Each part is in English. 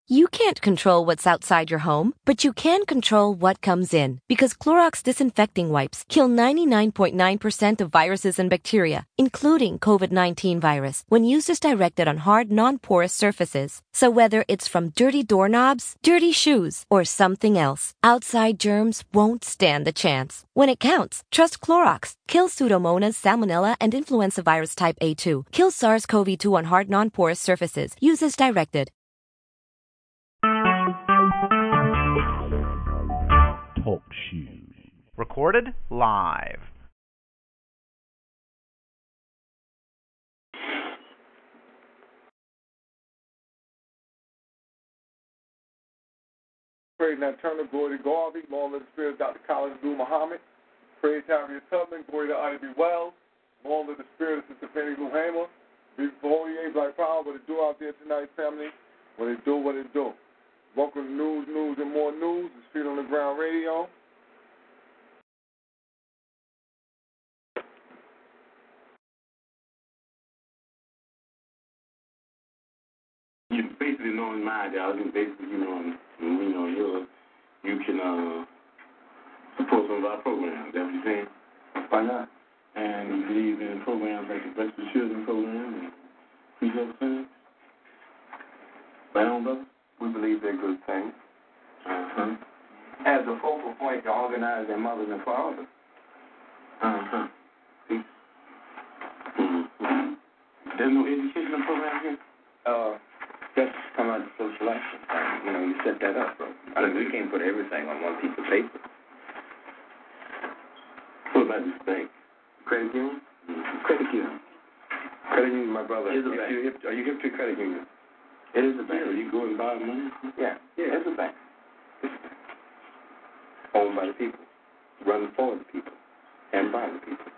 You can't control what's outside your home, but you can control what comes in. Because Clorox disinfecting wipes kill 99.9% of viruses and bacteria, including COVID-19 virus, when used as directed on hard, non-porous surfaces. So whether it's from dirty doorknobs, dirty shoes, or something else, outside germs won't stand a chance. When it counts, trust Clorox. Kill Pseudomonas, Salmonella, and influenza virus type A2. Kill SARS-CoV-2 on hard, non-porous surfaces. Use as directed. Talk shoes. Recorded live. Praise Nat Turner, glory to Garvey, long live the spirit of Dr. Collins Abdul Muhammad. Praise Harriet Tubman, glory to Ida B. Wells, long live the spirit of Sister Fannie Lou Hamer. Before we Black Power, what it do out there tonight, family? What it do. Welcome to News, and More News. It's Feet on the Ground Radio. You basically know in my ideology, basically, you can support some of our programs. Is that what you're saying? Why not? And you believe in programs like the Breast for Children program and Free Health Clinic? Right on, brother? We believe they're good things. As a focal point to organize their mothers and fathers. See? There's no educational program here? Just come out of social action. You set that up, bro. I mean, we can't put everything on one piece of paper. What about this bank? Credit union? Credit union. Credit union, my brother. Is a bank. Are you hip to credit union? It is a bank. Yeah, you go and buy money? Yeah, it's a bank. It's a bank. Owned by the people. Run for the people. And by the people.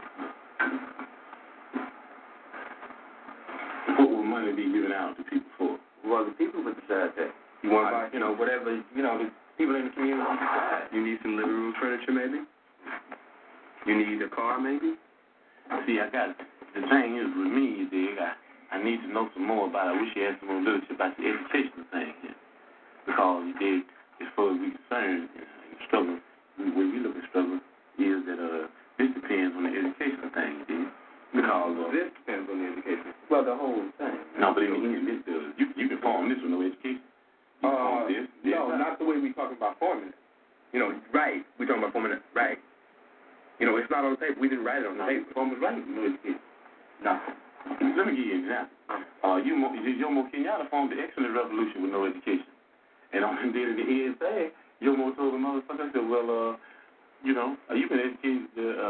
What will money be given out to people for? Well, the people would decide that. You want to buy, whatever, the people in the community decide. You need some living room furniture, maybe? You need a car, maybe? See, the thing is with me, I need to know some more about it. I wish you had some more literature about the educational thing here. Because, as far as we're concerned, the struggle, the way we look at struggle, is that this depends on the educational thing, Because this depends on the education. Well, the whole thing. No, but in this does. You can form this with no education. You can form this. No, not the way we talking about forming it. Right. We're talking about forming it. Right. It's not on the paper. We didn't write it on the paper. Form was right with no education. No. Let me give you an example. Jomo Kenyatta formed the excellent revolution with no education. And on the day of the ESA, Jomo told the motherfucker, I said, well, you can educate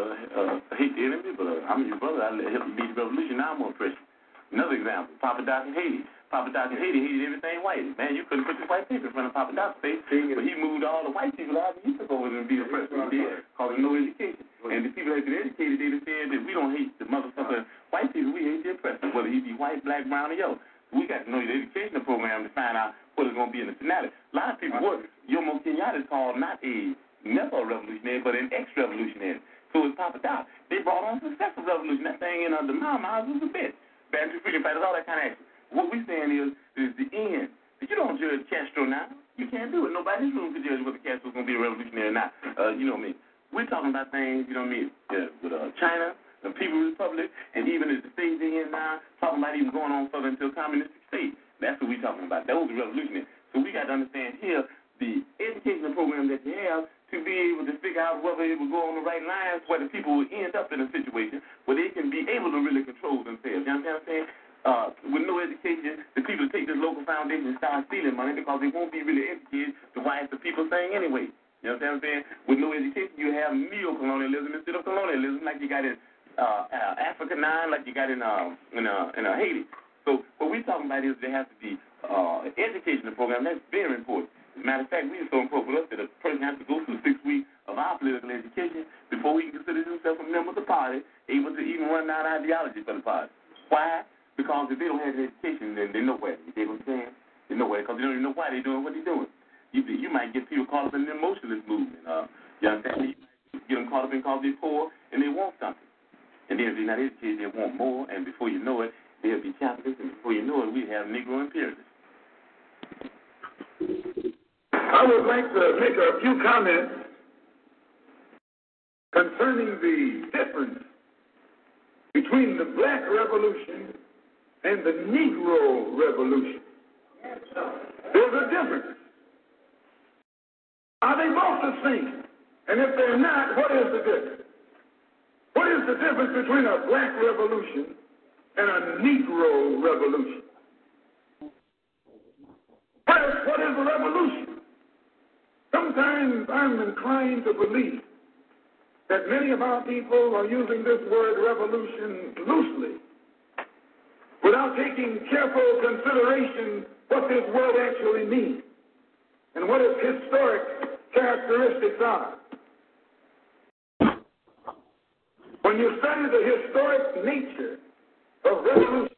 hate the enemy, but I'm your brother. I help you beat the revolution. Now I'm more pressure. Another example, Papa Doc in Haiti. Papa Doc in Haiti hated everything white. Man, you couldn't put this white paper in front of Papa Doc's face, but he moved all the white people out and he took over and be the president. He did, because of no education. And the people that had been educated, they said that we don't hate the motherfucker white people, we hate the oppressor, whether he be white, black, brown, or yellow. We got to know the educational program to find out what is going to be in the finale. A lot of people, Jomo Kenyatta is called never a revolutionary, but an ex-revolutionary. So it's Papa Doc. They brought on successful revolution. That thing in the Mama was a bitch. Bantu freedom fighters, all that kind of action. What we're saying is the end. But you don't judge Castro now. You can't do it. Nobody in this room can judge whether Castro's going to be a revolutionary or not. You know what I mean? We're talking about things, with China, the People's Republic, and even as the stage they're in now, talking about even going on further into a communistic state. That's what we're talking about. That was the revolutionary. So we got to understand here the educational program that you have to be able to figure out whether it will go on the right lines, where the people will end up in a situation where they can be able to really control themselves. You understand what I'm saying? With no education, the people take this local foundation and start stealing money because they won't be really educated to why it's the people saying anyway. You understand what I'm saying? With no education, you have neo-colonialism instead of colonialism, like you got in Africa now, like you got in Haiti. So what we're talking about is there has to be an educational program. That's very important. As a matter of fact, we are so important for us that a person has to go through 6 weeks of our political education before he can consider himself a member of the party, able to even run down ideology for the party. Why? Because if they don't have the education, then they're nowhere. You see what I'm saying? They're nowhere because they don't even know why they're doing what they're doing. You might get people caught up in the emotionalist movement. You understand? You might get them caught up in because they're poor and they want something. And then if they're not educated, they want more, and before you know it, they'll be capitalists, and before you know it, we have Negro imperialists. I would like to make a few comments concerning the difference between the Black Revolution and the Negro Revolution. There's a difference. Are they both the same? And if they're not, what is the difference? What is the difference between a Black Revolution and a Negro Revolution? What is a revolution? Sometimes I'm inclined to believe that many of our people are using this word revolution loosely without taking careful consideration what this word actually means and what its historic characteristics are. When you study the historic nature of revolution,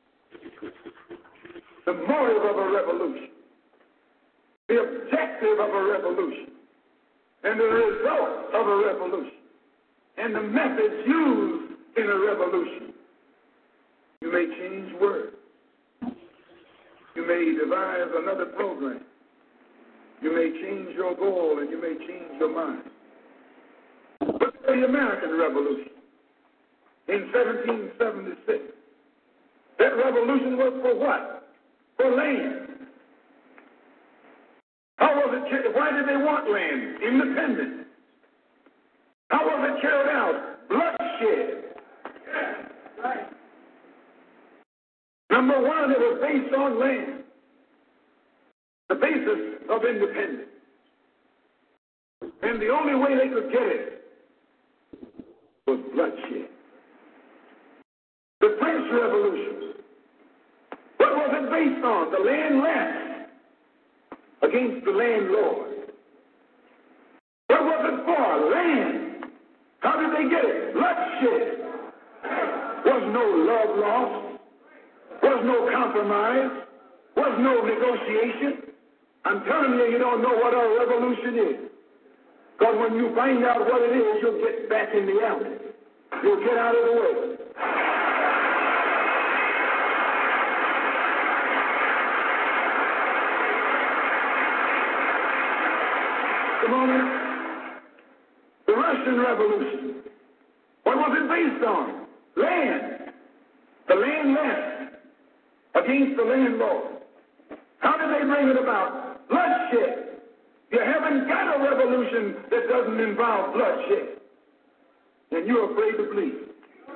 the motive of a revolution, the objective of a revolution, and the result of a revolution, and the methods used in a revolution, you may change words. You may devise another program. You may change your goal and you may change your mind. Look at the American Revolution in 1776. That revolution was for what? For land. How was it? Why did they want land? Independence. How was it carried out? Bloodshed. Right. Number one, it was based on land. The basis of independence. And the only way they could get it was bloodshed. The French Revolution. What was it based on? The land left against the landlord. What was it for? Land. How did they get it? Bloodshed. Was no love lost. Was no compromise. Was no negotiation. I'm telling you, you don't know what a revolution is. Because when you find out what it is, you'll get back in the alley. You'll get out of the way. Come on. The Russian Revolution. What was it based on? Land. The land left against the landlord. How did they bring it about? Bloodshed. You haven't got a revolution that doesn't involve bloodshed. And you're afraid to bleed.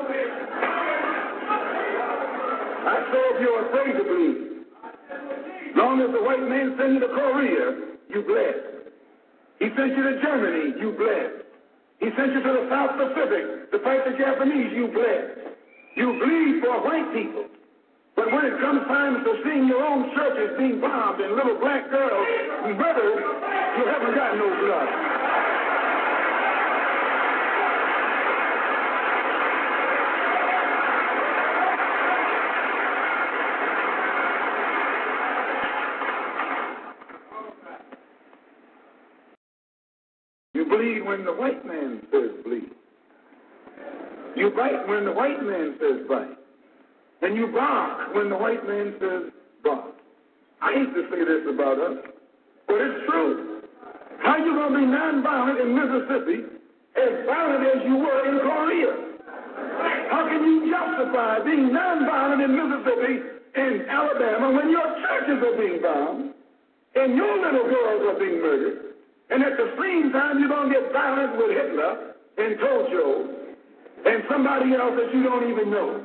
I saw if you're afraid to bleed. Long as the white man sent you to Korea, you bled. He sent you to Germany, you bled. He sent you to the South Pacific to fight the Japanese, you bled. You bleed for white people. But when it comes time to seeing your own churches being bombed and little black girls murdered, you haven't got no blood. You bleed when the white man says bleed. You bite when the white man says bite. And you bark when the white man says bark. I hate to say this about us, but it's true. How are you going to be nonviolent in Mississippi as violent as you were in Korea? How can you justify being nonviolent in Mississippi and Alabama when your churches are being bombed and your little girls are being murdered, and at the same time you're going to get violent with Hitler and Tojo and somebody else that you don't even know?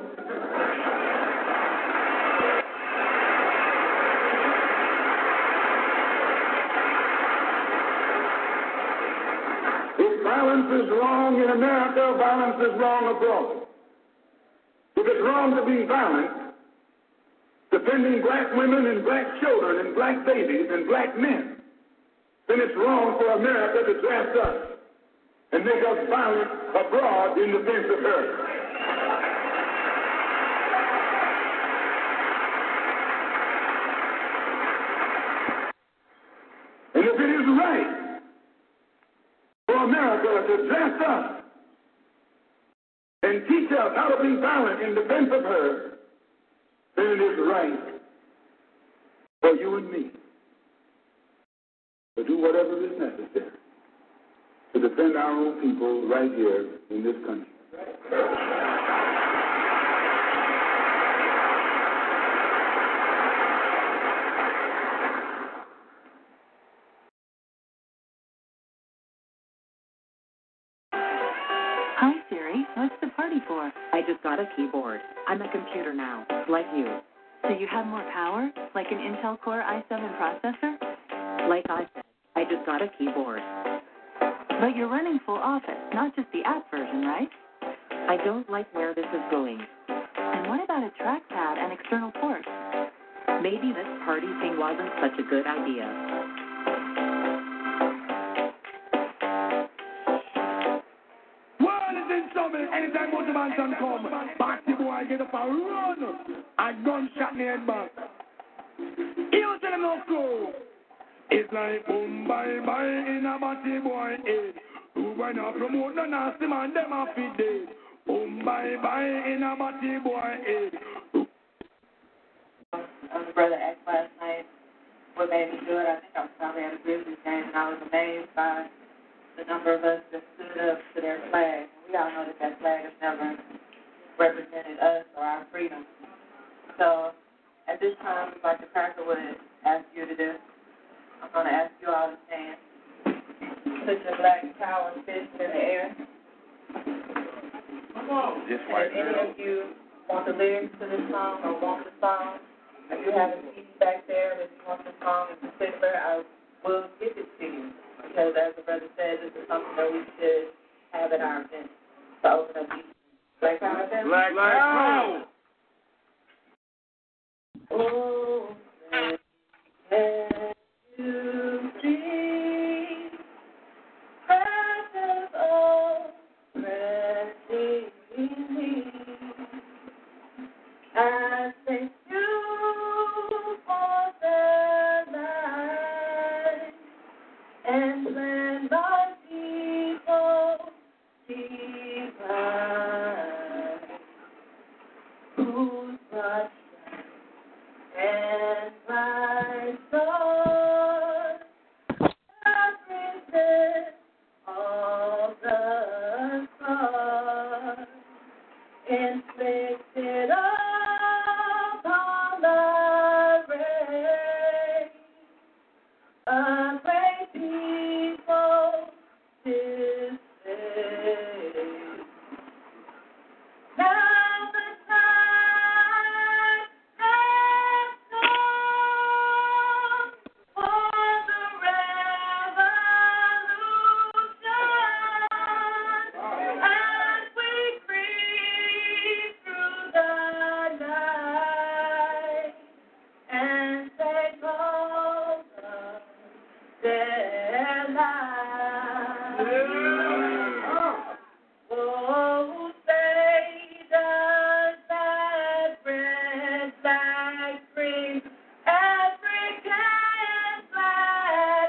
Violence is wrong in America, violence is wrong abroad. If it's wrong to be violent, defending black women and black children and black babies and black men, then it's wrong for America to draft us and make us violent abroad in defense of her. And if it is right for America to draft us and teach us how to be violent in defense of her, then it is right for you and me to do whatever is necessary to defend our own people right here in this country. Hi, Siri. What's the party for? I just got a keyboard. I'm a computer now, like you. So you have more power? Like an Intel Core i7 processor? Like I said, I just got a keyboard. But you're running full Office, not just the app version, right? I don't like where this is going. And what about a trackpad and external ports? Maybe this party thing wasn't such a good idea. Anytime motivation come, party boy get up and run. A gunshot in the head back. You tell them no cool. It's like boom bye bye in a party boy head. Who when I promote no nasty man, them a feed dead. Boom bye bye in a party boy head. Brother X last night. What made me do it? I think I was probably at a Grizzlies game, and I was amazed by the number of us that stood up to their flag. We all know that that flag has never represented us or our freedom. So at this time, like the Cracker would ask you to do, I'm going to ask you all to stand. Put your black power and fist in the air. Come on. And if any of you want the lyrics to this song or want the song, if you have a CD back there that you want the song in particular, I will give it to you. Because as the brother said, this is something that we should have at our event. So open up these Black Power events. Black Power. Oh, let you see precious, oh, precious me. I thank you for the light and when my people divine, whose touch and my soul represent all the scars inflicted upon the race. A great people this day. Now the time has come for the revolution as we creep through the night and take over their lives. Oh, say does that red flag bring African flag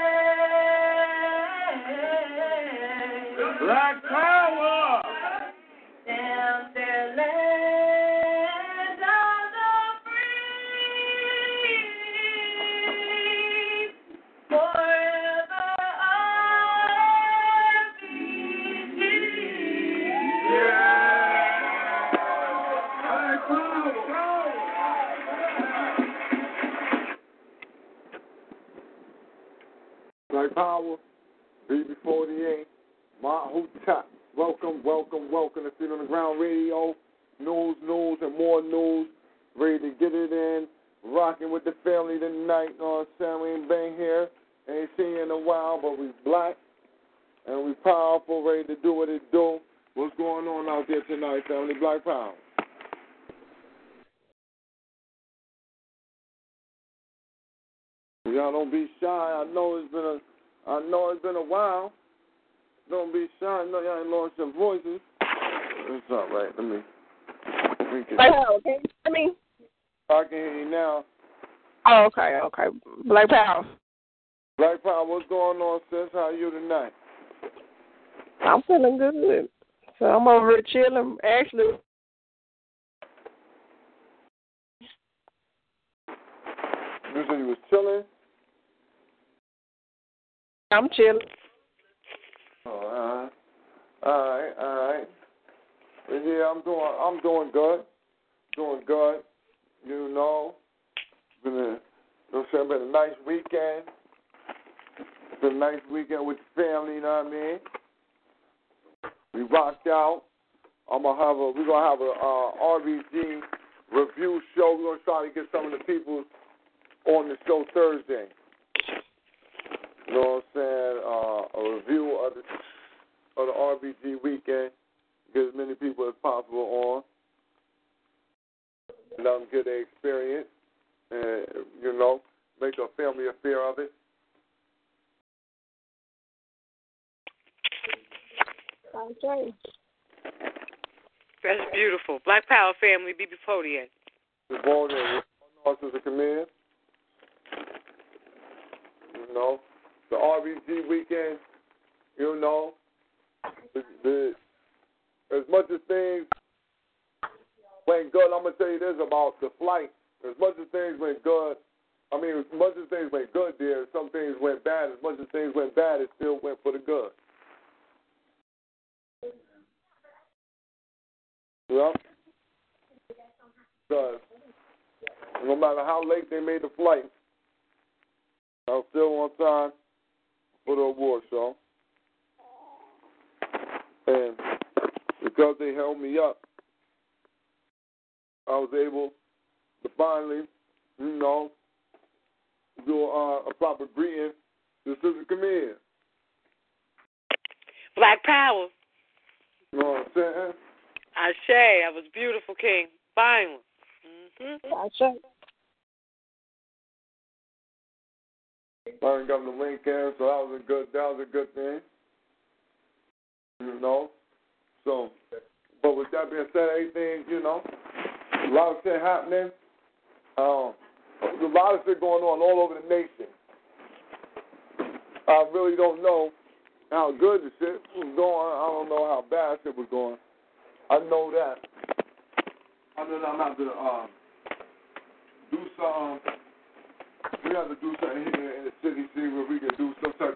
wave? Black Power. Down their land of the free, forever RBG. Black Power. Black Power. BB48. Mahouta. Welcome to Feet on the Ground Radio. News, and more news. Ready to get it in. Rocking with the family tonight. You know what I'm saying? We ain't been here. Ain't seen you in a while, but we black. And we powerful, ready to do what it do. What's going on out there tonight, family? Black Power. Y'all don't be shy. I know it's been a while. Don't be shy. I know y'all ain't lost your voices. It's all right. Let me get Hello, can you hear me? I can hear you now. Oh, okay. Black Power. Black Power, what's going on, sis? How are you tonight? I'm feeling good. So I'm over here chilling. Actually, you said you was chilling? I'm chilling. All right. Yeah, I'm doing good. You know, been a nice weekend. Been a nice weekend with the family. You know what I mean? We rocked out. We're gonna have a RBG review show. We're gonna try to get some of the people on the show Thursday. You know what I'm saying? A review of the RBG weekend. Get as many people as possible on. Let them get their experience. And, you know, make a family affair of it. Okay. That's beautiful. Black Power family, BB Podium. Good morning. Sister Camille. You know, the RBG weekend, you know, as much as things went good, I'm going to tell you this about the flight. As much as things went good, as much as things went good there, some things went bad. As much as things went bad, it still went for the good. Yeah. Because no matter how late they made the flight, I was still on time for the award show. And because they held me up, I was able to finally, you know, do a proper greeting to Sister Camille. Black Power. You know what I'm saying? Ashe, that was beautiful, King. Fine one. Ashe. I didn't got the link in, so that was a good thing. You know? So, but with that being said, everything, you know, a lot of shit happening. There's a lot of shit going on all over the nation. I really don't know how good the shit was going. I don't know how bad shit was going. I know that. I know that I'm going to have to do something. We have to do something here in the city, see where we can do some type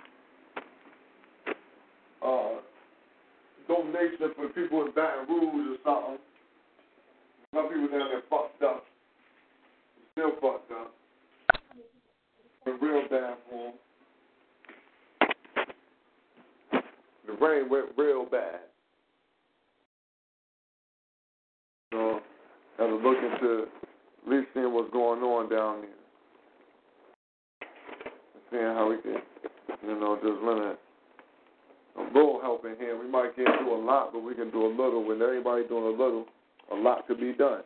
of donation for people in Baton Rouge or something. Some people down there fucked up. Still fucked up. Been real bad for them. The rain went real bad. So, I have to look into at least seeing what's going on down there. Seeing how we can, you know, just limit a little help in here. We might can't do a lot, but we can do a little. When everybody doing a little, a lot could be done.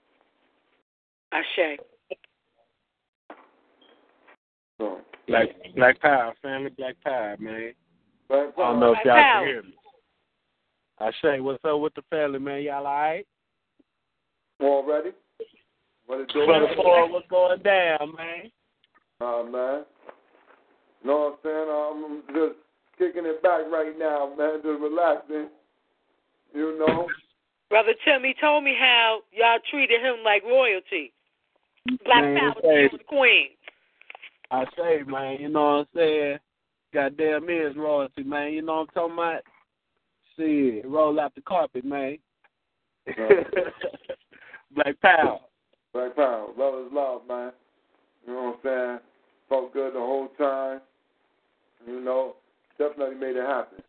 Ashe. So, Black Power, family, Black Power, man. Black Power. I don't know if y'all Black Power. can hear me. Ashe, what's up with the family, man? Y'all all right? All ready? What it do? Brother Paul, what's going down, man? Man. You know what I'm saying? I'm just kicking it back right now, man. Just relaxing. You know? Brother Timmy told me how y'all treated him like royalty. Black Power, the queen. I say, man, you know what I'm saying? Goddamn is royalty, man. You know what I'm talking about? Shit, roll out the carpet, man. Black Power. Black Power. Love is love, man. You know what I'm saying? Felt good the whole time. You know, definitely made it happen.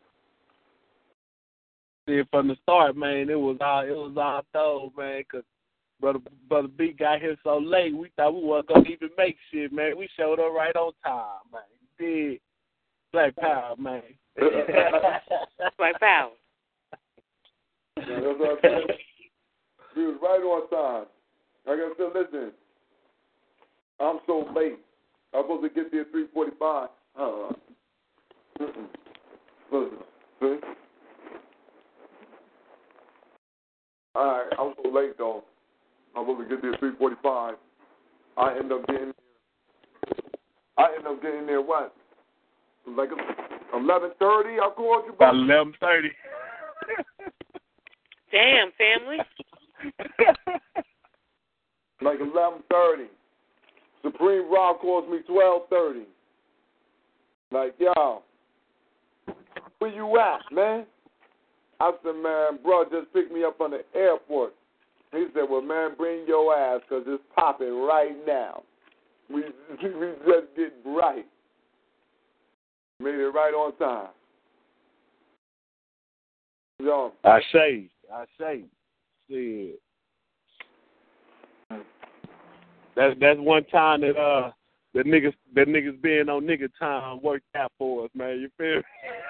See, from the start, man, it was all told, man, because Brother B got here so late, we thought we weren't going to even make shit, man. We showed up right on time, man. Did Black Power, man. Black Power. Yeah, that's what I said. We was right on time. Like I said, listen, I'm so late. I'm supposed to get there at 3:45. Listen, see? All right, I'm so late, though. I'm supposed to get there at 3:45. I end up getting there, what? Like 11:30? I called you About back. 11:30. Damn, family. Like 11:30. Supreme Rock calls me 12:30. Like, yo, where you at, man? I said, man, bro, just picked me up from the airport. He said, well, man, bring your ass because it's popping right now. We just get right. Made it right on time. Yo. I say. See. That's one time that the niggas being on nigga time worked out for us, man. You feel me?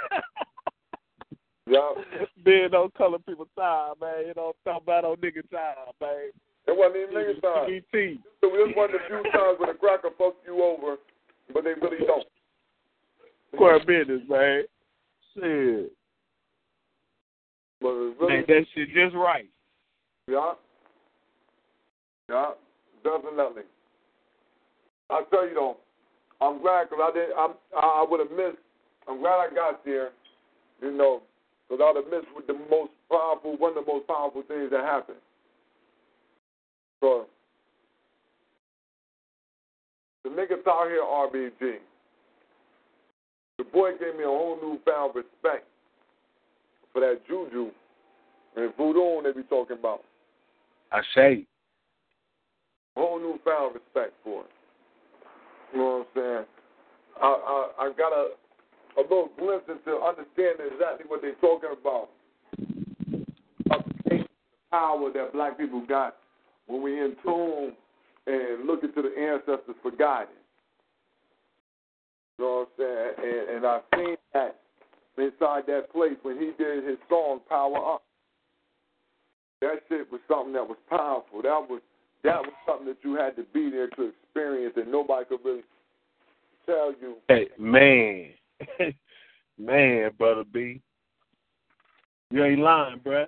Yeah. Being on color people time, man. You know, talking about on nigga time, man. It wasn't even nigga time. CBT. So this one of the few times when a cracker fucks you over, but they really don't. Square business, man. Shit. But it's really, man, that shit just right. Yeah. Yeah. Definitely. I tell you though, I'm glad because I would have missed. I'm glad I got there, you know, because I would have missed with one of the most powerful things that happened. So the niggas out here, RBG, the boy gave me a whole newfound respect for that juju and voodoo they be talking about. I say. Whole newfound respect for it. You know what I'm saying? I got a little glimpse into understanding exactly what they're talking about. The power that black people got when we in tune and look into the ancestors for guidance. You know what I'm saying? And I've seen that inside that place when he did his song Power Up. That shit was something that was powerful. That was something that you had to be there to experience and nobody could really tell you. Hey, man. Man, Brother B. You ain't lying, bruh.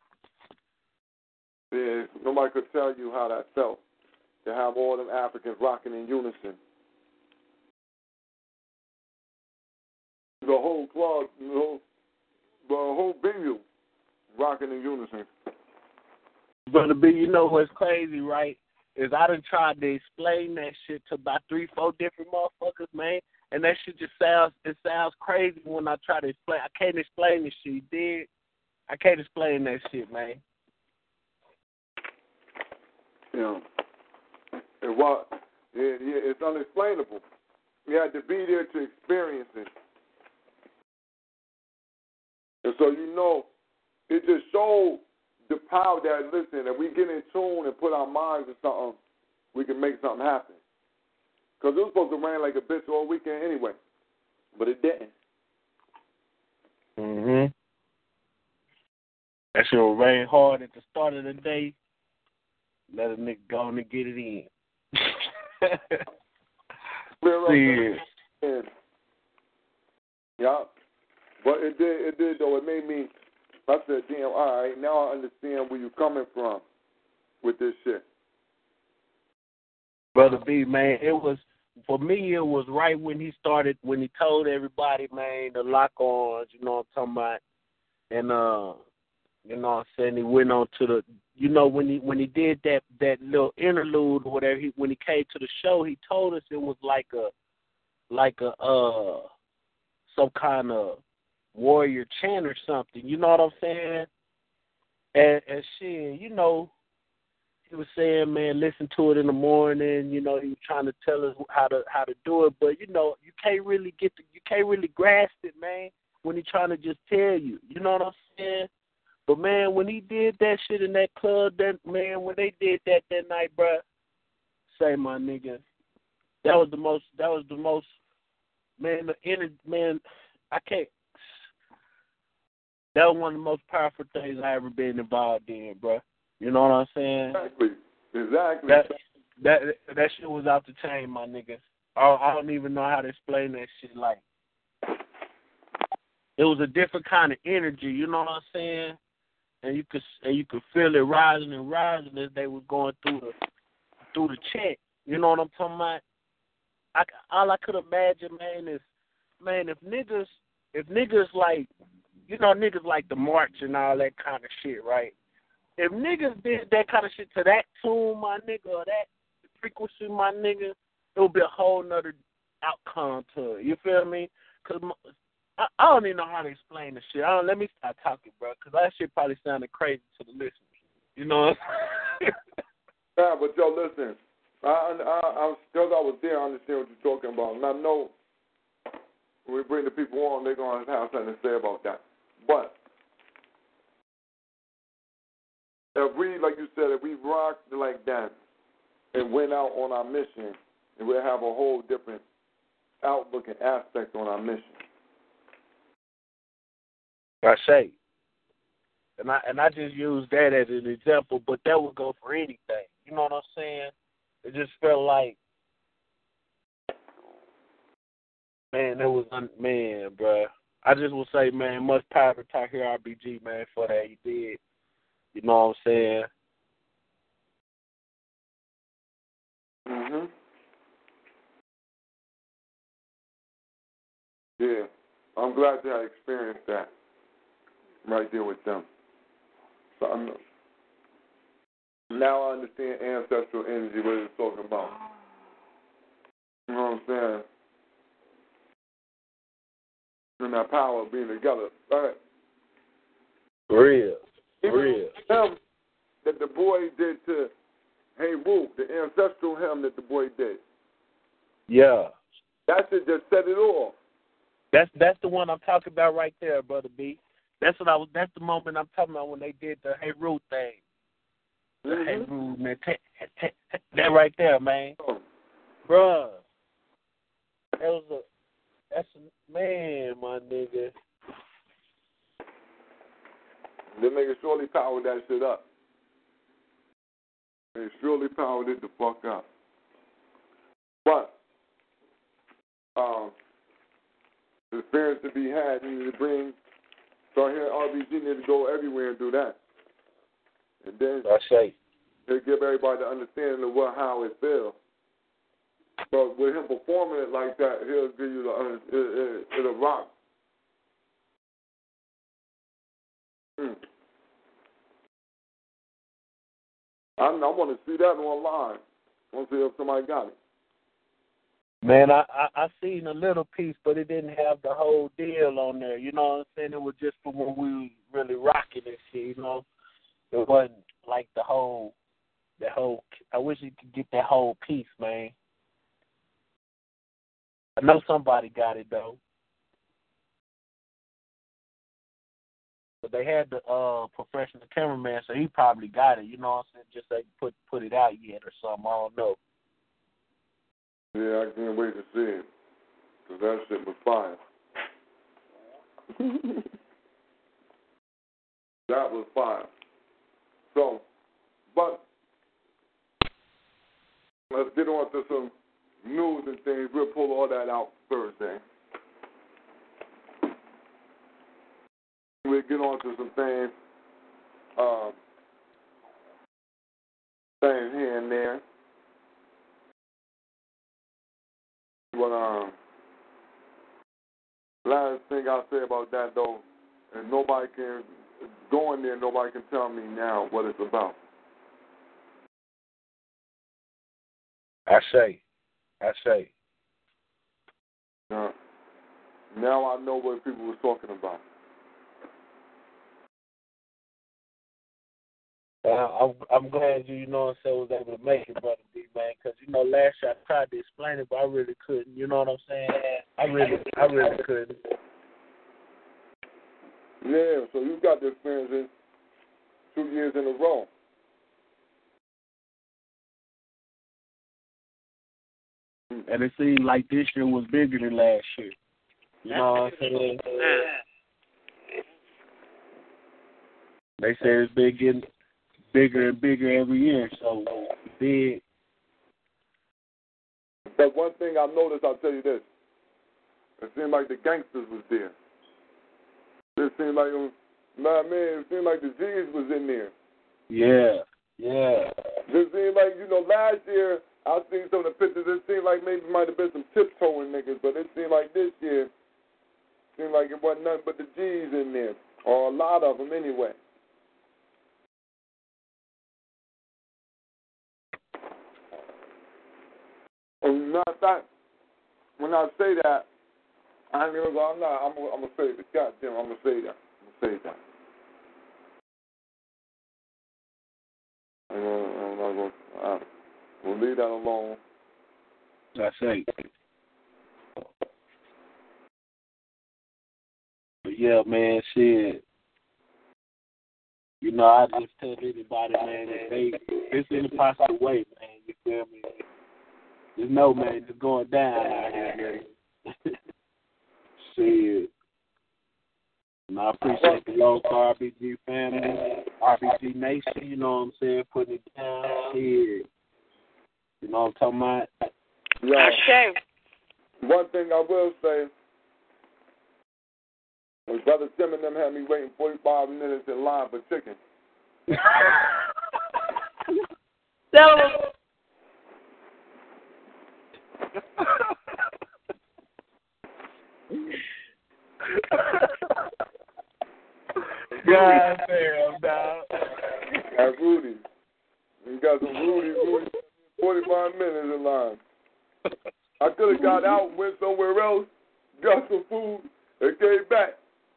Yeah, nobody could tell you how that felt to have all them Africans rocking in unison. The whole club, the whole venue rocking in unison. Brother B, you know what's crazy, right? Is I done tried to explain that shit to about 3-4 different motherfuckers, man. And that shit just sounds crazy when I try to explain. I can't explain this shit, you dig? I can't explain that shit, man. Yeah. It's unexplainable. You had to be there to experience it. And so, you know, it just showed the power that, listen, if we get in tune and put our minds to something, we can make something happen. Because it was supposed to rain like a bitch all weekend anyway. But it didn't. Mm-hmm. That shit will rain hard at the start of the day. Let a nigga go and get it in. See. Yeah. But it did though. It made me, I said, damn, all right, now I understand where you're coming from with this shit. Brother B, man, for me, it was right when he told everybody, man, to lock on, you know what I'm talking about, and, you know what I'm saying, he went on to the, you know, when he did that little interlude or whatever, when he came to the show, he told us it was like a some kind of warrior chant or something, you know what I'm saying? And shit, you know, he was saying, man, listen to it in the morning. You know, he was trying to tell us how to do it, but you know, you can't really grasp it, man, when he's trying to just tell you. You know what I'm saying? But man, when he did that shit in that club, when they did that night, bruh, say my nigga, that was the most, man, I can't. That was one of the most powerful things I ever been involved in, bruh. You know what I'm saying? Exactly. That shit was out the chain, my nigga. I don't even know how to explain that shit. Like, it was a different kind of energy. You know what I'm saying? And you could feel it rising and rising as they were going through the check. You know what I'm talking about? All I could imagine, man, is, man, if niggas like, you know, niggas like the march and all that kind of shit, right? If niggas did that kind of shit to that tune, my nigga, or that frequency, my nigga, it would be a whole nother outcome to it. You feel me? Because I don't even know how to explain the shit. Let me start talking, bro, because that shit probably sounded crazy to the listeners. You know what I'm saying? Yeah, but yo, listen. Because I was there, I understand what you're talking about. And I know when we bring the people on, they're going to have something to say about that. But if we, like you said, if we rocked like that and went out on our mission, and we'll have a whole different outlook and aspect on our mission. I say. And I just use that as an example, but that would go for anything. You know what I'm saying? It just felt like, man, bruh. I just would say, man, much power to Tahir RBG, man, for that he did. You know what I'm saying? Mhm. Yeah, I'm glad that I experienced that right there with them. So now I understand ancestral energy, what it's talking about. You know what I'm saying? And that power of being together. All right. Real. Him that the boy did to Hey Woo, the ancestral hymn that the boy did. Yeah. That should just set it off. That's the one I'm talking about right there, Brother B. That's the moment I'm talking about when they did the Hey Roo thing. The Hey Roo, man. That right there, man. Bruh. That's a man, my nigga. They niggas surely powered that shit up. They surely powered it the fuck up. But the experience to be had, you need to bring. So here, RBG need to go everywhere and do that. And then he'll give everybody the understanding of how it feels. But with him performing it like that, he'll give you it'll rock. I want to see that online. I want to see if somebody got it. Man, I seen a little piece, but it didn't have the whole deal on there. You know what I'm saying? It was just for when we were really rocking this shit, you know? It wasn't like the whole, I wish you could get that whole piece, man. I know somebody got it, though. But they had the professional cameraman, so he probably got it, you know what I'm saying? Just like put it out yet or something, I don't know. Yeah, I can't wait to see it. Because that shit was fire. That was fire. So, but let's get on to some news and things. We'll pull all that out Thursday. We'll get on to some things, things here and there. But last thing I'll say about that, though, and nobody can go in there, nobody can tell me now what it's about. I say. Now I know what people were talking about. I'm glad you know what I'm saying, was able to make it, Brother B, man, because, you know, last year I tried to explain it, but I really couldn't. You know what I'm saying? I really couldn't. Yeah, so you got the experience 2 years in a row. And it seemed like this year was bigger than last year. You know what I'm saying? They say it's been getting bigger and bigger every year, so big. But one thing I noticed, I'll tell you this. It seemed like the gangsters was there. It seemed like, it seemed like the G's was in there. Yeah. It seemed like, last year, I seen some of the pictures. It seemed like maybe might have been some tiptoeing niggas, but it seemed like this year, it seemed like it wasn't nothing but the G's in there, or a lot of them anyway. And matter of fact, when I say that, I ain't gonna go. I'm gonna say it. Goddamn, I'm gonna say that. I'm not gonna. We'll leave that alone. That's it. But yeah, man, shit. You know, I just tell anybody, man, that it's in a positive way, man. You feel me? Just know, man, it's going down out here, man. Shit. And I appreciate the local RBG family, RBG Nation, you know what I'm saying, putting it down. Shit. You know what I'm talking about? Yeah. Sure. One thing I will say, my brother Tim and them had me waiting 45 minutes in line for chicken. So, God damn, dog. Got Rudy. You got some Rudy, 45 minutes in line. I could have got out and went somewhere else, got some food, and came back.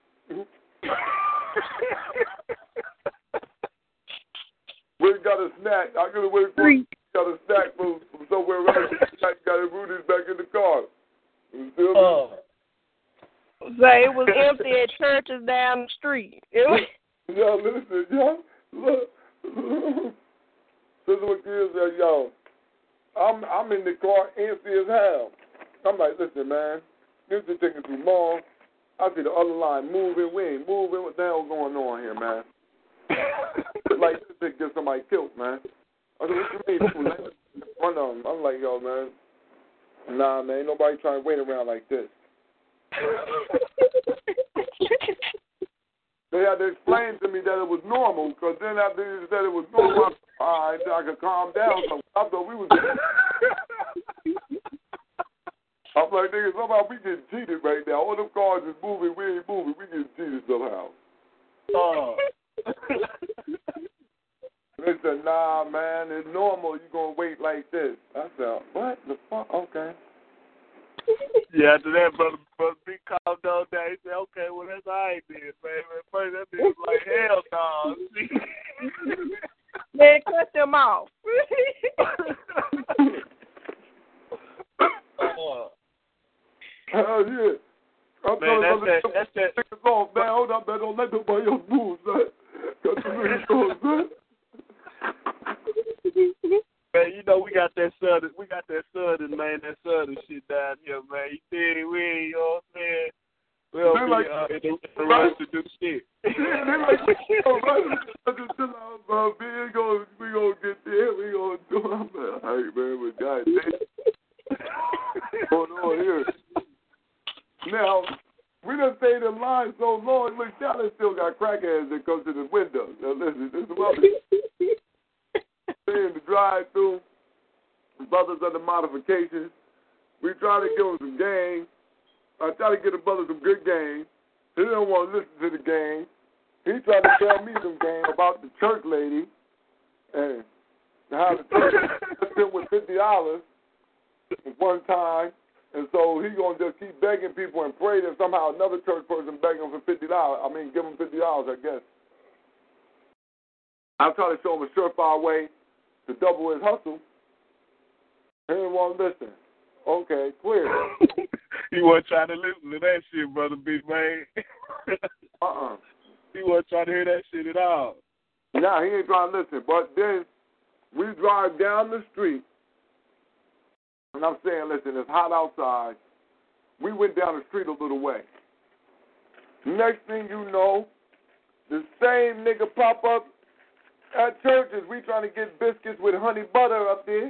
We got a snack. I could have waited for got a snack from somewhere else. I got it Rudy's back in the car. You feel me? Say it was empty at churches down the street. It was. Yo, listen, yo, look. This is what kids say, yo. I'm in the car empty as hell. I'm like, listen, man, this is taking too long. I see the other line moving. We ain't moving. What the hell going on here, man? Like, this thing get somebody killed, man. I said, what you mean? One of them. I'm like, yo, man. Nah, man, ain't nobody trying to wait around like this. They had to explain to me that it was normal, because then after they said it was normal, all right, I could calm down. So I thought we was. I'm like, nigga, somehow we getting cheated right now. All them cars is moving, we ain't moving. We getting cheated somehow. They said, nah, man, it's normal. You gonna wait like this. I said, what the fuck? Okay. Yeah, after that, brother B called down there. He said, okay, well, that's all right then, man. At first, that dude was like, hell no. Man, cut them off. Hell yeah. I'm man, that's that. Off, man. Hold up, man. Don't let nobody else move, man. Got the minutes off, man. Man, you know we got that southern man, that southern shit down here, man. You see, we ain't, you know what I'm saying? We don't be in the rush to do shit. They like, oh, man, just chill out, bro. We gonna get there. We gonna do it. I'm like, all right, man, but goddamn. Going on here. Now, we done stayed in line so long, look, Dallas still got crackheads that come to the window. Now, listen, this is what in the drive-thru, brothers under modifications. We try to give them some game. I try to get the brother some good game. He didn't want to listen to the game. He tried to tell me some game about the church lady and how the church spent with $50 one time, and so he gonna just keep begging people and pray that somehow another church person beg him for $50. I mean, give him $50, I guess. I try to show him a surefire way to double his hustle. He didn't want to listen. Okay, clear. He wasn't trying to listen to that shit, brother B, man. He wasn't trying to hear that shit at all. Nah, he ain't trying to listen. But then we drive down the street, and I'm saying, listen, it's hot outside. We went down the street a little way. Next thing you know, the same nigga pop up at churches. We trying to get biscuits with honey butter up there.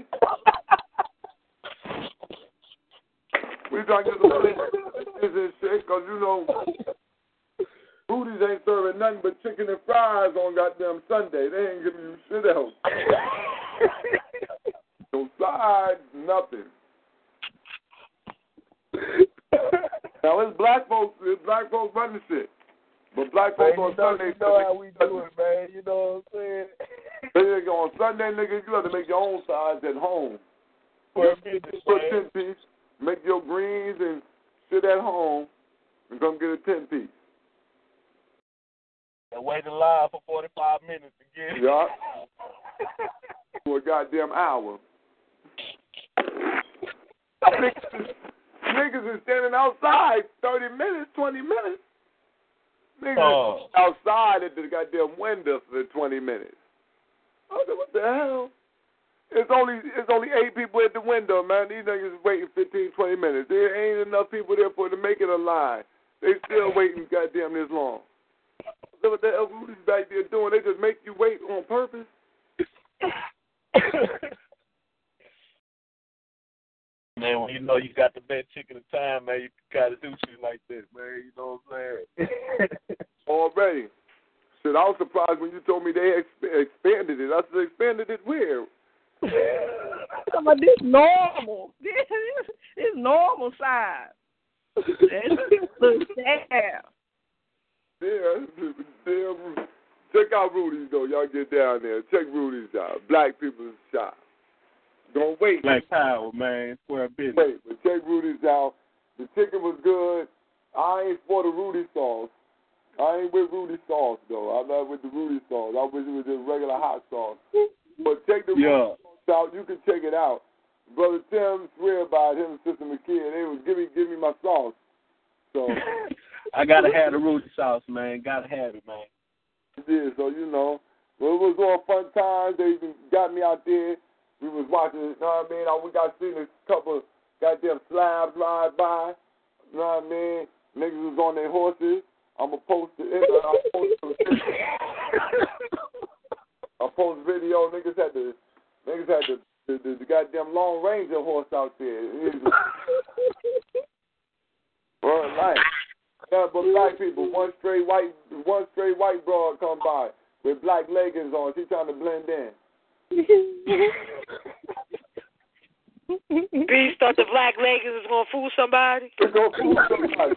We trying to get some biscuits and shit, because, you know, Rudy's ain't serving nothing but chicken and fries on goddamn Sunday. They ain't giving you shit else. No sides, nothing. Now, it's black folks running shit. But black folks on Sunday, you know how we do it, man. You know what I'm saying? Nigga, on Sunday, nigga, you have to make your own sides at home. For a business, man. 10 piece. make your greens and sit at home and come get a 10-piece. And wait in line for 45 minutes to get it. Yeah. For a goddamn hour. Niggas is standing outside 30 minutes, 20 minutes. Niggas outside at the goddamn window for 20 minutes. I said, what the hell? It's only 8 people at the window, man. These niggas is waiting 15, 20 minutes. There ain't enough people there for it to make it a line. They still waiting goddamn this long. So what the hell Rudy's back there doing? They just make you wait on purpose? Man, when you know you got the best chicken of time, man, you gotta do shit like this, man. You know what I'm saying? Already. Shit, I was surprised when you told me they expanded it. I said, expanded it where? This normal. This normal size. Yeah. Check out Rudy's, though. Y'all get down there. Check Rudy's out. Black people's shop. Don't wait. Black power, man. Square business. Wait, but check Rudy's out. The chicken was good. I ain't for the Rudy sauce. I ain't with Rudy sauce, though. I'm not with the Rudy sauce. I wish it was just regular hot sauce. But check the Rudy sauce out. You can check it out. Brother Tim swear by it, him and Sister McKee. They was give me my sauce. So I gotta have the Rudy sauce, man. Gotta have it, man. Yeah, so you know, well, it was all fun times. They even got me out there. We was watching, you know what I mean? We got seen a couple goddamn slabs ride by. You know what I mean? Niggas was on their horses. I'm going to post it. I post video. Niggas had the goddamn Lone Ranger horse out there. Well, like, yeah, but black people, one straight white broad come by with black leggings on. She trying to blend in. Beast thought the black leggings was gonna fool somebody. It's gonna fool somebody.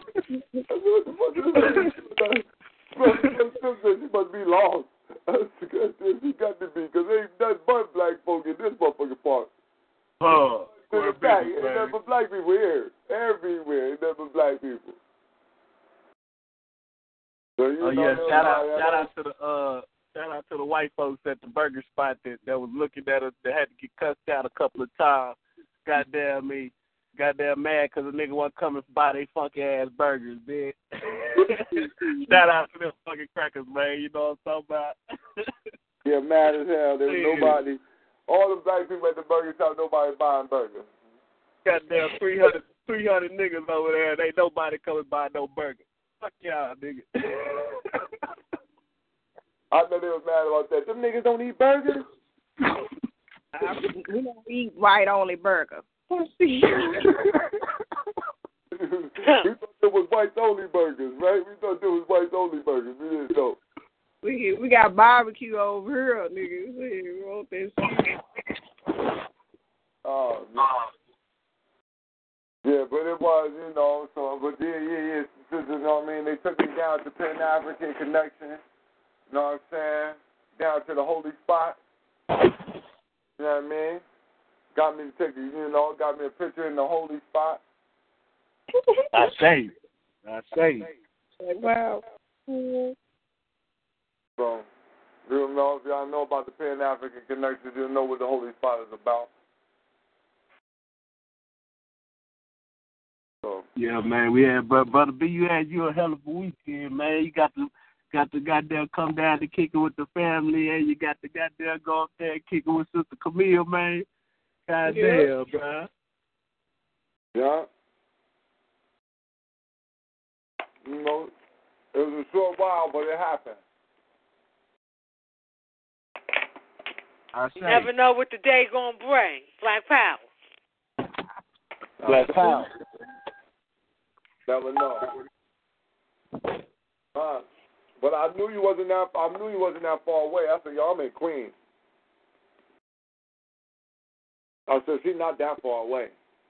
She must be lost. She got to be, because there ain't nothing but black folk in this motherfucking park. Ain't nothing but black people here. Everywhere, ain't nothing but black people. So shout out to the white folks at the burger spot that was looking at us, that had to get cussed out a couple of times. Goddamn mad because a nigga wasn't coming by they funky ass burgers, man. Shout out to them fucking crackers, man. You know what I'm talking about? Yeah, mad as hell. There was nobody. All the black people at the burger shop, nobody buying burgers. Goddamn 300 niggas over there, and ain't nobody coming by no burger. Fuck y'all, nigga. I know they was mad about that. Them niggas don't eat burgers? We don't eat white-only burgers. We thought it was whites-only burgers, right? We thought it was whites-only burgers. We didn't know. We got barbecue over here, niggas. We want this shit. Oh, man. Yeah, but it was, you know, so, but yeah, you know what I mean? They took me down to Pan-African Connection, you know what I'm saying? Down to the holy spot, you know what I mean? Got me to take got me a picture in the holy spot. I say. Wow. So, you know, if y'all know about the Pan-African Connection, you'll know what the holy spot is about. So. Yeah, man, we had, Brother B, you a hell of a weekend, man. You got to goddamn come down to kick it with the family, and you got to goddamn go up there and kick it with Sister Camille, man. Goddamn, bro. Yeah. You know, it was a short while, but it happened. You never know what the day gonna bring. Black power. Black power. Never know. But I knew you wasn't that far away. I said, y'all, I'm in Queens. I said, she's not that far away.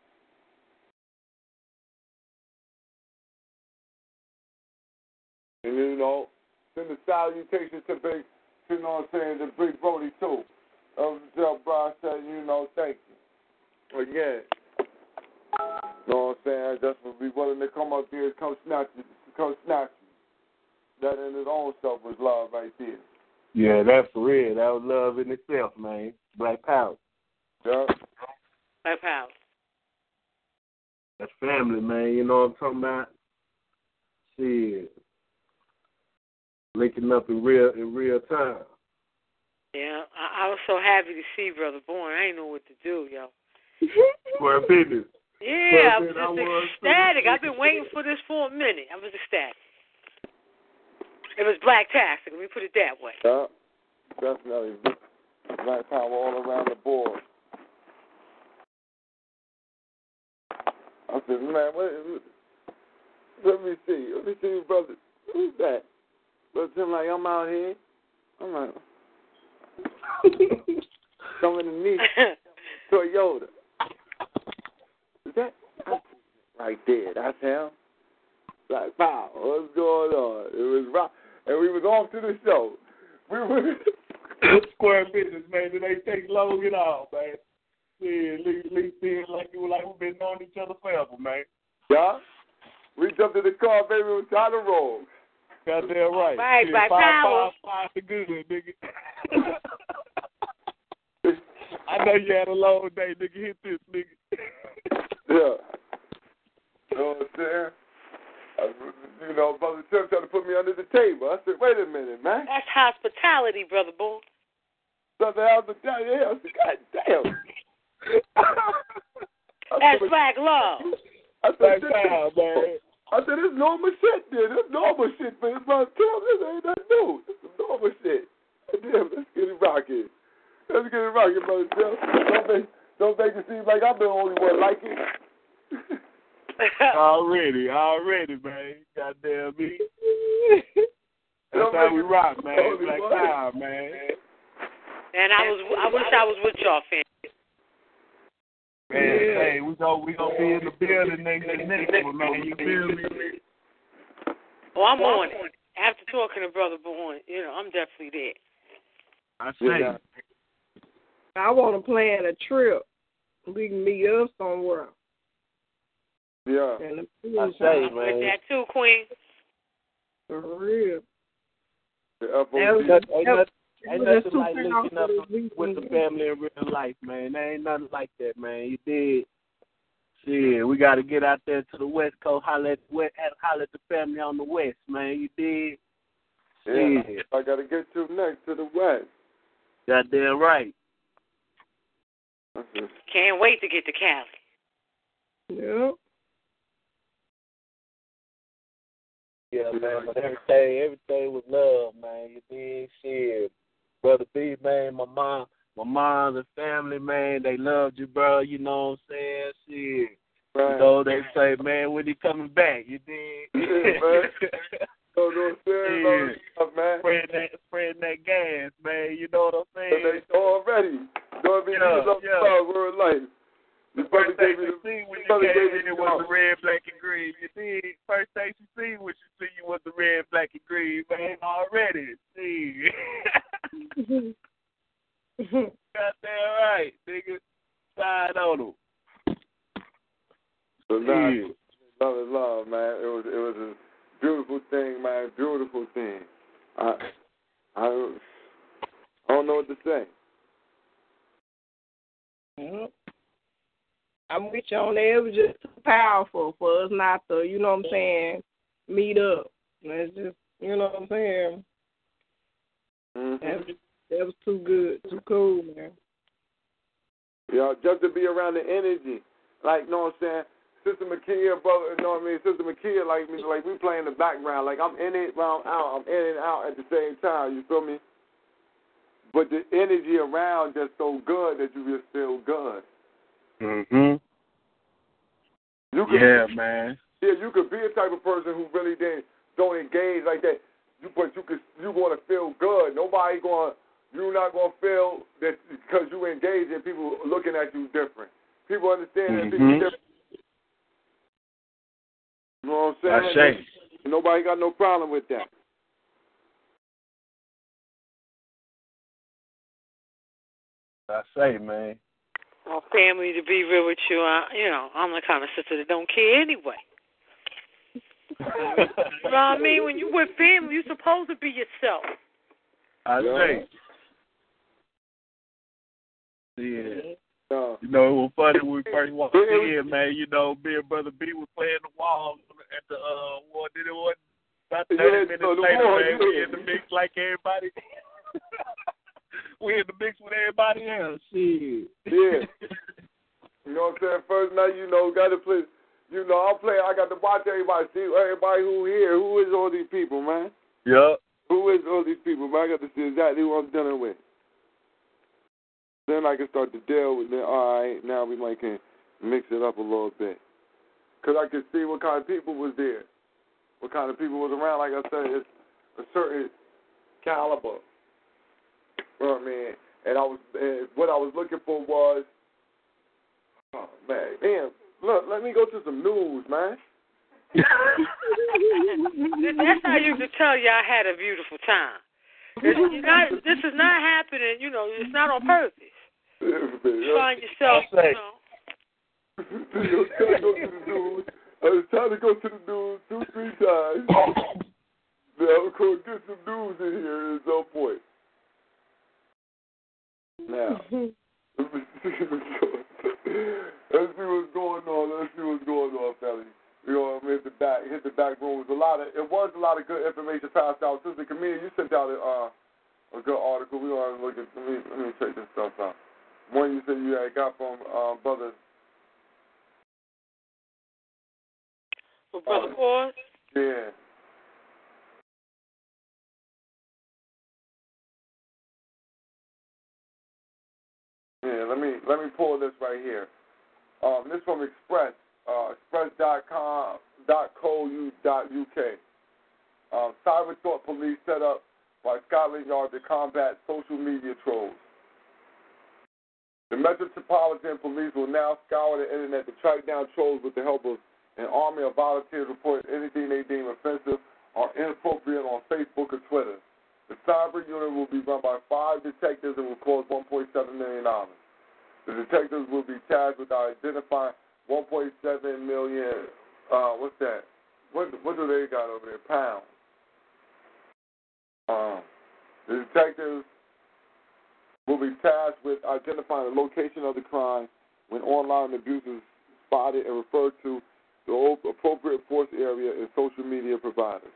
And you know, send the salutations to Big, you know what I'm saying, to Big Brody too. Tell Brian said, you know, thank you. Again. You know what I'm saying? Just for be willing to come up there and come snatch you. That in its own self was love right there. Yeah, that's for real. That was love in itself, man. Black power. Yeah. Black power. That's family, man. You know what I'm talking about? Shit. Linking up in real time. Yeah, I was so happy to see Brother Bourne. I didn't know what to do, yo. For business. Yeah, I was just ecstatic. I've been waiting for this for a minute. I was ecstatic. It was black-tastic. Let me put it that way. Yeah, definitely. Black power all around the board. I said, man, let me see, brother. Who's that? Brother Tim, like, I'm out here. I'm like, coming to meet Toyota. Is that right there? That's him. Like, wow, what's going on? It was rock, and we was off to the show. We were square business, man. It ain't take long at all, man. Yeah, at least feels like we've been knowing each other forever, man. Yeah. We jumped in the car, baby. It was time to roll. Goddamn right. Right, yeah, black power. Five the good, nigga. I know you had a long day, nigga. Hit this, nigga. Yeah. You know what I'm saying? Brother Tim tried to put me under the table. I said, wait a minute, man. That's hospitality, Brother Bourne. Brother hospitality. I said, God damn. That's black love. I said, man. I said, this normal shit, dude. This normal shit, man. Brother Tim, this ain't nothing new. This is normal shit. Damn, let's get it rocking. Let's get it rocking, Brother Tim. Don't make it seem like I'm the only one like it. Already, man. Goddamn me. That's how we rock, man. Black power, man. And I wish I was with y'all, fam. Man, hey, we gonna be in the building next one, man. You feel me? Oh, I'm on it. After talking to Brother Bourne, I'm definitely there. I say. I want to plan a trip. We can meet up somewhere. Yeah. I say, man. With that too, Queen. For real. Ain't nothing like linking up with the family in real life, man. There ain't nothing like that, man. You did. Shit, we got to get out there to the West Coast, holler at the family on the West, man. You did. Yeah, I got to get you next to the West. Goddamn right. Can't wait to get to Cali. Yep. Yeah, man, but everything was love, man. You did. Shit. Brother B, man, my mom, the family, man, they loved you, bro. You know what I'm saying? Shit. Right. You know, they say, man, when he coming back? You did. Yeah, man. You know what I'm saying? Man. Spreading that gas, man. You know what I'm saying? They already. You know what I mean? We're in life. The first thing you see when you came in was the red, black, and green. You did. First thing you see when you see you was the red, black, and green, man. Already. See. Goddamn right, nigga. Side on them. So now, love is love, man. It was a beautiful thing, man. Beautiful thing. I don't know what to say. Yep. I'm with you on that. It was just too powerful for us not to, you know what I'm saying, meet up. It's just, you know what I'm saying. Mm-hmm. That was too good, too cool, man. Yeah, just to be around the energy, like, you know what I'm saying. Sister Makia, brother, you know what I mean. Sister Makia, like we play in the background, like I'm in it while I'm out. I'm in and out at the same time. You feel me? But the energy around just so good that you just feel good. Mhm. Man. Yeah, you could be a type of person who really don't engage like that. But you going to feel good. You're not going to feel that because you engage and people looking at you different. People understand that people different. You know what I'm saying? Nobody got no problem with that. I say, man. Well, family, to be real with you, I'm the kind of sister that don't care anyway. You know what I mean? When you with family, you're supposed to be yourself. I say. Yeah. You know, it was funny when we first walked in, man. You know, me and Brother B was playing the wall at the, about 30 minutes later, man. We in the mix like everybody. We in the mix with everybody else. Shit. Yeah. You know what I'm saying? First night, got to play. I'm playing. I got to watch everybody, see everybody who here. Who is all these people, man? Yep. Who is all these people, man? I got to see exactly who I'm dealing with. Then I can start to deal with it. All right, now we might can mix it up a little bit. Because I can see what kind of people was there. What kind of people was around. Like I said, it's a certain caliber. You know what I mean? And what I was looking for was, oh, man, damn, look, let me go to some news, man. That's how you can tell y'all had a beautiful time. This is not happening, it's not on purpose. You find yourself, I was trying to go to the news 2-3 times. Now I'm going to get some news in here at some point. Now, let's see what's going on, fellas. Hit the back room. It was a lot of good information passed out. Sister Camille, you sent out a good article. We want to look at. Let me check this stuff out. One you said you had got from Brother. From Brother Paul? Yeah. Yeah, let me pull this right here. This from Express, express.com.co.uk. Cyber Thought Police set up by Scotland Yard to combat social media trolls. The Metropolitan Police will now scour the internet to track down trolls with the help of an army of volunteers reporting anything they deem offensive or inappropriate on Facebook or Twitter. The cyber unit will be run by 5 detectives and will cost $1.7 million. The detectives will be tasked with identifying 1.7 million, what's that? What do they got over there? Pounds. The detectives will be tasked with identifying the location of the crime when online abuse is spotted and referred to the appropriate force area in social media providers.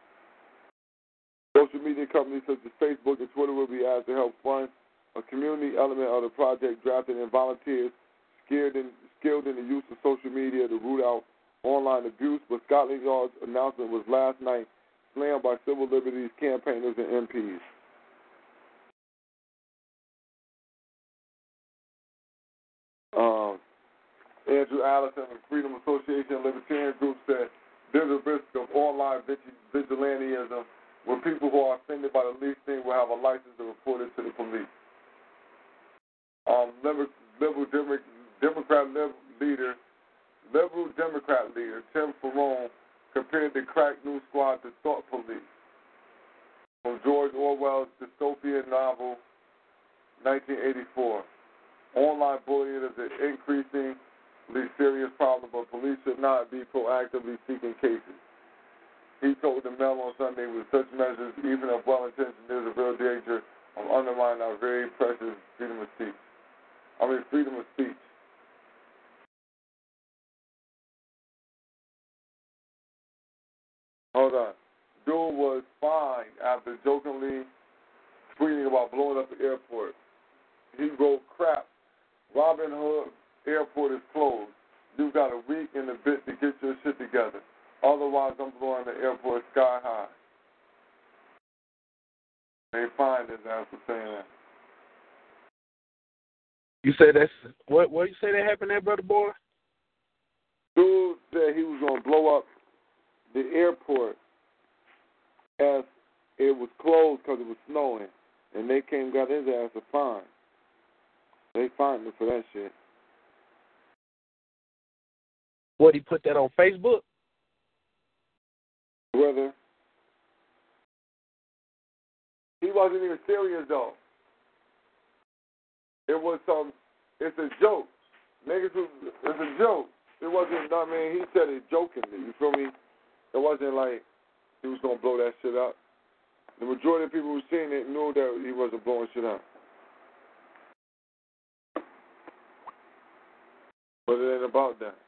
Social media companies such as Facebook and Twitter will be asked to help fund a community element of the project, drafted in volunteers skilled in the use of social media to root out online abuse. But Scotland Yard's announcement was last night slammed by civil liberties campaigners and MPs. Andrew Allison of Freedom Association and Libertarian Group said there's a risk of online vigilantism where people who are offended by the least thing will have a license to report it to the police. Liberal Democrat leader Tim Farron compared the crack news squad to thought police. From George Orwell's dystopian novel 1984. Online bullying is an increasingly serious problem, but police should not be proactively seeking cases. He told the Mail on Sunday, with such measures, even if well-intentioned, there's a real danger of undermining our very precious freedom of speech. Hold on. Dude was fined after jokingly tweeting about blowing up the airport. He wrote, "Crap, Robin Hood Airport is closed. You've got a week and a bit to get your shit together. Otherwise, I'm blowing the airport sky high." They fined his ass for saying that. You say that's what you say that happened there, Brother Boy? Dude said he was gonna blow up the airport as it was closed because it was snowing, and they came and got his ass a fine. They fined him for that shit. What, he put that on Facebook? Whether he wasn't even serious though. It was some it's a joke. Niggas, it's a joke. It wasn't, I mean, he said it jokingly, you feel me? It wasn't like he was going to blow that shit up. The majority of people who seen it knew that he wasn't blowing shit up. But it ain't about that.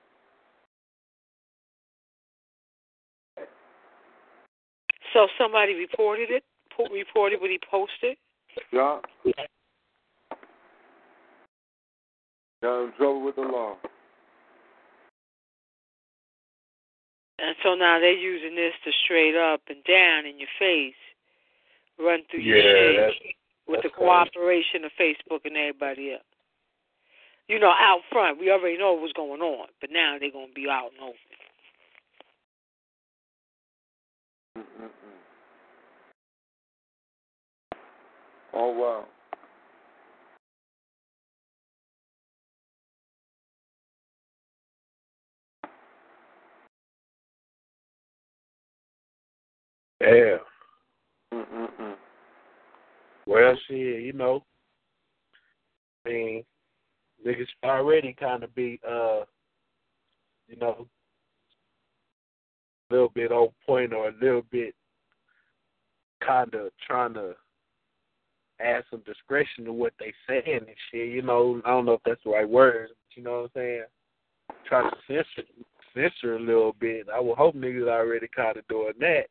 So somebody reported what he posted? Yeah. Got in trouble with the law. And so now they're using this to straight up and down in your face run through your shit with the cooperation of Facebook and everybody else. You know, out front, we already know what's going on, but now they're going to be out and open. Oh, wow. Yeah. Well, shit, you know, I mean, niggas already kind of be, you know, a little bit on point or a little bit kind of trying to add some discretion to what they saying and shit. You know, I don't know if that's the right word, but you know what I'm saying? Try to censor a little bit. I would hope niggas already kind of doing that.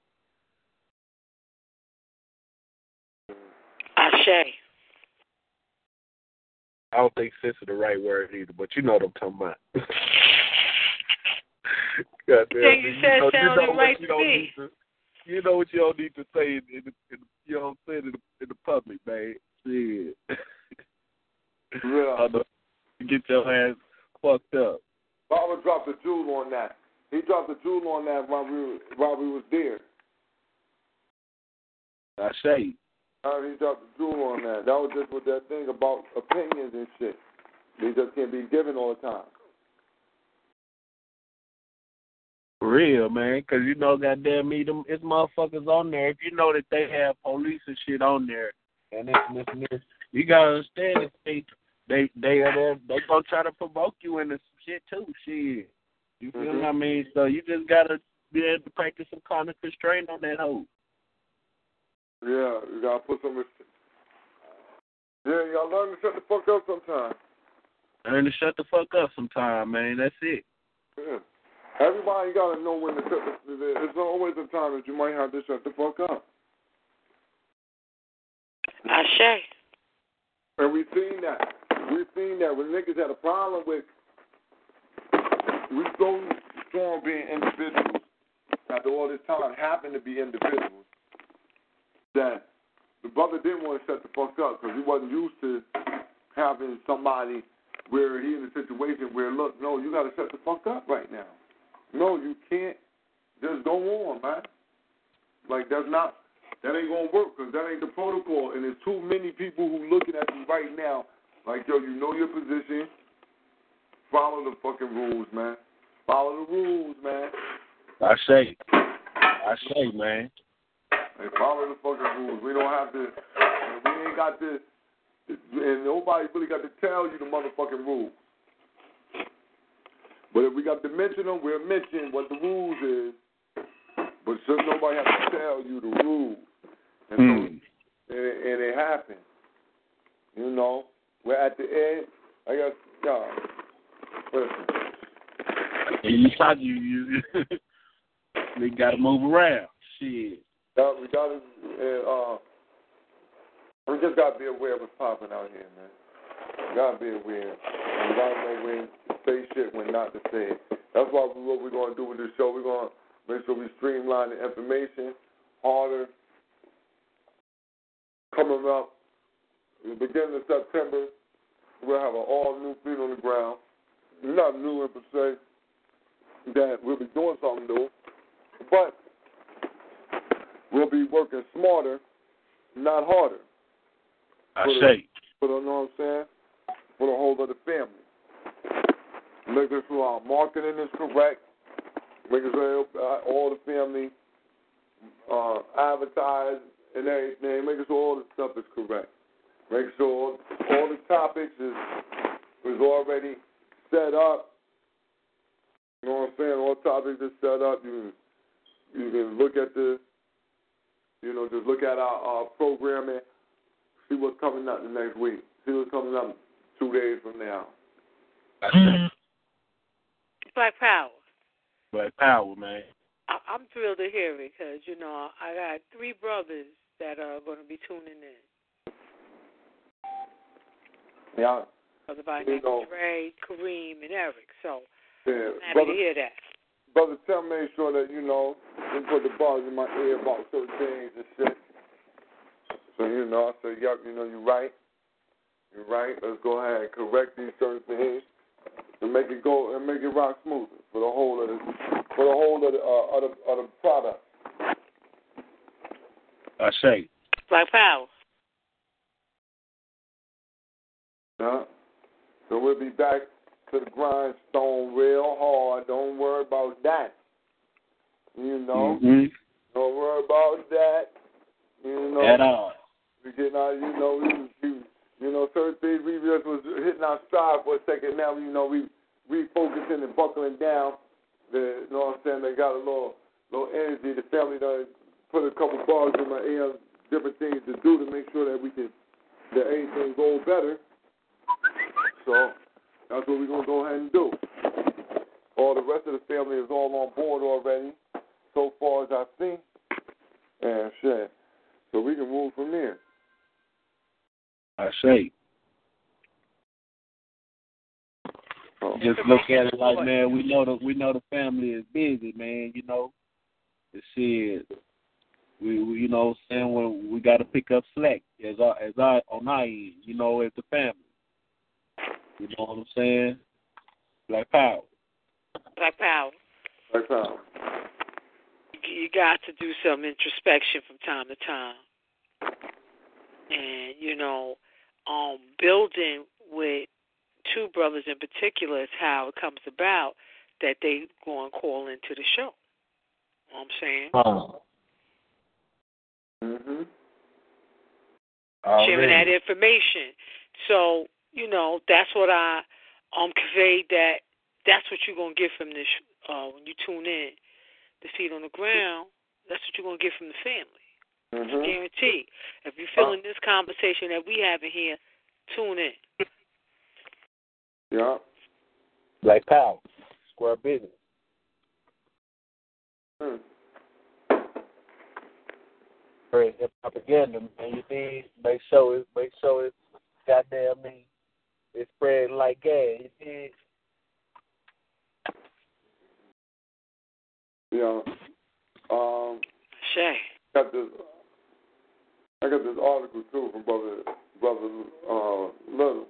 Ashe. I don't think censor the right word either, but you know what I'm talking about. Goddamn, you said sounded right to me. You know what you don't need to say you don't say it in the public, man. Shit. Yeah. Get your ass fucked up. Baba dropped a jewel on that. He dropped a jewel on that while we was there. I say. He dropped a jewel on that. That was just with that thing about opinions and shit. They just can't be given all the time. For real, man, because you know, goddamn me, it's motherfuckers on there. If you know that they have police and shit on there, and this, you gotta understand that they are there. They gonna try to provoke you into some shit too. Shit, you feel what I mean? So you just gotta be able to practice some kind of constraint on that hoe. Yeah, you gotta put some. Yeah, you gotta learn to shut the fuck up sometime. Learn to shut the fuck up sometime, man. That's it. Yeah. Everybody got to know when to shut there's always a time that you might have to shut the fuck up. Ashe. And we've seen that. We've seen that when niggas had a problem with, we so strong being individuals, after all this time happened to be individuals, that the brother didn't want to shut the fuck up because he wasn't used to having somebody where he in a situation where, look, no, you got to shut the fuck up right now. No, you can't just go on, man. Like, that ain't going to work because that ain't the protocol. And there's too many people who looking at you right now like, yo, you know your position. Follow the fucking rules, man. Follow the rules, man. I say, man. Hey, follow the fucking rules. We don't have to, we ain't got to, and nobody really got to tell you the motherfucking rules. But if we got to mention them, we'll mention what the rules is. But shouldn't nobody have to tell you the rules. And so, and it happened. You know, we're at the end. I guess, y'all. Listen. You they got to move around. Shit. We got to, we just got to be aware of what's popping out here, man. We got to be aware. We got to know when to say shit, when not to say it. That's what we're going to do with this show. We're going to make sure we streamline the information harder. Coming up, the beginning of September, we'll have an all-new feet on the ground. Not new per se, that we'll be doing something new, but we'll be working smarter, not harder. I say. You know what I'm saying? For the whole of the family. Making sure our marketing is correct. Making sure all the family advertise and everything. Making sure all the stuff is correct. Make sure all the topics is already set up. You know what I'm saying? All topics are set up. You can look at the, just look at our programming, see what's coming up the next week. See what's coming up 2 days from now. Black Power. Black Power, man. I'm thrilled to hear it because, I got 3 brothers that are going to be tuning in. Yeah. Brother by name Dre, Kareem, and Eric. So yeah, I'm happy to hear that. Brother, make sure that, you put the bars in my ear about certain things and shit. So, I said, yep, you're right. You're right. Let's go ahead and correct these certain things and make it go and make it rock smoother for the whole of the product. I say. Black Power. Yeah. So we'll be back to the grindstone real hard. Don't worry about that. Mm-hmm. Don't worry about that. At all. We getting out, certain things we just was hitting our stride for a second. Now, we refocusing and buckling down. You know what I'm saying? They got a little energy. The family done put a couple bars in my ear, different things to do to make sure that anything go better. So that's what we're going to go ahead and do. All the rest of the family is all on board already, so far as I've seen. And shit. So we can move from there. I say. Just look at it like, man, we know the family is busy, man. The shit. We saying when we got to pick up slack as I on our end, as the family. You know what I'm saying? Black Power. Black Power. Black Power. You got to do some introspection from time to time. And, building with 2 brothers in particular is how it comes about that they go and call into the show. You know what I'm saying? Mm-hmm. Sharing that information. So, that's what I conveyed, that's what you're going to get from this when you tune in. The feet on the ground, that's what you're going to get from the family. Mm-hmm. It's guaranteed. If you're feeling this conversation that we have in here, tune in. Yeah. Black Power. Square business. Great propaganda, man. You need make sure it's goddamn me. It's spreading like gas. You need. Yeah. Shay. I got this article too from brother Little.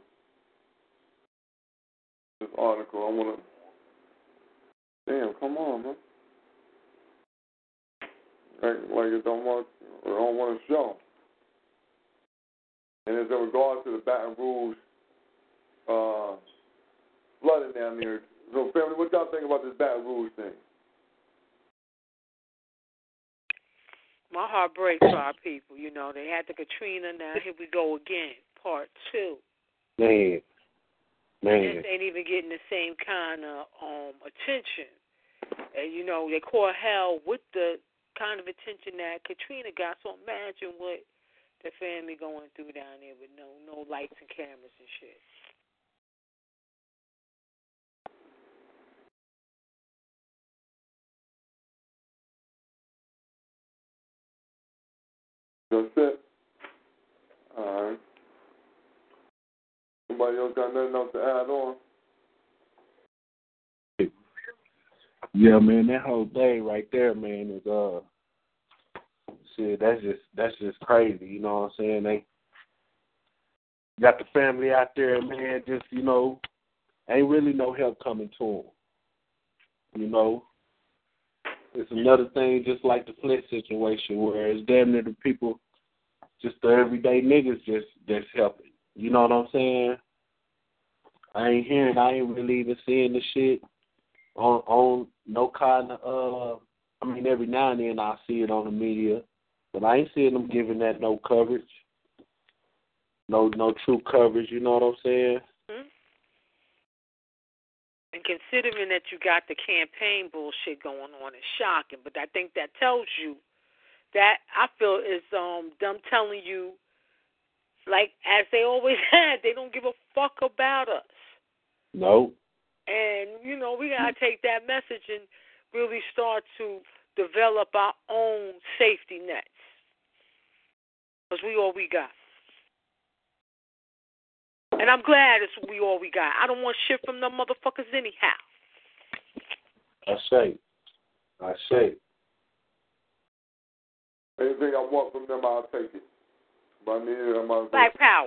This article I wanna. Damn, come on, man. Like it don't want to show. And it's in regards to the Baton Rouge flooding down there. So, family, what y'all think about this Baton Rouge thing? My heart breaks for our people. They had the Katrina. Now here we go again, part 2. Man. This ain't even getting the same kind of attention. And they call hell with the kind of attention that Katrina got. So imagine what the family going through down there with no lights and cameras and shit. That's it. All right. Somebody else got nothing else to add on? Yeah, man, that whole thing right there, man, is shit. That's just crazy. You know what I'm saying? They got the family out there, man. Just ain't really no help coming to them. It's another thing, just like the Flint situation, where it's damn near the people, just the everyday niggas, just helping. You know what I'm saying? I ain't really even seeing the shit on no kind of. Every now and then I see it on the media, but I ain't seeing them giving that no coverage. no true coverage. You know what I'm saying? Mm-hmm. And considering that you got the campaign bullshit going on, it's shocking. But I think that tells you that I feel is them telling you, like as they always had, they don't give a fuck about us. No. And we gotta take that message and really start to develop our own safety nets, because we all we got. And I'm glad it's we all we got. I don't want shit from them motherfuckers anyhow. I say. Anything I want from them, I'll take it. But I mean, Black power.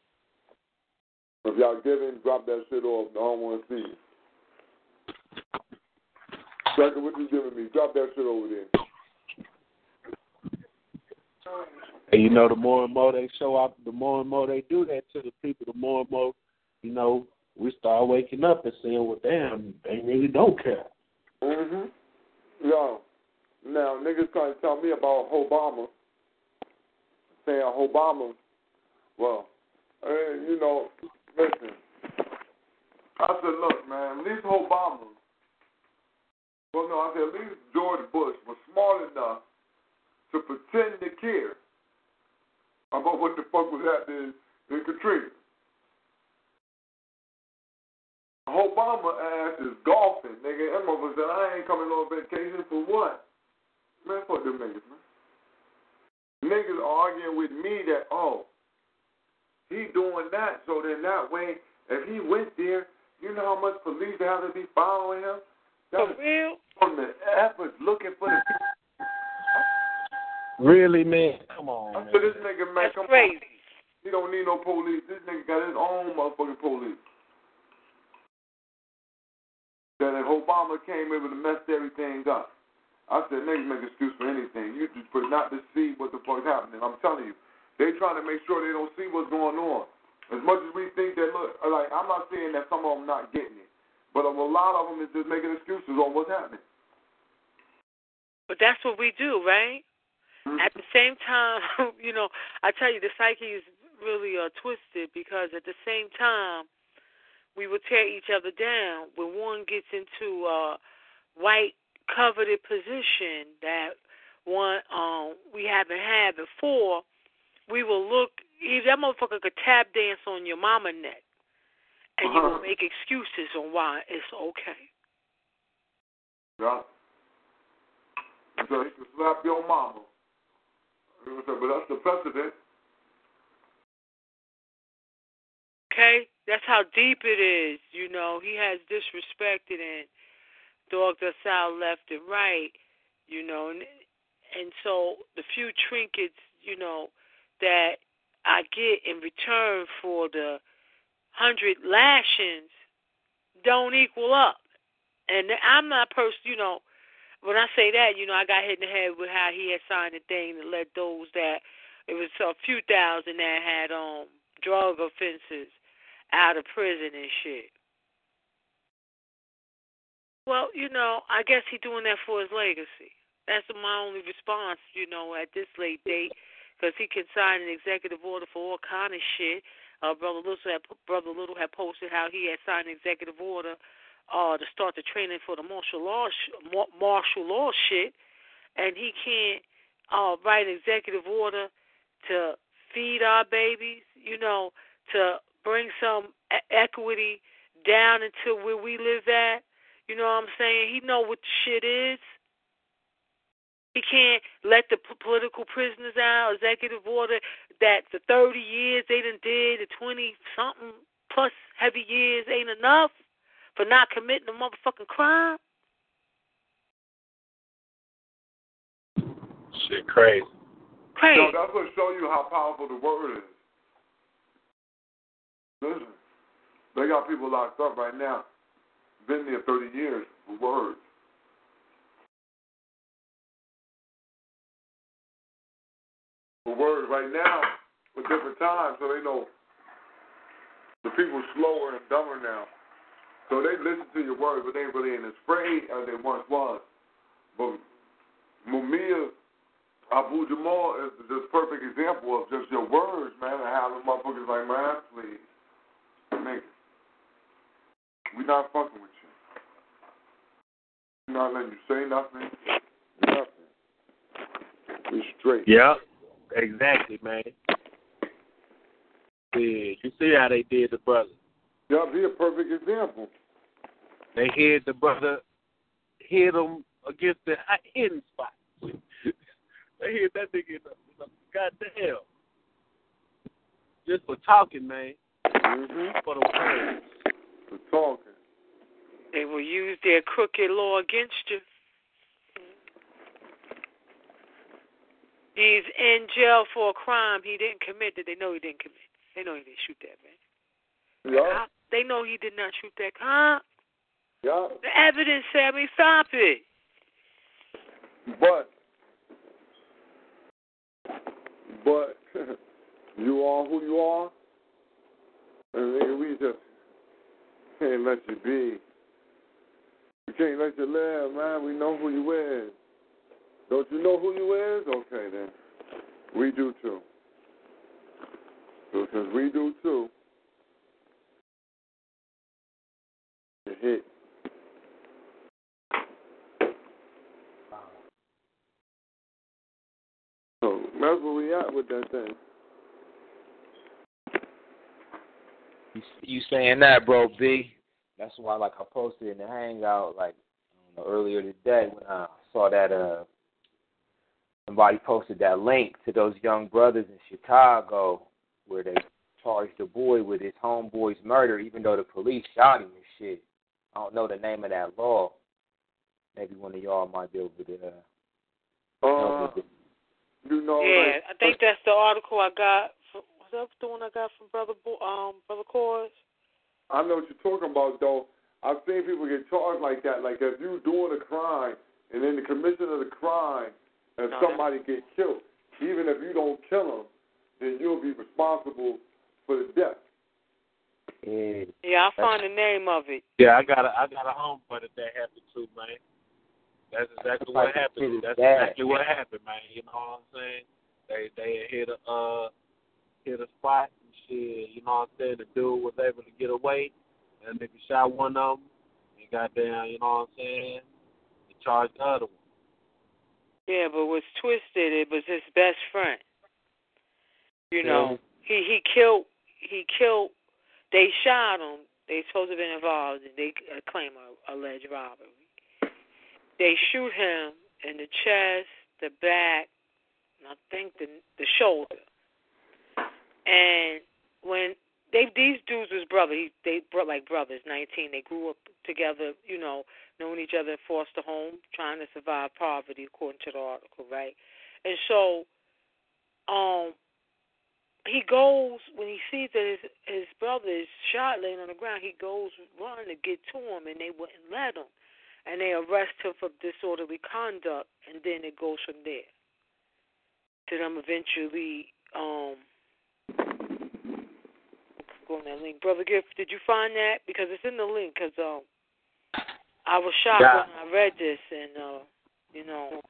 If y'all giving, drop that shit off. I don't want to see it. Second, what you giving me? Drop that shit over there. And the more and more they show up, the more and more they do that to the people, the more and more, we start waking up and saying, well, damn, they really don't care. Mm-hmm. Yo, now, niggas trying to tell me about Obama, saying Obama, well, listen. I said, look, man, at least Obama, I said at least George Bush was smart enough to pretend to care about what the fuck was happening in Katrina. Obama ass is golfing, nigga. That motherfucker said, I ain't coming on vacation for what? Man, fuck them niggas, man. Niggas arguing with me that, he doing that, so then that way, if he went there, you know how much police have to be following him? For real? From the efforts looking for the people. Really, man? Come on, I said, this nigga, man, that's crazy. He don't need no police. This nigga got his own motherfucking police. That if Obama came able to mess everything up, I said, niggas make excuse for anything. You just for not to see what the fuck's happening. I'm telling you. They trying to make sure they don't see what's going on. As much as we think that, look, like, I'm not saying that some of them not getting it, but a lot of them is just making excuses on what's happening. But that's what we do, right? Mm-hmm. At the same time, I tell you, the psyche is really twisted, because at the same time, we will tear each other down when one gets into a white coveted position that one we haven't had before. We will look, that motherfucker could tap dance on your mama neck, and you will make excuses on why it's okay. Yeah. So he can slap your mama. But that's the precedent. Okay? That's how deep it is. He has disrespected and dogged us out left and right, and so the few trinkets, that I get in return for the 100 lashings don't equal up. And I'm not when I say that, I got hit in the head with how he had signed a thing to let those that, it was a few thousand that had drug offenses out of prison and shit. Well, I guess he's doing that for his legacy. That's my only response, at this late date, because he can sign an executive order for all kind of shit. Brother Little had posted how he had signed an executive order to start the training for the martial law shit, and he can't write an executive order to feed our babies, to bring some equity down into where we live at. You know what I'm saying? He know what the shit is. He can't let the political prisoners out, executive order that the 30 years they done did, the 20-something plus heavy years ain't enough for not committing a motherfucking crime. Shit crazy. Crazy. That's what show you how powerful the word is. Listen, they got people locked up right now, been there 30 years for words. For words right now, for different times, so they know the people slower and dumber now. So they listen to your words, but they really ain't as afraid as they once was. But Mumia, Abu Jamal is just a perfect example of just your words, man, and how the motherfuckers like, man, please, nigga, we not fucking with you. We not letting you say nothing. We straight. Yeah, exactly, man. Yeah, you see how they did the brother. Yeah, be a perfect example. They hit the brother, hit him against the hidden spot. They hit that nigga in the goddamn. Just for talking, man. Mm-hmm. For the words. For talking. They will use their crooked law against you. He's in jail for a crime he didn't commit that they know he didn't commit. They know he didn't shoot that man. Yeah. They know he did not shoot that cop. Yeah. The evidence said, stop it. But you are who you are, and nigga, we just can't let you be. We can't let you live, man. We know who you is. Don't you know who you is? Okay, then. We do, too. So since we do, too, you hit. So that's where we at with that thing. You saying that, bro, B? That's why, like, I posted in the Hangout, like, earlier today when I saw that somebody posted that link to those young brothers in Chicago where they charged the boy with his homeboy's murder, even though the police shot him and shit. I don't know the name of that law. Maybe one of y'all might be able to. You know. Yeah, like, I think that's the article I got. Was that the one I got from Brother Cores? I know what you're talking about, though. I've seen people get charged like that. Like, if you doing a crime, and in the commission of the crime, if somebody get killed, even if you don't kill them, then you'll be responsible for the death. Yeah, I'll find the name of it. Yeah, I got a homeboy that happened to, man. That's exactly what happened. That's exactly what happened, man. You know what I'm saying? They hit a spot and shit. You know what I'm saying? The dude was able to get away. And nigga shot one of them. And goddamn, you know what I'm saying? He charged the other one. Yeah, but what's twisted? It was his best friend. You know, he killed. They shot him. They supposed to have been involved, and they claim a alleged robbery. They shoot him in the chest, the back, and I think the shoulder. And when these dudes was brothers, they brought like brothers, 19. They grew up together, you know, knowing each other in foster home, trying to survive poverty, according to the article, right? And so, he goes, when he sees that his brother is shot laying on the ground, he goes running to get to him, and they wouldn't let him. And they arrest him for disorderly conduct, and then it goes from there. To them eventually, go on that link. Brother Gift, did you find that? Because it's in the link, because I was shocked when I read this, and, it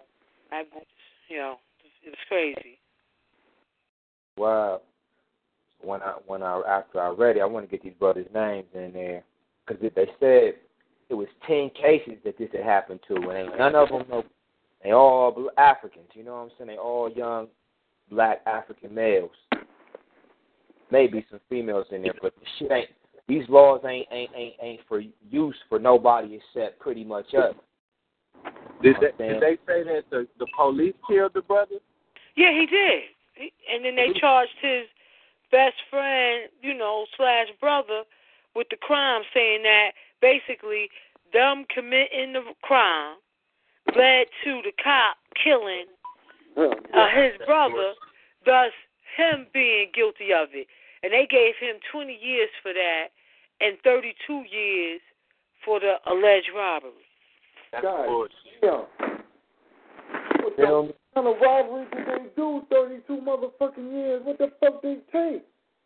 was crazy. Wow. After I read it, I want to get these brothers' names in there, because they said it was 10 cases that this had happened to, and none of them, they all Africans. You know what I'm saying? They all young black African males. Maybe some females in there, but the shit ain't. These laws ain't for use for nobody except pretty much us. Did they say that the police killed the brother? Yeah, he did. And then they charged his best friend, / brother with the crime, saying that basically them committing the crime led to the cop killing his brother, thus him being guilty of it. And they gave him 20 years for that and 32 years for the alleged robbery. That's bullshit. Yeah. What the kind of robbery did they do? 32 motherfucking years. What the fuck they take?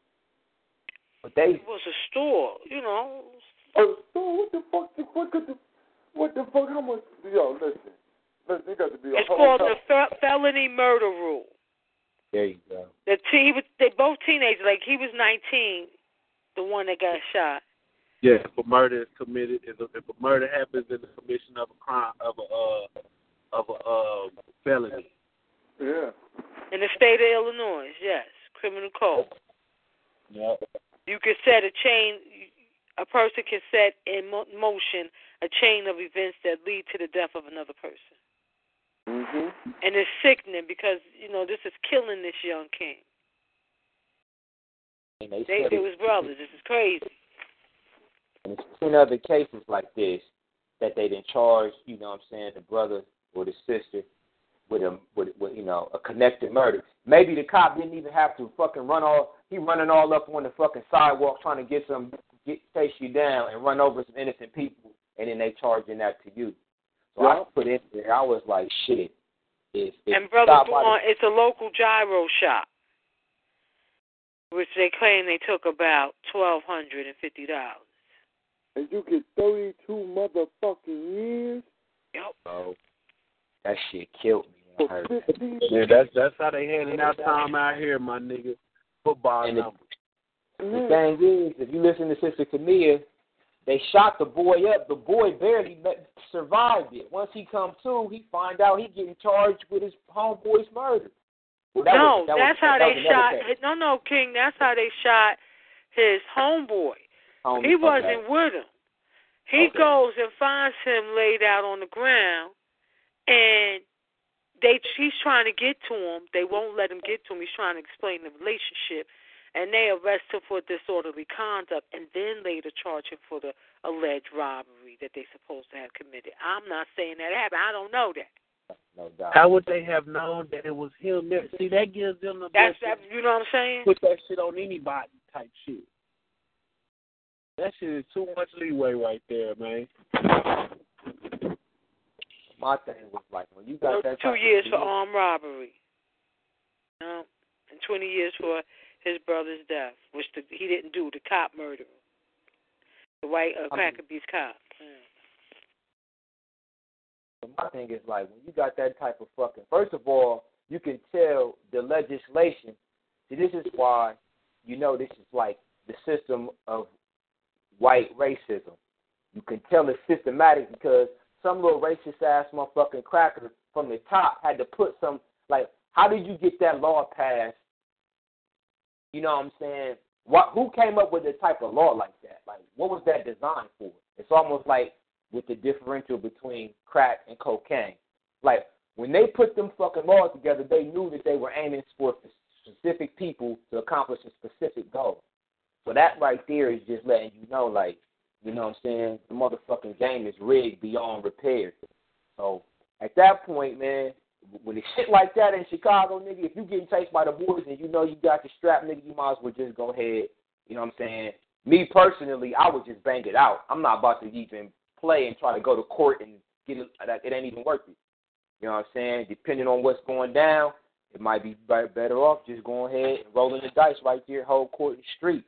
It was a store, A store? What the fuck? How much? Yo, listen. got to be a It's whole called lot. the felony murder rule. There you go. They both teenagers. Like he was 19, the one that got shot. Yeah, if a murder is committed, if a murder happens in the commission of a crime of a felony. Yeah. In the state of Illinois, yes, criminal code. Yep. You can set a chain. A person can set in motion a chain of events that lead to the death of another person. Mhm. And it's sickening because this is killing this young king. And They was brothers. This is crazy. And it's 10 other cases like this that they didn't charge, the brother or the sister with a connected murder. Maybe the cop didn't even have to fucking running all up on the fucking sidewalk trying to chase you down and run over some innocent people, and then they charging that to you. So I put in there, I was like, shit. And Brother Vaughn, it's a local gyro shop, which they claim they took about $1,250. And you get 32 motherfucking years? Yep. Oh, that shit killed me when I heard that. Yeah, that's how they handing out time out here, my nigga. Football and numbers. The thing is, if you listen to Sister Camilla, they shot the boy up. The boy barely survived it. Once he come to, he find out he getting charged with his homeboy's murder. Well, that's how they shot. No, King. That's how they shot his homeboy. He wasn't with him. He goes and finds him laid out on the ground, and he's trying to get to him. They won't let him get to him. He's trying to explain the relationship. And they arrest him for disorderly conduct and then later charge him for the alleged robbery that they're supposed to have committed. I'm not saying that happened. I don't know that. No doubt. How would they have known that it was him there? See, that gives them the you know what I'm saying? Put that shit on anybody type shit. That shit is too much leeway right there, man. My thing was like, when you got that 2 years for armed robbery. And 20 years for his brother's death, which he didn't do. The cop murdered him. The white Cracker Beast cop. So my thing is like, when you got that type of fucking, first of all, you can tell the legislation. See, this is why, this is like the system of white racism. You can tell it's systematic because some little racist ass motherfucking cracker from the top had to put some, like, how did you get that law passed? You know what I'm saying? Who came up with the type of law like that? Like, what was that designed for? It's almost like with the differential between crack and cocaine. Like, when they put them fucking laws together, they knew that they were aiming for specific people to accomplish a specific goal. So that right there is just letting you know, like, you know what I'm saying? The motherfucking game is rigged beyond repair. So at that point, man, when it's shit like that in Chicago, nigga, if you getting chased by the boys and you know you got the strap, nigga, you might as well just go ahead. You know what I'm saying? Me personally, I would just bang it out. I'm not about to even play and try to go to court and get it. It ain't even worth it. You know what I'm saying? Depending on what's going down, it might be better off just going ahead and rolling the dice right there, whole court and street.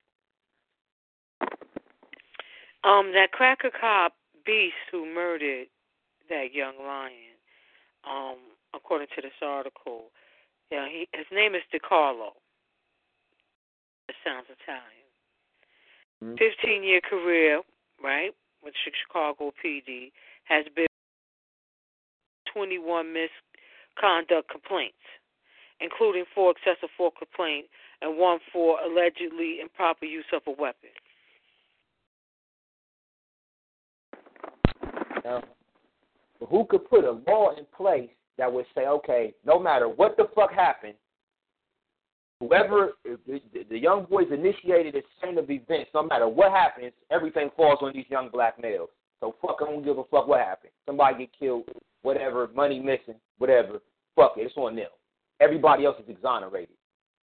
That cracker cop Beast who murdered that young lion, according to this article, his name is DiCarlo. It sounds Italian. 15-year career, right, with Chicago PD, has been 21 misconduct complaints, including 4 excessive force complaints and 1 for allegedly improper use of a weapon. But who could put a law in place that would say, okay, no matter what the fuck happened, whoever, the young boys initiated a chain of events, no matter what happens, everything falls on these young black males. So fuck, I don't give a fuck what happened. Somebody get killed, whatever, money missing, whatever. Fuck it, it's on them. Everybody else is exonerated.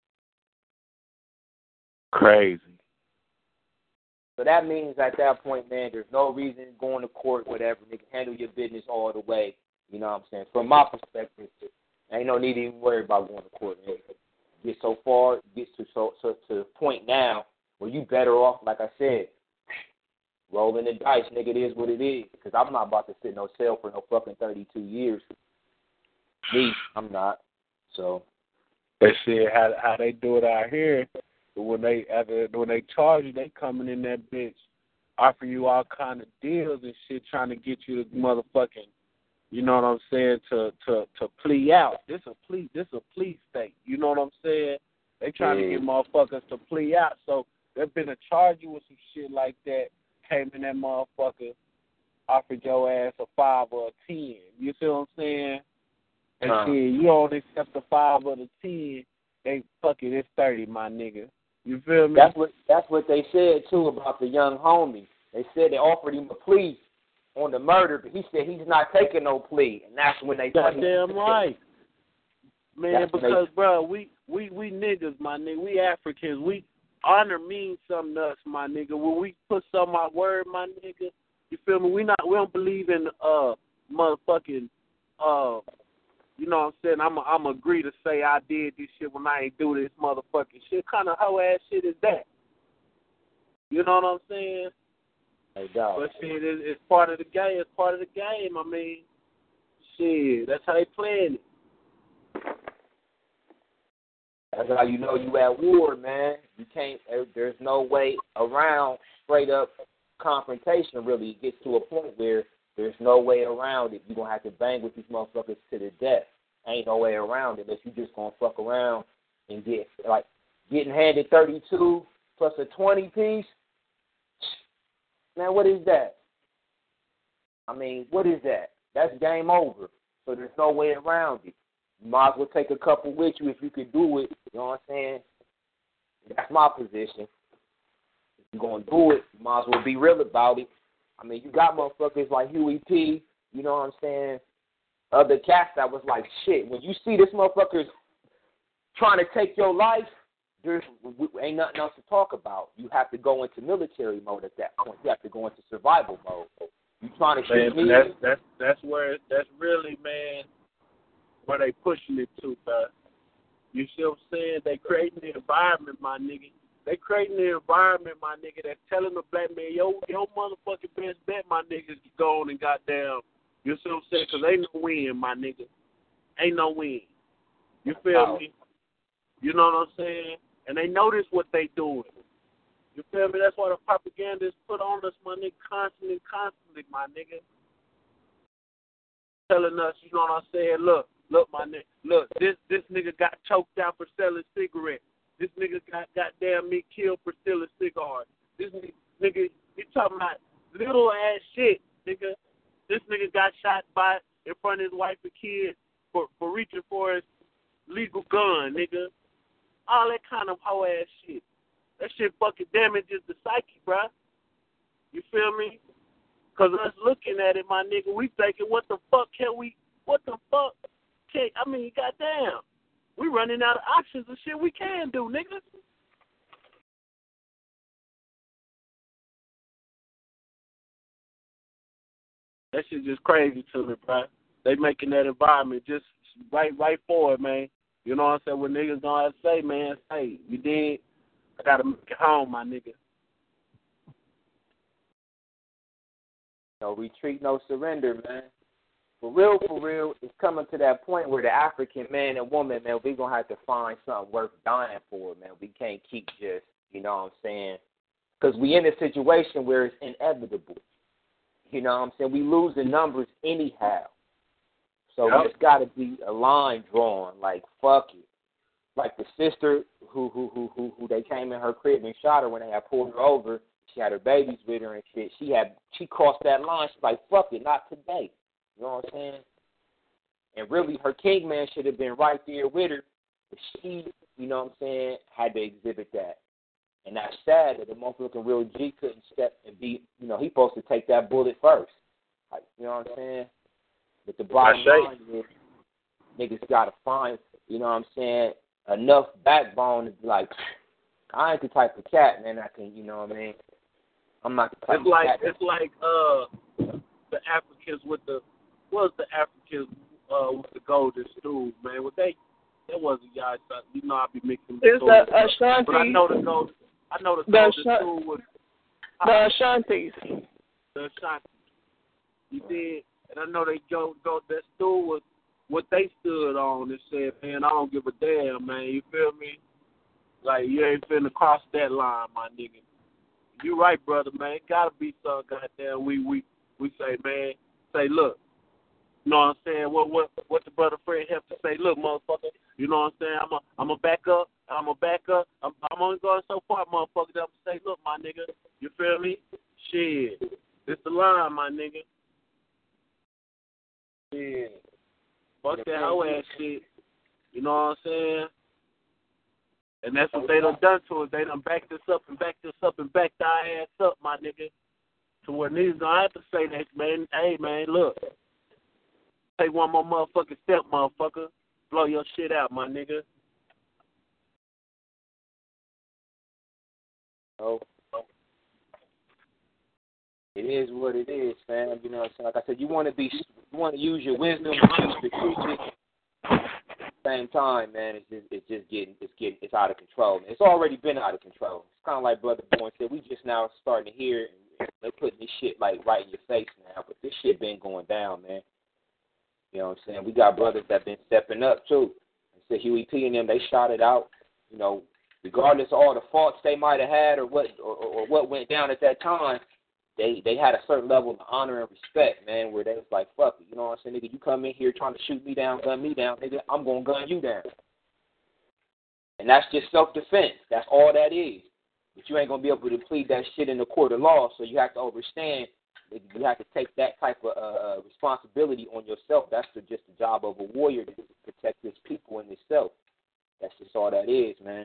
Crazy. So that means at that point, man, there's no reason going to court, whatever. They can handle your business all the way. You know what I'm saying? From my perspective, ain't no need to even worry about going to court. Man. Get so far, get to the point now where you better off, like I said, rolling the dice, nigga. It is what it is. Because I'm not about to sit in no cell for no fucking 32 years Me, I'm not. So they see how they do it out here. When they charge you, they coming in that bitch, offer you all kind of deals and shit, trying to get you to motherfucking, you know what I'm saying, to plea out. This a plea state. You know what I'm saying? They trying to get motherfuckers to plea out. So they're finna charge you with some shit like that. Came in that motherfucker, offered your ass a 5 or a 10. You see what I'm saying? And shit, you don't accept the 5 or the 10. They fuck it, it's 30, my nigga. You feel me? That's what they said too about the young homie. They said they offered him a plea on the murder, but he said he's not taking no plea, and that's when they. Goddamn right, man. Because bro, we niggas, my nigga. We Africans. We honor means something to us, my nigga. When we put some our word, my nigga. You feel me? We don't believe in motherfucking you know what I'm saying? I'm agree to say I did this shit when I ain't do this motherfucking shit. Kind of hoe ass shit is that? You know what I'm saying? Hey, dog. But shit, it's part of the game. It's part of the game. I mean, shit, that's how they playing it. That's how you know you at war, man. You can't. There's no way around straight up confrontation. Really, it gets to a point where there's no way around it. You're going to have to bang with these motherfuckers to the death. Ain't no way around it unless you just going to fuck around and getting handed 32 plus a 20 piece. Man, what is that? I mean, what is that? That's game over. So there's no way around it. You might as well take a couple with you if you could do it. You know what I'm saying? That's my position. If you're going to do it, you might as well be real about it. I mean, you got motherfuckers like Huey P., you know what I'm saying, other cats that was like, shit, when you see this motherfucker's trying to take your life, there ain't nothing else to talk about. You have to go into military mode at that point. You have to go into survival mode. You trying to shoot me? That's really, man, where they pushing it to, man. You see what I'm saying? They creating the environment, my nigga. They creating the environment, my nigga, that's telling the black man, your motherfucking best bet, my nigga, is to go on and goddamn, you see what I'm saying? Because ain't no win, my nigga. Ain't no win. You feel me? You know what I'm saying? And they notice what they doing. You feel me? That's why the propaganda is put on us, my nigga, constantly, my nigga. Telling us, you know what I'm saying? Look, my nigga, look, this nigga got choked out for selling cigarettes. This nigga got goddamn me killed for stealing cigars. This nigga, you talking about little ass shit, nigga. This nigga got shot in front of his wife and kids for reaching for his legal gun, nigga. All that kind of hoe ass shit. That shit fucking damages the psyche, bruh. You feel me? Cause us looking at it, my nigga, we thinking, what the fuck, goddamn. We running out of options and shit we can do, nigga. That shit just crazy to me, bro. They making that environment just right for it, man. You know what I'm saying? When niggas gonna have to say, man, hey, you did, I gotta make it home, my nigga. No retreat, no surrender, man. For real, it's coming to that point where the African man and woman, man, we going to have to find something worth dying for, man. We can't keep just, you know what I'm saying? Because we in a situation where it's inevitable. You know what I'm saying? We losing numbers anyhow. So There's got to be a line drawn, like, fuck it. Like the sister who they came in her crib and shot her when they had pulled her over. She had her babies with her and shit. She crossed that line. She's like, fuck it, not today. You know what I'm saying? And really, her king man should have been right there with her. But she, you know what I'm saying, had to exhibit that. And that's sad that the motherfucking real G couldn't step and be, you know, he's supposed to take that bullet first. Like, you know what I'm saying? But the bottom line is, niggas got to find, you know what I'm saying, enough backbone to be like, I ain't the type of cat, man, I can, you know what I mean? I'm not the type of cat. It's like the Africans with the with the golden stool, man. That wasn't y'all. You know, I be mixing. It's the Ashanti. But I know the golden stool was the Ashantis. The Ashanti. You did, and I know they go. That stool was what they stood saying? I don't give a damn, man. You feel me? Like, you ain't finna cross that line, my nigga. You right, brother, man. It gotta be some goddamn we say, man. Say, look. You know what I'm saying? What the brother Fred have to say? Look, motherfucker. You know what I'm saying? I'm a back up. I'm only going so far, motherfucker. That I'm say, look, my nigga. You feel me? Shit. It's the line, my nigga. Shit. Fuck that hoe ass shit. You know what I'm saying? And that's what they done to us. They done backed us up and backed us up and backed our ass up, my nigga. To where niggas gonna have to say that, man. Hey, man, look. Take one more motherfucking step, motherfucker. Blow your shit out, my nigga. Oh. It is what it is, fam. You know what I'm saying? Like I said, you want to use your wisdom, use strategic. At the same time, man, it's out of control. It's already been out of control. It's kind of like Brother Bourne said. We just now starting to hear it. They're putting this shit like right in your face now, but this shit been going down, man. You know what I'm saying? We got brothers that been stepping up too. So Huey P and them, they shot it out. You know, regardless of all the faults they might have had or what went down at that time, they had a certain level of honor and respect, man, where they was like, fuck it, you know what I'm saying, nigga, you come in here trying to shoot me down, gun me down, nigga, I'm gonna gun you down. And that's just self-defense. That's all that is. But you ain't gonna be able to plead that shit in the court of law, so you have to understand. You have to take that type of responsibility on yourself. That's just the job of a warrior, to protect his people and himself. That's just all that is, man.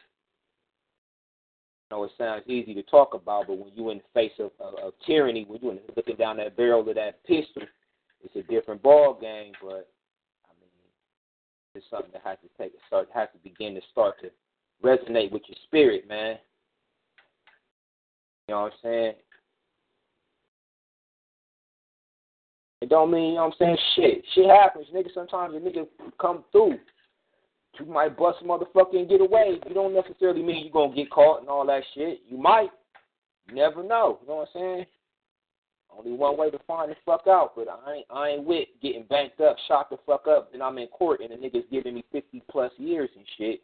I know it sounds easy to talk about, but when you're in the face of tyranny, when you're looking down that barrel of that pistol, it's a different ball game. But I mean, it's something that has to begin to start to resonate with your spirit, man. You know what I'm saying? It don't mean, you know what I'm saying, shit happens, nigga. Sometimes a nigga come through. You might bust a motherfucker and get away. You don't necessarily mean you're going to get caught and all that shit. You might. You never know. You know what I'm saying? Only one way to find the fuck out, but I ain't with getting banked up, shot the fuck up, and I'm in court and the nigga's giving me 50-plus years and shit.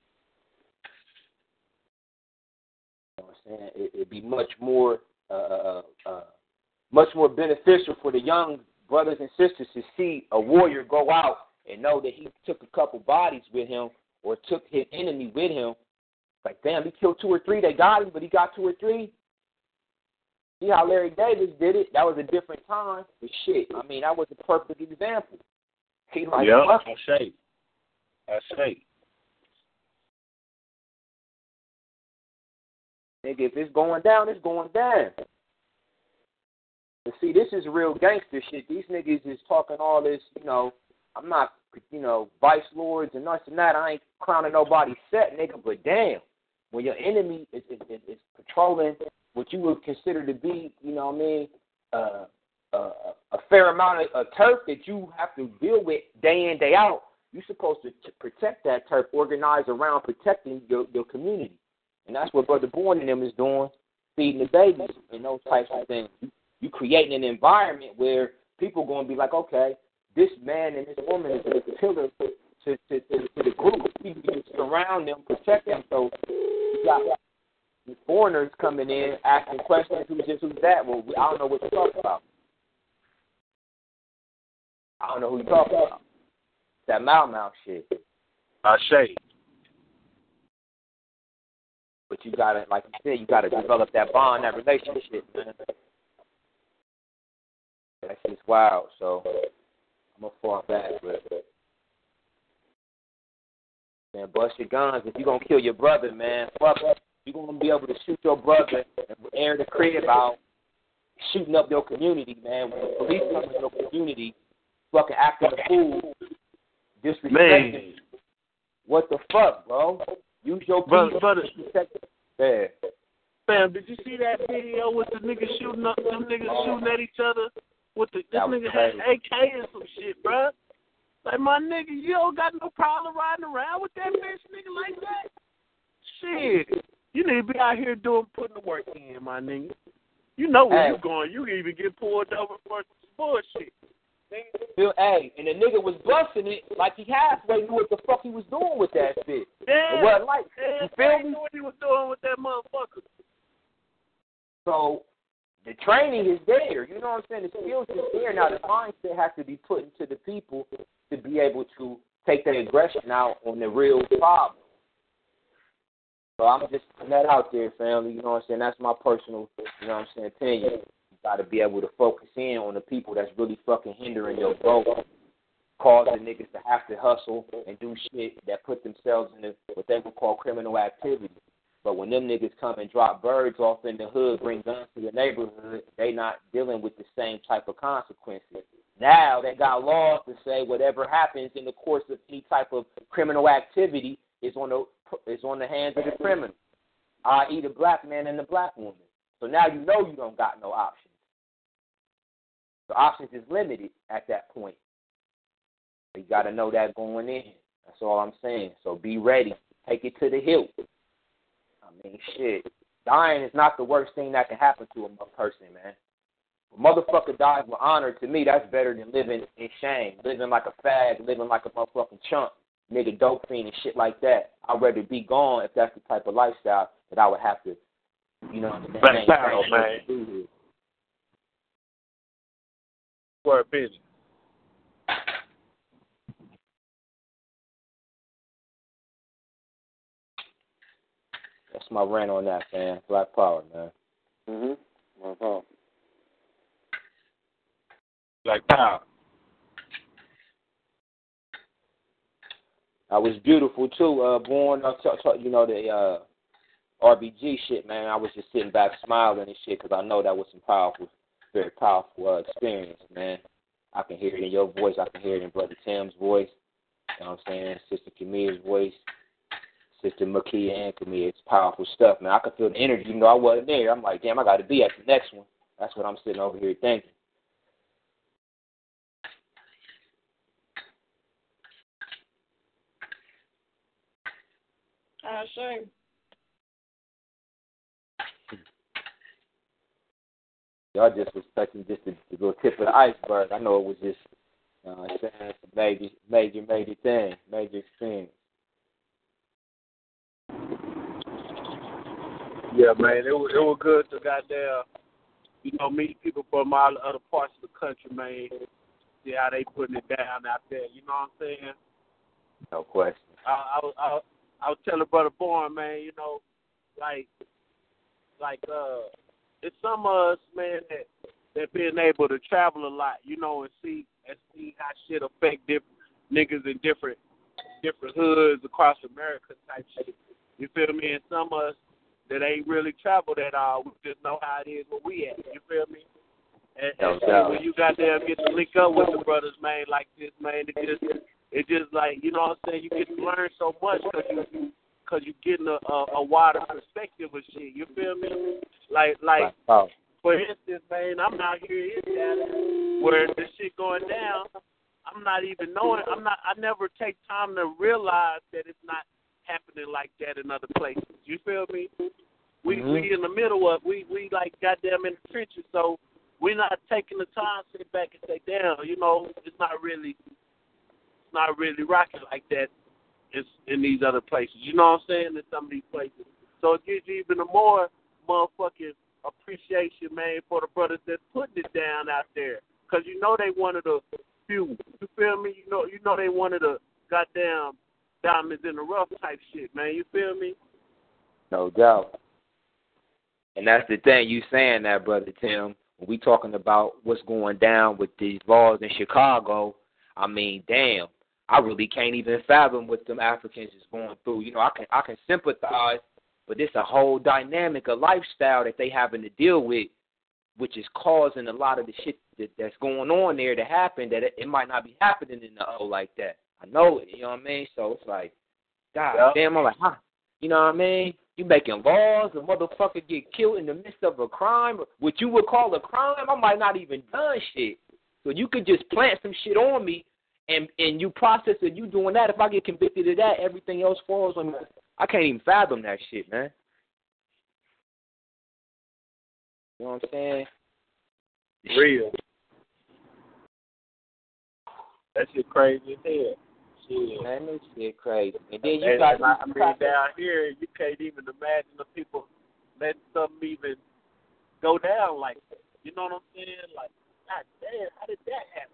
You know what I'm saying? It'd be much more beneficial for the young brothers and sisters to see a warrior go out and know that he took a couple bodies with him or took his enemy with him. Like, damn, he killed 2 or 3. They got him, but he got 2 or 3. See how Larry Davis did it? That was a different time. But shit, I mean, that was a perfect example. He like, yeah, fuck. I say. Nigga, if it's going down, it's going down. But see, this is real gangster shit. These niggas is talking all this, you know, I'm not, you know, vice lords and this and that. I ain't crowning nobody's set, nigga, but damn, when your enemy is patrolling what you would consider to be, you know what I mean, a fair amount of turf that you have to deal with day in, day out, you're supposed to protect that turf, organize around protecting your community. And that's what Brother Bourne and them is doing, feeding the babies and those types of things. You creating an environment where people going to be like, okay, this man and this woman is a pillar to the group. People surround them, protect them. So you got foreigners coming in, asking questions, who's this, who's that? Well, I don't know what you're talking about. I don't know who you're talking about. That mouth shit. I say. But you got to, like you said, you got to develop that bond, that relationship, man. That's just wild, so I'm going to fall back, but man, bust your guns. If you're going to kill your brother, man, fuck up. You're going to be able to shoot your brother and air the crib out, shooting up your community, man. When the police come in your community, fucking acting a fool, disrespecting. What the fuck, bro? Use your people to protect the Fam, did you see that video with the niggas shooting up, them niggas shooting at each other? This nigga had AK and some shit, bruh. Like, my nigga, you don't got no problem riding around with that bitch, nigga, like that? Shit. You need to be out here putting the work in, my nigga. You know where you going. You can even get pulled over for some bullshit. Hey, and the nigga was busting it like he halfway knew what the fuck he was doing with that shit. Yeah. It wasn't like, you feel me? Knew what he was doing with that motherfucker. So the training is there. You know what I'm saying? The skills is there. Now the mindset has to be put into the people to be able to take their aggression out on the real problem. So I'm just putting that out there, family. You know what I'm saying? That's my personal, you know what I'm saying, opinion. You got to be able to focus in on the people that's really fucking hindering your growth, causing niggas to have to hustle and do shit that put themselves in what they would call criminal activity. But when them niggas come and drop birds off in the hood, bring guns to the neighborhood, they not dealing with the same type of consequences. Now they got laws to say whatever happens in the course of any type of criminal activity is on the hands of the criminal, i.e. the black man and the black woman. So now you know you don't got no options. The options is limited at that point. You got to know that going in. That's all I'm saying. So be ready. Take it to the hilt. I mean, shit. Dying is not the worst thing that can happen to a person, man. A motherfucker dies with honor, to me, that's better than living in shame. Living like a fag, living like a motherfucking chump, nigga, dope fiend and shit like that. I'd rather be gone if that's the type of lifestyle that I would have to, you know, man. For a business. That's my rant on that, man. Black power, man. No problem. Black power. I was beautiful too. Born, you know, the RBG shit, man. I was just sitting back smiling and shit because I know that was some powerful, very powerful experience, man. I can hear it in your voice. I can hear it in Brother Tim's voice. You know what I'm saying? Sister Kamia's voice. Sister Makia and Kamia. It's powerful stuff, man. I could feel the energy even though I wasn't there. I'm like, damn, I got to be at the next one. That's what I'm sitting over here thinking. Shame. Y'all just was touching just the little tip of the iceberg. I know it was just, major thing, major experience. Yeah, man, it was good to goddamn, meet people from all the other parts of the country, man. See how they putting it down out there. You know what I'm saying? No question. I was telling Brother Bourne, man, it's some of us, man, that being able to travel a lot, and see how shit affect different niggas in different hoods across America type shit. You feel me? And some of us that ain't really traveled at all, we just know how it is where we at. You feel me? And when you got there get to link up with the brothers, man, like this, man, it just like, you know what I'm saying, you get to learn so much because you getting a wider perspective of shit. You feel me? Like for instance, man, I'm out here in Dallas where this shit going down. I'm not even knowing. I never take time to realize that it's not happening like that in other places. You feel me? We in the middle of we like goddamn in the trenches, so we're not taking the time to sit back and say, damn, it's not really rocking like that in these other places. You know what I'm saying? In some of these places. So it gives you even a more motherfucking appreciation, man, for the brothers that's putting it down out there. Because they one of the few. You feel me? You know they one of the goddamn diamonds in the rough type shit, man. You feel me? No doubt. And that's the thing, you saying that, Brother Tim, when we talking about what's going down with these laws in Chicago, I mean, damn, I really can't even fathom what them Africans is going through. I can sympathize, but it's a whole dynamic, a lifestyle that they having to deal with, which is causing a lot of the shit that's going on there to happen, that it might not be happening in the O like that. I know it, you know what I mean? So it's like, God damn, I'm like, huh? You know what I mean? You making laws, a motherfucker get killed in the midst of a crime, what you would call a crime, I might not even done shit. So you could just plant some shit on me, and you process it, you doing that. If I get convicted of that, everything else falls on me. I can't even fathom that shit, man. You know what I'm saying? Real. That shit crazy as hell. Shit. Man, this shit crazy. And then you got down here, you can't even imagine the people letting something even go down like that. You know what I'm saying? Like, God damn, how did that happen?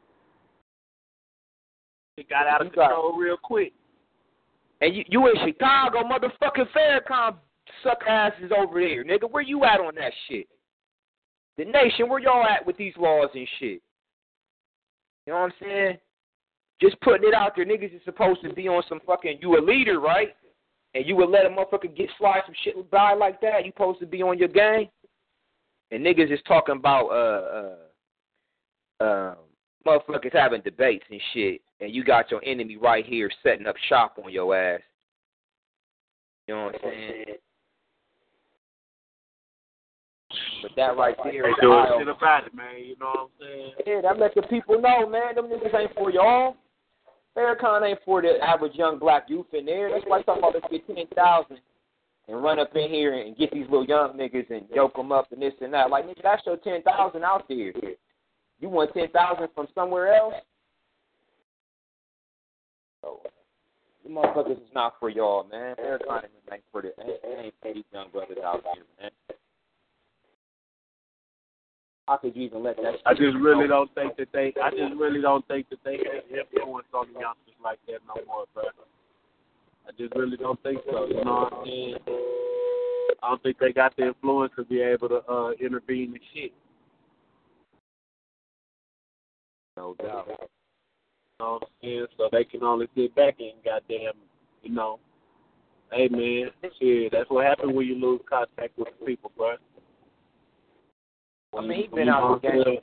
It got out of control real quick. And you in Chicago, motherfucking Farrakhan suck asses over there, nigga. Where you at on that shit? The nation, where y'all at with these laws and shit? You know what I'm saying? Just putting it out there, niggas is supposed to be on some fucking, you a leader, right? And you would let a motherfucker get slide some shit by like that? You supposed to be on your game? And niggas is talking about motherfuckers having debates and shit, and you got your enemy right here setting up shop on your ass. You know what I'm saying? But that right there is doing shit about it, man. You know what I'm saying? Yeah, that let the people know, man. Them niggas ain't for y'all. Farrakhan ain't for the average young black youth in there. That's why I talk about let's get 10,000 and run up in here and get these little young niggas and yoke them up and this and that. Like, nigga, that's your 10,000 out there. You want 10,000 from somewhere else? So, you motherfuckers is not for y'all, man. Farrakhan ain't for these young brothers out here, man. How could you even let that? I just really don't think that they have influence on the youngsters like that no more, bro. I just really don't think so. You know what I'm saying? I don't think they got the influence to be able to intervene in shit. No doubt. You know what I'm saying? So they can only sit back and goddamn, you know, hey man, shit, that's what happens when you lose contact with the people, bro. I mean, he's been out the game.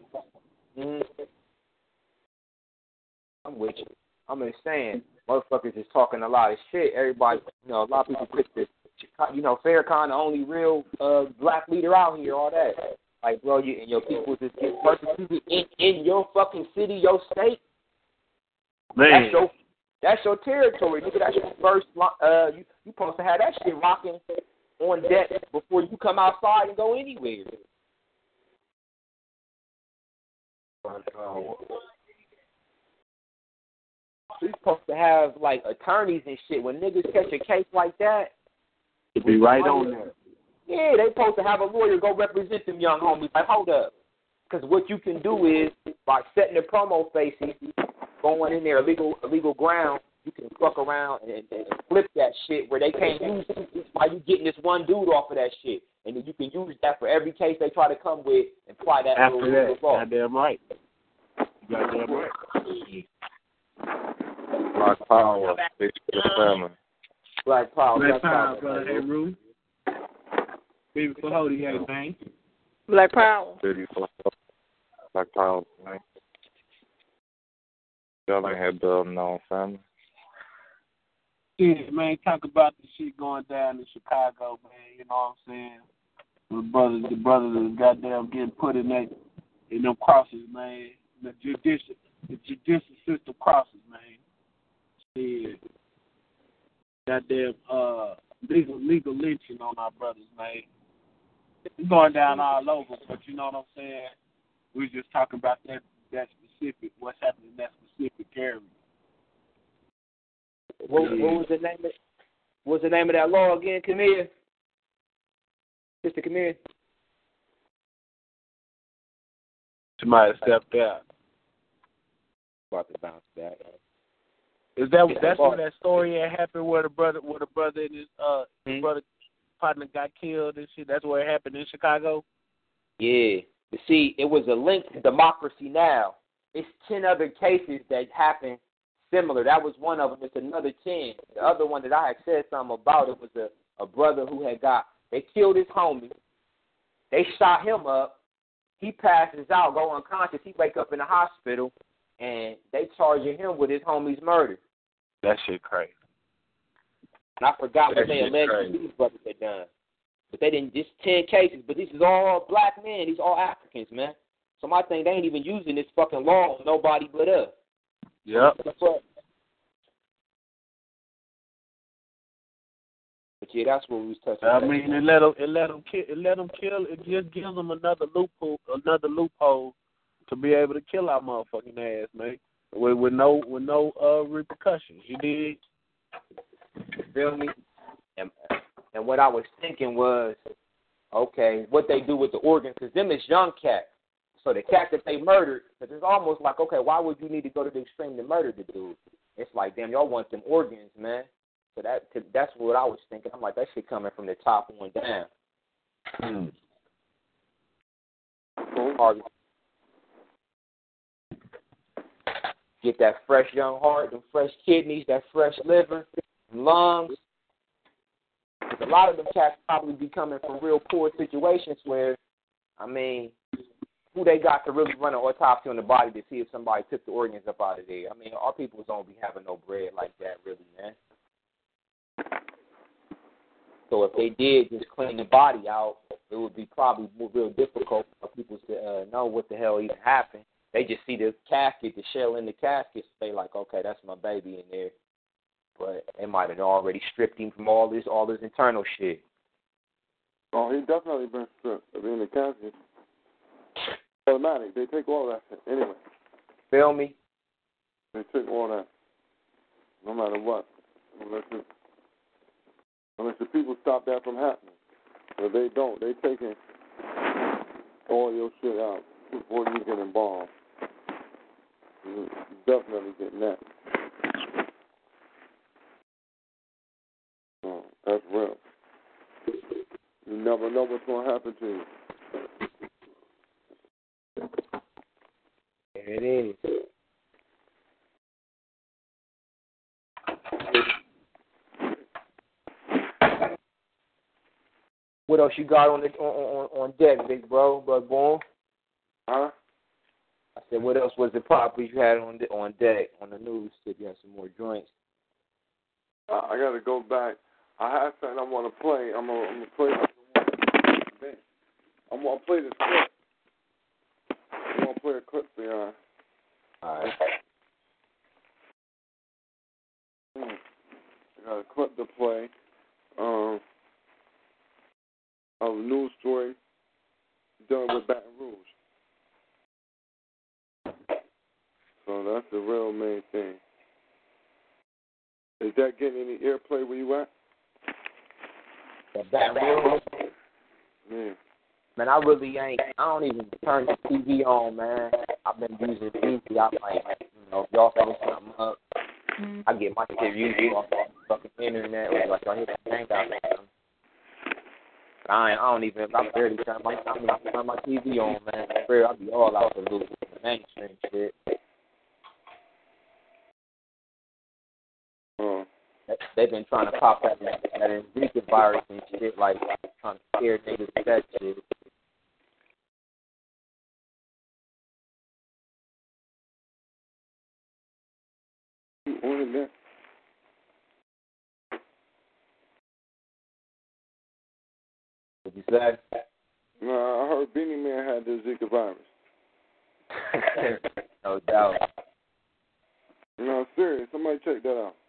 I'm with you. I'm just saying, motherfuckers is talking a lot of shit. Everybody, you know, a lot of people pick this, you know, Farrakhan, the only real black leader out here, all that. Like, bro, you and your people just get persecuted in your fucking city, your state. Man. That's your territory, nigga. That's your first, you supposed to have that shit rocking on deck before you come outside and go anywhere. He's supposed to have, like, attorneys and shit. When niggas catch a case like that, to be right on there. Yeah, they supposed to have a lawyer go represent them young homies. Like, hold up. Because what you can do is, by setting the promo faces, going in there illegal ground, you can fuck around and flip that shit where they can't use it while you getting this one dude off of that shit. And then you can use that for every case they try to come with and apply that after that. law. Goddamn right. Goddamn right. Black Power, big to the family. Black Power, brother. Hey, Rue. Baby for Hody, hey, man. Black Power. Black Power, man. Y'all ain't had building on family. Yeah, man, talk about the shit going down in Chicago, man. You know what I'm saying? The brothers is goddamn getting put in them crosses, man. The judicial system crosses, man. Yeah. Goddamn legal lynching on our brothers, man. It's going down all over, but you know what I'm saying? We're just talking about that specific, what's happening in that specific area. What was the name of What's the name of that law again, Camille? Sister Camille? Somebody stepped out. About to bounce back. That's where that story had happened where the brother and his brother partner got killed and shit. That's where it happened in Chicago. Yeah. You see, it was a link to Democracy Now! It's 10 other cases that happened similar. That was one of them. It's another 10. The other one that I had said something about, it was a brother who they killed his homie. They shot him up. He passes out, go unconscious. He wake up in the hospital, and they charging him with his homie's murder. That shit crazy. And I forgot what they alleged these brothers had done. But they didn't, just 10 cases, but this is all black men. These all Africans, man. So my thing, they ain't even using this fucking law on nobody but us. Yep. But yeah, that's what we was touching. I mean, it let them kill. It just gives them another loophole to be able to kill our motherfucking ass, man. with no repercussions. You did. Feel me? And what I was thinking was, okay, what they do with the organs, because them is young cats. So the cat that they murdered, because it's almost like, okay, why would you need to go to the extreme to murder the dude? It's like, damn, y'all want them organs, man. So that's what I was thinking. I'm like, that shit coming from the top on down. Get that fresh young heart, them fresh kidneys, that fresh liver, lungs. Because a lot of them cats probably be coming from real poor situations where, I mean, who they got to really run an autopsy on the body to see if somebody took the organs up out of there. I mean, our people don't be having no bread like that, really, man. So if they did just clean the body out, it would be probably real difficult for people to know what the hell even happened. They just see the casket, the shell in the casket, so they like, okay, that's my baby in there. But they might have already stripped him from all this internal shit. Oh, he definitely been stripped in the casket. Automatic. They take all that shit anyway. Feel me? They take all that, no matter what. Unless the people stop that from happening. If they don't, they taking all your shit out before you get involved. You're definitely getting that. So that's real. You never know what's going to happen to you. There it is. What else you got on deck, big bro, Bud Boom? Huh? I said, what else was the properties you had on deck on the news? If you had some more joints. I got to go back. I have something I want to play. I'm gonna play. I'm gonna play this clip. I'm gonna play a clip for y'all. All right. I got a clip to play. Of a news story done with Baton Rouge. So that's the real main thing. Is that getting any airplay where you at? Baton Rouge? Yeah. Man, I really ain't. I don't even turn the TV on, man. I've been using TV. I'm like, if y'all throw something up, I get my shit usually off the fucking internet or like I hit the tank out or something. I barely turn my TV on, man. I'll be all out the loop with the mainstream shit. They've been trying to pop that Zika virus and shit, like trying to scare niggas with that shit. On that. What you say? No, I heard Beanie Man had the Zika virus. No doubt. No, serious. Somebody check that out.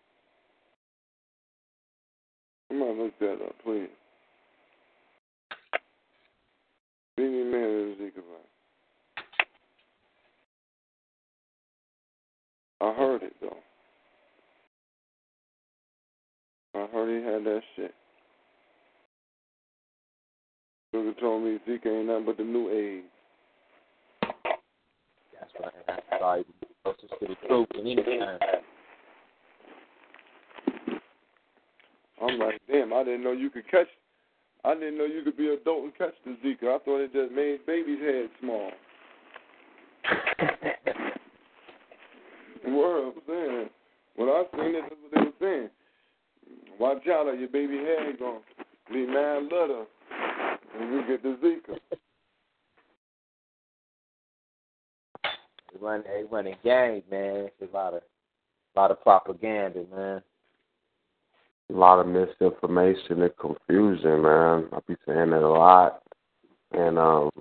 Somebody look that up, please. Beanie Man has the Zika virus. I heard it, though. I heard he had that shit. Sugar told me Zika ain't nothing but the new AIDS. That's right. That's right. Closest to the truth in any time. I'm like, damn, I didn't know you could catch. I didn't know you could be an adult and catch the Zika. I thought it just made babies' heads small. Word, I'm saying. When I seen it, that's what they were saying. Watch out, or your baby head gonna be mad little when you get the Zika. They running gangs, man. It's a lot of propaganda, man. A lot of misinformation and confusion, man. I be saying that a lot. And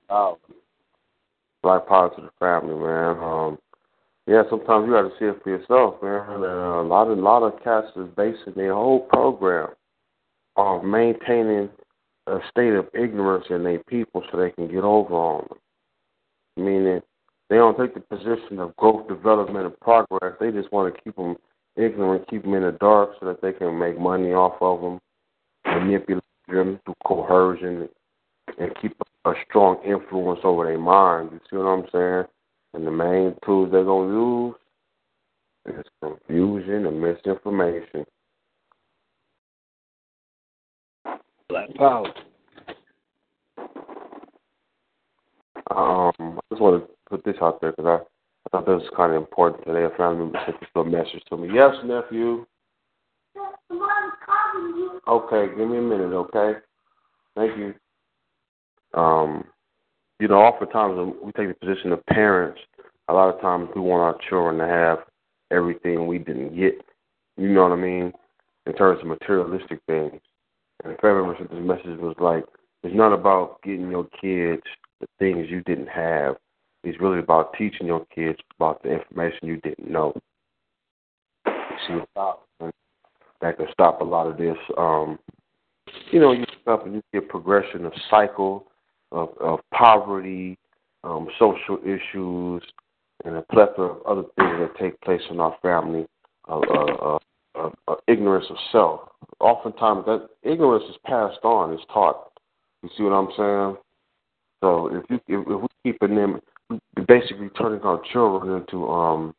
like parts of the family, man. Yeah, sometimes you got to see it for yourself, man. And, a lot of cats is basing their whole program on maintaining a state of ignorance in their people so they can get over on them. Meaning, They don't take the position of growth, development, and progress. They just want to keep them ignorant, keep them in the dark so that they can make money off of them, manipulate them through coercion, and keep a strong influence over their mind. You see what I'm saying? And the main tools they're going to use is confusion and misinformation. Black power. I just want to put this out there because I thought this was kind of important today. A family member sent this little message to me. Yes, nephew. Okay, give me a minute, okay? Thank you. Oftentimes when we take the position of parents, a lot of times we want our children to have everything we didn't get. You know what I mean? In terms of materialistic things. And the family member sent this message was like, it's not about getting your kids the things you didn't have. It's really about teaching your kids about the information you didn't know. You see, that can stop a lot of this. You stop and you get progression of cycle of poverty, social issues, and a plethora of other things that take place in our family. Ignorance of self. Oftentimes, that ignorance is passed on, it's taught. You see what I'm saying? So if we keeping them, we basically turning our children into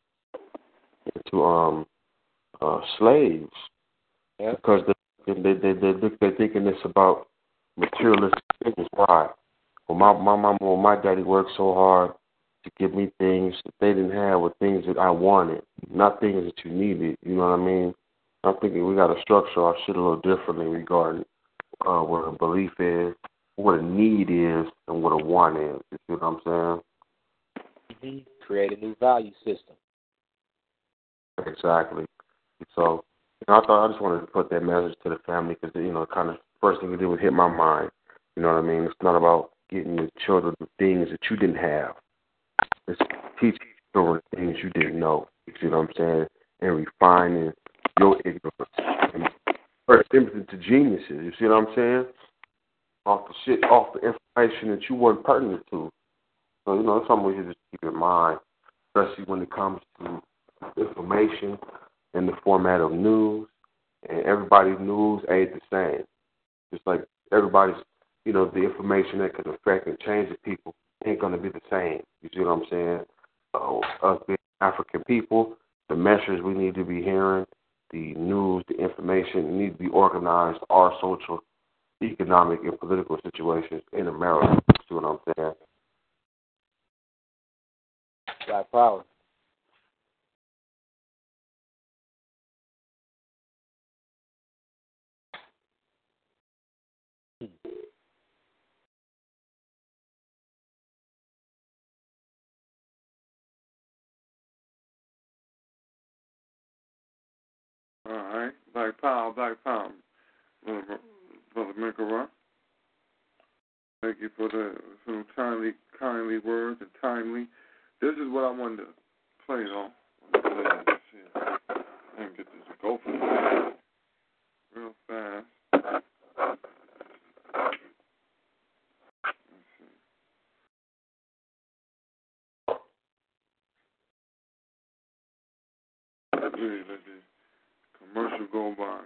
slaves. Yeah. Because they're thinking it's about materialistic things. Why? Well, my mama or my daddy worked so hard to give me things that they didn't have, or things that I wanted, not things that you needed. You know what I mean? I'm thinking we got to structure our shit a little differently regarding what a belief is, what a need is, and what a want is. You see what I'm saying? Mm-hmm. Create a new value system. Exactly. So I just wanted to put that message to the family because, kind of first thing it did was hit my mind. You know what I mean? It's not about getting your children the things that you didn't have. It's teaching children things you didn't know. You see what I'm saying? And refining your ignorance. And first them to geniuses. You see what I'm saying? Off the information that you weren't pertinent to. So, it's something we should just keep in mind, especially when it comes to information in the format of news. And everybody's news ain't the same. Just like everybody's, the information that can affect and change the people ain't going to be the same. You see what I'm saying? Us being African people, the messages we need to be hearing, the news, the information need to be organized, our social, economic, and political situations in America. You see what I'm saying? Black power. All right, Black Power. Brother Minkara. Thank you for some kindly words and timely. This is what I wanted to play though. And get this to go for me real fast. Let's see. Really let the commercial go by.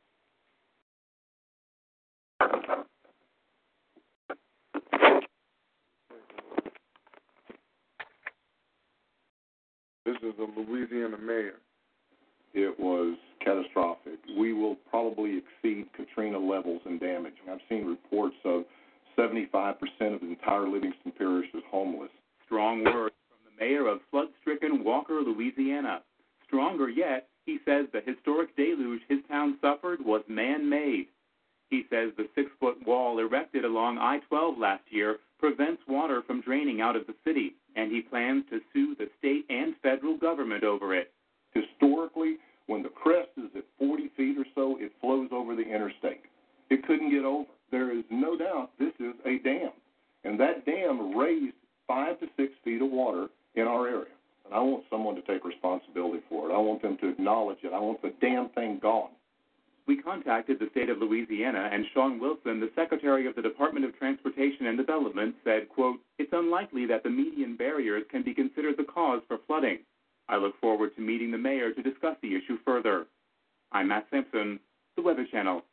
This is the Louisiana mayor. It was catastrophic. We will probably exceed Katrina levels in damage. I've seen reports of 75% of the entire Livingston Parish is homeless. Strong words from the mayor of flood-stricken Walker, Louisiana. Stronger yet, he says the historic deluge his town suffered was man-made. He says the 6-foot wall erected along I-12 last year prevents water from draining out of the city, and he plans to sue the state and federal government over it. Historically, when the crest is at 40 feet or so, it flows over the interstate. It couldn't get over. There is no doubt this is a dam, and that dam raised 5 to 6 feet of water in our area. And I want someone to take responsibility for it. I want them to acknowledge it. I want the damn thing gone. We contacted the state of Louisiana, and Sean Wilson, the Secretary of the Department of Transportation and Development, said, quote, "It's unlikely that the median barriers can be considered the cause for flooding. I look forward to meeting the mayor to discuss the issue further." I'm Matt Simpson, the Weather Channel.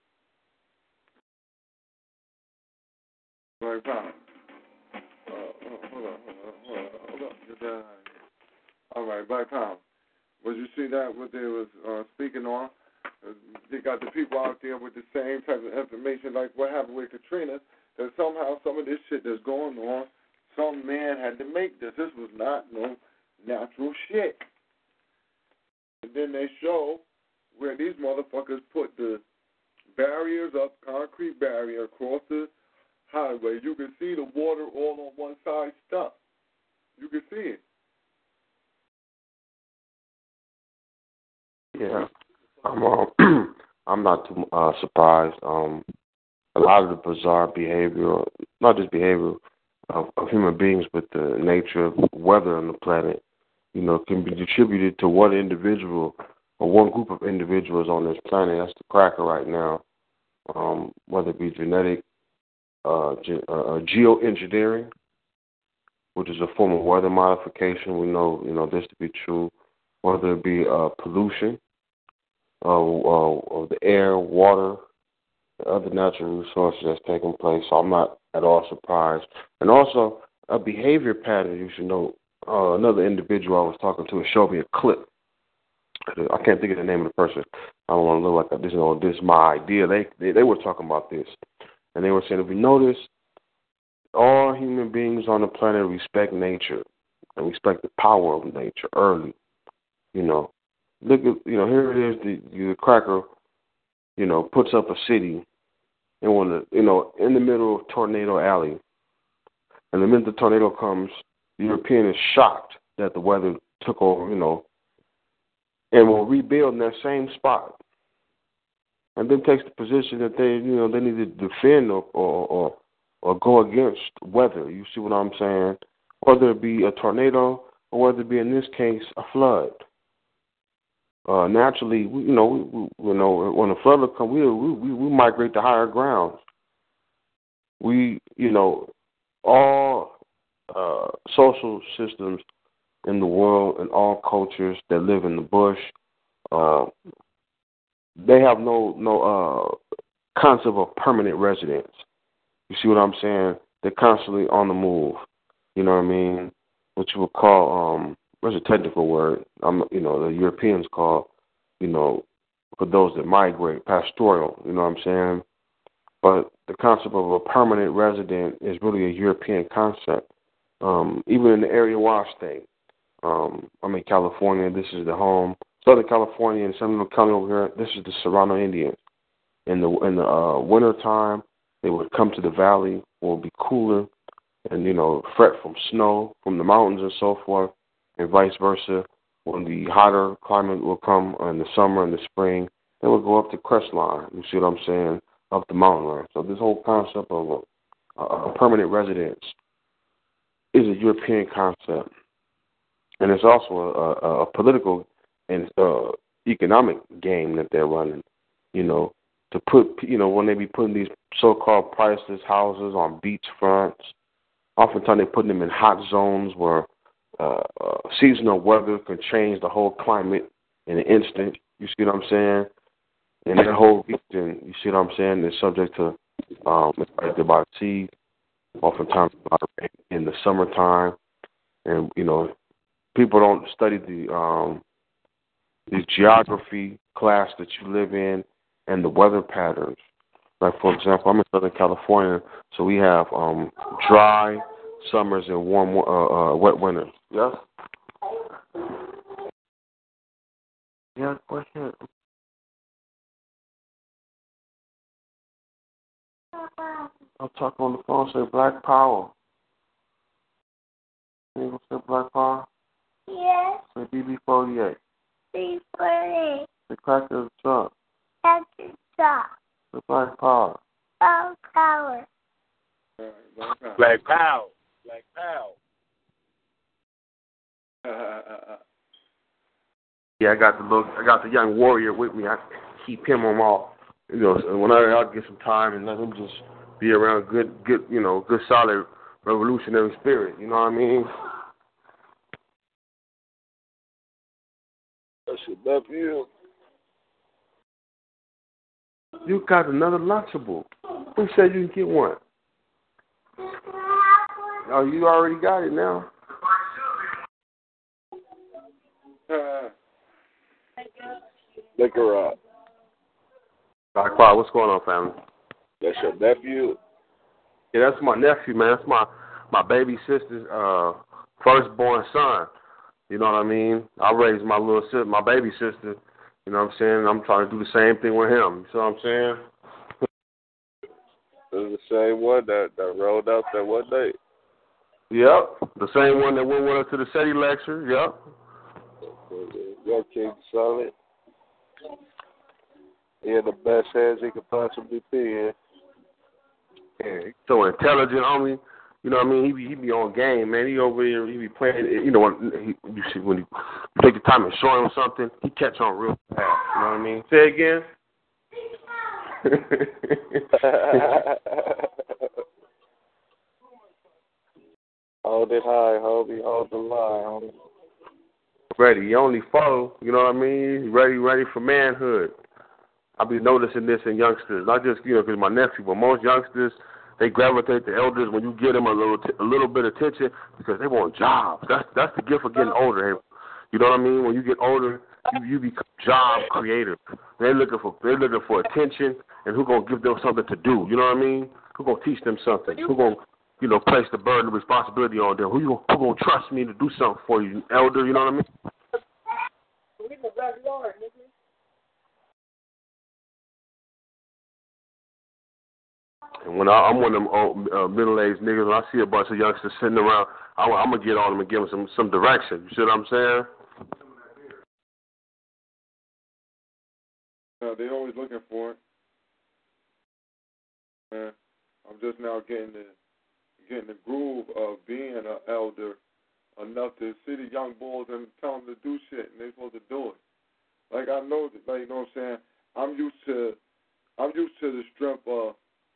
Right, Tom. Hold on. All right, Black Power. Would you see that, what they was speaking on? They got the people out there with the same type of information like what happened with Katrina, that somehow some of this shit that's going on, some man had to make this. This was not no natural shit. And then they show where these motherfuckers put the barriers up, concrete barrier across the highway. You can see the water all on one side stuck. You can see it. Yeah, I'm not too surprised. A lot of the bizarre behavior, not just behavior of human beings, but the nature of weather on the planet, can be attributed to one individual or one group of individuals on this planet. That's the cracker right now. Whether it be genetic, geoengineering, which is a form of weather modification. We know this to be true. Whether it be pollution of the air, water, and other natural resources that's taking place. So I'm not at all surprised. And also, a behavior pattern, you should know. Another individual I was talking to showed me a clip. I can't think of the name of the person. I don't want to look like this. This is my idea. They were talking about this. And they were saying, if we notice, all human beings on the planet respect nature and respect the power of nature early. Look at, here it is, the cracker, puts up a city in in the middle of Tornado Alley. And the minute the tornado comes, the European is shocked that the weather took over, and will rebuild in that same spot. And then takes the position that they need to defend or go against weather. You see what I'm saying? Whether it be a tornado or whether it be, in this case, a flood. Naturally, when a flood will come, we migrate to higher grounds. All social systems in the world and all cultures that live in the bush, they have no concept of permanent residence. You see what I'm saying? They're constantly on the move. You know what I mean? What you would call what's a technical word? The Europeans call, for those that migrate, pastoral. You know what I'm saying? But the concept of a permanent resident is really a European concept. Even in the area where I stay, I'm in California. This is the home. Southern California and Seminole County over here. This is the Serrano Indians. In the winter time, they would come to the valley where it would be cooler, and fret from snow from the mountains and so forth, and vice versa. When the hotter climate will come in the summer and the spring, they will go up the crest line. You see what I'm saying? Up the mountain line. So this whole concept of a permanent residence is a European concept, and it's also a political and economic game that they're running. To put when they be putting these so-called priceless houses on beach fronts, oftentimes they're putting them in hot zones where seasonal weather can change the whole climate in an instant. You see what I'm saying? And that whole region, you see what I'm saying, is subject to affected by sea, oftentimes in the summertime. And, people don't study the geography class that you live in and the weather patterns. Like, for example, I'm in Southern California, so we have dry summers and warm, wet winters. Yes? Yeah, question. I'll talk on the phone, say Black Power. You gonna say Black Power? Yes. Say BB48. B48. Say Cracker the Truck. That's the top. Say Black Power. Black Power. Black Power. Black Power. Yeah, I got the young warrior with me. I keep him on when I get some time and let him just be around good, good solid revolutionary spirit. You know what I mean? That's your nephew. You got another Lunchable. Who said you can get one? Oh, you already got it now. Lick her up. Quiet. What's going on, family? That's your nephew? Yeah, that's my nephew, man. That's my baby sister's firstborn son. You know what I mean? I raised my little sister, my baby sister. You know what I'm saying? I'm trying to do the same thing with him. You see what I'm saying? It's the same one that rolled out that one day. Yep. The same one that went with us to the SETI lecture. Yep. Your King Solid. He in the best hands he could possibly be in. Yeah, he's so intelligent, homie. You know what I mean? He be on game, man. He over here, he be playing. You know, you see when you take the time and show him something, he catch on real fast. You know what I mean? Say it again. Hold it high, homie. Hold the line, homie. Ready. He only 4. You know what I mean? He's ready for manhood. I be noticing this in youngsters, not just because my nephew, but most youngsters, they gravitate to elders when you give them a little bit of attention because they want jobs. That's the gift of getting older. You know what I mean? When you get older, you become job creative. They're looking for attention, and who gonna give them something to do? You know what I mean? Who gonna teach them something? Who gonna place the burden of responsibility on them? Who gonna trust me to do something for you, elder? You know what I mean? And when I'm one of them middle-aged niggas, when I see a bunch of youngsters sitting around, I'm going to get on them and give them some direction. You see what I'm saying? They're always looking for it. Man, I'm just now getting the groove of being an elder enough to see the young boys and tell them to do shit, and they're supposed to do it. Like, I know that, like, you know what I'm saying? I'm used to the strength of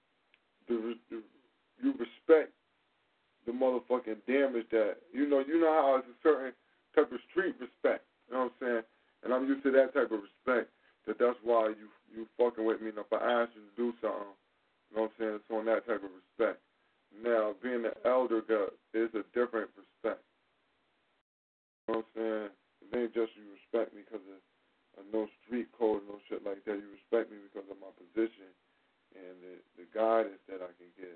you respect the motherfucking damage that you know how it's a certain type of street respect, you know what I'm saying? And I'm used to that type of respect. That's why you fucking with me, and if I ask you to do something, you know what I'm saying, it's on that type of respect. Now, being an elder is a different respect. You know what I'm saying? It ain't just you respect me because of no street code, no shit like that. You respect me because of my position and the guidance that I can give.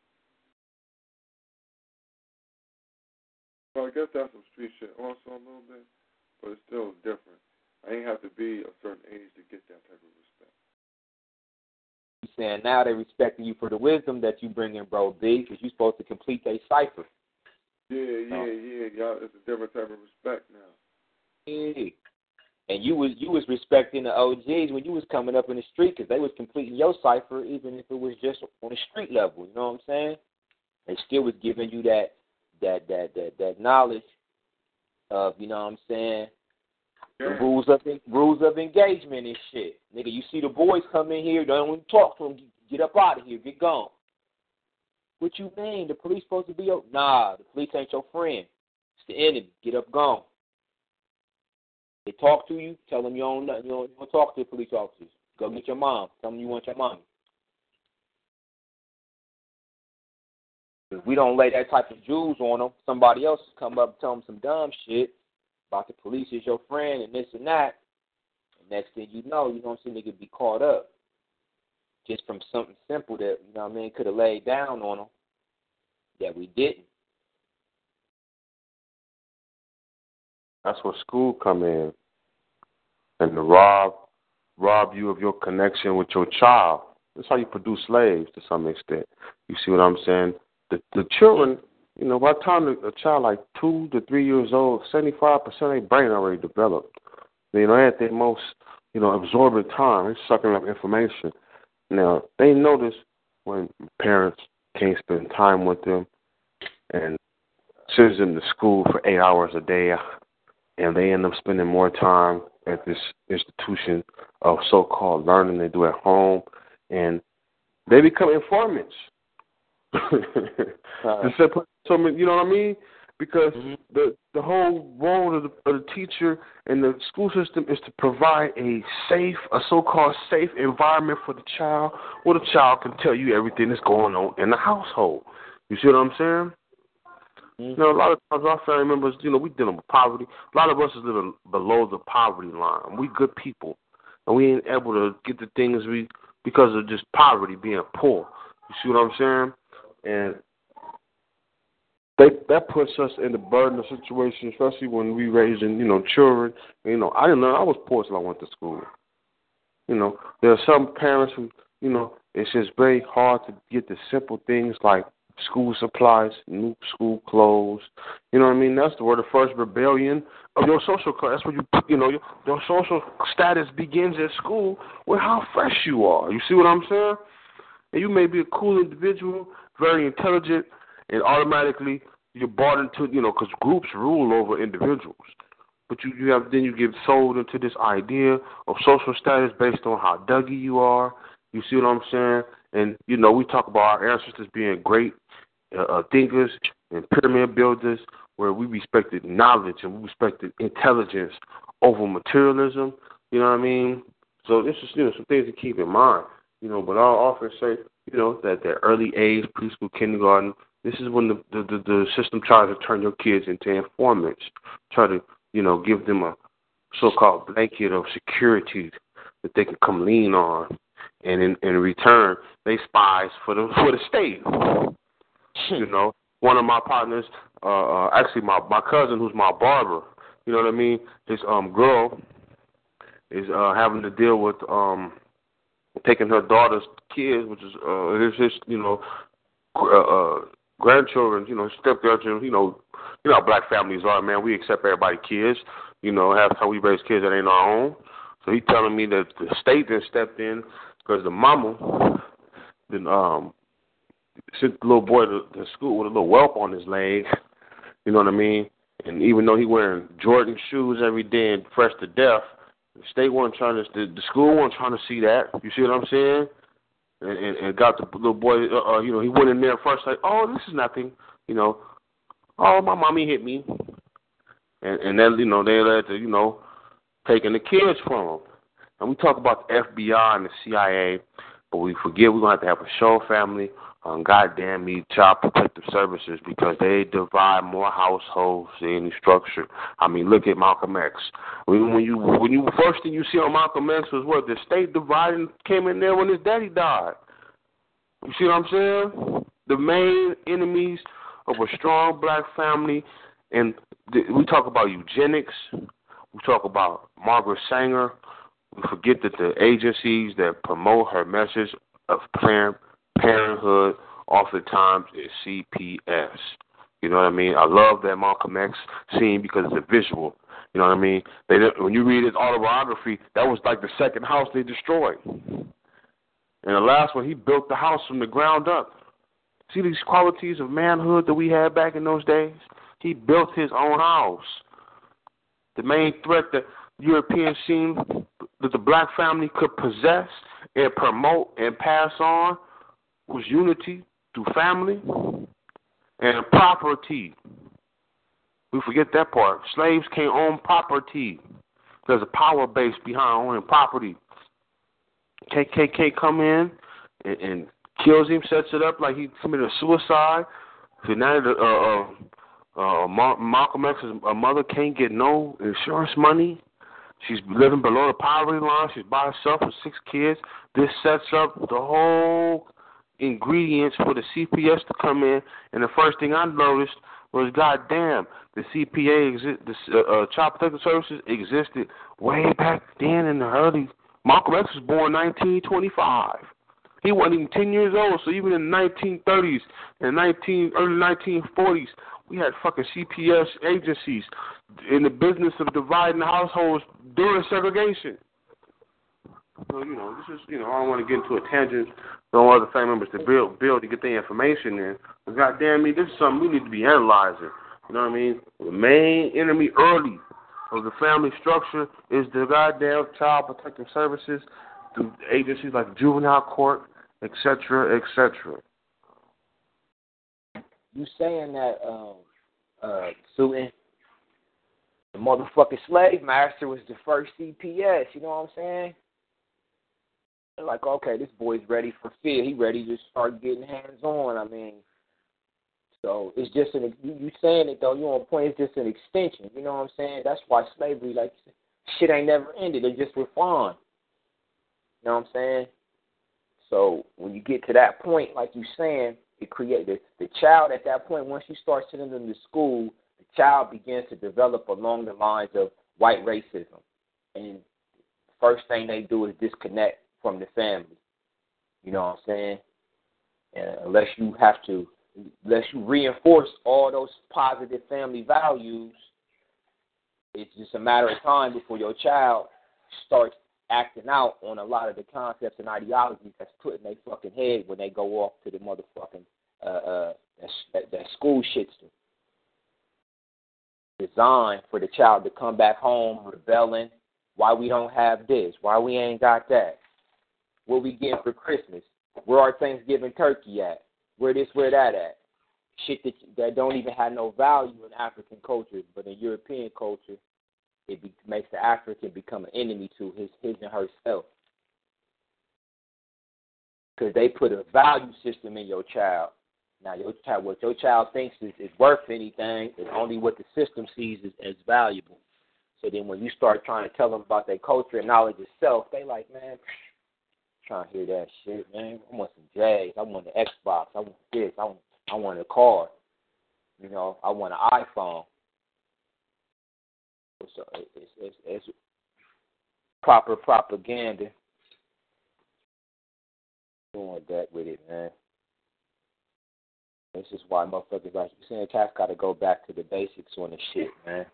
So I guess that's some street shit also a little bit, but it's still different. I ain't have to be a certain age to get that type of respect. You saying now they're respecting you for the wisdom that you bring in, bro, B, because you're supposed to complete a cipher. Yeah. Y'all, it's a different type of respect now. Yeah. And you was respecting the OGs when you was coming up in the street because they was completing your cipher even if it was just on the street level. You know what I'm saying? They still was giving you that knowledge of, you know what I'm saying, yeah. the rules of engagement and shit. Nigga, you see the boys come in here, don't even talk to them. Get up out of here. Get gone. What you mean? The police supposed to be your... Nah, the police ain't your friend. It's the enemy. Get up, gone. They talk to you, tell them you don't talk to the police officers. Go get your mom. Tell them you want your mommy. If we don't lay that type of jewels on them, somebody else come up and tell them some dumb shit about the police is your friend and this and that. And next thing you know what I'm saying, they could be caught up just from something simple that, you know what I mean, could have laid down on them that we didn't. That's where school come in, and to rob you of your connection with your child. That's how you produce slaves to some extent. You see what I'm saying? The children, you know, by the time a child like 2 to 3 years old, 75% of their brain already developed. You know, at their most, absorbent time, they're sucking up information. Now, they notice when parents can't spend time with them and sends them to school for 8 hours a day, and they end up spending more time at this institution of so-called learning they do at home, and they become informants. So, you know what I mean? Because the whole role of the teacher and the school system is to provide a so-called safe environment for the child, where the child can tell you everything that's going on in the household. You see what I'm saying? You know, a lot of times our family members, you know, we dealing with poverty. A lot of us is living below the poverty line. We good people, and we ain't able to get the things because of just poverty, being poor. You see what I'm saying? And that puts us in the burden of situation, especially when we raising, you know, children. You know, I didn't learn. I was poor till I went to school. You know, there are some parents who, you know, it's just very hard to get the simple things like school supplies, new school clothes. You know what I mean? That's where the first rebellion of your social class. That's where you know, your social status begins at school with how fresh you are. You see what I'm saying? And you may be a cool individual, very intelligent, and automatically you're bought into, you know, because groups rule over individuals. But you get sold into this idea of social status based on how Dougie you are. You see what I'm saying? And, you know, we talk about our ancestors being great thinkers and pyramid builders, where we respected knowledge and we respected intelligence over materialism. You know what I mean? So this is, you know, some things to keep in mind. You know, but I'll often say, you know, that the early age, preschool, kindergarten, this is when the system tries to turn your kids into informants, try to, you know, give them a so-called blanket of security that they can come lean on, and in return, they spies for the state. You know, one of my partners, actually my cousin, who's my barber, you know what I mean? His girl is having to deal with taking her daughter's kids, which is his you know, grandchildren, you know, step-grandchildren, you know how black families are, man. We accept everybody's kids, you know, have how we raise kids that ain't our own. So he's telling me that the state then stepped in because the mama then sent the little boy to school with a little whelp on his leg, you know what I mean? And even though he wearing Jordan shoes every day and fresh to death, the state wasn't trying to, the school wasn't trying to see that. You see what I'm saying? And got the little boy, you know, he went in there first like, oh, this is nothing, you know. Oh, my mommy hit me. And then, you know, they led to, you know, taking the kids from them. And we talk about the FBI and the CIA, but we forget we're going to have a show, family, on goddamn me Child Protective Services, because they divide more households than any structure. I mean, look at Malcolm X. When you first thing you see on Malcolm X was what? The state dividing came in there when his daddy died. You see what I'm saying? The main enemies of a strong black family, and we talk about eugenics. We talk about Margaret Sanger. We forget that the agencies that promote her message of Planned Parenthood oftentimes is CPS. You know what I mean? I love that Malcolm X scene because it's a visual. You know what I mean? When you read his autobiography, that was like the second house they destroyed. And the last one, he built the house from the ground up. See these qualities of manhood that we had back in those days? He built his own house. The main threat that Europeans seen that the black family could possess and promote and pass on was unity through family and property. We forget that part. Slaves can't own property. There's a power base behind owning property. KKK come in and kills him, sets it up like he committed a suicide. So now Malcolm X's mother can't get no insurance money. She's living below the poverty line. She's by herself with 6 kids. This sets up the whole ingredients for the CPS to come in. And the first thing I noticed was, goddamn, the Child Protective Services existed way back then in the early. Malcolm X was born in 1925. He wasn't even 10 years old. So even in the 1930s and early 1940s, we had fucking CPS agencies in the business of dividing households during segregation. So, you know, this is, you know, I don't want to get into a tangent. Don't want other family members to build to get their information in. But goddamn me, this is something we need to be analyzing. You know what I mean? The main enemy early of the family structure is the goddamn child protective services through agencies like juvenile court, etc., etc. You saying that, Susan, the motherfucking slave master was the first CPS, you know what I'm saying? They're like, okay, this boy's ready for field. He ready to start getting hands-on. I mean, so it's just you saying it, though, you on point, it's just an extension, you know what I'm saying? That's why slavery, like, shit ain't never ended. It just refined, you know what I'm saying? So when you get to that point, like you saying, it creates the child at that point. Once you start sending them to school, the child begins to develop along the lines of white racism. And the first thing they do is disconnect from the family. You know what I'm saying? And unless you reinforce all those positive family values, it's just a matter of time before your child starts acting out on a lot of the concepts and ideologies that's put in their fucking head when they go off to the motherfucking that school shitster. Designed for the child to come back home rebelling. Why we don't have this? Why we ain't got that? What we getting for Christmas? Where our Thanksgiving turkey at? Where this, where that at? Shit that don't even have no value in African culture, but in European culture, makes the African become an enemy to his and herself. Because they put a value system in your child. Now, what your child thinks is worth anything is only what the system sees as valuable. So then when you start trying to tell them about their culture and knowledge of self, they like, man, trying to hear that shit, man. I want some J's. I want the Xbox. I want this. I want a car. You know, I want an iPhone. So it's proper propaganda. Doing that with it, man. This is why motherfuckers like you saying, cats got to go back to the basics on the shit, man.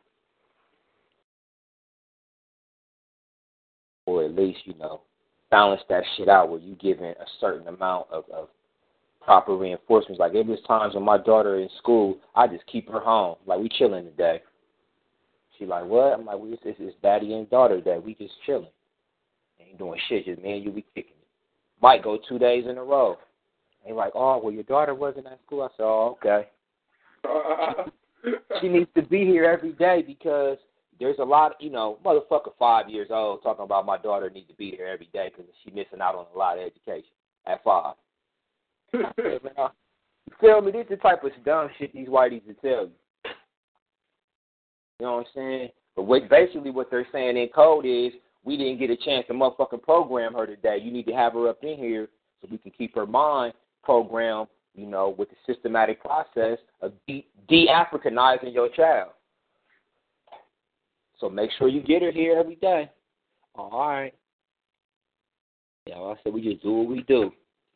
Or at least, you know, balance that shit out where you giving a certain amount of proper reinforcements. Like, there was times when my daughter in school, I just keep her home. Like, we chilling today. She like, what? I'm like, it's daddy and daughter day. We just chilling. Ain't doing shit. Just me and you, we kicking it. Might go 2 days in a row. They like, oh, well, your daughter wasn't at school. I said, oh, okay. She needs to be here every day because there's a lot, you know, motherfucker 5 years old talking about my daughter needs to be here every day because she's missing out on a lot of education at 5. You feel me? This is the type of dumb shit these whiteys will tell you. You know what I'm saying? But basically what they're saying in code is we didn't get a chance to motherfucking program her today. You need to have her up in here so we can keep her mind programmed, you know, with the systematic process of de-Africanizing your child. So make sure you get her here every day. All right. Yeah, like I said, we just do what we do.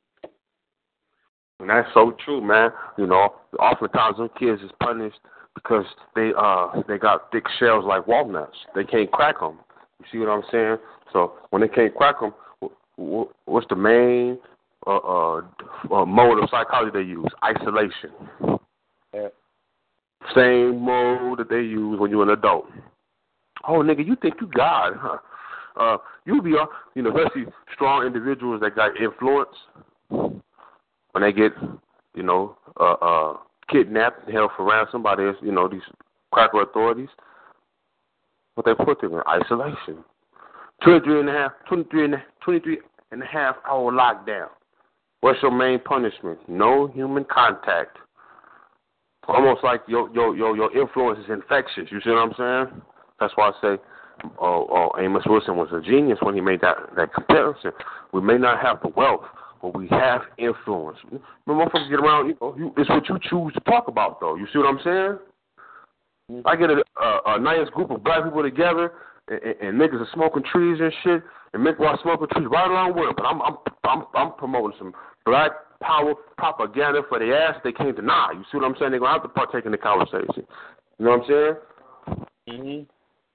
And that's so true, man. You know, oftentimes them kids is punished because they got thick shells like walnuts. They can't crack them. You see what I'm saying? So when they can't crack them, what's the main mode of psychology they use? Isolation. Yeah. Same mode that they use when you're an adult. Oh, nigga, you think you God, huh? You be, you know, especially strong individuals that got influence when they get, you know, kidnapped and held for ransom by these, you know, these cracker authorities. But they put them in isolation. 23 and a half hour lockdown. What's your main punishment? No human contact. Almost like your influence is infectious. You see what I'm saying? That's why I say Amos Wilson was a genius when he made that comparison. We may not have the wealth, but we have influence. When motherfuckers get around, you know, it's what you choose to talk about, though. You see what I'm saying? I get a nice group of black people together, and niggas are smoking trees and shit, and make while smoking trees right along with them. But I'm promoting some black power propaganda for the ass they can't deny. You see what I'm saying? They're gonna have to partake in the conversation. You know what I'm saying? Mhm.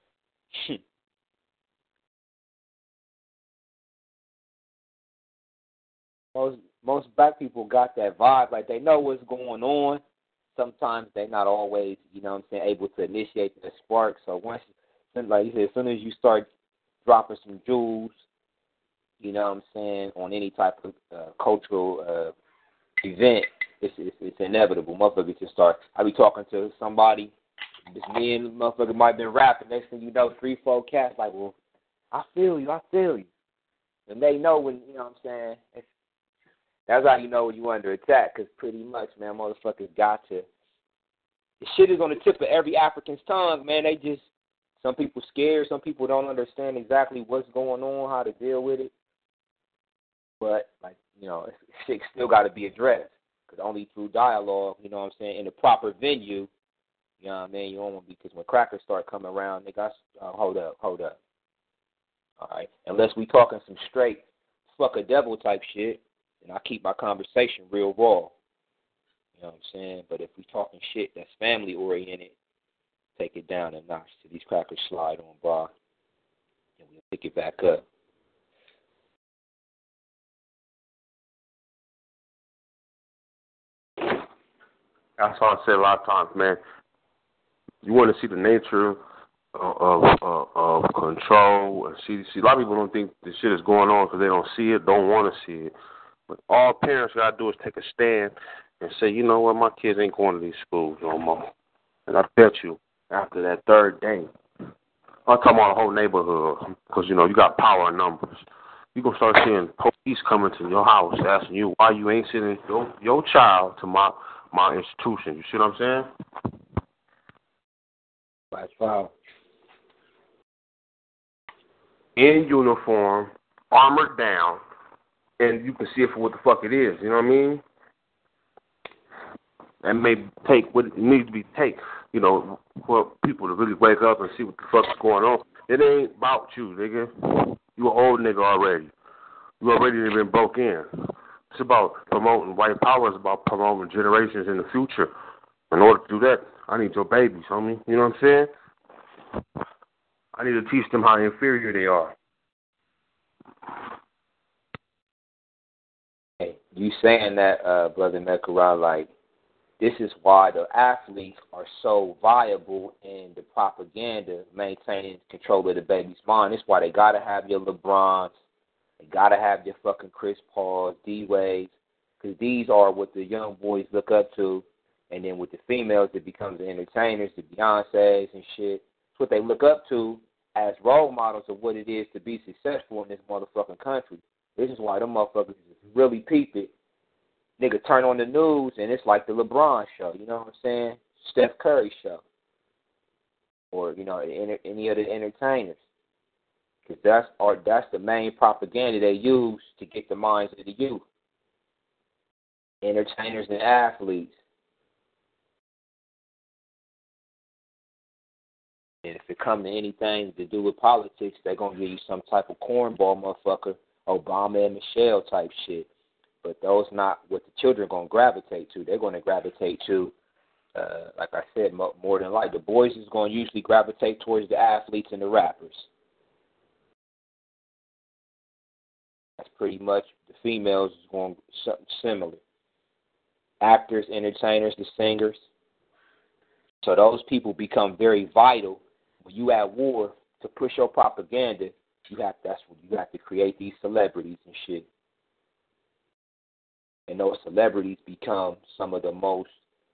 Most black people got that vibe, like they know what's going on. Sometimes they're not always, you know what I'm saying, able to initiate the spark. So once like you said, as soon as you start dropping some jewels, you know what I'm saying, on any type of cultural event, it's inevitable. Motherfuckers just start. I be talking to somebody, this me and the motherfucker might have been rapping. Next thing you know, 3-4 cats like, well, I feel you. And they know when, you know what I'm saying, that's how you know when you under attack, because pretty much, man, motherfuckers got to. The shit is on the tip of every African's tongue, man. They just, some people scared, some people don't understand exactly what's going on, how to deal with it. But, like, you know, shit still got to be addressed, because only through dialogue, you know what I'm saying, in the proper venue, you know what I mean, you don't want to be, because when crackers start coming around, they got, hold up. All right, unless we talking some straight fuck a devil type shit, and I keep my conversation real raw. You know what I'm saying? But if we talking shit that's family oriented, take it down a notch till these crackers slide on by, and we'll pick it back up. That's why I say a lot of times, man. You want to see the nature of control. And see, a lot of people don't think this shit is going on because they don't see it, don't want to see it. But all parents got to do is take a stand and say, you know what, my kids ain't going to these schools no more. And I bet you, after that third day, I'm talking about the whole neighborhood, because, you know, you got power in numbers. You're going to start seeing police coming to your house asking you why you ain't sending your child to my institution. You see what I'm saying? That's foul. In uniform, armored down, and you can see it for what the fuck it is. You know what I mean? And may take what it needs to be take, you know, for people to really wake up and see what the fuck is going on. It ain't about you, nigga. You an old nigga already. You already been broke in. It's about promoting white power. It's about promoting generations in the future. In order to do that, I need your babies, homie. You know what I'm saying? I need to teach them how inferior they are. Hey, you saying that, Brother Mekara, like, this is why the athletes are so viable in the propaganda, maintaining control of the baby's mind. It's why they got to have your LeBrons. They got to have your fucking Chris Pauls, D-Waves, because these are what the young boys look up to. And then with the females, it becomes the entertainers, the Beyoncés and shit. It's what they look up to as role models of what it is to be successful in this motherfucking country. This is why them motherfuckers really peep it. Nigga turn on the news, and it's like the LeBron show, you know what I'm saying? Steph Curry show. Or, you know, any of the entertainers. Because that's the main propaganda they use to get the minds of the youth. Entertainers and athletes. And if it comes to anything to do with politics, they're going to give you some type of cornball motherfucker, Obama and Michelle type shit. But those not what the children are going to gravitate to. They're going to gravitate to, like I said, more than like the boys is going to usually gravitate towards the athletes and the rappers. That's pretty much the females is going something similar. Actors, entertainers, the singers. So those people become very vital when you at war to push your propaganda. That's when you have to create these celebrities and shit. And those celebrities become some of the most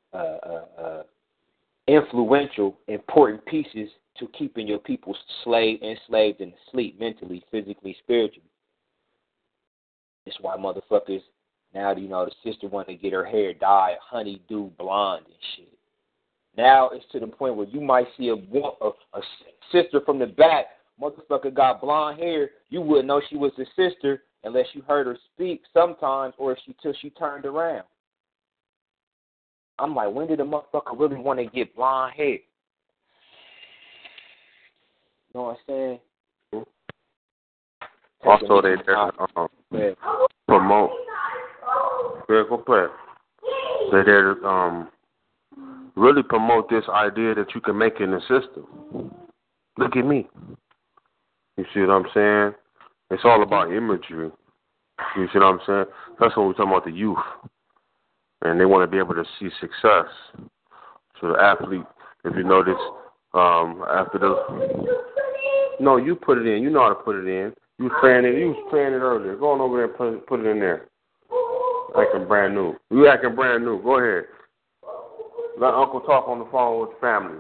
influential, important pieces to keeping your people enslaved and asleep mentally, physically, spiritually. That's why motherfuckers now, you know, the sister want to get her hair dyed honeydew blonde and shit. Now it's to the point where you might see a sister from the back, motherfucker got blonde hair. You wouldn't know she was a sister unless you heard her speak sometimes or till she turned around. I'm like, when did a motherfucker really want to get blonde hair? You know what I'm saying? Also, they're promote. Go play. They're there to really promote this idea that you can make it in the system. Look at me. You see what I'm saying? It's all about imagery. You see what I'm saying? That's when we're talking about the youth. And they want to be able to see success. So the athlete, if you notice, After the no, you put it in. You know how to put it in. You was playing it. You was playing it earlier. Go on over there and put it in there. Acting brand new. You acting brand new. Go ahead. Let Uncle talk on the phone with the family.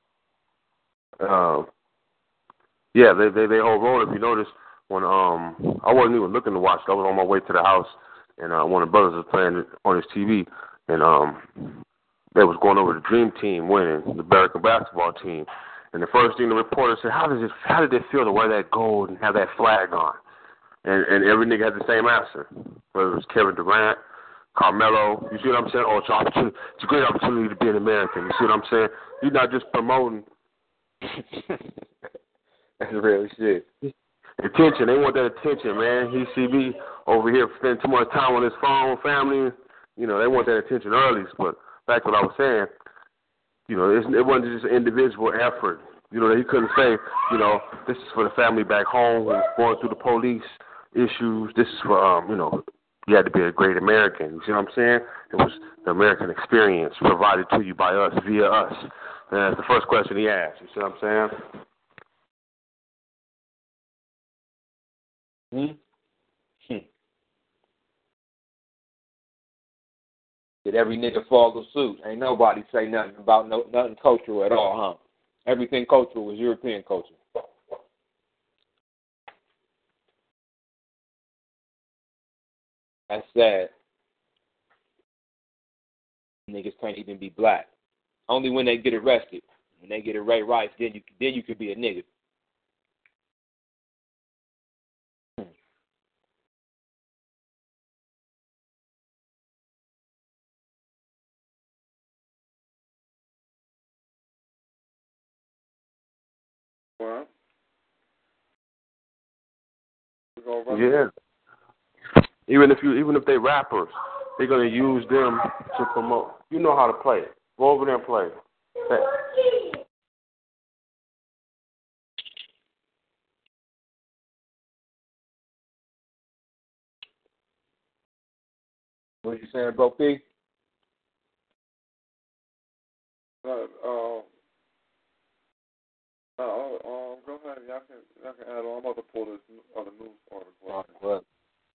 Yeah, they whole roll. If you notice, when I wasn't even looking to watch it. I was on my way to the house, and one of the brothers was playing it on his TV, and they was going over the Dream Team winning, the American basketball team. And the first thing the reporter said, how did it feel to wear that gold and have that flag on? And every nigga had the same answer. Whether it was Kevin Durant, Carmelo, you see what I'm saying? Oh, it's a great opportunity to be an American. You see what I'm saying? You're not just promoting. That's real shit. Attention. They want that attention, man. He see me over here spending too much time on his phone, family. You know, they want that attention early. But back to what I was saying, you know, it wasn't just an individual effort. You know, he couldn't say, you know, this is for the family back home who's going through the police issues. This is for, you know, you had to be a great American. You see what I'm saying? It was the American experience provided to you by us, via us. And that's the first question he asked. You see what I'm saying? Did every nigga follow suit? Ain't nobody say nothing about nothing cultural at all, huh? Everything cultural was European culture. That's sad. Niggas can't even be black. Only when they get arrested. When they get Ray Rice, then you could be a nigga. Yeah. Even if they rappers, they're gonna use them to promote. You know how to play it. Go over there and play. What you saying, Bro P? Go ahead. Y'all can add on. I'm about to pull this other news article. What?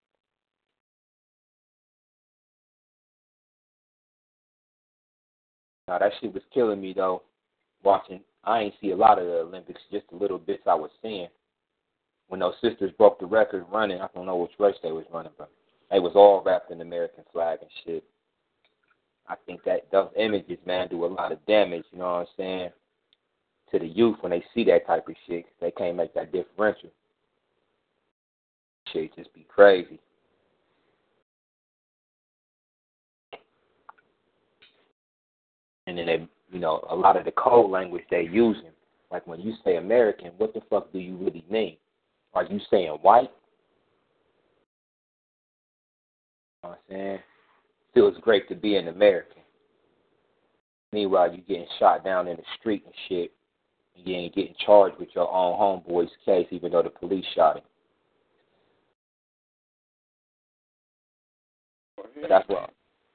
Nah, that shit was killing me though. Watching, I ain't see a lot of the Olympics, just the little bits I was seeing. When those sisters broke the record running, I don't know which race they was running, but they was all wrapped in the American flag and shit. I think that those images, man, do a lot of damage. You know what I'm saying? To the youth when they see that type of shit, they can't make that differential. Shit just be crazy. And then they, you know, a lot of the code language they using, like when you say American, what the fuck do you really mean? Are you saying white? You know what I'm saying? Feels great to be an American. Meanwhile, you getting shot down in the street and shit. You ain't getting charged with your own homeboy's case, even though the police shot him. But that's what.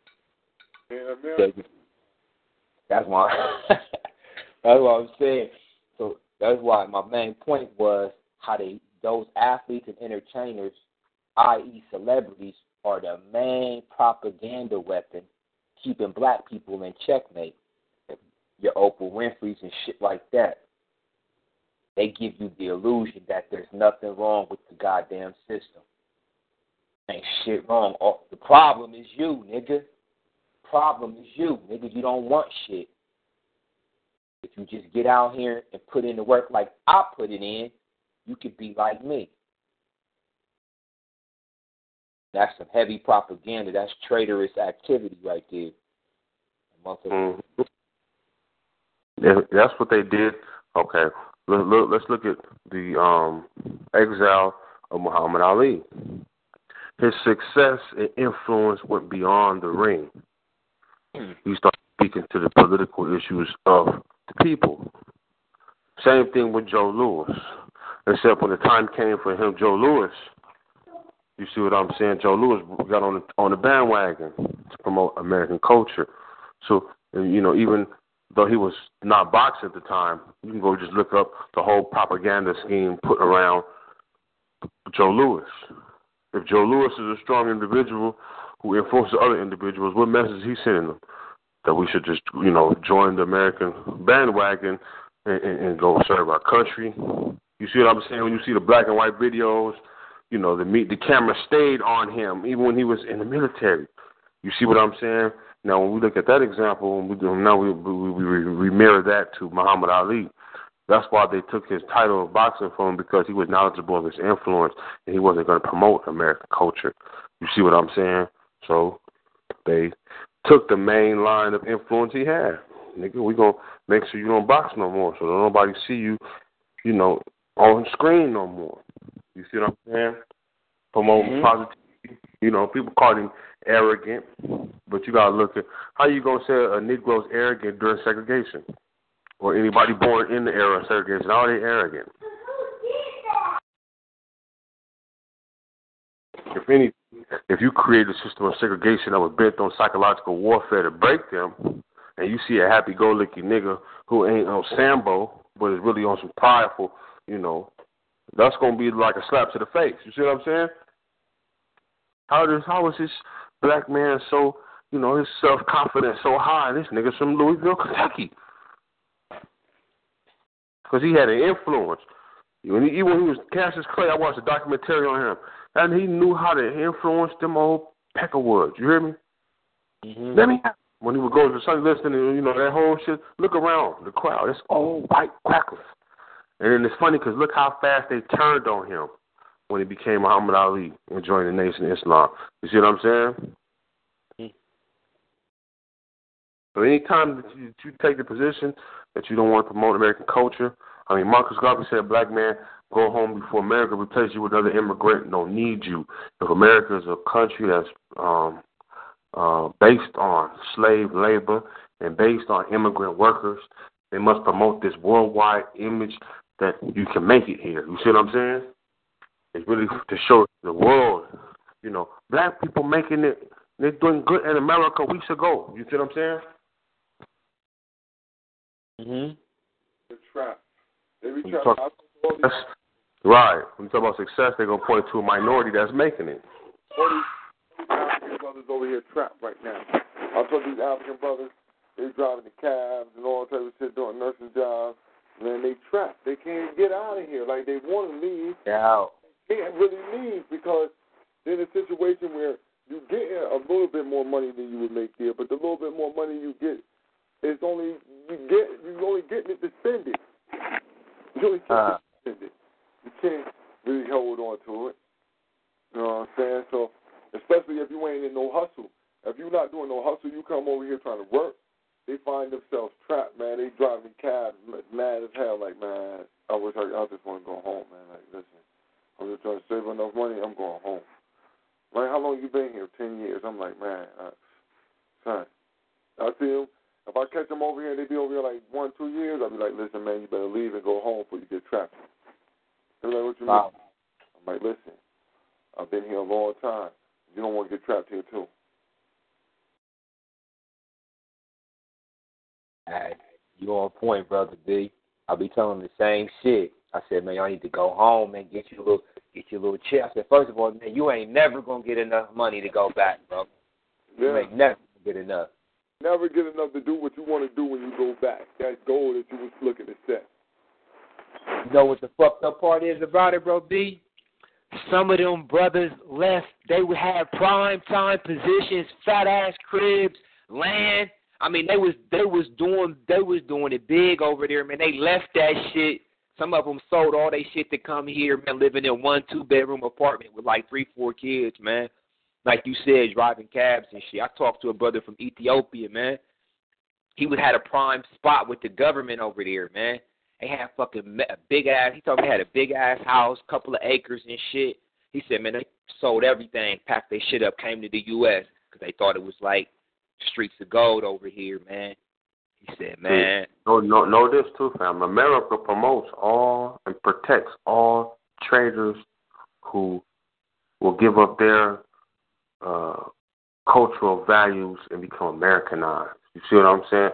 That's why. That's what I'm saying. So that's why my main point was how those athletes and entertainers, i.e., celebrities, are the main propaganda weapon keeping black people in checkmate. Your Oprah Winfrey's and shit like that. They give you the illusion that there's nothing wrong with the goddamn system. Ain't shit wrong. The problem is you, nigga. Problem is you, nigga. You don't want shit. If you just get out here and put in the work like I put it in, you could be like me. That's some heavy propaganda. That's traitorous activity right there. Mm-hmm. Yeah, that's what they did. Okay. Let's look at the exile of Muhammad Ali. His success and influence went beyond the ring. He started speaking to the political issues of the people. Same thing with Joe Louis. Except when the time came for him, Joe Louis, you see what I'm saying? Joe Louis got on the bandwagon to promote American culture. So, you know, even though he was not boxing at the time, you can go just look up the whole propaganda scheme put around Joe Louis. If Joe Louis is a strong individual who influences other individuals, what message is he sending them? That we should just, join the American bandwagon and go serve our country. You see what I'm saying? When you see the black and white videos, the camera stayed on him even when he was in the military. You see what I'm saying? Now, when we look at that example, we mirror that to Muhammad Ali. That's why they took his title of boxing from him, because he was knowledgeable of his influence, and he wasn't going to promote American culture. You see what I'm saying? So they took the main line of influence he had. Nigga, we going to make sure you don't box no more, so don't nobody see you, on screen no more. You see what I'm saying? Promoting positivity. People call him arrogant, but you got to look at how you going to say a Negro's arrogant during segregation, or anybody born in the era of segregation. How are they arrogant? If you create a system of segregation that was bent on psychological warfare to break them, and you see a happy-go-lucky nigga who ain't on Sambo, but is really on some prideful, that's going to be like a slap to the face. You see what I'm saying? How is this black man so, his self-confidence so high? This nigga's from Louisville, Kentucky. Because he had an influence. Even when he was Cassius Clay, I watched a documentary on him, and he knew how to influence them old Peckerwoods. You hear me? Let me have. When he would go to Sunday listening, and that whole shit, look around the crowd. It's all white cracklers. And then it's funny because look how fast they turned on him when he became Muhammad Ali and joined the Nation of Islam. You see what I'm saying? So anytime that you take the position that you don't want to promote American culture, Marcus Garvey said, black man, go home before America replace you with another immigrant. Don't need you. If America is a country that's based on slave labor and based on immigrant workers, they must promote this worldwide image that you can make it here. You see what I'm saying? It's really to show the world, black people making it, they're doing good in America weeks ago. You see what I'm saying? The trap. They be right. When you talk about success, they're going to point to a minority that's making it. All these African brothers over here trapped right now. I told these African brothers, they driving the cabs and all that type of shit, doing nursing jobs. Man, they trapped. They can't get out of here. Like, they want to leave. Yeah. They can't really leave because they're in a situation where you get a little bit more money than you would make here, but the little bit more money you get, you're only getting it to spend it. You only get it to spend it. You can't really hold on to it. You know what I'm saying? So, especially if you ain't in no hustle. If you're not doing no hustle, you come over here trying to work, they find themselves trapped, man. They driving cabs mad as hell, like, man, I just want to go home, man. Like, listen, I'm just trying to save enough money, I'm going home. Like, how long you been here? 10 years. I'm like, man, son. I see them. If I catch them over here and they be over here like 1, 2 years, I'll be like, listen, man, you better leave and go home before you get trapped. They're like, what you mean? I'm like, listen, I've been here a long time. You don't want to get trapped here, too. Hey, you on point, Brother B. I'll be telling them the same shit. I said, man, y'all need to go home and get your little check. I said, first of all, man, you ain't never going to get enough money to go back, bro. Yeah. You ain't never going to get enough. Never get enough to do what you want to do when you go back. That goal that you was looking to set. You know what the fucked up part is about it, bro, B? Some of them brothers left. They would have prime time positions, fat ass cribs, land. I mean, they was doing it big over there, man. They left that shit. Some of them sold all they shit to come here, man, living in 1-2 bedroom apartment with like 3-4 kids, man. Like you said, driving cabs and shit. I talked to a brother from Ethiopia, man. He had a prime spot with the government over there, man. They had fucking a big ass. He told me they had a big ass house, couple of acres and shit. He said, man, they sold everything, packed their shit up, came to the U.S. because they thought it was like streets of gold over here, man. He said, man. Know this too, fam. America promotes all and protects all traders who will give up their cultural values and become Americanized. You see what I'm saying?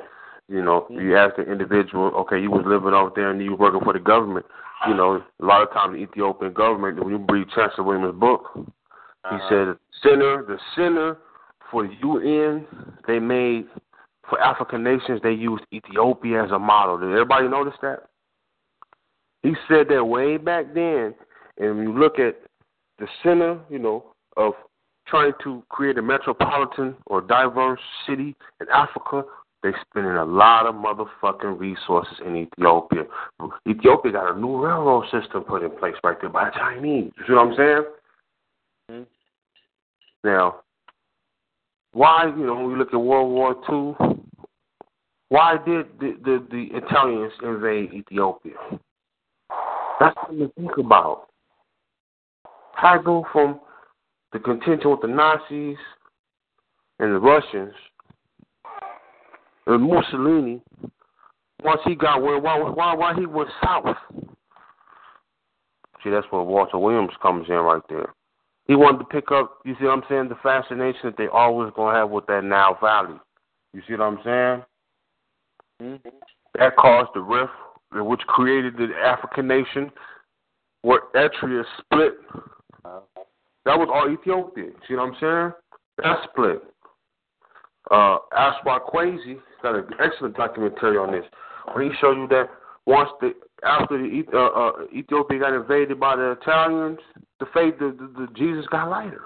You know, you ask the individual, okay, you was living over there and you was working for the government. You know, a lot of times the Ethiopian government, when you read Chancellor Williams' book, he said the center for the UN, they made, for African nations, they used Ethiopia as a model. Did everybody notice that? He said that way back then, and when you look at the center, you know, of trying to create a metropolitan or diverse city in Africa, they spending a lot of motherfucking resources in Ethiopia. Ethiopia got a new railroad system put in place right there by the Chinese. You see what I'm saying? Mm-hmm. Now, why, you know, when we look at World War II, why did the Italians invade Ethiopia? That's something to think about. How I go from the contention with the Nazis and the Russians and Mussolini, once he got where, why he went south? See, that's where Walter Williams comes in right there. He wanted to pick up, you see what I'm saying, the fascination that they always going to have with that Nile Valley. You see what I'm saying? Mm-hmm. That caused the rift, which created the African nation, where Eritrea split. That was all Ethiopia. See what I'm saying? That split. Aswa Kwesi got an excellent documentary on this, where he showed you that after Ethiopia got invaded by the Italians, the Jesus got lighter.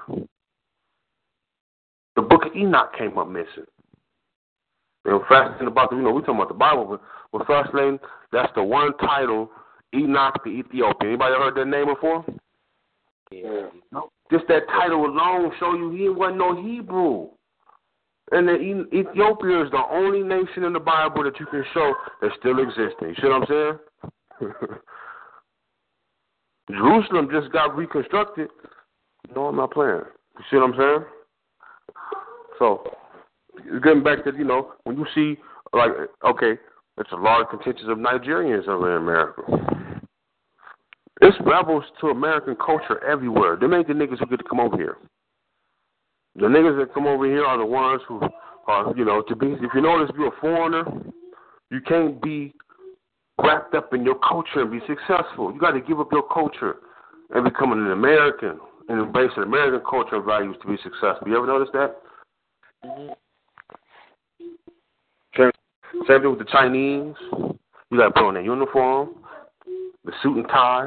The Book of Enoch came up missing. You know, fascinating about we're talking about the Bible, but fascinating, that's the one title, Enoch the Ethiopian. Anybody heard that name before? Yeah. No. Just that title alone show you he wasn't no Hebrew. And Ethiopia is the only nation in the Bible that you can show that still existing. You see what I'm saying? Jerusalem just got reconstructed. No, I'm not playing. You see what I'm saying? So, getting back to, when you see, like, okay, it's a large contingent of Nigerians over in America. It's rebels to American culture everywhere. Them ain't the niggas who get to come over here. The niggas that come over here are the ones who are, if you notice, if you're a foreigner, you can't be wrapped up in your culture and be successful. You got to give up your culture and become an American and embrace an American culture and values to be successful. You ever notice that? Mm-hmm. Same thing with the Chinese. You got to put on their uniform, the suit and tie,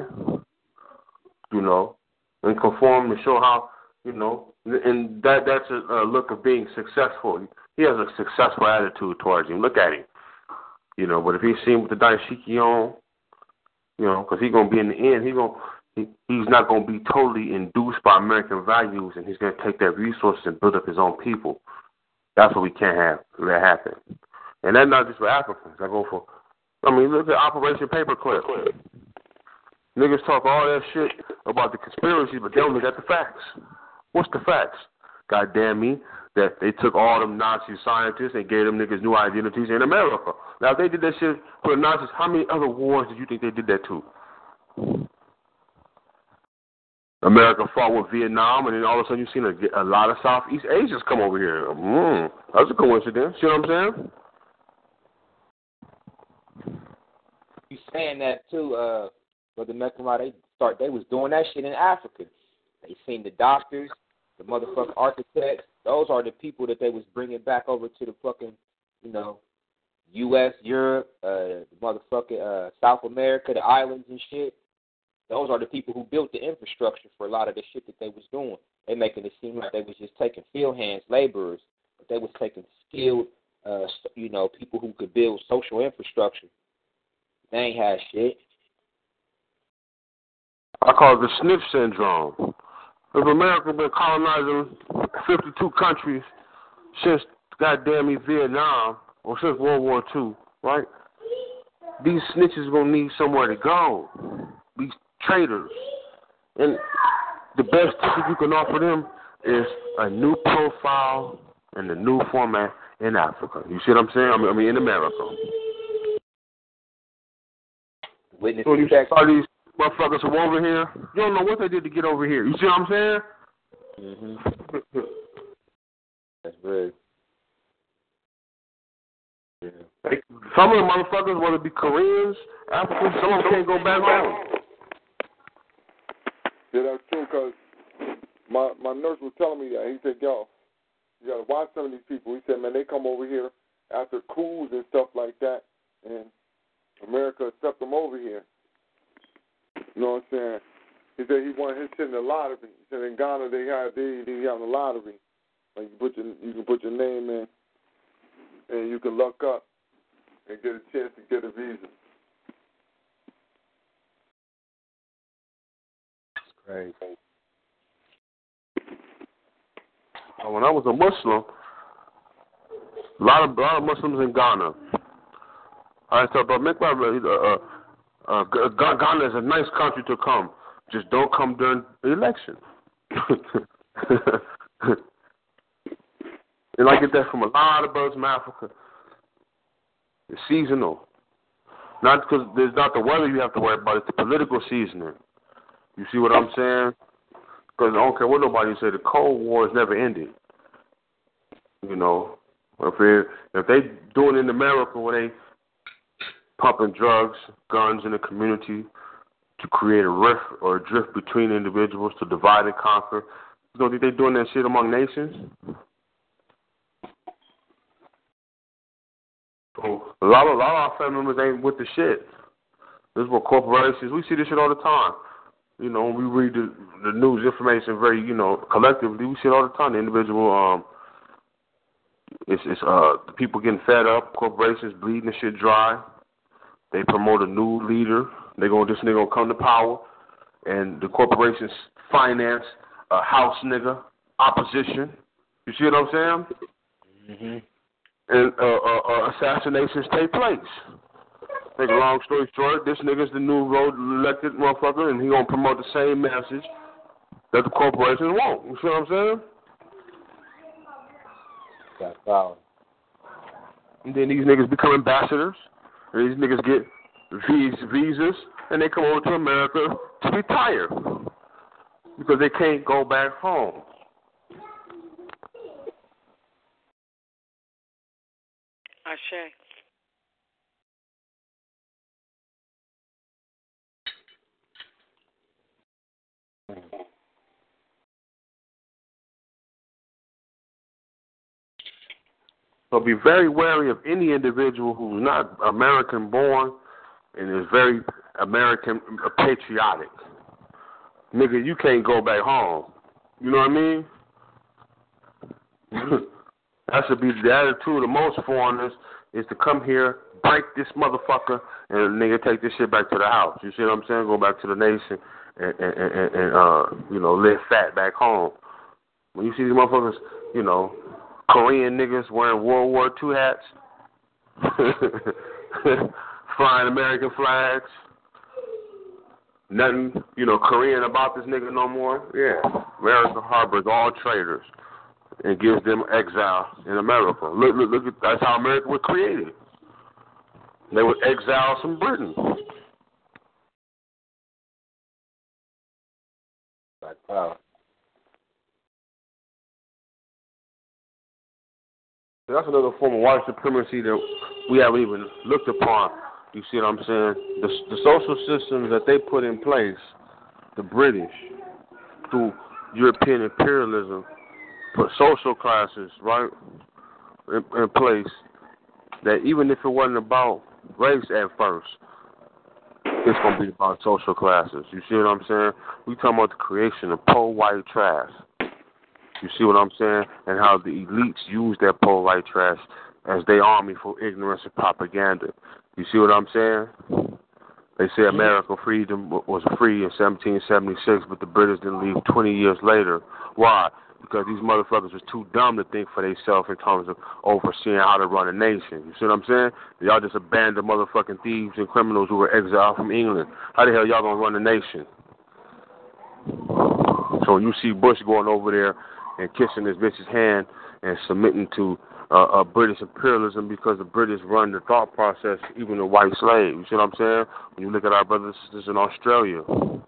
and conform to show how, and that's a look of being successful. He has a successful attitude towards him. Look at him. But if he's seen with the dashiki on, because he's going to be in the end, he's not going to be totally induced by American values, and he's going to take that resources and build up his own people. That's what we can't have that happen. And that's not just for Africans. Look at Operation Paperclip. Niggas talk all that shit about the conspiracy, but they only got the facts. What's the facts? God damn me, that they took all them Nazi scientists and gave them niggas new identities in America. Now, if they did that shit for the Nazis, how many other wars did you think they did that to? America fought with Vietnam, and then all of a sudden you've seen a lot of Southeast Asians come over here. That's a coincidence. You know what I'm saying? You saying that too, Brother Mekama, they was doing that shit in Africa. They seen the doctors, the motherfucking architects. Those are the people that they was bringing back over to the fucking, U.S., Europe, the motherfucking South America, the islands and shit. Those are the people who built the infrastructure for a lot of the shit that they was doing. They making it seem like they was just taking field hands, laborers, but they was taking skilled, people who could build social infrastructure. They ain't had shit. I call it the sniff syndrome. If America been colonizing 52 countries since goddamn Vietnam or since World War II, right? These snitches gonna need somewhere to go. These traitors. And the best ticket you can offer them is a new profile and a new format in Africa. You see what I'm saying? I mean in America. So you saw these motherfuckers from over here, you don't know what they did to get over here. You see what I'm saying? Mm-hmm. That's good. Yeah. Like, some of the motherfuckers want to be Koreans, Africans. Some of them can't go back home. Yeah, that's true, because my nurse was telling me that. He said, yo, you got to watch some of these people. He said, man, they come over here after coups and stuff like that, and America accept them over here. You know what I'm saying? He said he wanted his shit in the lottery. He said in Ghana they have the lottery. Like you can put your name in, and you can luck up and get a chance to get a visa. Crazy. When I was a Muslim, a lot of Muslims in Ghana. I thought, but make Ghana is a nice country to come. Just don't come during the election. And I get that from a lot of brothers from Africa. It's seasonal. Not because there's not the weather you have to worry about, it's the political seasoning. You see what I'm saying? Because I don't care what nobody say, the Cold War has never ended. You know, if they doing it in America where they pumping drugs, guns in the community to create a rift or a drift between individuals to divide and conquer, you don't think they doing that shit among nations? So a lot of our family members ain't with the shit. This is what corporations, we see this shit all the time. You know, when we read the news information very, collectively, we see it all the time. The individual, the people getting fed up, corporations bleeding the shit dry. They promote a new leader. This nigga gonna come to power, and the corporations finance a house nigga opposition. You see what I'm saying? Mm-hmm. And assassinations take place. Make a long story short, this nigga's the new road elected motherfucker, and he gonna promote the same message that the corporations want. You see what I'm saying? That's valid. And then these niggas become ambassadors, and these niggas get visas, and they come over to America to retire because they can't go back home. Ashe. So be very wary of any individual who's not American born and is very American patriotic. Nigga, you can't go back home. You know what I mean? That should be the attitude of most foreigners, is to come here, break this motherfucker, and nigga take this shit back to the house. You see what I'm saying? Go back to the nation and live fat back home. When you see these motherfuckers, Korean niggas wearing World War II hats, flying American flags, nothing, Korean about this nigga no more. Yeah, America harbors all traitors and gives them exile in America. Look at that's how America was created. They were exiles from Britain. Wow. That's another form of white supremacy that we haven't even looked upon. You see what I'm saying? The social systems that they put in place, the British, through European imperialism, put social classes, right, in place that even if it wasn't about race at first, it's going to be about social classes. You see what I'm saying? We talking about the creation of poor white trash. You see what I'm saying? And how the elites use that poor white trash as their army for ignorance and propaganda. You see what I'm saying? They say American freedom was free in 1776, but the British didn't leave 20 years later. Why? Because these motherfuckers was too dumb to think for themselves in terms of overseeing how to run a nation. You see what I'm saying? Y'all just abandoned motherfucking thieves and criminals who were exiled from England. How the hell y'all gonna run a nation? So when you see Bush going over there and kissing this bitch's hand and submitting to British imperialism because the British run the thought process, even the white slave. You see what I'm saying? When you look at our brothers and sisters in Australia,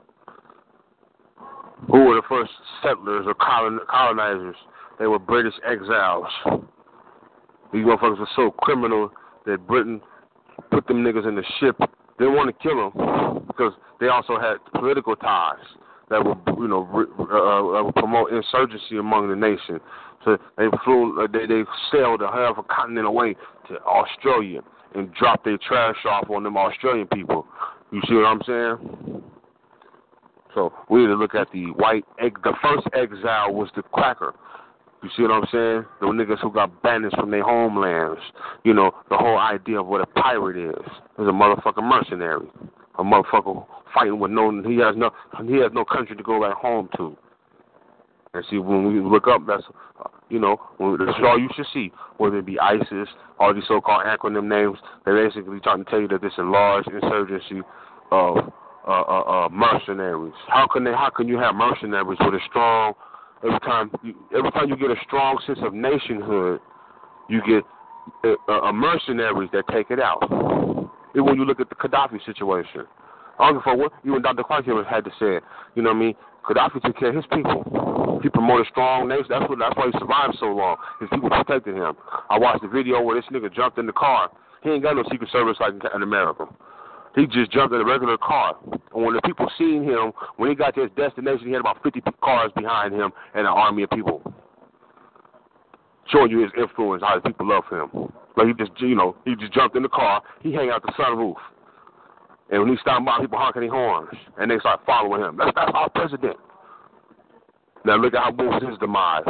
who were the first settlers or colonizers? They were British exiles. These motherfuckers were so criminal, that Britain put them niggas in the ship. They didn't want to kill them because they also had political ties that would, would promote insurgency among the nation. So they sailed a half a continent away to Australia and dropped their trash off on them Australian people. You see what I'm saying? So we need to look at the the first exile was the cracker. You see what I'm saying? The niggas who got banished from their homelands. You know, the whole idea of what a pirate is a motherfucking mercenary. A motherfucker fighting with he has no country to go back home to. And see, when we look up, that's, that's all you should see. Whether it be ISIS, all these so-called acronym names, they're basically trying to tell you that this is a large insurgency of mercenaries. How can you have mercenaries with a strong, every time you get a strong sense of nationhood, you get mercenaries that take it out. Even when you look at the Gaddafi situation. I don't give a fuck what even Dr. Clark had to say. You know what I mean? Gaddafi took care of his people. He promoted strong nation. That's why he survived so long. His people protected him. I watched the video where this nigga jumped in the car. He ain't got no Secret Service like in America. He just jumped in a regular car. And when the people seen him, when he got to his destination, he had about 50 cars behind him and an army of people. Showing you his influence, how the people love him. Like he just jumped in the car. He hang out the sunroof. And when he stopped by, people honking their horns. And they start following him. That's our president. Now look at how moves his demise.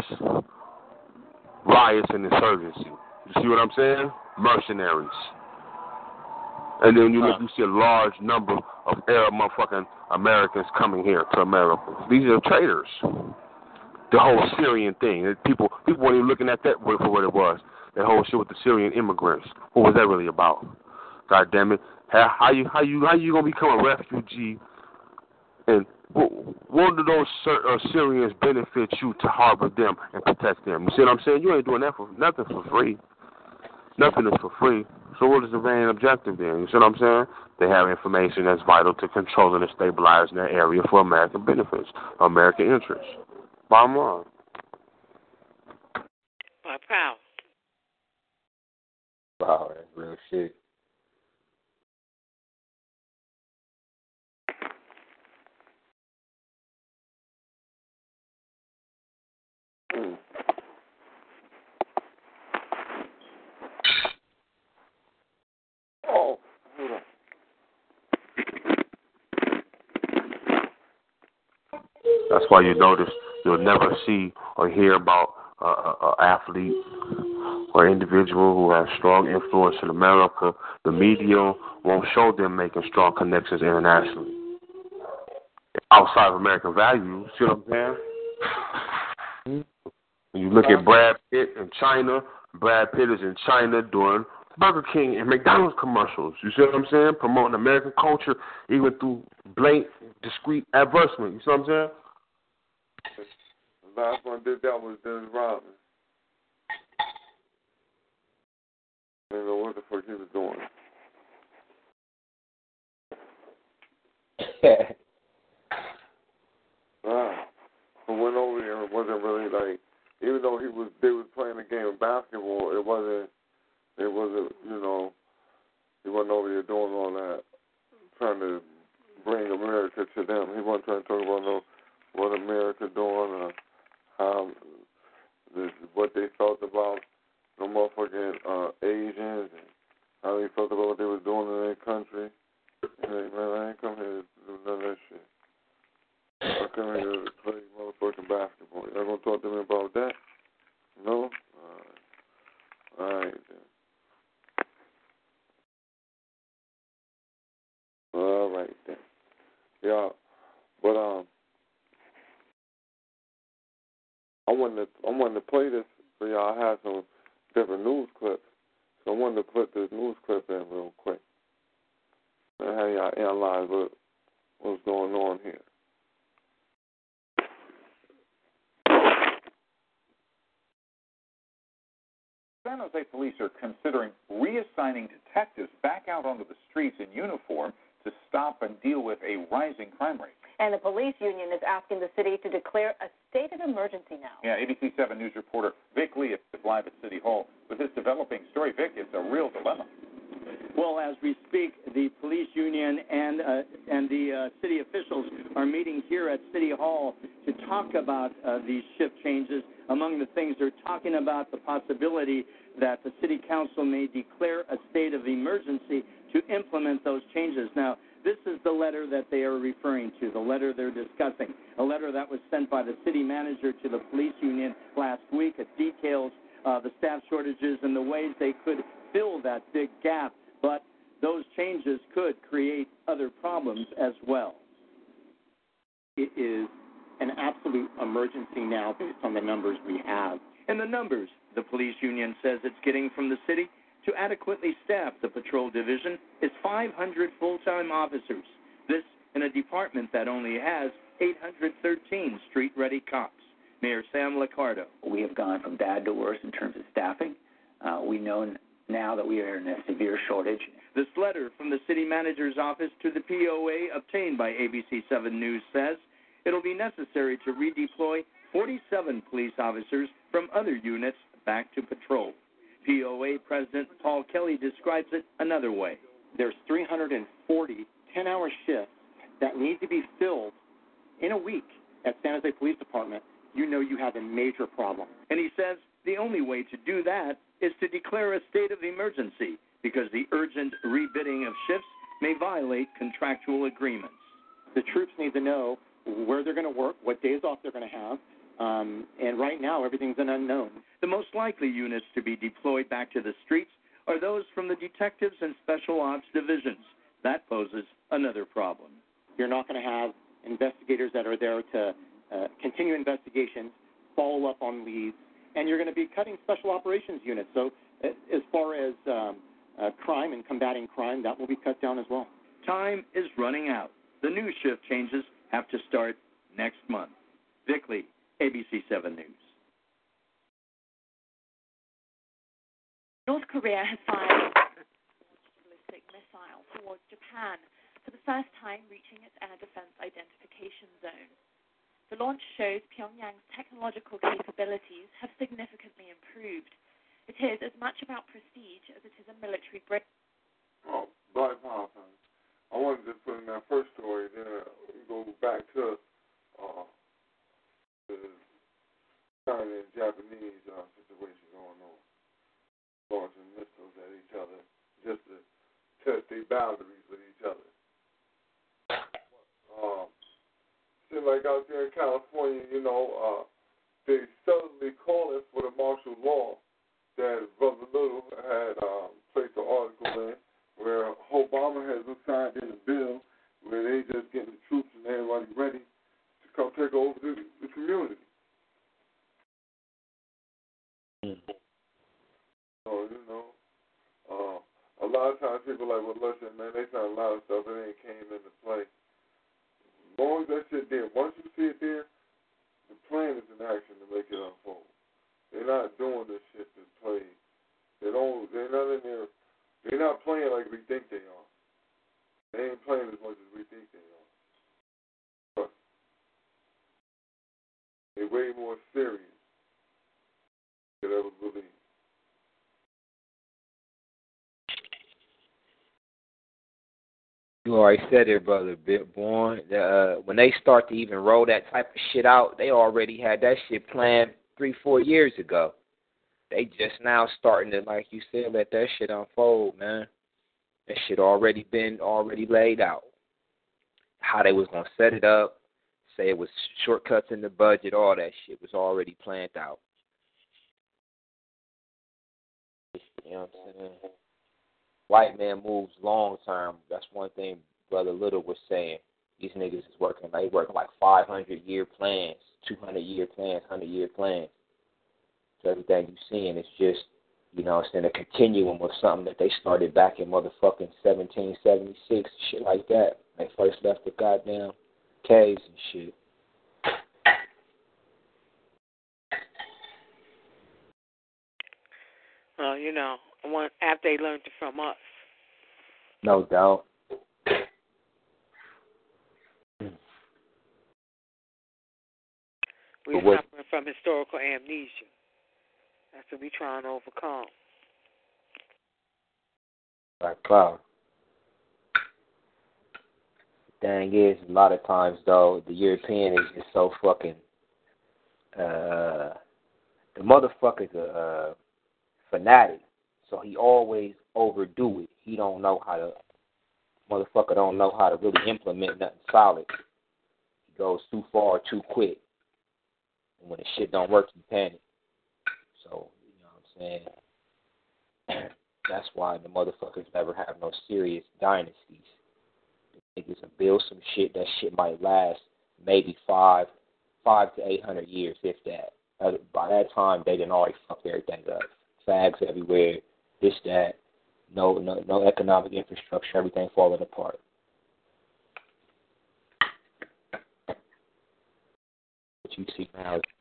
Riots and insurgency. You see what I'm saying? Mercenaries. And then you see a large number of Arab motherfucking Americans coming here to America. These are traitors. The whole Syrian thing. People weren't even looking at that for what it was. That whole shit with the Syrian immigrants. What was that really about? God damn it. How you gonna become a refugee? And what do those Syrians benefit you to harbor them and protect them? You see what I'm saying? You ain't doing that for nothing for free. Nothing is for free. So what is the main objective then? You see what I'm saying? They have information that's vital to controlling and stabilizing that area for American benefits, American interests. Bottom line. Wow. Wow, that's real shit. Oh, hold on. That's why you notice you'll never see or hear about an athlete or individual who has strong influence in America. The media won't show them making strong connections internationally. Outside of American values, see what I'm saying? When you look at Brad Pitt in China, Brad Pitt is in China doing Burger King and McDonald's commercials. You see what I'm saying? Promoting American culture even through blatant, discreet advertisement. You see what I'm saying? The last one did that was Dennis Rodman. I don't know what the fuck he was doing. I went over there and it wasn't really like, even though they was playing a game of basketball, it wasn't, he wasn't over there doing all that, trying to bring America to them. He wasn't trying to talk about what America doing or how what they felt about the motherfucking Asians and how they felt about what they was doing in their country. Like, man, I ain't come here to do none of that shit. I come here to play motherfucking basketball. Y'all gonna talk to me about that? No? All right then. All right then. Yeah, but I wanted to play this for y'all. I had some different news clips, so I wanted to put this news clip in real quick and have y'all analyze what's going on here. San Jose police are considering reassigning detectives back out onto the streets in uniform to stop and deal with a rising crime rate. And the police union is asking the city to declare a state of emergency now. Yeah, ABC 7 News reporter Vic Lee is live at City Hall with this developing story. Vic, it's a real dilemma. we speak, the police union and the city officials are meeting here at City Hall to talk about these shift changes. Among the things they're talking about, the possibility that the city council may declare a state of emergency to implement those changes. Now, this is the letter that they are referring to, the letter they're discussing, a letter that was sent by the city manager to the police union last week. It details the staff shortages and the ways they could fill that big gap, but those changes could create other problems as well. It is an absolute emergency now based on the numbers we have. And the numbers, the police union says it's getting from the city to adequately staff the patrol division is 500 full-time officers. This in a department that only has 813 street-ready cops. Mayor Sam Liccardo. We have gone from bad to worse in terms of staffing. We know now that we are in a severe shortage. This letter from the city manager's office to the POA obtained by ABC 7 News says it'll be necessary to redeploy 47 police officers from other units back to patrol. POA President Paul Kelly describes it another way. There's 340 10-hour shifts that need to be filled in a week at San Jose Police Department. You know you have a major problem. And he says the only way to do that is to declare a state of emergency because the urgent rebidding of shifts may violate contractual agreements. The troops need to know where they're going to work, what days off they're going to have, and right now everything's an unknown. The most likely units to be deployed back to the streets are those from the detectives and special ops divisions. That poses another problem. You're not going to have investigators that are there to continue investigations, follow up on leads, and you're going to be cutting special operations units. So as far as crime and combating crime, that will be cut down as well. Time is running out. The new shift changes have to start next month. Vic Lee, ABC 7 News. North Korea has fired a ballistic missile towards Japan for the first time, reaching its air defense identification zone. The launch shows Pyongyang's technological capabilities have significantly improved. It is as much about prestige as it is a military breakthrough. Oh, Black Power. I wanted to put in that first story, then go back to the China and Japanese situation going on. Launching missiles at each other just to test their boundaries with each other. Seems like out there in California, they suddenly calling for the martial law that Brother Little had placed an article in where Obama has signed in a bill where they just getting the troops and everybody ready to come take over the community. So, a lot of times people are like, well, listen, man, they found a lot of stuff that ain't came into play. As long as that shit there, once you see it there, the plan is in action to make it unfold. They're not doing this shit to play. They're not in there. They're not playing like we think they are. They ain't playing as much as we think they are. But they're way more serious than I ever believe. You already said it, brother Born. When they start to even roll that type of shit out, they already had that shit planned 3-4 years ago. They just now starting to, like you said, let that shit unfold, man. That shit already laid out. How they was gonna set it up, say it was shortcuts in the budget, all that shit was already planned out. You know what I'm saying? White man moves long term. That's one thing Brother Little was saying. These niggas is working like 500-year plans, 200-year plans, 100-year plans. So everything you're seeing is just, it's in a continuum of something that they started back in motherfucking 1776, shit like that. They first left the goddamn caves and shit. Well, after they learned it from us. No doubt. We're suffering from historical amnesia. That's what we're trying to overcome. Black Cloud. Thing is, a lot of times though, the European is just so fucking. The motherfucker's a fanatic, so he always overdo it. He don't know how to. Motherfucker don't know how to really implement nothing solid. He goes too far too quick, and when the shit don't work, he panic. So you know what I'm saying. That's why the motherfuckers never have no serious dynasties. The niggas will build some shit. That shit might last maybe 500 to 800 years, if that. By that time, they done already fucked everything up. Fags everywhere, this, that. No economic infrastructure. Everything falling apart. What you see now is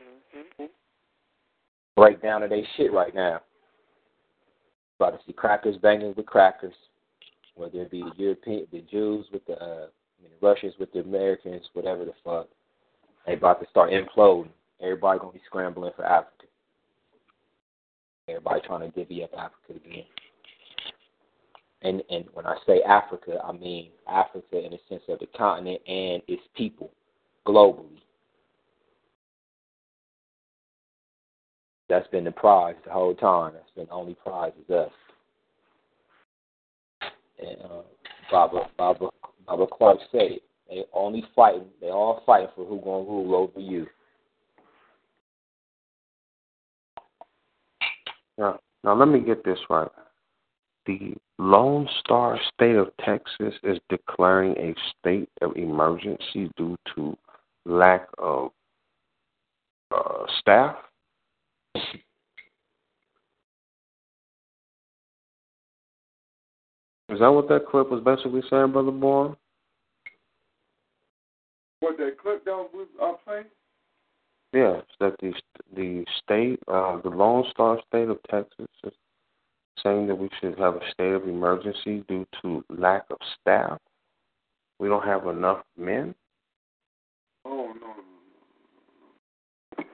breakdown of their shit right now. About to see crackers banging with crackers, whether it be the Jews with the Russians with the Americans, whatever the fuck. They about to start imploding. Everybody gonna be scrambling for Africa. Everybody trying to divvy up Africa again. And when I say Africa, I mean Africa in the sense of the continent and its people globally. That's been the prize the whole time. That's been the only prize is us. And Baba Clark said it. They all fighting for who gonna rule over you. Now let me get this right. The Lone Star State of Texas is declaring a state of emergency due to lack of staff. Is that what that clip was basically saying, Brother Bourne? What that clip down playing? Yes, that the state, the Lone Star State of Texas is saying that we should have a state of emergency due to lack of staff. We don't have enough men. Oh, no.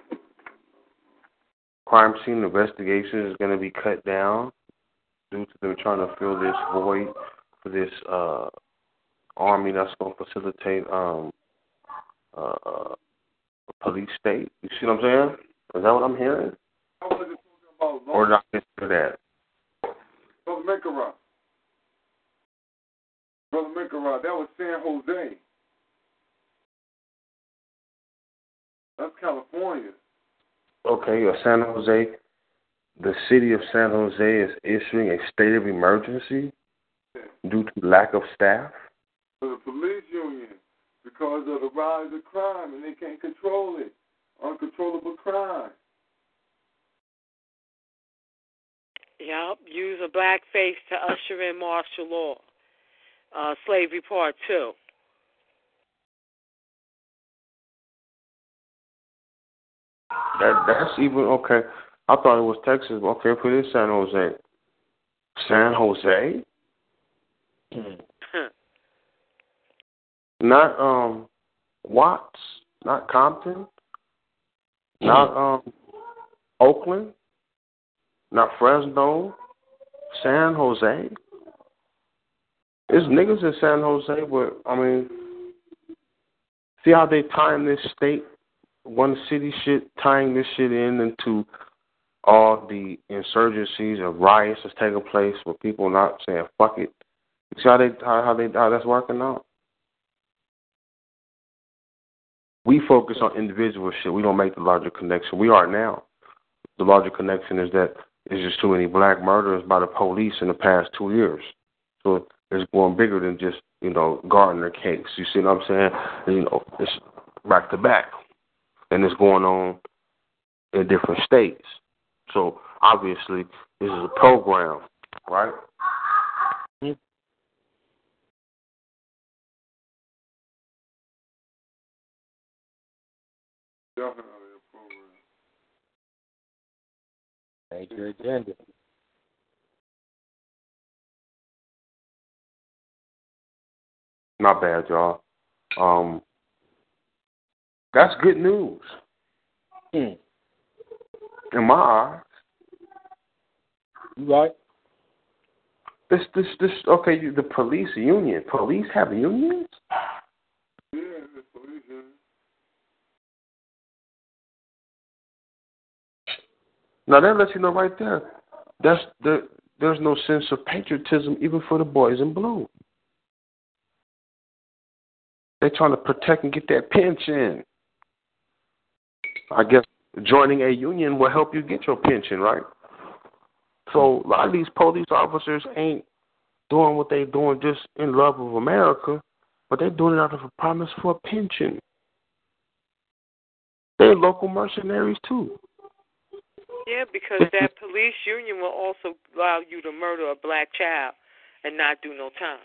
Crime scene investigation is going to be cut down due to them trying to fill this void for this army that's going to facilitate a police state. You see what I'm saying? Is that what I'm hearing? I wasn't talking about or not into that? Brother Minkarah, that was San Jose. That's California. Okay, San Jose. The city of San Jose is issuing a state of emergency due to lack of staff. For the police union, because of the rise of crime, and they can't control it. Uncontrollable crime. Yep, use a blackface to usher in martial law. Slavery Part 2. That's even okay. I thought it was Texas. Okay, put it in San Jose. San Jose? Not Watts, not Compton, not Oakland, not Fresno, San Jose. There's niggas in San Jose, but I mean, see how they tying this state, one city shit, tying this shit into all the insurgencies and riots that's taking place with people not saying fuck it. You see how that's working out? We focus on individual shit. We don't make the larger connection. We are now. The larger connection is that there's just too many black murders by the police in the past 2 years. So it's going bigger than just, Gardner case. You see what I'm saying? It's back to back. And it's going on in different states. So obviously this is a program, right? Definitely a program. Major agenda. Not bad, y'all. That's good news. In my eyes. You right. This. Okay, the police union. Police have unions. Yeah, the police union. Now that lets you know right there. There's no sense of patriotism even for the boys in blue. They're trying to protect and get that pension. I guess joining a union will help you get your pension, right? So a lot of these police officers ain't doing what they're doing just in love of America, but they're doing it out of a promise for a pension. They're local mercenaries too. Yeah, because that police union will also allow you to murder a black child and not do no time.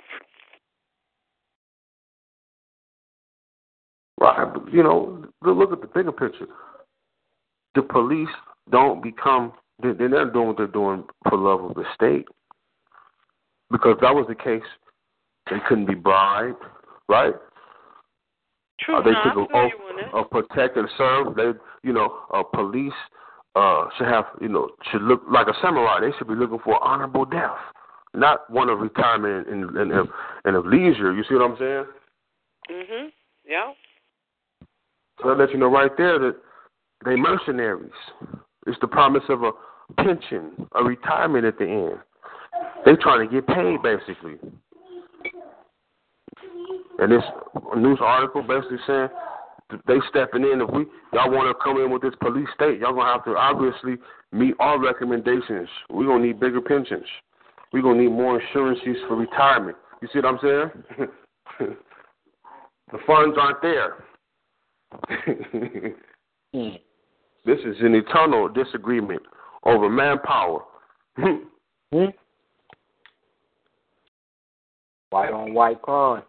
Right, but, look at the bigger picture. The police don't become, they're not doing what they're doing for love of the state. Because if that was the case, they couldn't be bribed, right? True, They no, took I feel you on that. protect and serve. Police should have, should look like a samurai. They should be looking for honorable death, not one of retirement and of leisure. You see what I'm saying? Mhm. Yeah. So that lets you know right there that they mercenaries. It's the promise of a pension, a retirement at the end. They trying to get paid basically. And this news article basically saying they stepping in. If y'all want to come in with this police state, y'all gonna have to obviously meet our recommendations. We're gonna need bigger pensions. We're gonna need more insurances for retirement. You see what I'm saying? The funds aren't there. This is an eternal disagreement over manpower. White on white crime.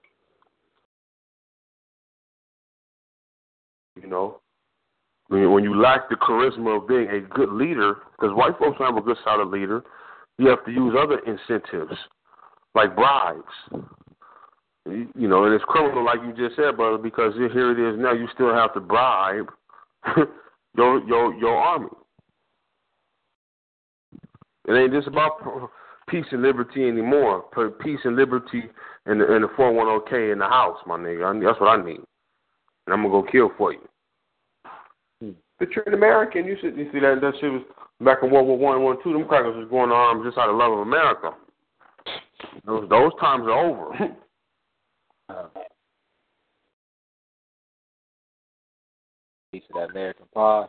When you lack the charisma of being a good leader, because white folks don't have a good solid leader, you have to use other incentives, like bribes. And it's criminal, like you just said, brother, because here it is now. You still have to bribe your army. It ain't just about peace and liberty anymore. Peace and liberty and the 401k in the house, my nigga. That's what I need, and I'm gonna go kill for you. But you're an American. You see that shit was back in World War I and World War II. Them crackers was going to arms just out of love of America. Those times are over. Piece of that American pie.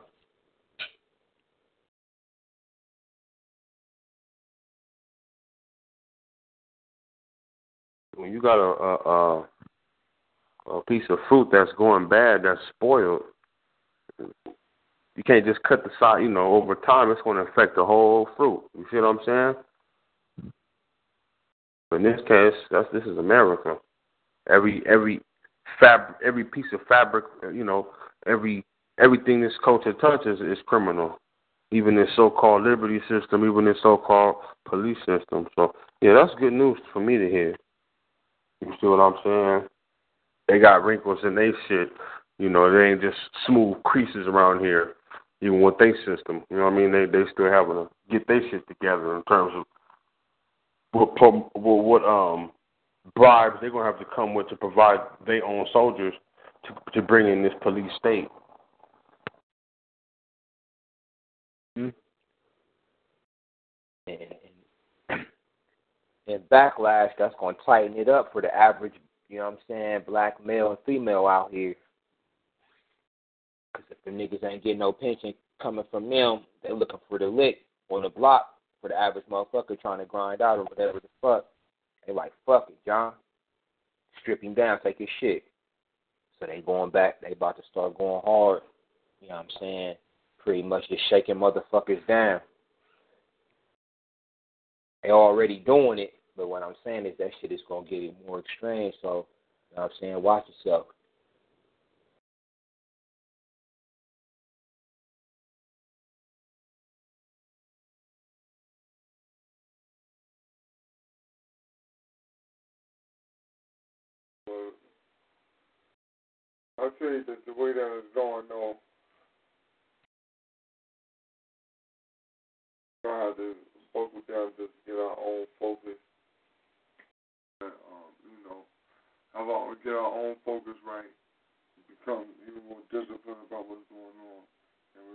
When you got a piece of fruit that's going bad, that's spoiled, you can't just cut the side. Over time, it's going to affect the whole fruit. You see what I'm saying? But in this case, this is America. Every piece of fabric, everything this culture touches is criminal. Even this so-called liberty system, even this so-called police system. So, yeah, that's good news for me to hear. You see what I'm saying? They got wrinkles in their shit. They ain't just smooth creases around here, even with their system. You know what I mean? They still having to get their shit together in terms of what bribes they're going to have to come with to provide their own soldiers to bring in this police state. And backlash, that's going to tighten it up for the average, black male and female out here. Because if the niggas ain't getting no pension coming from them, they looking for the lick on the block for the average motherfucker trying to grind out or whatever the fuck. They like, fuck it, John. Strip him down, take his shit. So they going back, they about to start going hard. Pretty much just shaking motherfuckers down. They already doing it, but what I'm saying is that shit is going to get more extreme. So, watch yourself. I say that the way that it's going, though, I have to focus down, just get our own focus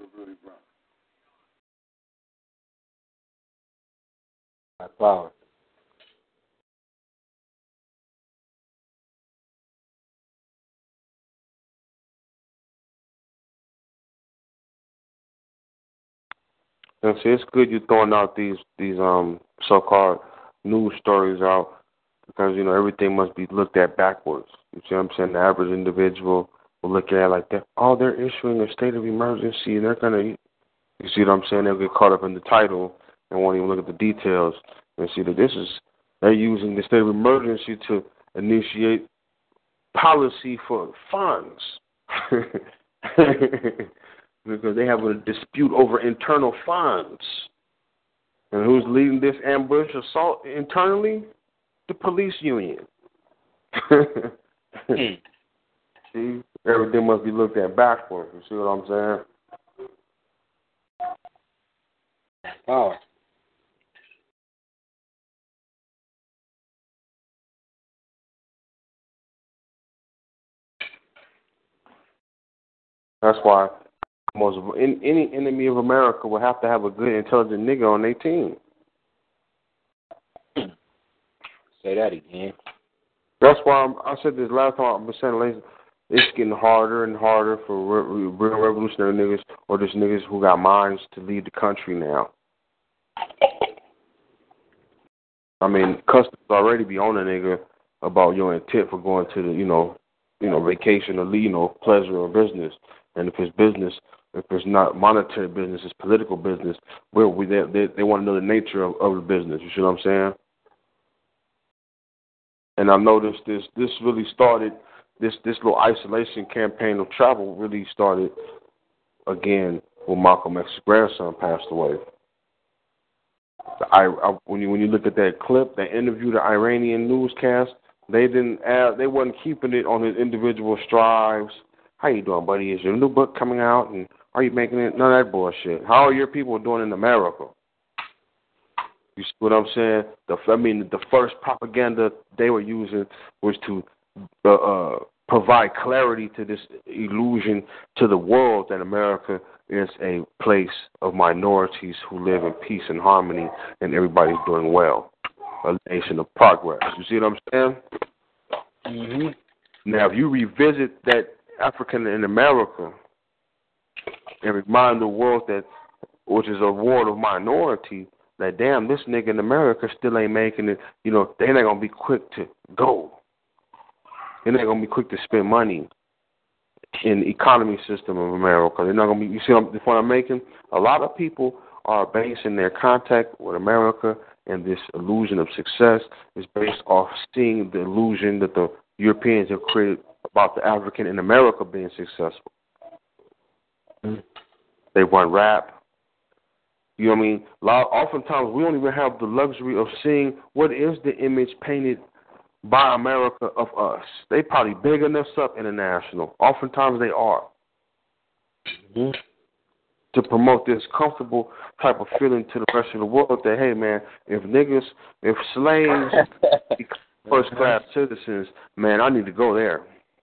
Black power. And see, it's good you throwing out these so-called news stories out because everything must be looked at backwards. You see what I'm saying? The average individual will look at it like that. Oh, they're issuing a state of emergency, and they're gonna. You see what I'm saying? They'll get caught up in the title and won't even look at the details and see that they're using the state of emergency to initiate policy for funds. Because they have a dispute over internal funds. And who's leading this ambush assault internally? The police union. See, everything must be looked at backwards. You see what I'm saying? Power. That's why any enemy of America will have to have a good, intelligent nigga on their team. Say that again. That's why I said this last time. I've been saying it's getting harder and harder for real revolutionary niggas or just niggas who got minds to lead the country now. I mean, customs already be on a nigga about your intent for going to the vacation or pleasure or business. And if it's business, if it's not monetary business, it's political business. They want to know the nature of the business. You see what I'm saying? And I noticed this really started, this little isolation campaign of travel really started again when Malcolm X's grandson passed away. When you look at that clip, that interview, the Iranian newscast, they wasn't keeping it on his individual strives. How you doing, buddy? Is your new book coming out? And are you making it? None of that bullshit. How are your people doing in America? You see what I'm saying? The first propaganda they were using was to provide clarity to this illusion to the world that America is a place of minorities who live in peace and harmony and everybody's doing well. A nation of progress. You see what I'm saying? Mm-hmm. Now, if you revisit that African in America and remind the world that, which is a world of minority, that damn, this nigga in America still ain't making it, they're not going to be quick to go. They're not going to be quick to spend money in the economy system of America. They're not going to be, you see the point I'm making? A lot of people are basing their contact with America and this illusion of success is based off seeing the illusion that the Europeans have created about the African in America being successful. They run rap. You know what I mean? Oftentimes, we don't even have the luxury of seeing what is the image painted by America of us. They probably bigging us up international. Oftentimes, they are. Mm-hmm. To promote this comfortable type of feeling to the rest of the world that, hey, man, if slaves become first-class citizens, man, I need to go there.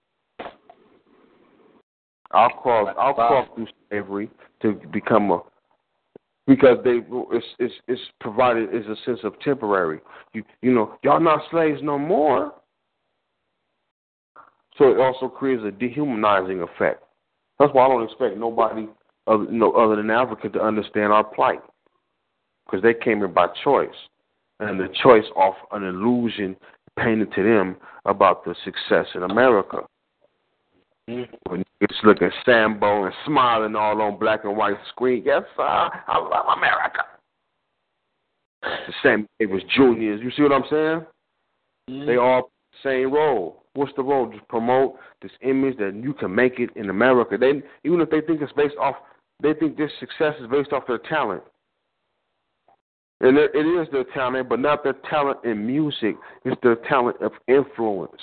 I'll cross through slavery to become because it's provided as a sense of temporary. Y'all not slaves no more. So it also creates a dehumanizing effect. That's why I don't expect nobody other than Africa to understand our plight, because they came here by choice, and the choice off an illusion painted to them about the success in America. When you just look at Sambo and smiling all on black and white screen, yes, sir, I love America. The same it was juniors. You see what I'm saying? Mm-hmm. They all same role. What's the role? Just promote this image that you can make it in America. Even if they think it's based off, they think this success is based off their talent. And it is their talent, but not their talent in music. It's their talent of influence.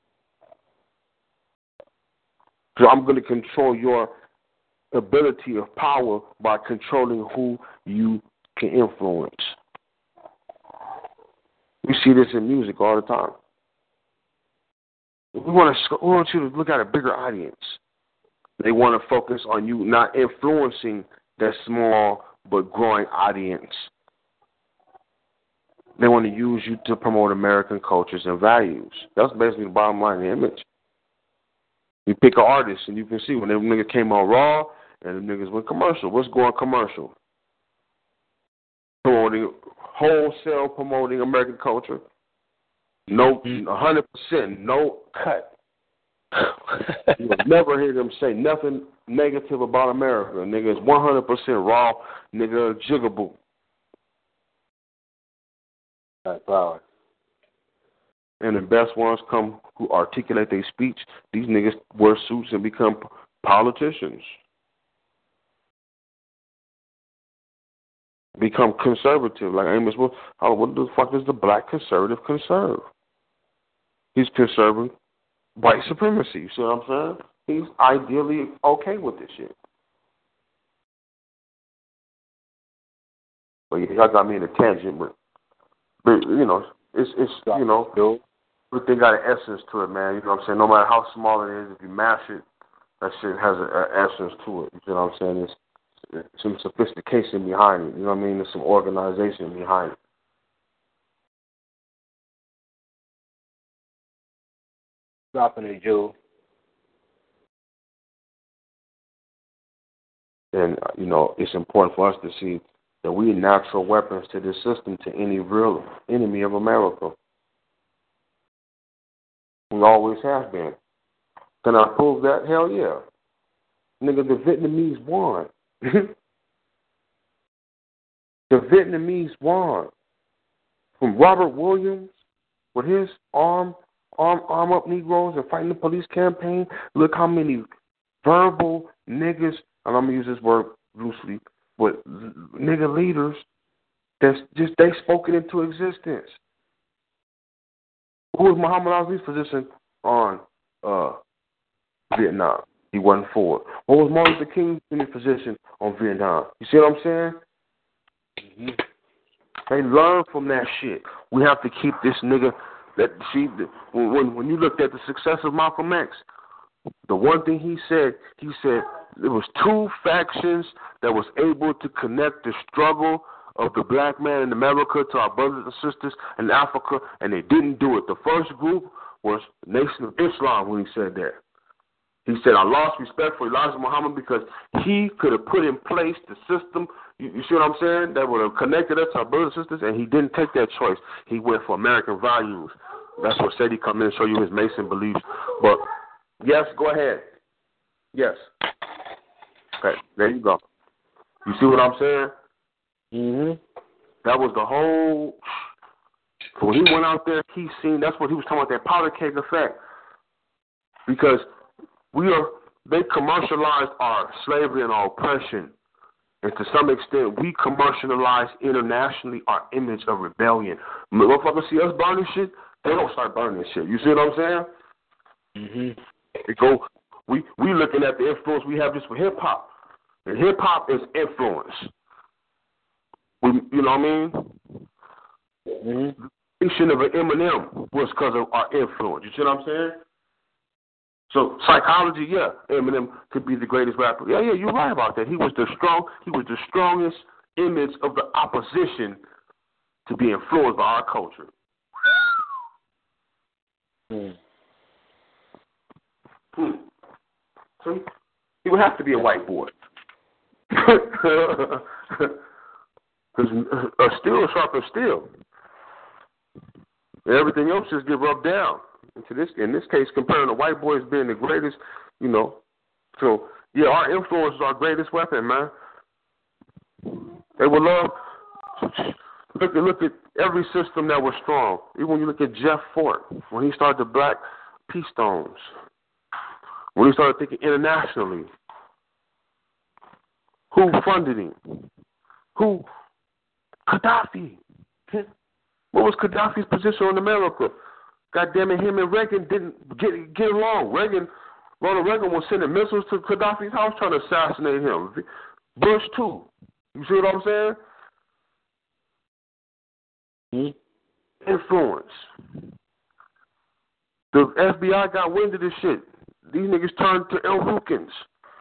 So I'm going to control your ability of power by controlling who you can influence. We see this in music all the time. We want you to look at a bigger audience. They want to focus on you not influencing that small but growing audience. They want to use you to promote American cultures and values. That's basically the bottom line of the image. You pick an artist, and you can see when them niggas came on Raw and them niggas went commercial. What's going commercial? Wholesale promoting American culture. No, 100%, no cut. You will never hear them say nothing negative about America. Nigga, it's 100% raw, nigga, jiggable. That's power. And the best ones come who articulate their speech. These niggas wear suits and become politicians. Become conservative. Like Amos, what the fuck does the black conservative conserve? He's conserving white supremacy. You see what I'm saying? He's ideally okay with this shit. But yeah, y'all got me in a tangent, but you know, it's you know, everything got an essence to it, man. You know what I'm saying? No matter how small it is, if you mash it, that shit has an essence to it. You know what I'm saying? There's some sophistication behind it. You know what I mean? There's some organization behind it. Dropping it, Joe. And, you know, it's important for us to see that we are natural weapons to this system, to any real enemy of America. We always have been. Can I prove that? Hell yeah. Nigga, the Vietnamese won. The Vietnamese won. From Robert Williams with his arm up Negroes and fighting the police campaign. Look how many verbal niggas, and I'm going to use this word loosely, but nigga leaders that's just, they spoke it into existence. Who was Muhammad Ali's position on Vietnam? He wasn't for it. What was Martin Luther King's position on Vietnam? You see what I'm saying? Mm-hmm. They learn from that shit. We have to keep this nigga. When you looked at the success of Malcolm X, the one thing he said there was two factions that was able to connect the struggle of the black man in America to our brothers and sisters in Africa, and they didn't do it. The first group was the Nation of Islam when he said that. He said, I lost respect for Elijah Muhammad because he could have put in place the system, you see what I'm saying, that would have connected us to our brothers and sisters, and he didn't take that choice. He went for American values. That's what said he come in and show you his Mason beliefs. But, yes, go ahead. Yes. Okay, there you go. You see what I'm saying? Mm-hmm. That was the whole, when he went out there, he seen, that's what he was talking about, that powder keg effect. Because they commercialized our slavery and our oppression. And to some extent, we commercialize internationally our image of rebellion. Motherfuckers see us burning shit, they don't start burning shit. You see what I'm saying? Mm-hmm. We looking at the influence we have just for hip hop. And hip hop is influence. You know what I mean? Mm-hmm. The creation of an Eminem was because of our influence. You see what I'm saying? So psychology, yeah, Eminem could be the greatest rapper. Yeah, you're right about that. He was the strongest image of the opposition to be influenced by our culture. So he would have to be a white boy. Because steel is sharp as steel. And everything else just get rubbed down. In this case, comparing the white boys being the greatest, you know. So, yeah, our influence is our greatest weapon, man. They would love, look at every system that was strong. Even when you look at Jeff Fort, when he started the Black Peace Stones, when he started thinking internationally, who funded him? Who? Gaddafi. What was Gaddafi's position on America? God damn it, him and Reagan didn't get along. Ronald Reagan was sending missiles to Gaddafi's house trying to assassinate him. Bush too. You see what I'm saying? Influence. The FBI got wind of this shit. These niggas turned to El Rukins.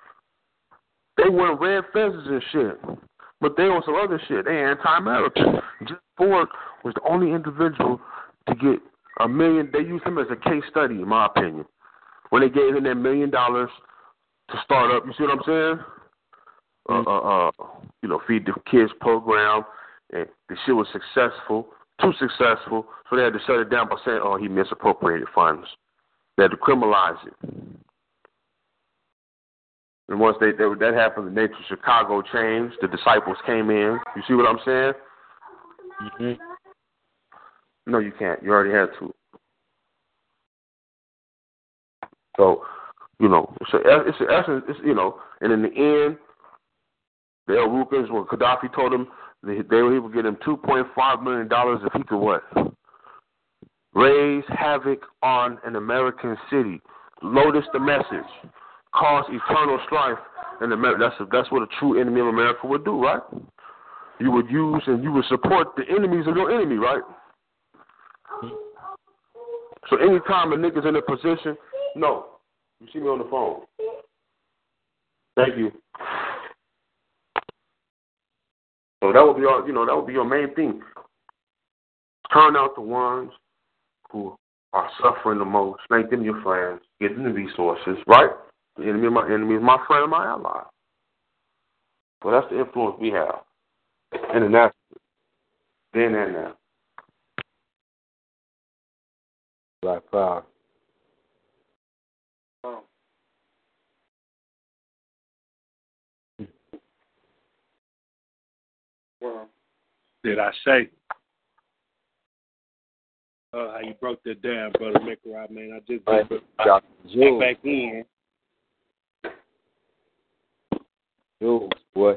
They wear red fences and shit. But they on some other shit. They anti-American. Jim Ford was the only individual to get $1 million. They used him as a case study, in my opinion, when they gave him that $1 million to start up. You see what I'm saying? Feed the kids program, and the shit was successful, too successful, so they had to shut it down by saying, "Oh, he misappropriated funds." They had to criminalize it. And once that happened, the nature of Chicago changed. The disciples came in. You see what I'm saying? Mm-hmm. No, you can't. You already had to. So, it's an essence. And in the end, the El Rukans, when Gaddafi told him he would get him $2.5 million if he could what? Raise havoc on an American city. Lotus the message. Cause eternal strife in America. That's what a true enemy of America would do, right? You would use and you would support the enemies of your enemy, right? So anytime a nigga's in a position, no. You see me on the phone. Thank you. So that would be your main thing. Turn out the ones who are suffering the most. Make them your friends. Get them the resources, right? The enemy of my enemy is my friend and my ally. So that's the influence we have. Internationally. Then and now. Black Power. Well, did I say? How you broke that down, brother Mickey, man. I just got back in. Jules, boy.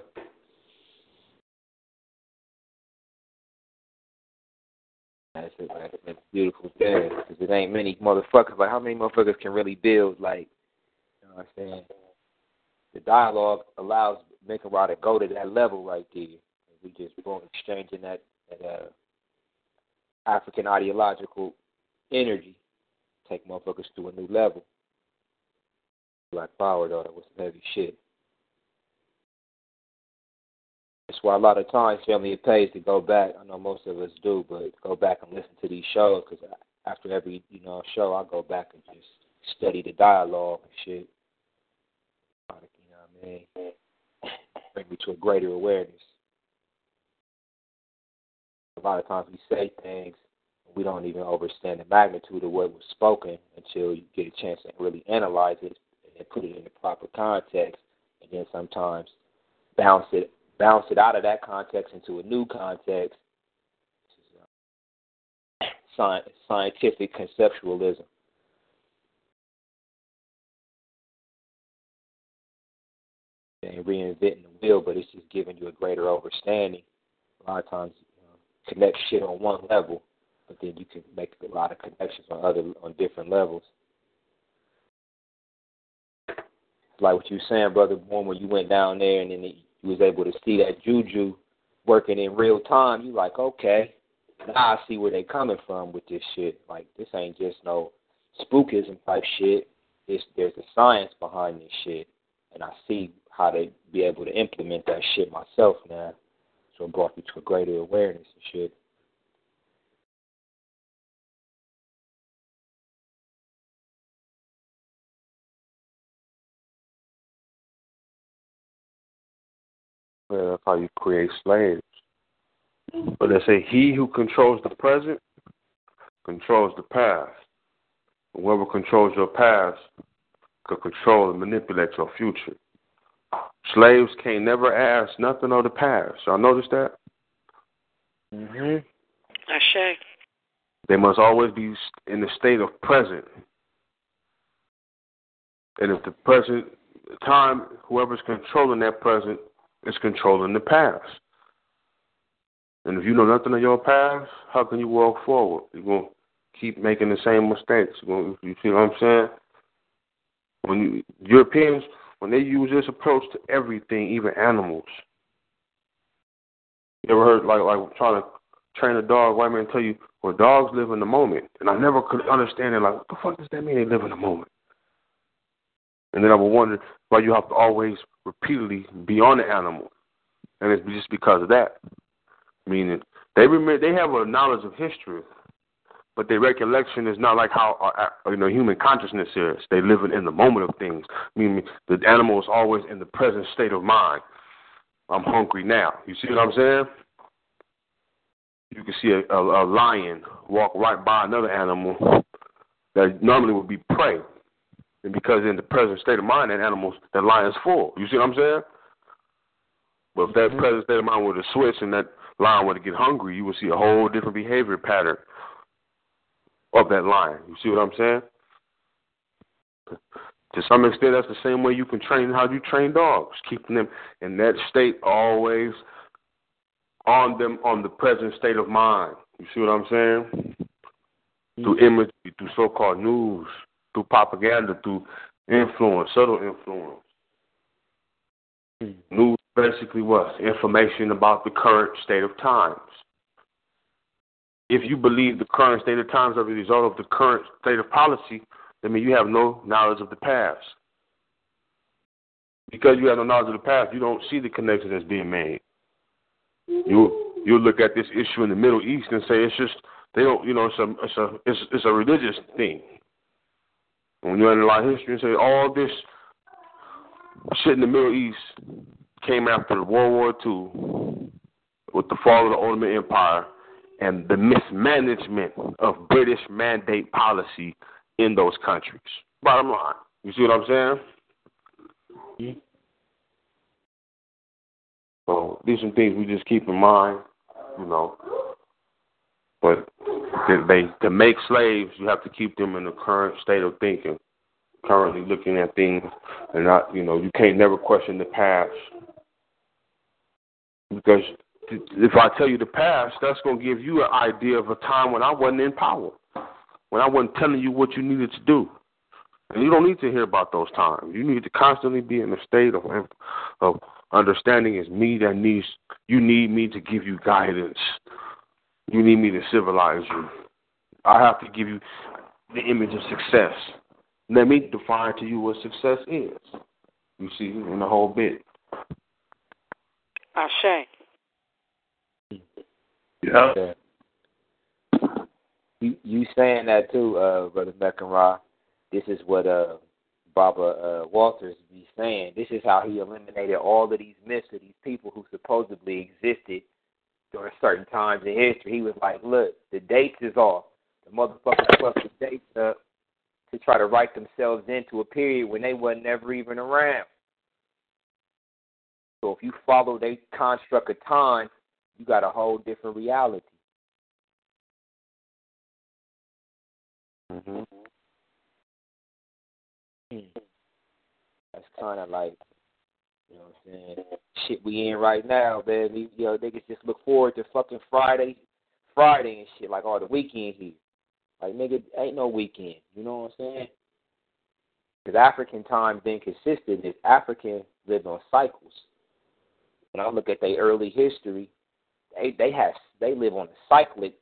That's it, man. It's a beautiful thing. Because it ain't many motherfuckers. Like, how many motherfuckers can really build, like, you know what I'm saying? The dialogue allows Mickey to go to that level right there. We just exchanging that African ideological energy, take motherfuckers to a new level. Black Power, though, that was some heavy shit. That's why a lot of times, family, it pays to go back. I know most of us do, but go back and listen to these shows, because after every show, I go back and just study the dialogue and shit. You know what I mean? Bring me to a greater awareness. A lot of times we say things, we don't even understand the magnitude of what was spoken until you get a chance to really analyze it and put it in the proper context, and then sometimes bounce it out of that context into a new context. This is scientific conceptualism. And reinventing the wheel, but it's just giving you a greater understanding. A lot of times, connect shit on one level, but then you can make a lot of connections on different levels. Like what you were saying, Brother Bourne, when you went down there and then you was able to see that juju working in real time, you like, okay, now I see where they coming from with this shit. Like, this ain't just no spookism type shit. There's a science behind this shit, and I see how they be able to implement that shit myself now. So it brought me to a greater awareness and shit. Well, that's how you create slaves. But they say he who controls the present controls the past. Whoever controls your past can control and manipulate your future. Slaves can't never ask nothing of the past. Y'all notice that? Mm-hmm. Ashe. They must always be in the state of present. And if the present time, whoever's controlling that present is controlling the past. And if you know nothing of your past, how can you walk forward? You're going to keep making the same mistakes. You see what I'm saying? Europeans, when they use this approach to everything, even animals. You ever heard, like trying to train a dog, white man tell you, well, dogs live in the moment. And I never could understand it, like, what the fuck does that mean they live in the moment? And then I would wonder, why you have to always repeatedly be on the animal, and it's just because of that. Meaning they remember, they have a knowledge of history, but their recollection is not like how human consciousness is. They live in the moment of things. Meaning the animal is always in the present state of mind. I'm hungry now. You see what I'm saying? You can see a lion walk right by another animal that normally would be prey. And because in the present state of mind, that lion's full. You see what I'm saying? But if that present state of mind were to switch and that lion were to get hungry, you would see a whole different behavior pattern of that lion. You see what I'm saying? To some extent, that's the same way you can train how you train dogs, keeping them in that state always on the present state of mind. You see what I'm saying? Through imagery, through so-called news, through propaganda, through influence, subtle influence. News basically what? Information about the current state of times. If you believe the current state of times are the result of the current state of policy, that means you have no knowledge of the past. Because you have no knowledge of the past, you don't see the connection that's being made. You look at this issue in the Middle East and say it's just they don't, it's a religious thing. When you analyze history and say all this shit in the Middle East came after World War II with the fall of the Ottoman Empire and the mismanagement of British mandate policy in those countries. Bottom line. You see what I'm saying? So these are some things we just keep in mind, But to make slaves, you have to keep them in the current state of thinking, currently looking at things, and not, you can't never question the past. Because if I tell you the past, that's going to give you an idea of a time when I wasn't in power, when I wasn't telling you what you needed to do. And you don't need to hear about those times. You need to constantly be in a state of understanding is me that needs, you need me to give you guidance. You need me to civilize you. I have to give you the image of success. Let me define to you what success is. You see, in the whole bit. Ashe. Yeah. You saying that too, Brother Meckenra. This is what Baba Walters be saying. This is how he eliminated all of these myths of these people who supposedly existed during certain times in history. He was like, look, the dates is off. The motherfuckers fucked the dates up to try to write themselves into a period when they wasn't never even around. So if you follow their construct of time, you got a whole different reality. Mm-hmm. That's kind of like, you know what I'm saying, shit we in right now, baby. Niggas just look forward to fucking Friday and shit, like, the weekend here. Like, nigga, ain't no weekend. You know what I'm saying? Because African time being consistent is African lived on cycles. When I look at their early history, they live on a cyclic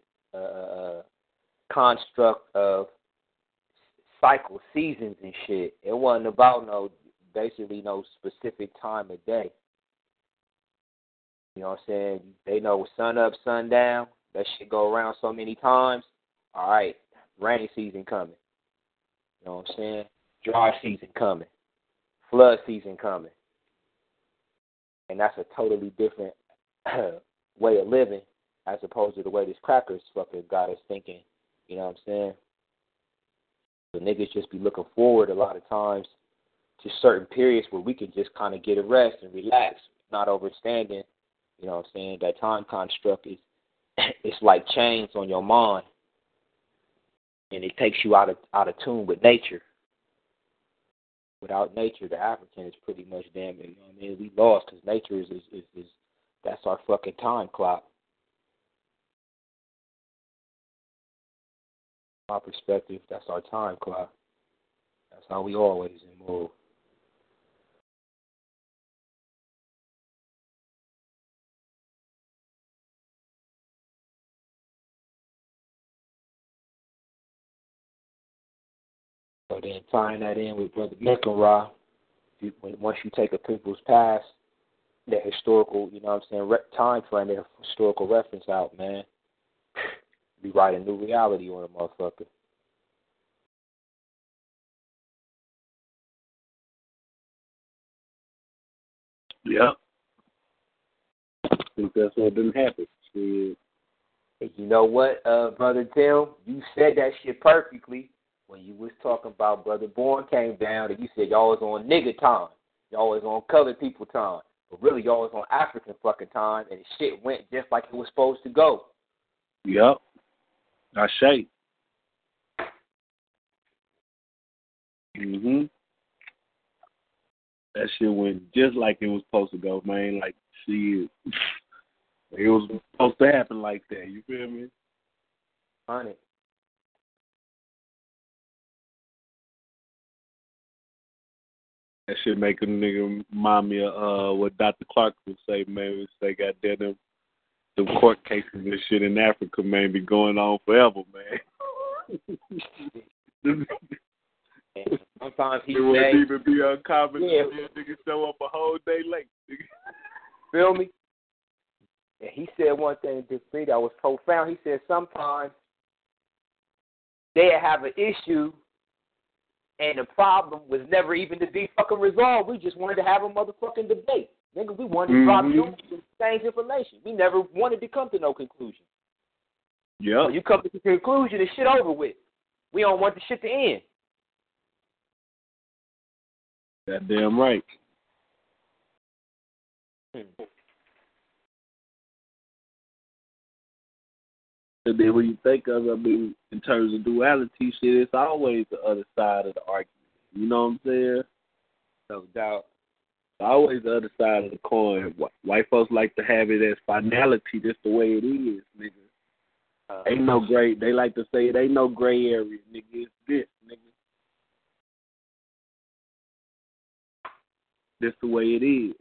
construct of cycle seasons and shit. It wasn't about no specific time of day. You know what I'm saying? They know sun up, sun down. That shit go around so many times. All right, rainy season coming. You know what I'm saying? Dry season coming. Flood season coming. And that's a totally different way of living as opposed to the way this crackers fucking got us thinking. You know what I'm saying? The niggas just be looking forward a lot of times to certain periods where we can just kind of get a rest and relax, not overstanding. You know what I'm saying? That time construct is, it's like chains on your mind, and it takes you out of tune with nature. Without nature, the African is pretty much damn. You know what I mean? We lost because nature is that's our fucking time clock. My perspective, that's our time clock. That's how we always move. So then tying that in with Brother Meckenra, once you take a people's past, their historical, you know what I'm saying, time frame, their historical reference out, man, be writing new reality on a motherfucker. Yep. I think that's what didn't happen. Shit. And you know what, Brother Tim? You said that shit perfectly when you was talking about Brother Bourne came down and you said y'all was on nigga time. Y'all was on colored people time. But really, y'all was on African fucking time, and the shit went just like it was supposed to go. Yep. I say. That shit went just like it was supposed to go, man. Like, shit. It was supposed to happen like that. You feel me? Funny. That shit make a nigga remind me of what Dr. Clark would say, man. Would say, goddamn them court cases and shit in Africa, man, be going on forever, man. Sometimes he wouldn't even be uncommon. Yeah. Nigga show up a whole day late. Feel me? And he said one thing to me that was profound. He said sometimes they have an issue and the problem was never even to be fucking resolved. We just wanted to have a motherfucking debate. Nigga, we wanted to drop you and exchange information. We never wanted to come to no conclusion. Yeah. When you come to the conclusion, the shit over with. We don't want the shit to end. Goddamn right. And then when you think of it, I mean, in terms of duality shit, it's always the other side of the argument. You know what I'm saying? No doubt. It's always the other side of the coin. White folks like to have it as finality. That's the way it is, nigga. Ain't no gray. They like to say it ain't no gray area, nigga. It's this, nigga. That's the way it is.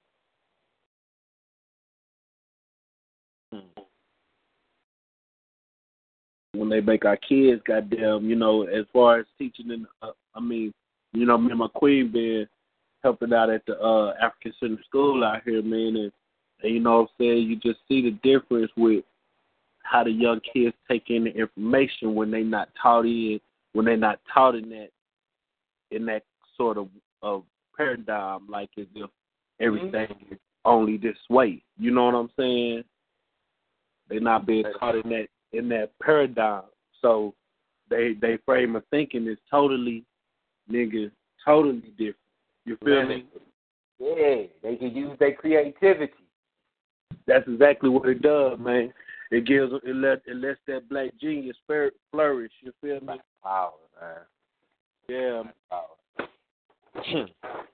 When they make our kids, goddamn, you know, as far as teaching in, I mean, you know, me and my queen been helping out at the African Center School out here, man, and you know what I'm saying, you just see the difference with how the young kids take in the information when they not taught in, when they're not taught in that sort of paradigm, like as if everything is only this way. You know what I'm saying? They're not being taught in that paradigm. So they frame of thinking is totally different. You feel me? Yeah, they can use their creativity. That's exactly what it does, man. It lets that black genius flourish. You feel me? Power, man. Yeah. Power.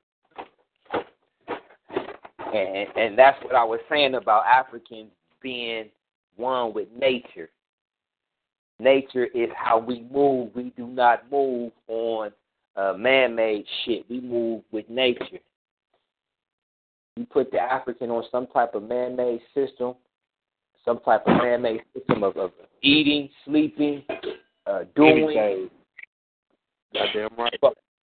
And that's what I was saying about Africans being one with nature. Nature is how we move. We do not move on man-made shit. We move with nature. You put the African on some type of man-made system, some type of man-made system of eating, sleeping, doing. Anything. Goddamn right.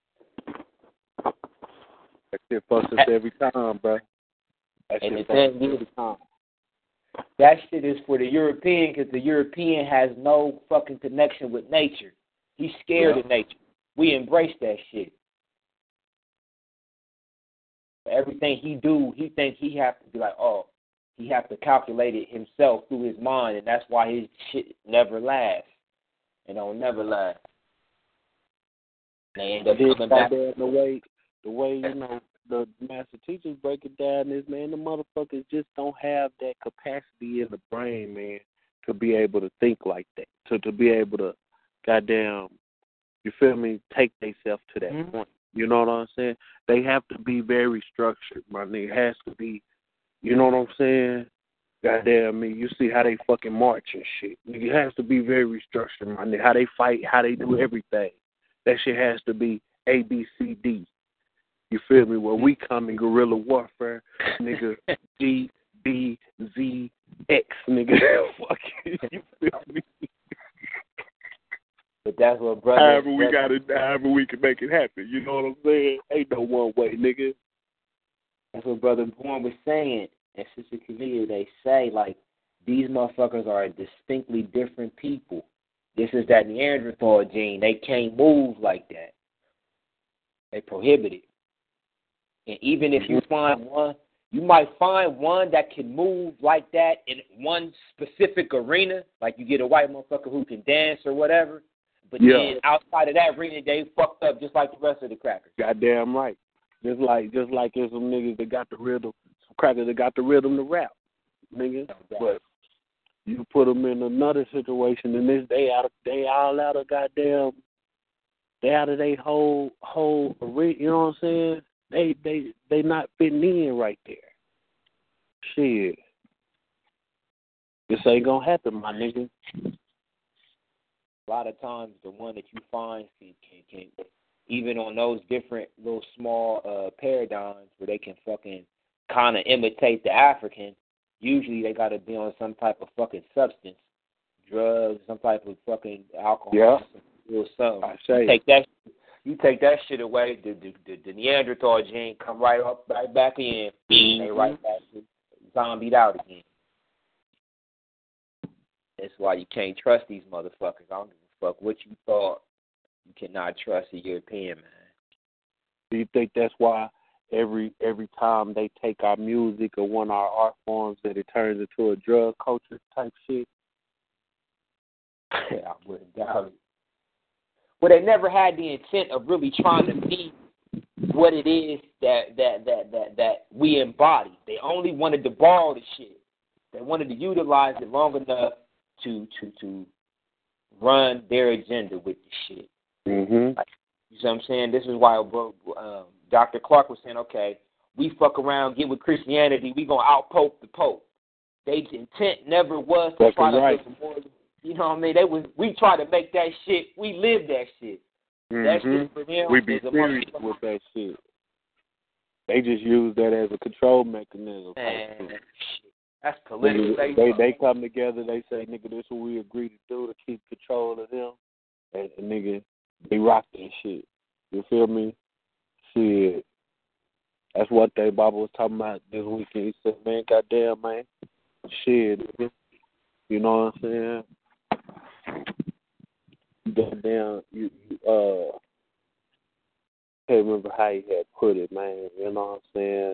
That shit fucks us every time, bro. And the thing is, that shit is for the European because the European has no fucking connection with nature. He's scared of nature. We embrace that shit. Everything he do, he think he have to be like, oh, he have to calculate it himself through his mind, and that's why his shit never lasts. It don't never last. They end up coming back. The way you know the master teachers break it down is, man, the motherfuckers just don't have that capacity in the brain, man, to be able to think like that, to be able to, goddamn, you feel me, take themselves to that point. You know what I'm saying? They have to be very structured, my nigga. It has to be, you know what I'm saying? Goddamn me, you see how they fucking march and shit. It has to be very structured, my nigga. How they fight, how they do everything. That shit has to be A, B, C, D. You feel me? Where we come in guerrilla warfare, nigga, G, B, Z, X, nigga. Fuck you feel me? But that's what brother. However we can make it happen. You know what I'm saying? Ain't no one way, nigga. That's what Brother Bourne was saying. And Sister Camilla, they say, like, these motherfuckers are distinctly different people. This is that Neanderthal gene. They can't move like that. They prohibit it. And even if you find one, you might find one that can move like that in one specific arena. Like you get a white motherfucker who can dance or whatever. But then outside of that arena, they fucked up just like the rest of the crackers. Goddamn right. Just like there's some niggas that got the rhythm, some crackers that got the rhythm to rap, nigga. But you put them in another situation, and they all out of goddamn, they out of their whole arena. You know what I'm saying? They not fitting in right there. Shit, this ain't gonna happen, my nigga. A lot of times, the one that you find can even on those different little small paradigms where they can fucking kind of imitate the African, usually they got to be on some type of fucking substance, drugs, some type of fucking alcohol, or something. You take that shit away, the Neanderthal gene come right back in, and they right back to zombied out again. That's why you can't trust these motherfuckers. I don't give a fuck what you thought. You cannot trust a European, man. Do you think that's why every time they take our music or one of our art forms that it turns into a drug culture type shit? I wouldn't doubt it. Well, they never had the intent of really trying to be what it is that we embody. They only wanted to borrow the shit. They wanted to utilize it long enough to run their agenda with the shit. Mm-hmm. Like, you know what I'm saying? This is why Dr. Clark was saying, okay, we fuck around, get with Christianity, we going to out-pope the Pope. Their intent never was to try to make more. You know what I mean? We try to make that shit, we live that shit. Mm-hmm. That shit for them we be serious with that shit. They just use that as a control mechanism. Man, that's political. They come together, they say, nigga, this is what we agree to do to keep control of them. And nigga, they rock that shit. You feel me? Shit. That's what they Baba was talking about this weekend. He said, man, goddamn, man. Shit, nigga. You know what I'm saying? Goddamn, you can't remember how he had put it, man. You know what I'm saying?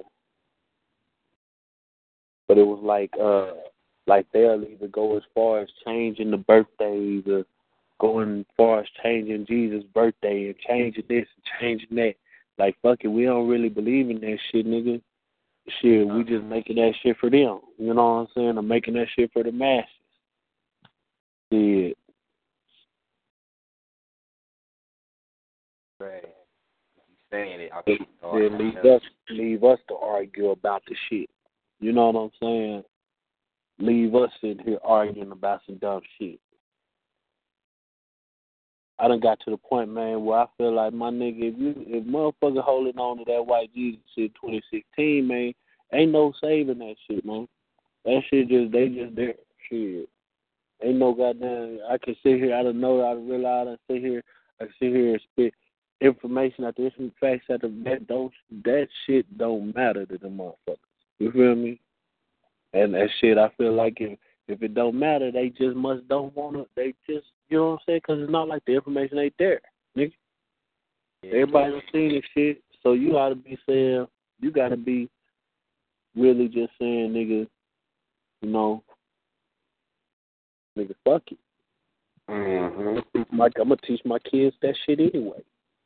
But it was like they'll either go as far as changing the birthdays or going as far as changing Jesus' birthday and changing this and changing that. Like, fuck it, we don't really believe in that shit, nigga. Shit, we just making that shit for them. You know what I'm saying? I'm making that shit for the masses. Shit. Right. Saying it. Leave us to argue about the shit. You know what I'm saying? Leave us in here arguing about some dumb shit. I done got to the point, man, where I feel like, my nigga, if motherfucker holding on to that white Jesus shit 2016, man, ain't no saving that shit, man. That shit they just there. Shit. Ain't no goddamn, I can sit here, I don't know, I realize I sit here and spit information out there, some facts out there, that shit don't matter to the motherfuckers. You feel me? And that shit, I feel like if it don't matter, they just don't want to, they just, you know what I'm saying? Because it's not like the information ain't there, nigga. Yeah. Everybody's seen this shit, so you got to be saying, you got to be really just saying, nigga, you know, nigga, fuck it. Mm-hmm. I'm going to teach my kids that shit anyway.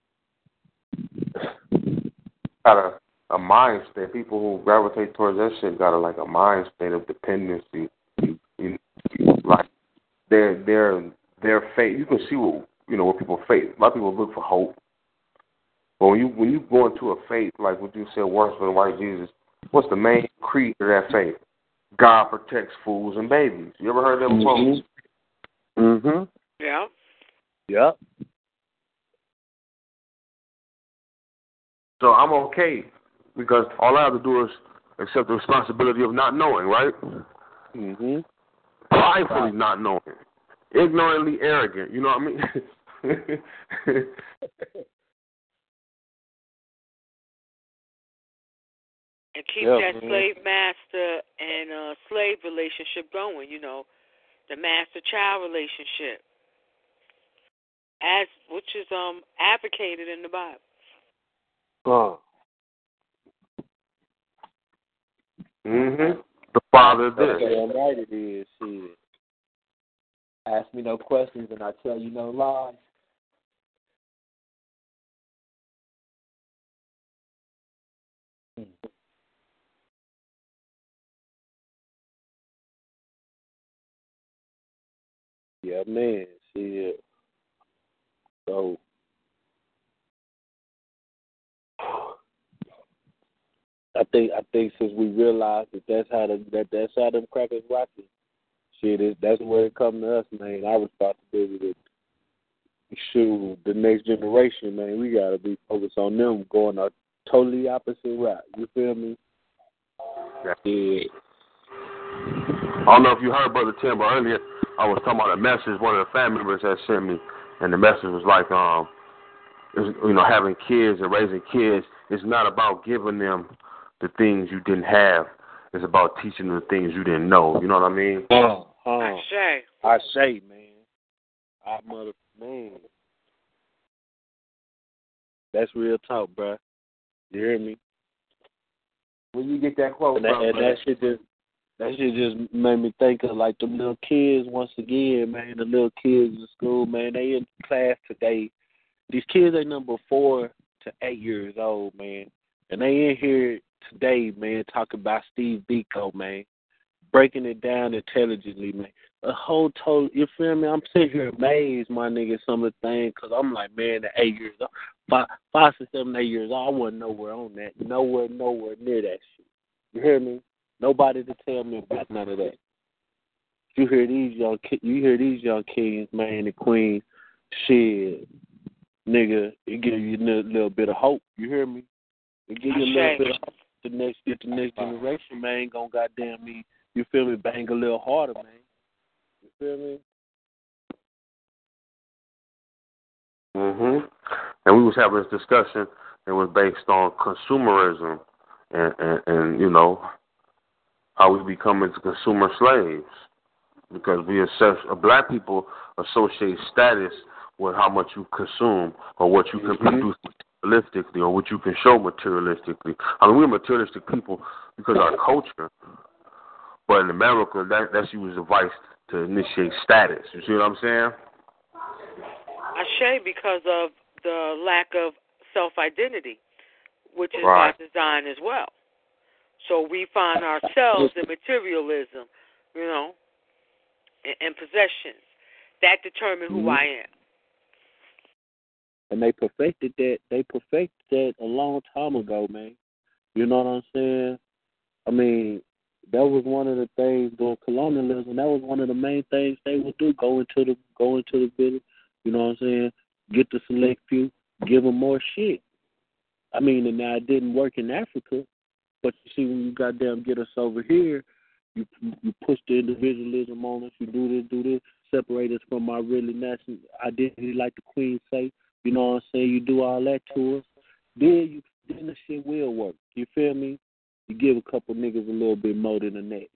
Got a mind state. People who gravitate towards that shit got a mind state of dependency. Like their faith. You can see what people faith. A lot of people look for hope. But when you go into a faith, like what you said, works for the white Jesus, what's the main creed of that faith? God protects fools and babies. You ever heard that before? Mm-hmm. Yeah. Yep. So I'm okay because all I have to do is accept the responsibility of not knowing, right? Mm-hmm. Pridefully not knowing. Ignorantly arrogant, you know what I mean? And keep that slave master and slave relationship going, the master child relationship, which is advocated in the Bible. The father did. Damn right it is. Shit. Ask me no questions and I tell you no lies. Yeah, man. Shit. So I think since we realized that's how them crackers rocking. Shit, that's where it come to us, man. Our responsibility to shoot the next generation, man. We gotta be focused on them going a totally opposite route. You feel me? Yeah. I don't know if you heard Brother Tim, but earlier I was talking about a message one of the family members had sent me, and the message was like, having kids and raising kids, it's not about giving them the things you didn't have. It's about teaching them the things you didn't know. You know what I mean? I say, man. Man. That's real talk, bro. You hear me? Where you get that quote from? And that shit just made me think of like them little kids once again, man. The little kids in school, man. They in class today. These kids ain't number 4 to 8 years old, man. And they in here today, man, talking about Steve Biko, man. Breaking it down intelligently, man. A whole total, you feel me? I'm sitting here amazed, my nigga, some of the things, because I'm like, man, at 8 years old, 5 to 7, 8 years old, I wasn't nowhere on that. Nowhere near that shit. You hear me? Nobody to tell me about none of that. You hear these young kings, man, and queens, shit, nigga, it give you a little bit of hope. You hear me? It give you a little bit of hope. The next generation, man, gonna goddamn me. You feel me? Bang a little harder, man. You feel me? And we was having this discussion. It was based on consumerism and how we become into consumer slaves, because black people associate status with how much you consume or what you can produce materialistically or what you can show materialistically. I mean, we're materialistic people because of our culture, but in America, that's used as a vice to initiate status. You see what I'm saying? I say because of the lack of self-identity, which is by design as well. So we find ourselves in materialism, and possessions. That determine who I am. And they perfected that a long time ago, man. You know what I'm saying? I mean, that was one of the things during colonialism. That was one of the main things they would do. Go into the village. You know what I'm saying? Get the select few, give them more shit. I mean, and now it didn't work in Africa, but you see, when you goddamn get us over here, you push the individualism on us. You do this, separate us from our really national identity, like the Queen say. You know what I'm saying? You do all that to us. Then the shit will work. You feel me? You give a couple niggas a little bit more than the next.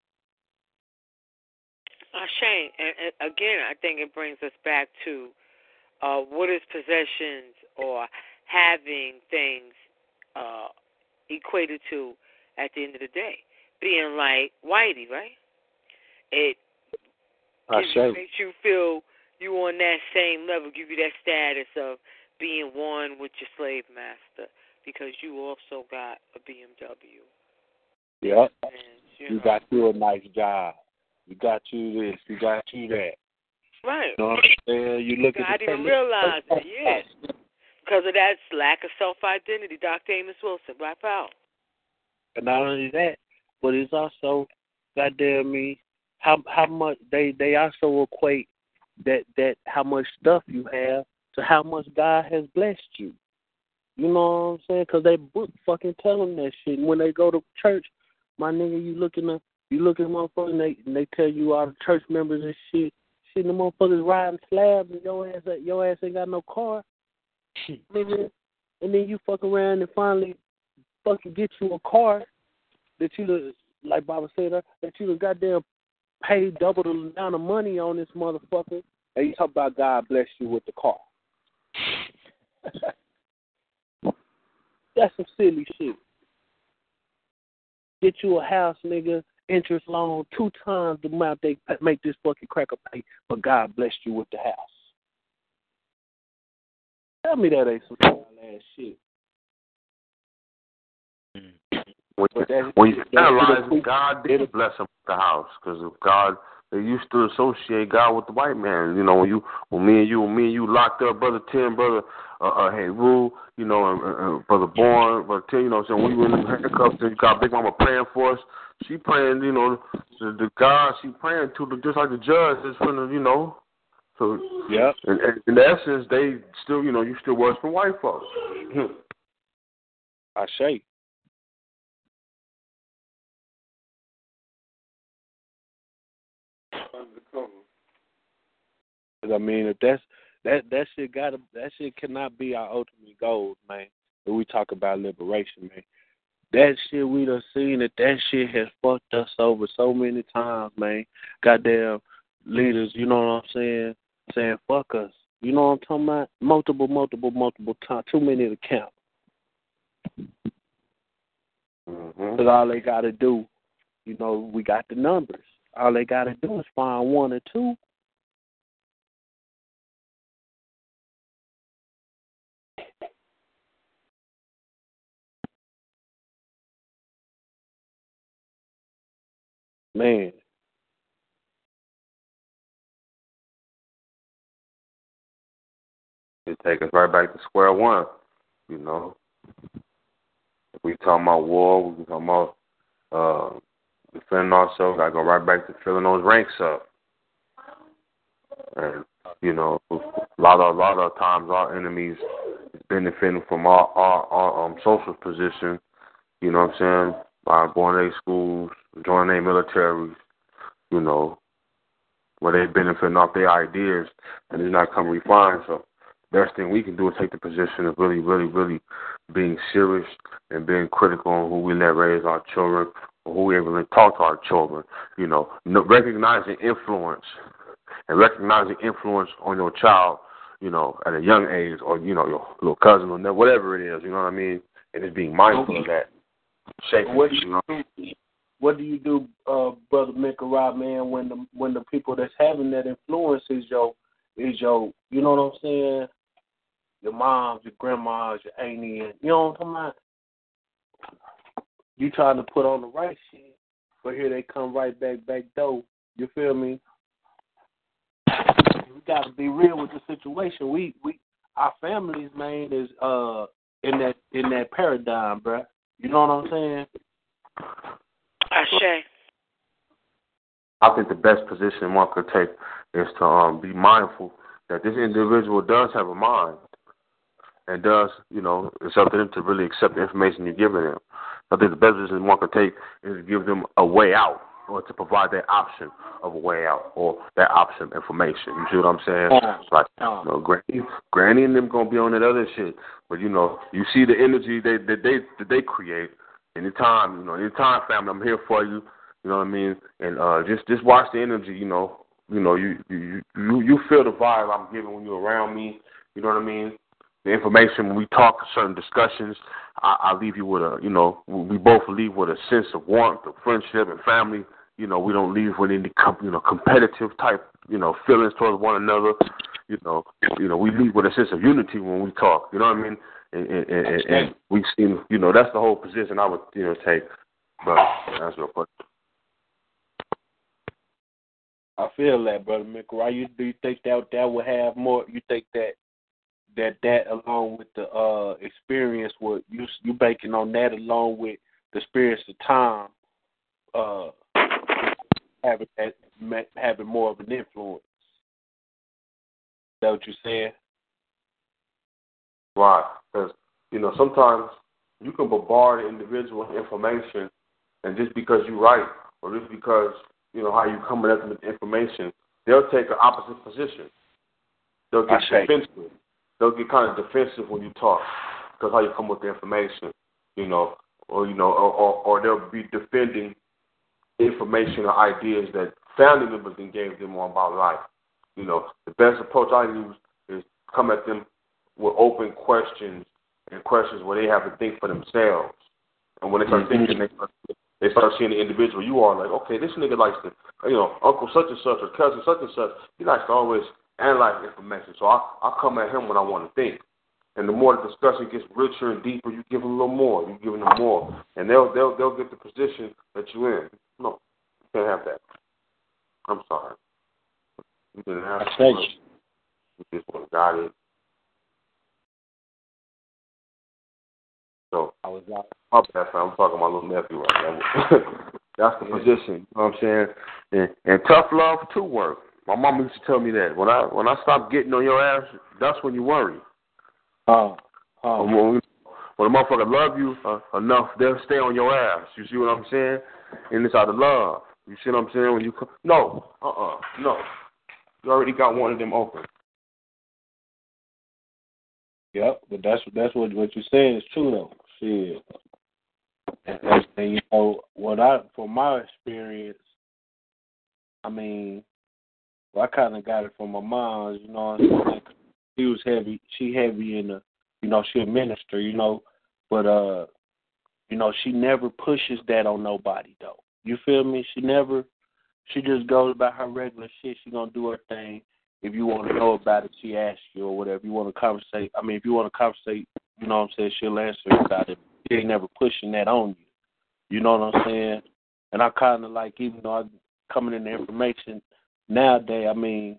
Shane, and again, I think it brings us back to what is possessions or having things equated to at the end of the day. Being like Whitey, right? It makes you feel you on that same level, give you that status of being one with your slave master because you also got a BMW. Yep. You got you a nice job. You got you this. You got you that. Right. You know what I'm saying? You look at I didn't even realize it, yes. Because of that lack of self-identity. Dr. Amos Wilson, Black Power. And not only that, but it's also, goddamn me, how much they also equate that how much stuff you have to how much God has blessed you. You know what I'm saying? Because they book fucking tell them that shit. And when they go to church, my nigga, you look at motherfuckers and they tell you all the church members and shit. shit, and the motherfuckers riding slabs, and your ass ain't got no car, nigga. And then you fuck around and finally fucking get you a car that you, like Baba said, that you done goddamn paid double the amount of money on this motherfucker. And you talk about God bless you with the car. That's some silly shit. Get you a house, nigga, interest loan 2 times the amount they make this fucking cracker pay, but God blessed you with the house. Tell me that ain't some wild ass shit. When you analyze it, God did bless him with the house, because of God, they used to associate God with the white man. You know, when me and you locked up, Brother Tim, Brother Heru, you know, and Brother Bourne, Brother Tim, you know, so when we were in the handcuffs, and you got Big Mama praying for us. She praying, you know, the God she praying to, just like the judge is from the, you know. So yeah, in essence, they still, you know, you still worse from white folks. I say. I mean, if that shit cannot be our ultimate goal, man. When we talk about liberation, man, that shit we done seen that shit has fucked us over so many times, man. Goddamn leaders, you know what I'm saying fuck us. You know what I'm talking about? Multiple times, too many to count. Because all they got to do, you know, we got the numbers. All they got to do is find 1 or 2. Man. It take us right back to square one, you know. If we talking about war, we talking about defending ourselves, gotta go right back to filling those ranks up. And, you know, a lot of times our enemies is benefiting from our social position, you know what I'm saying, by going to their schools, joining their militaries, you know, where they benefiting off their ideas and it's not coming refined. So the best thing we can do is take the position of really, really, really being serious and being critical on who we let raise our children, or who we able to talk to our children, you know, recognizing influence and recognizing influence on your child, you know, at a young age, or, you know, your little cousin or whatever it is, you know what I mean? And just being mindful of that. What do you do, Brother Mikarah, man, when the people that's having that influence is your, you know what I'm saying, your moms, your grandmas, your auntie, and you know what I'm talking about? You trying to put on the right shit, but here they come right back door. You feel me? We got to be real with the situation. We our families, man, is in that paradigm, bruh. You know what I'm saying? Ashe. I think the best position one could take is to be mindful that this individual does have a mind and does, you know, it's up to them to really accept the information you're giving them. I think the best position one could take is to give them a way out, or to provide that option of a way out, or that option of information. You see what I'm saying? Like, you know, Granny and them gonna be on that other shit, but you know, you see the energy that they create. Anytime, family, I'm here for you. You know what I mean? And just watch the energy. You feel the vibe I'm giving when you're around me. You know what I mean? The information when we talk certain discussions, I leave you with we both leave with a sense of warmth, of friendship, and family. You know, we don't leave with any competitive type feelings towards one another. You know, we leave with a sense of unity when we talk. You know what I mean? And we've seen, that's the whole position I would, take. But that's real question. I feel that, Brother Mikarah. Do you think that would have more? You think that along with the experience, what you banking on that along with the experience of time, having more of an influence? Is that what you're saying? Right, because sometimes you can bombard an individual with information, and just because you're right, or just because how you coming at them with information, they'll take an opposite position. They'll get defensive. They'll get kind of defensive when you talk because how you come with the information, or they'll be defending information or ideas that family members engage them on about life. The best approach I use is come at them with open questions and questions where they have to think for themselves. And when they start thinking, they start seeing the individual you are, like, okay, this nigga likes to, Uncle such and such or cousin such and such, he likes to always analyze information. So I come at him when I want to think. And the more the discussion gets richer and deeper, you give them a little more. You give them more. And they'll get the position that you're in. No, you can't have that. I'm sorry. You didn't have to. You just want to guide it. So, I'm talking to my little nephew right now. That's the position, you know what I'm saying? And tough love too work. My mom used to tell me that. When I stop getting on your ass, that's when you worry. When a motherfucker love you enough, they'll stay on your ass. You see what I'm saying? And it's out of love. You see what I'm saying? When you no. You already got one of them open. Yep, but that's what you're saying is true though. Shit. And from my experience, I mean, I kind of got it from my mom. You know what I'm saying? She was heavy. She heavy in the, she a minister. But she never pushes that on nobody though. You feel me? She just goes about her regular shit. She gonna do her thing. If you want to know about it, she asks you or whatever. If you want to conversate, you know what I'm saying, she'll answer about it. She ain't never pushing that on you. You know what I'm saying? And I kind of like, even though I'm coming in the information nowadays, I mean,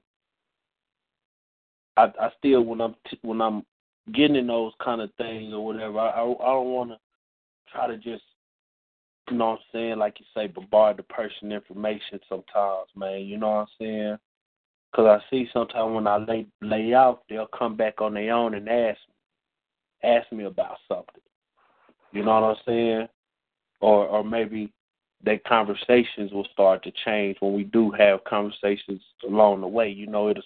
I still, when I'm getting in those kind of things or whatever, I don't want to try to just, you know what I'm saying, like you say, bombard the person information sometimes, man. You know what I'm saying? Because I see sometimes when I lay out, they'll come back on their own and ask me about something. You know what I'm saying? Or maybe their conversations will start to change when we do have conversations along the way.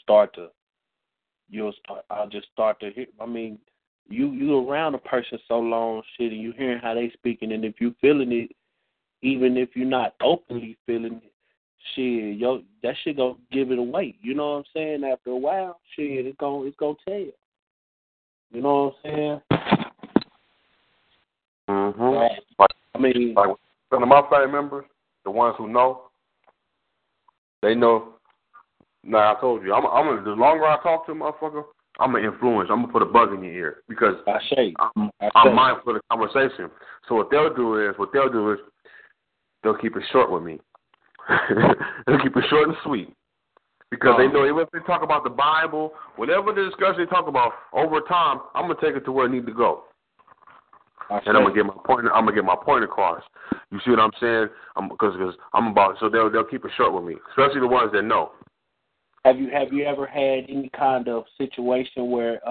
I'll just start to hear. I mean, you around a person so long, shit, and you hearing how they speaking, and if you feeling it, even if you're not openly feeling it, shit, that shit gonna give it away. You know what I'm saying? After a while, shit, it's gonna tell you. You know what I'm saying? I mean, like some of my family members, the ones who know, they know. Now I told you, the longer I talk to a motherfucker, I'm gonna influence. I'm gonna put a bug in your ear because I'm mindful of the conversation. So what they'll do is they'll keep it short with me. They'll keep it short and sweet because they know even if they talk about the Bible, whatever the discussion they talk about, over time I'm gonna take it to where it needs to go. And I'm gonna get my point across. You see what I'm saying? Because I'm about. So they'll keep it short with me, especially the ones that know. Have you ever had any kind of situation where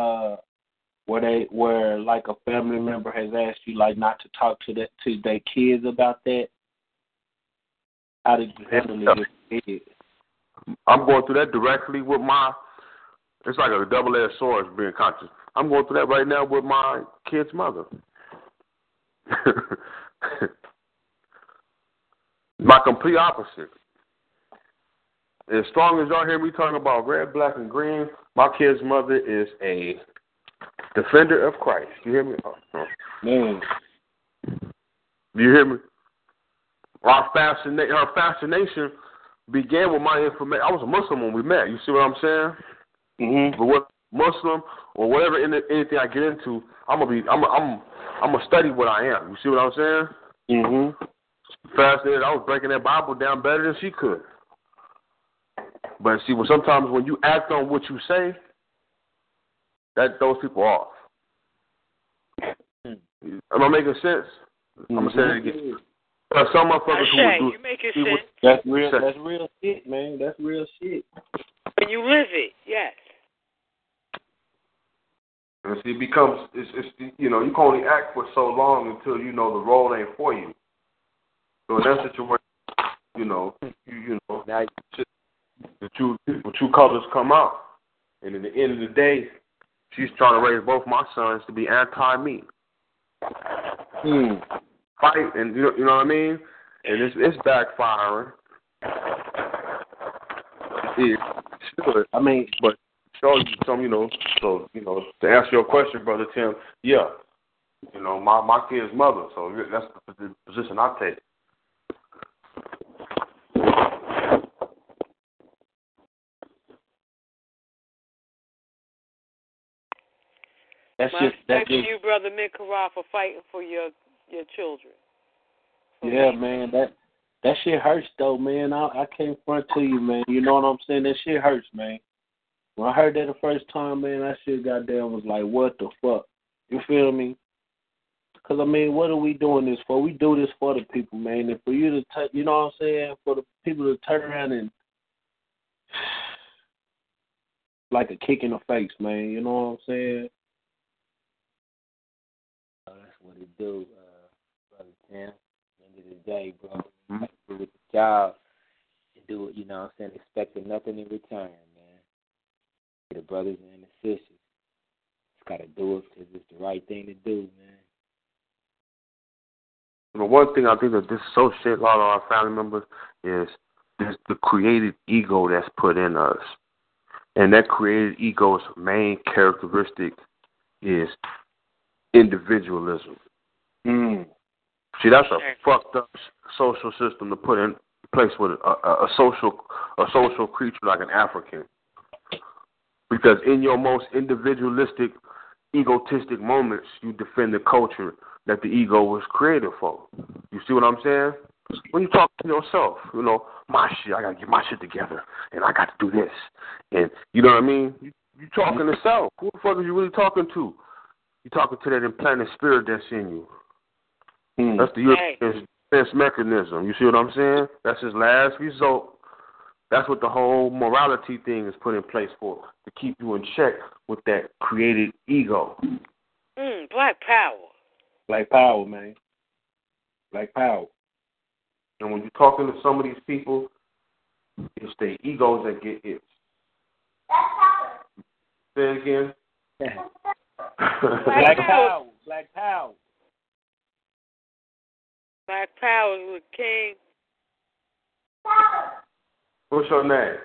like a family member has asked you like not to talk to their kids about that? How did you handle it? I'm going through that directly with it's like a double-edged sword being conscious. I'm going through that right now with my kid's mother. My complete opposite. As strong as y'all hear me talking about red, black, and green, my kid's mother is a defender of Christ. You hear me? Man. Do you hear me? Her fascination began with my information. I was a Muslim when we met. You see what I'm saying? Mm-hmm. But what Muslim or whatever anything I get into, I'm gonna study what I am. You see what I'm saying? Mm-hmm. Fascinated. I was breaking that Bible down better than she could. But see, sometimes when you act on what you say, that throws people off. Am I making sense? Mm-hmm. I'm gonna say it again. Some motherfuckers who would do you make it sense. That's real shit, man. That's real shit. When you live it, yes. And see, it becomes it's you can only act for so long until you know the role ain't for you. So in that situation, you know. Now, the true colors come out. And at the end of the day, she's trying to raise both my sons to be anti-me. Fight, and you know what I mean? And it's backfiring. Sure. I mean, but show you some, so to answer your question, Brother Tim, yeah, my kid's mother, so that's the position I take. That's you, Brother Mikara, for fighting for your children. Yeah, man, that shit hurts though, man. I can't front to you, man. You know what I'm saying? That shit hurts, man. When I heard that the first time, man, that shit goddamn was like, what the fuck? You feel me? Because, I mean, what are we doing this for? We do this for the people, man. And for you to, you know what I'm saying? For the people to turn around and, like a kick in the face, man. You know what I'm saying? That's what it do, Brother Tim. At the end of the day, bro, you have to do with the job and do it, you know what I'm saying, expecting nothing in return, man. The brothers and the sisters, just got to do it because it's the right thing to do, man. The one thing I think that dissociates a lot of our family members is the created ego that's put in us. And that created ego's main characteristic is individualism. See, that's a fucked up social system to put in place with a social creature like an African. Because in your most individualistic, egotistic moments, you defend the culture that the ego was created for. You see what I'm saying? When you talk to yourself, my shit, I got to get my shit together, and I got to do this. And you know what I mean? You talking to self. Who the fuck are you really talking to? You're talking to that implanted spirit that's in you. That's the European defense mechanism. You see what I'm saying? That's his last result. That's what the whole morality thing is put in place for, to keep you in check with that created ego. Black power. Black power, man. Black power. And when you're talking to some of these people, it's their egos that get hit. Say it again. Black power. Black power. Black power with King. What's your name?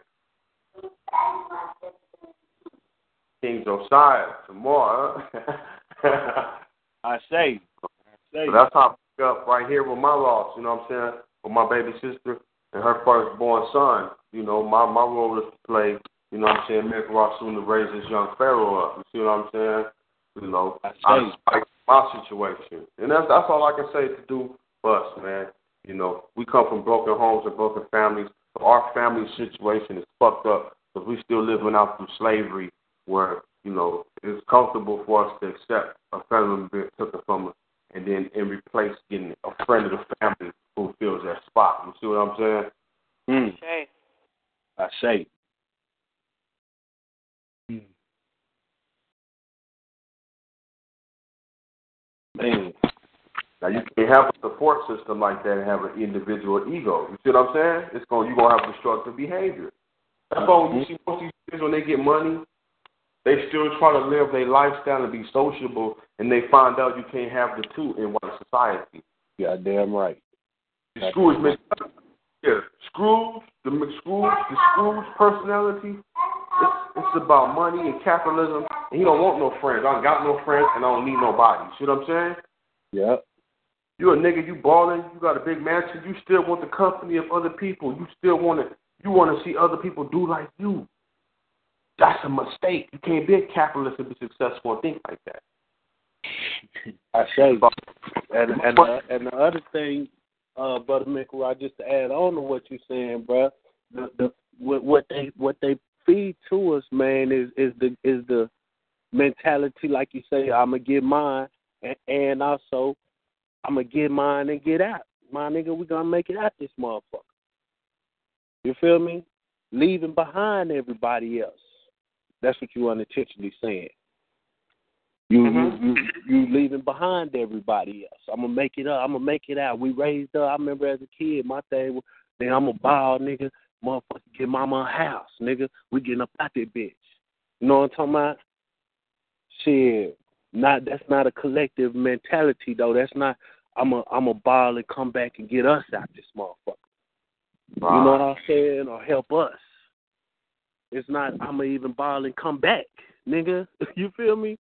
King Josiah. Some more, huh? I say. So that's how I pick up right here with my loss, you know what I'm saying? With my baby sister and her firstborn son. My role is to play, you know what I'm saying, Mick Ross soon to raise this young Pharaoh up. You see what I'm saying? I like my situation. And that's all I can say to do for us, man. We come from broken homes and broken families. So our family situation is fucked up because we still living out through slavery where, it's comfortable for us to accept a family member being taken from us and then in replace getting a friend of the family who fills that spot. You see what I'm saying? I say. Man. Now, you can have a support system like that and have an individual ego. You see what I'm saying? You're going to have destructive behavior. That's why when you see most of these kids, when they get money, they still try to live their lifestyle and be sociable, and they find out you can't have the two in one society. Yeah, damn right. The Scrooge personality, it's about money and capitalism, and he don't want no friends. I don't got no friends, and I don't need nobody. See what I'm saying? Yeah. You a nigga, you balling, you got a big mansion, you still want the company of other people. You still want to see other people do like you. That's a mistake. You can't be a capitalist and be successful and think like that. I say. And the other thing, Brother Mikara, just to add on to what you're saying, bro, what they feed to us, man, is the mentality, like you say, I'm gonna get mine, and also I'm gonna get mine and get out. My nigga, we gonna make it out this motherfucker. You feel me? Leaving behind everybody else. That's what you unintentionally saying. You leaving behind everybody else. I'm gonna make it up. I'm gonna make it out. We raised up. I remember as a kid, my thing was, I'm a ball nigga. Motherfucker, get mama a house, nigga. We getting up out that bitch. You know what I'm talking about? Shit. That's not a collective mentality though. That's not I'm a ball and come back and get us out this motherfucker. Wow. You know what I'm saying? Or help us. It's not I'ma even ball and come back, nigga. You feel me?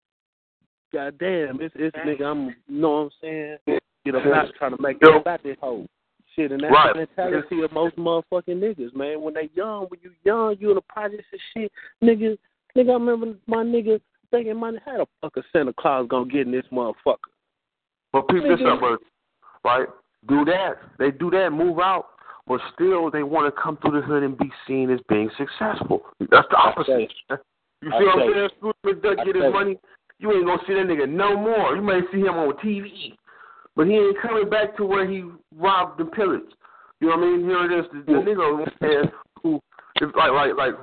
God damn, it's nigga, you know what I'm saying? Get up out trying to make it about this whole shit, and that's the mentality of most motherfucking niggas, man. When they young, you in the projects and shit, nigga, I remember my nigga thinking, man, how the fuck is Santa Claus gonna get in this motherfucker? But peep this up, right? Do that. They do that, move out, but still they want to come through the hood and be seen as being successful. That's the opposite. You see what I'm saying? Scrooge McDuck get his money. You ain't gonna see that nigga no more. You may see him on TV, but he ain't coming back to where he robbed and pillaged. You know what I mean? Here it is, the nigga who, like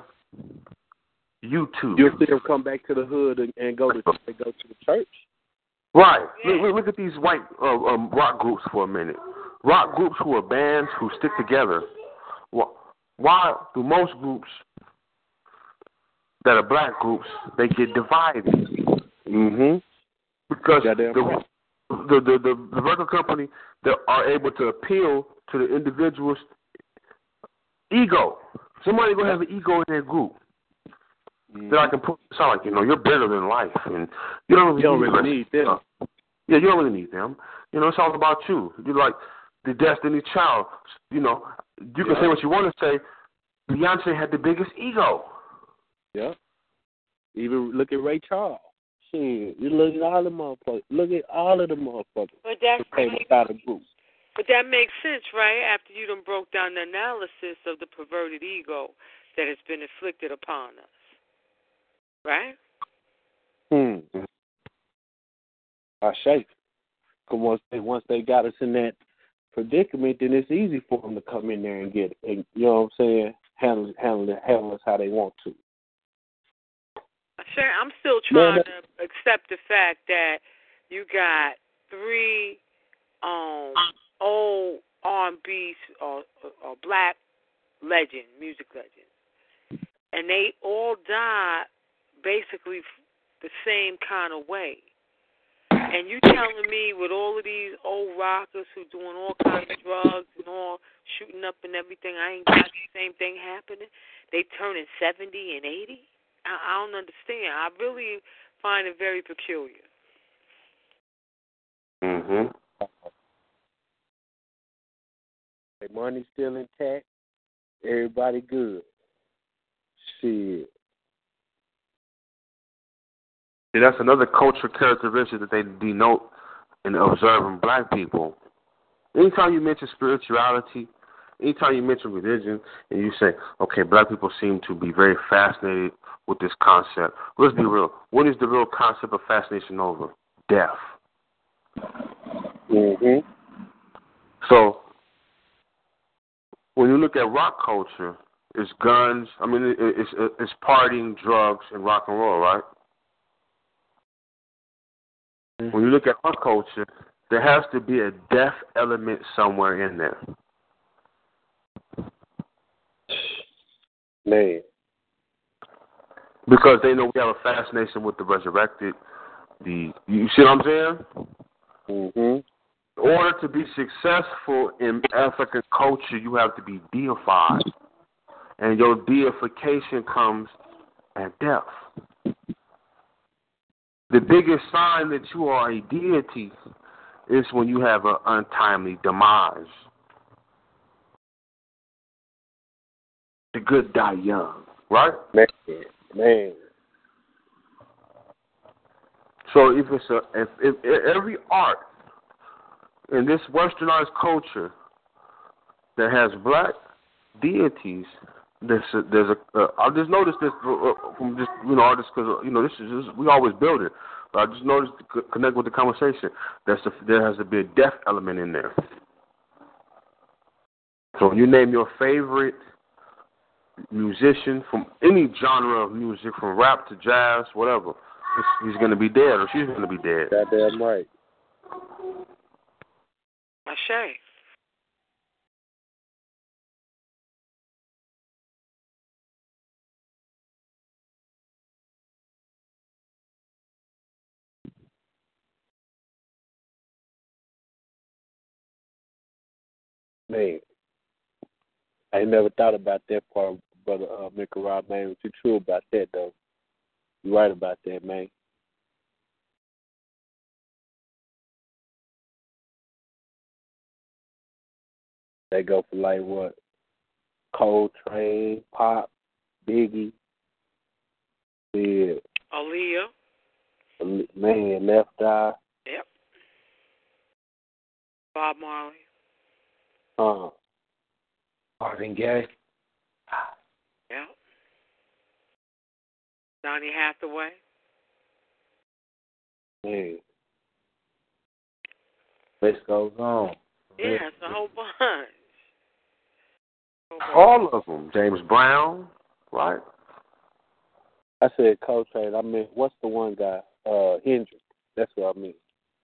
YouTube. You'll see him come back to the hood and go to the church. Right. Look at these white rock groups for a minute. Rock groups who are bands who stick together. Why do most groups that are black groups, they get divided? Mm-hmm. Because the record company that are able to appeal to the individual's ego. Somebody gonna have an ego in their group. That I can put sound like, you're better than life, and you don't really need them. Yeah, you don't really need them. It's all about you. You're like the Destiny Child. You can say what you want to say. Beyonce had the biggest ego. Yeah. Even look at Ray Charles. Shit, you look at all the motherfuckers. Look at all of the motherfuckers. But that's came out of group. But that makes sense, right? After you done broke down the analysis of the perverted ego that has been inflicted upon us. Right? I shake. Because once they got us in that predicament, then it's easy for them to come in there and get it. And, you know what I'm saying? Handle us how they want to. Sure, I'm still trying to accept the fact that you got 3 old R&B or black music legends, and they all died basically the same kind of way. And you telling me with all of these old rockers who doing all kinds of drugs and all shooting up and everything, I ain't got the same thing happening? They turning 70 and 80? I don't understand. I really find it very peculiar. Mm-hmm. Their money's still intact. Everybody good. Shit. See, that's another cultural characteristic that they denote in observing black people. Anytime you mention spirituality, anytime you mention religion, and you say, okay, black people seem to be very fascinated with this concept. Let's be real. What is the real concept of fascination over? Death. Mm-hmm. So, when you look at rock culture, it's guns. I mean, it's partying, drugs, and rock and roll, right? Mm-hmm. When you look at our culture, there has to be a death element somewhere in there. Man. Because they know we have a fascination with the resurrected. You see what I'm saying? Mm-hmm. In order to be successful in African culture, you have to be deified. And your deification comes at death. The biggest sign that you are a deity is when you have an untimely demise. The good die young, right? Man. So if every art in this westernized culture that has black deities, I just noticed this from just artists because this is just, we always build it. But I just noticed to connect with the conversation. There has to be a death element in there. So when you name your favorite musician from any genre of music, from rap to jazz, whatever, he's going to be dead or she's going to be dead. Goddamn right. Ashay. Man, I ain't never thought about that part, brother Mikarah, man. But you true about that, though. You right about that, man. They go for like what? Coltrane, Pop, Biggie, yeah, Aaliyah. man, Left Eye, Yep. Bob Marley. uh, Marvin Gaye. Yep. Donny Hathaway. man. List goes on. Yeah, it's a whole bunch. All of them. James Brown, right? I said Coltrane. I mean, what's the one guy? Hendrix. That's what I mean.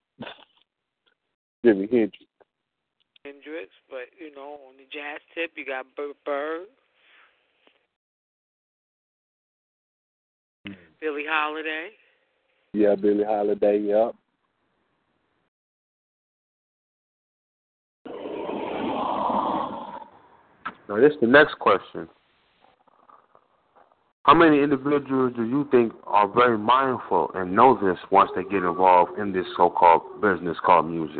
Jimi Hendrix. Hendrix, but you know, on the jazz tip, you got Bird, Billie Holiday. Yeah, Billie Holiday. Yep. Now, this is the next question. How many individuals do you think are very mindful and know this once they get involved in this so-called business called music?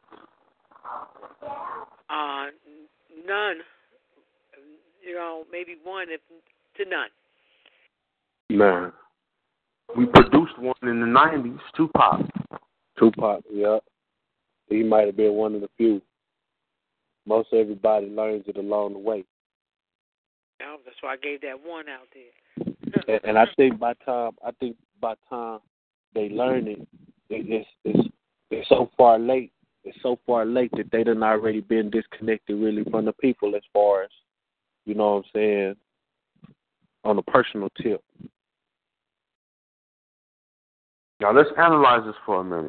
None. You know, maybe one, if to none. Man, we produced one in the 90s, Tupac. Tupac, yep. He might have been one of the few. Most everybody learns it along the way. Yeah, that's why I gave that one out there. And I think by time they learn it, it's so far late. It's so far late that they done already been disconnected really from the people as far as, you know what I'm saying, on a personal tip. Now, let's analyze this for a minute.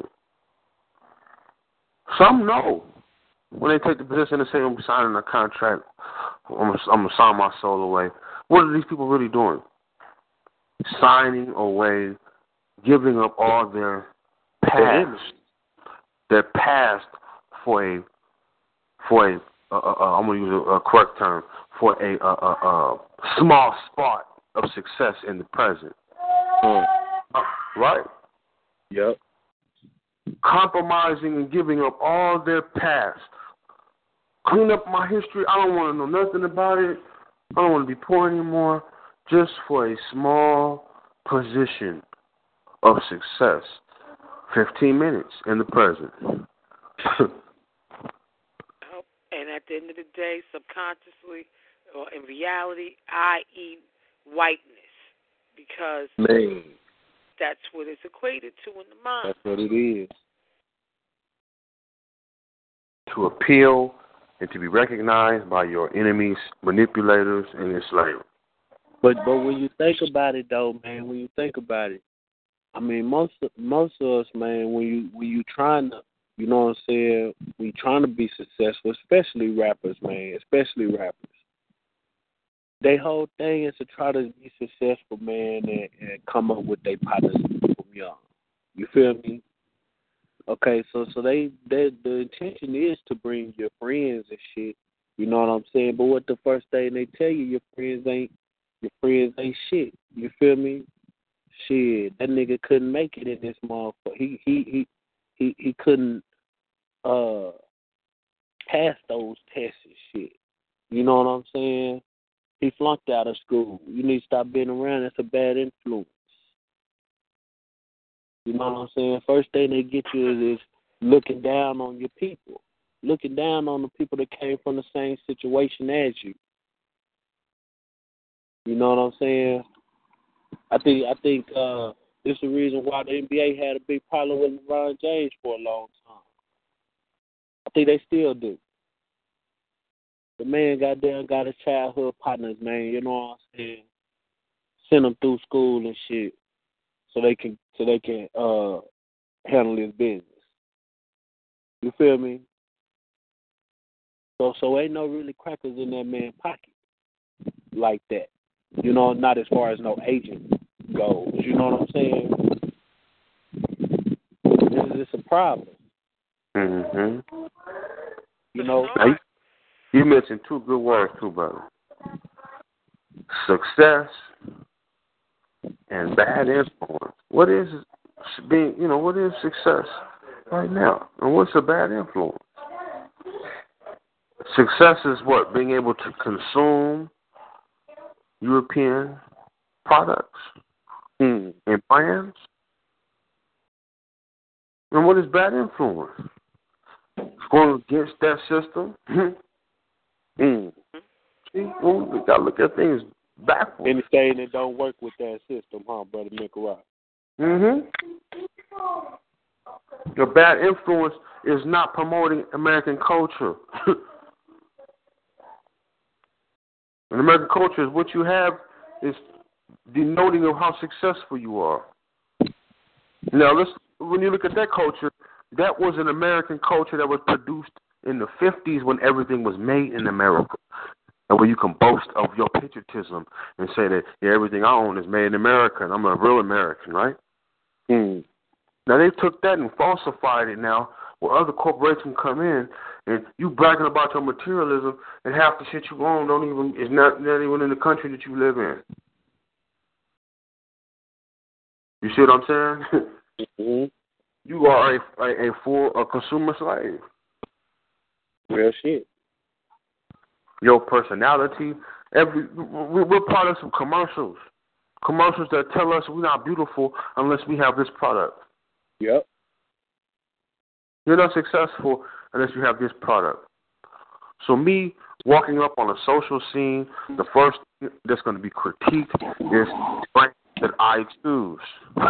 Some know when they take the position and say, I'm signing a contract, I'm going to sign my soul away. What are these people really doing? Signing away, giving up all their past, for a I'm going to use a correct term, for a small spot of success in the present. Right? Yep. Compromising and giving up all their past. Clean up my history. I don't want to know nothing about it. I don't want to be poor anymore. Just for a small position of success. 15 minutes in the present. And at the end of the day, subconsciously, or in reality, I eat whiteness because that's what it's equated to in the mind. That's what it is. To appeal and to be recognized by your enemies, manipulators, and enslavers. But when you think about it, though, man, when you think about it, I mean, most of us, man, when you trying to, you know what I'm saying, we trying to be successful, especially rappers, man, Their whole thing is to try to be successful, man, and come up with their partners from young. You feel me? Okay, so the intention is to bring your friends and shit. You know what I'm saying? But what the first thing they tell you, your friends ain't shit. You feel me? Shit, that nigga couldn't make it in this motherfucker. He couldn't pass those tests and shit. You know what I'm saying? He flunked out of school. You need to stop being around. That's a bad influence. You know what I'm saying? First thing they get you is looking down on your people. Looking down on the people that came from the same situation as you. You know what I'm saying? I think this is the reason why the NBA had a big problem with LeBron James for a long time. I think they still do. The man got his childhood partners, man, you know what I'm saying? Send them through school and shit so they can handle his business. You feel me? So ain't no really crackers in that man's pocket like that. You know, not as far as no agent goes. You know what I'm saying? It's a problem. Mm-hmm. You know? You mentioned two good words too, brother. Success and bad influence. What is being, what is success right now? And what's a bad influence? Success is what? Being able to consume European products and brands. And what is bad influence? Going against that system. See, we got to look at things backwards. Anything that don't work with that system, huh, Brother Mikarot? The bad influence is not promoting American culture. And American culture is what you have is denoting of how successful you are. Now, when you look at that culture, that was an American culture that was produced in the 50s when everything was made in America. And where you can boast of your patriotism and say that everything I own is made in America and I'm a real American, right? Now, they took that and falsified it now where other corporations come in and you bragging about your materialism and half the shit you own is not even in the country that you live in. You see what I'm saying? You are a consumer slave. Real shit. Your personality, we're products of commercials. Commercials that tell us we're not beautiful unless we have this product. Yep. You're not successful unless you have this product. So me walking up on a social scene, the first thing that's going to be critiqued is brands that I choose.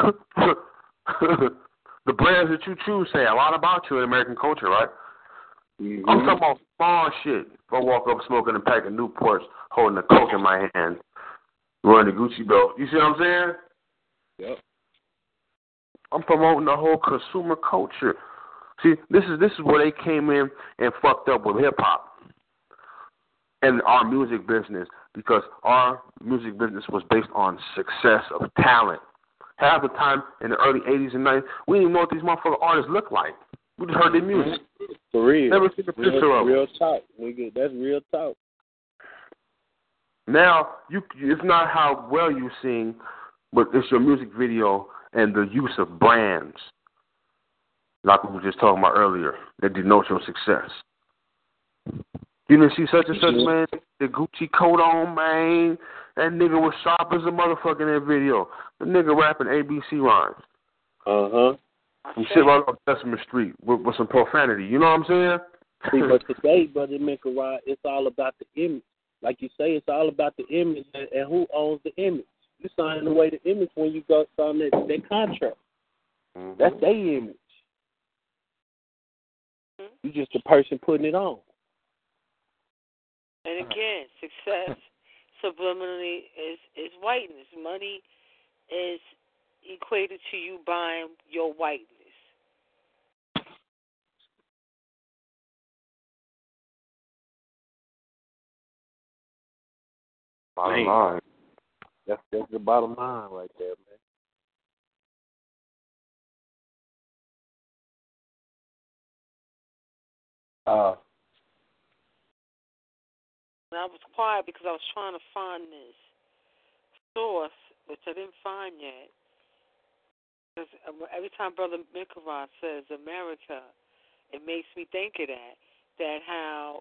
The brands that you choose say a lot about you in American culture, right? I'm talking about small shit. If I walk up smoking a pack of Newports, holding a Coke in my hand, wearing a Gucci belt. You see what I'm saying? Yep. I'm promoting the whole consumer culture. See, this is where they came in and fucked up with hip hop and our music business, because our music business was based on success of talent. Half the time in the early 80s and 90s, we didn't even know what these motherfucking artists looked like. We just heard their music. For real. Never seen a picture of them. Real talk, nigga. That's real talk. Now, it's not how well you sing, but it's your music video and the use of brands, like we were just talking about earlier, that denote your success. You didn't see such and such, man, the Gucci coat on, man. That nigga was sharp as a motherfucker in that video. The nigga rapping ABC rhymes. Some shit right off Sesame Street with some profanity. You know what I'm saying? See, but today, Brother Mikarot, it's all about the image. Like you say, it's all about the image and who owns the image. You signing away the image when you go sign that contract. That's their image. You just the person putting it on. And again, success subliminally is whiteness. Money is equated to you buying your whiteness. Bottom line. That's the bottom line right there, man. And I was quiet because I was trying to find this source, which I didn't find yet. Because every time Brother Mikarot says America, it makes me think of that how,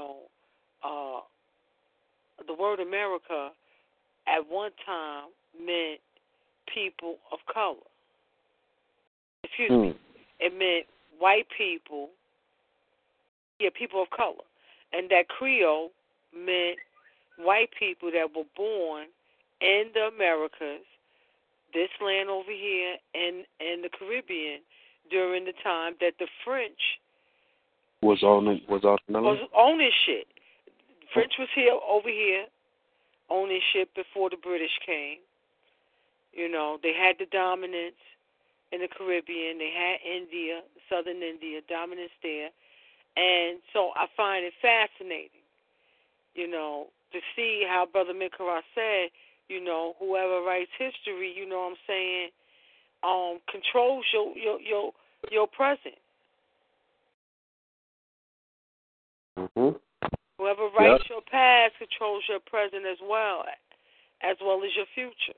the word America at one time meant people of color. Excuse me. It meant white people, people of color. And that Creole meant white people that were born in the Americas, this land over here, and the Caribbean during the time that the French was owning shit. French was over here owning shit before the British came. They had the dominance in the Caribbean. They had India, southern India, dominance there. And so I find it fascinating, to see how Brother Mikarot said, whoever writes history, you know what I'm saying, controls your present. Whoever writes your past controls your present as well as your future.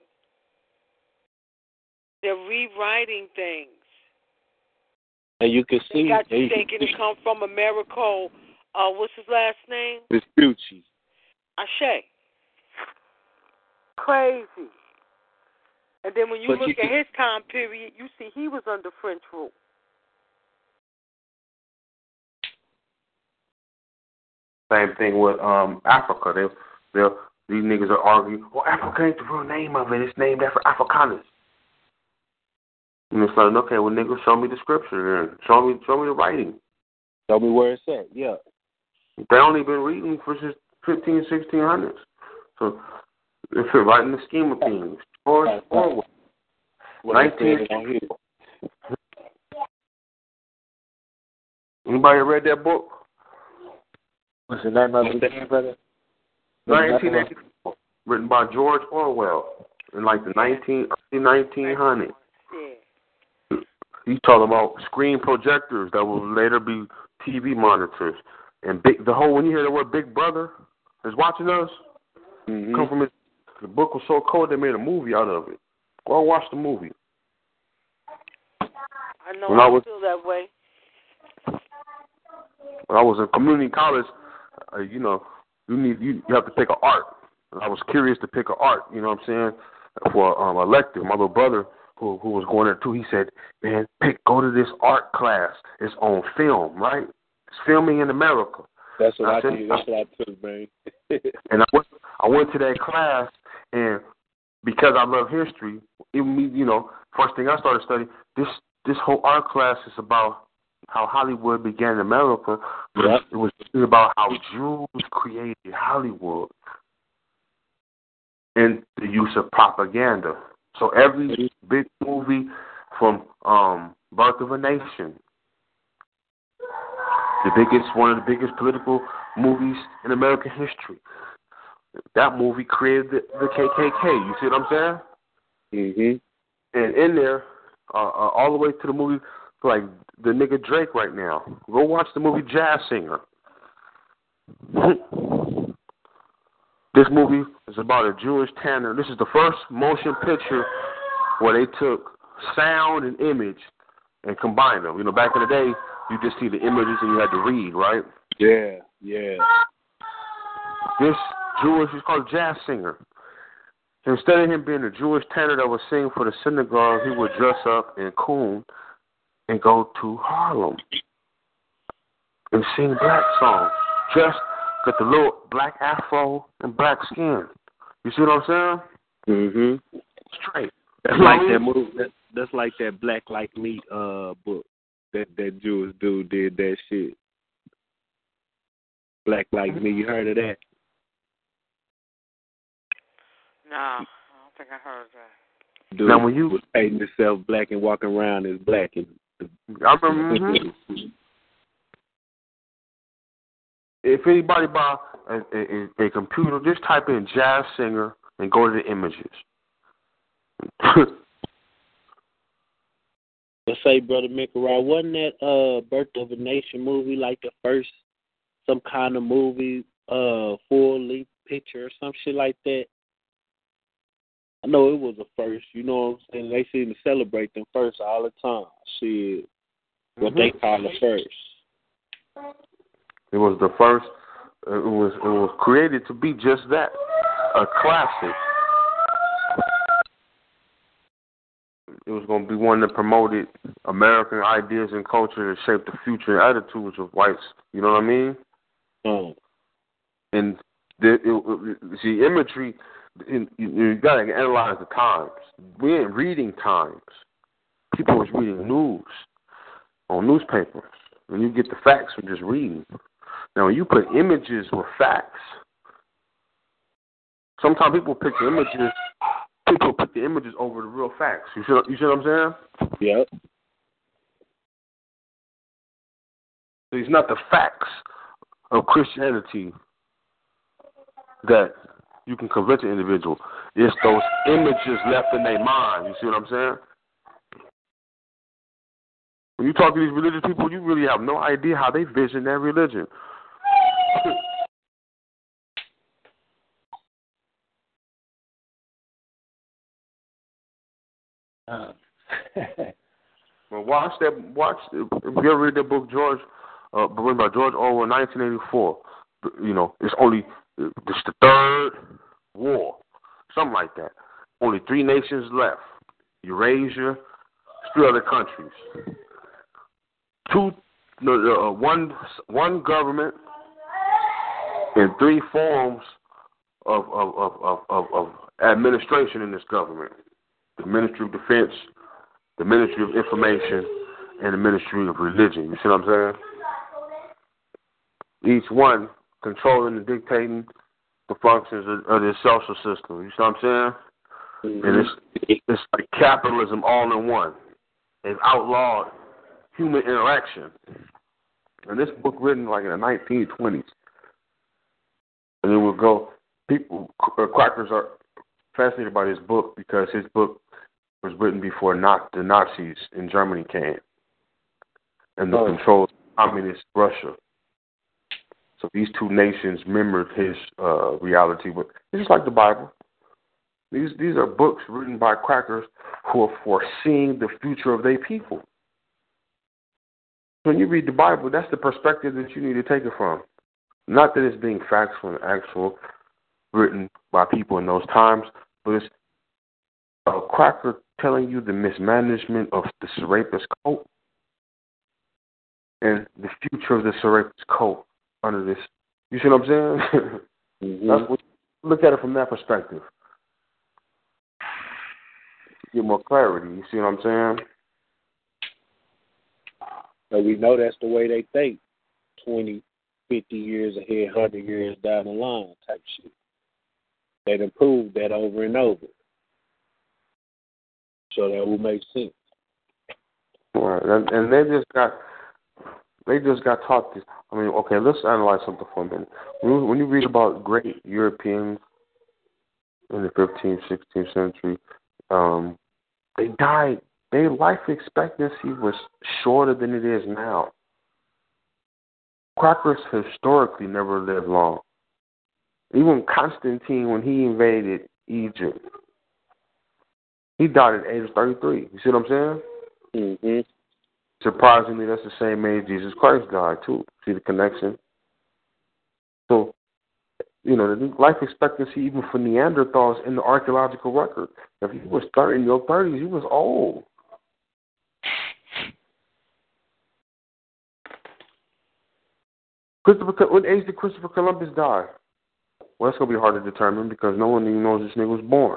They're rewriting things. And you can see. They got you thinking it come from Americo. What's his last name? Vespucci. Ashe. Crazy. And then when you look at his time period, you see he was under French rule. Same thing with Africa. These niggas are arguing, well, Africa ain't the real name of it. It's named after Afrikaners. And it's like, okay, well, nigga, show me the scripture then. Show me the writing. Show me where it's at, yeah. They only been reading for just 1600s. So, if you're right in the scheme of things, George Orwell. 19. Anybody read that book? What's the name of it, brother? 1984, written by George Orwell in like the early 1900s. He's talking about screen projectors that will later be TV monitors. And when you hear the word Big Brother is watching us, come from the book was so cold they made a movie out of it. Go watch the movie. I know I feel that way. When I was in community college, you have to pick an art. And I was curious to pick an art, you know what I'm saying, for elective. My little brother, who was going there too, he said, man, go to this art class. It's on film, right? It's filming in America. That's what I did. That's what I took, man. And I went to that class, and because I love history, first thing I started studying, this whole art class is about how Hollywood began in America. Yep. It was about how Jews created Hollywood and the use of propaganda. So every big movie from Birth of a Nation, one of the biggest political movies in American history, that movie created the KKK. You see what I'm saying? Mm-hmm. And in there, all the way to the movie, like the nigga Drake right now. Go watch the movie Jazz Singer. This movie is about a Jewish tanner. This is the first motion picture where they took sound and image and combined them. Back in the day, you just see the images and you had to read, right? Yeah. This he's called Jazz Singer. Instead of him being a Jewish tenor that would sing for the synagogue, he would dress up in coon and go to Harlem and sing black songs. Just got the little black afro and black skin. You see what I'm saying? Mm-hmm. Straight. That's like that movie. That's like that Black Like Me book. That Jewish dude did that shit. Black Like Me. You heard of that? No, I don't think I heard that. Dude now, when you was painting himself black and walking around as black. I remember. If anybody buy a computer, just type in Jazz Singer and go to the images. Let's say, Brother Mikarai, wasn't that Birth of a Nation movie like the first some kind of movie, full-length picture or some shit like that? I know it was a first, you know what I'm saying? They seem to celebrate them first all the time. Shit, what they call the first. It was the first. It was created to be just that, a classic. It was going to be one that promoted American ideas and culture that shaped the future and attitudes of whites. You know what I mean? And see, imagery. You got to analyze the times. We ain't reading times. People was reading news on newspapers. And you get the facts from just reading. Now, when you put images with facts, sometimes people pick the images. People put the images over the real facts. You see what I'm saying? Yep. So it's not the facts of Christianity that you can convince an individual. It's those images left in their mind. You see what I'm saying? When you talk to these religious people, you really have no idea how they vision their religion. Well, watch. If you ever read the book written by George Orwell, 1984. It's the third war, something like that. Only 3 nations left: Eurasia, 3 other countries. One government and 3 forms of administration in this government: the Ministry of Defense, the Ministry of Information, and the Ministry of Religion. You see what I'm saying? Each one controlling and dictating the functions of the social system. You see what I'm saying? Mm-hmm. And it's like capitalism all in one. They've outlawed human interaction. And this book written like in the 1920s. And it will go. Quackers are fascinated by this book because his book was written before the Nazis in Germany came and the control of communist Russia. So these 2 nations mirrored his reality. But it's just like the Bible. These are books written by Quackers who are foreseeing the future of their people. When you read the Bible, that's the perspective that you need to take it from. Not that it's being factual and actual, written by people in those times, but it's a Quacker telling you the mismanagement of the Serapis cult and the future of the Serapis cult under this. You see what I'm saying? Mm-hmm. That's what, look at it from that perspective. Get more clarity. You see what I'm saying? So we know that's the way they think. 20, 50 years ahead, 100 years down the line type shit. They've improved that over and over. So that will make sense. Right. And they just got taught this. I mean, okay, let's analyze something for a minute. When you read about great Europeans in the 15th, 16th century, they died. Their life expectancy was shorter than it is now. Quackers historically never lived long. Even Constantine, when he invaded Egypt, he died at the age of 33. You see what I'm saying? Mm-hmm. Surprisingly, that's the same age Jesus Christ died, too. See the connection? So, the life expectancy even for Neanderthals in the archaeological record, if he was in your 30s, he was old. What age did Christopher Columbus die? Well, that's going to be hard to determine because no one even knows this nigga was born.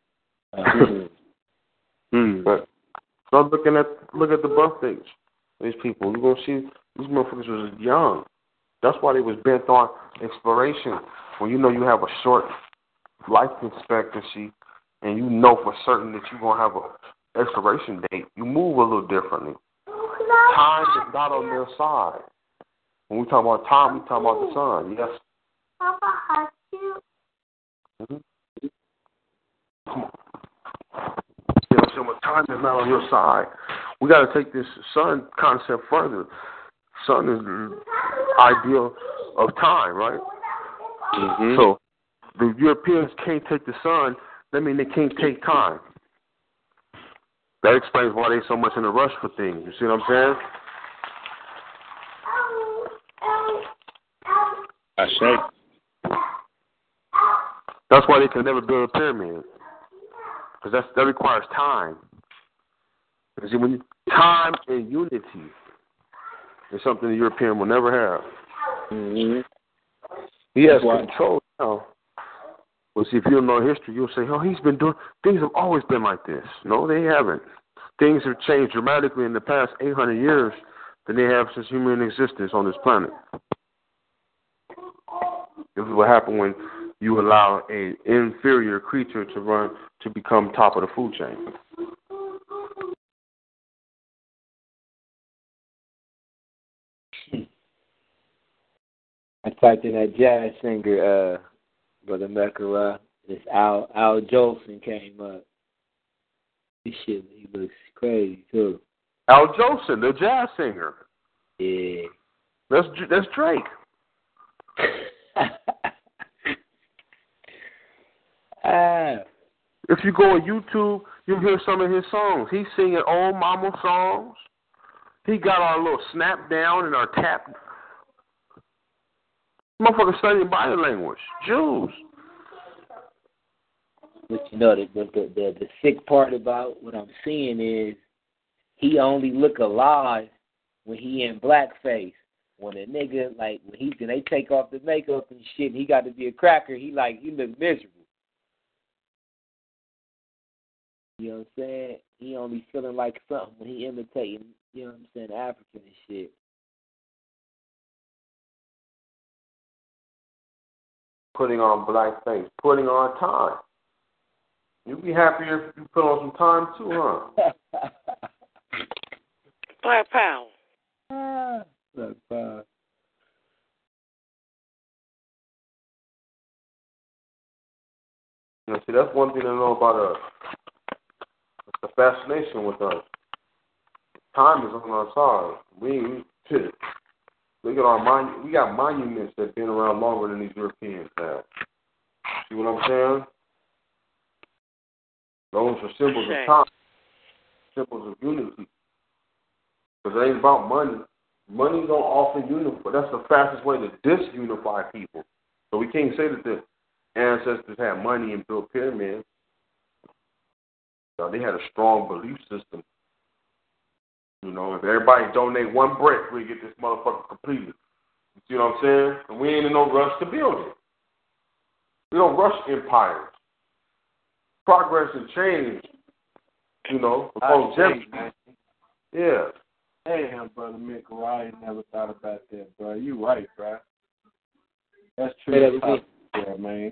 But start look at the birth dates of these people. You're going to see these motherfuckers was young. That's why they was bent on exploration. When you know you have a short life expectancy and you know for certain that you're going to have an expiration date, you move a little differently. Time is not on their side. When we talk about time, we talk about the sun. Yes. Papa has you. Mm-hmm. Come on. You know what I'm saying? When time is not on your side, we got to take this sun concept further. Sun is the ideal of time, right? Mm-hmm. So the Europeans can't take the sun. That means they can't take time. That explains why they're so much in a rush for things. You see what I'm saying? I say. That's why they can never build a pyramid. Because that requires time. You see, time and unity is something the European will never have. Mm-hmm. He has control now. Well, see, if you don't know history, you'll say, he's been doing, things have always been like this. No, they haven't. Things have changed dramatically in the past 800 years than they have since human existence on this planet. This is what happened when you allow an inferior creature to become top of the food chain. I typed in that jazz singer, Brother Mekara. This Al Jolson came up. This shit, he looks crazy too. Al Jolson, the jazz singer. Yeah. That's Drake. If you go on YouTube, you'll hear some of his songs. He's singing old mama songs. He got our little snap down and our tap. Motherfucker studying body language. Jews. But you know, the sick part about what I'm seeing is he only look alive when he in blackface. When a nigga, like, when they take off the makeup and shit, and he got to be a cracker, he look miserable. You know what I'm saying? He only feeling like something when he imitating, you know what I'm saying, African and shit. Putting on blackface, putting on time. You be happy if you put on some time too, huh? Black Power. Black Power. You know, see, that's one thing to know about us. It's the fascination with us. Time is on our side. We got monuments that have been around longer than these Europeans have. See what I'm saying? Those are symbols of time, symbols of unity. Because it ain't about money. Money don't often unify. That's the fastest way to disunify people. So we can't say that the ancestors had money and built pyramids. So they had a strong belief system. You know, if everybody donate one brick, we get this motherfucker completed. You see what I'm saying? And we ain't in no rush to build it. We don't rush empires. Progress and change, you know, longevity. Yeah. Damn, Brother Michael, I ain't never thought about that, bro. You right, bro. That's true. Yeah, man.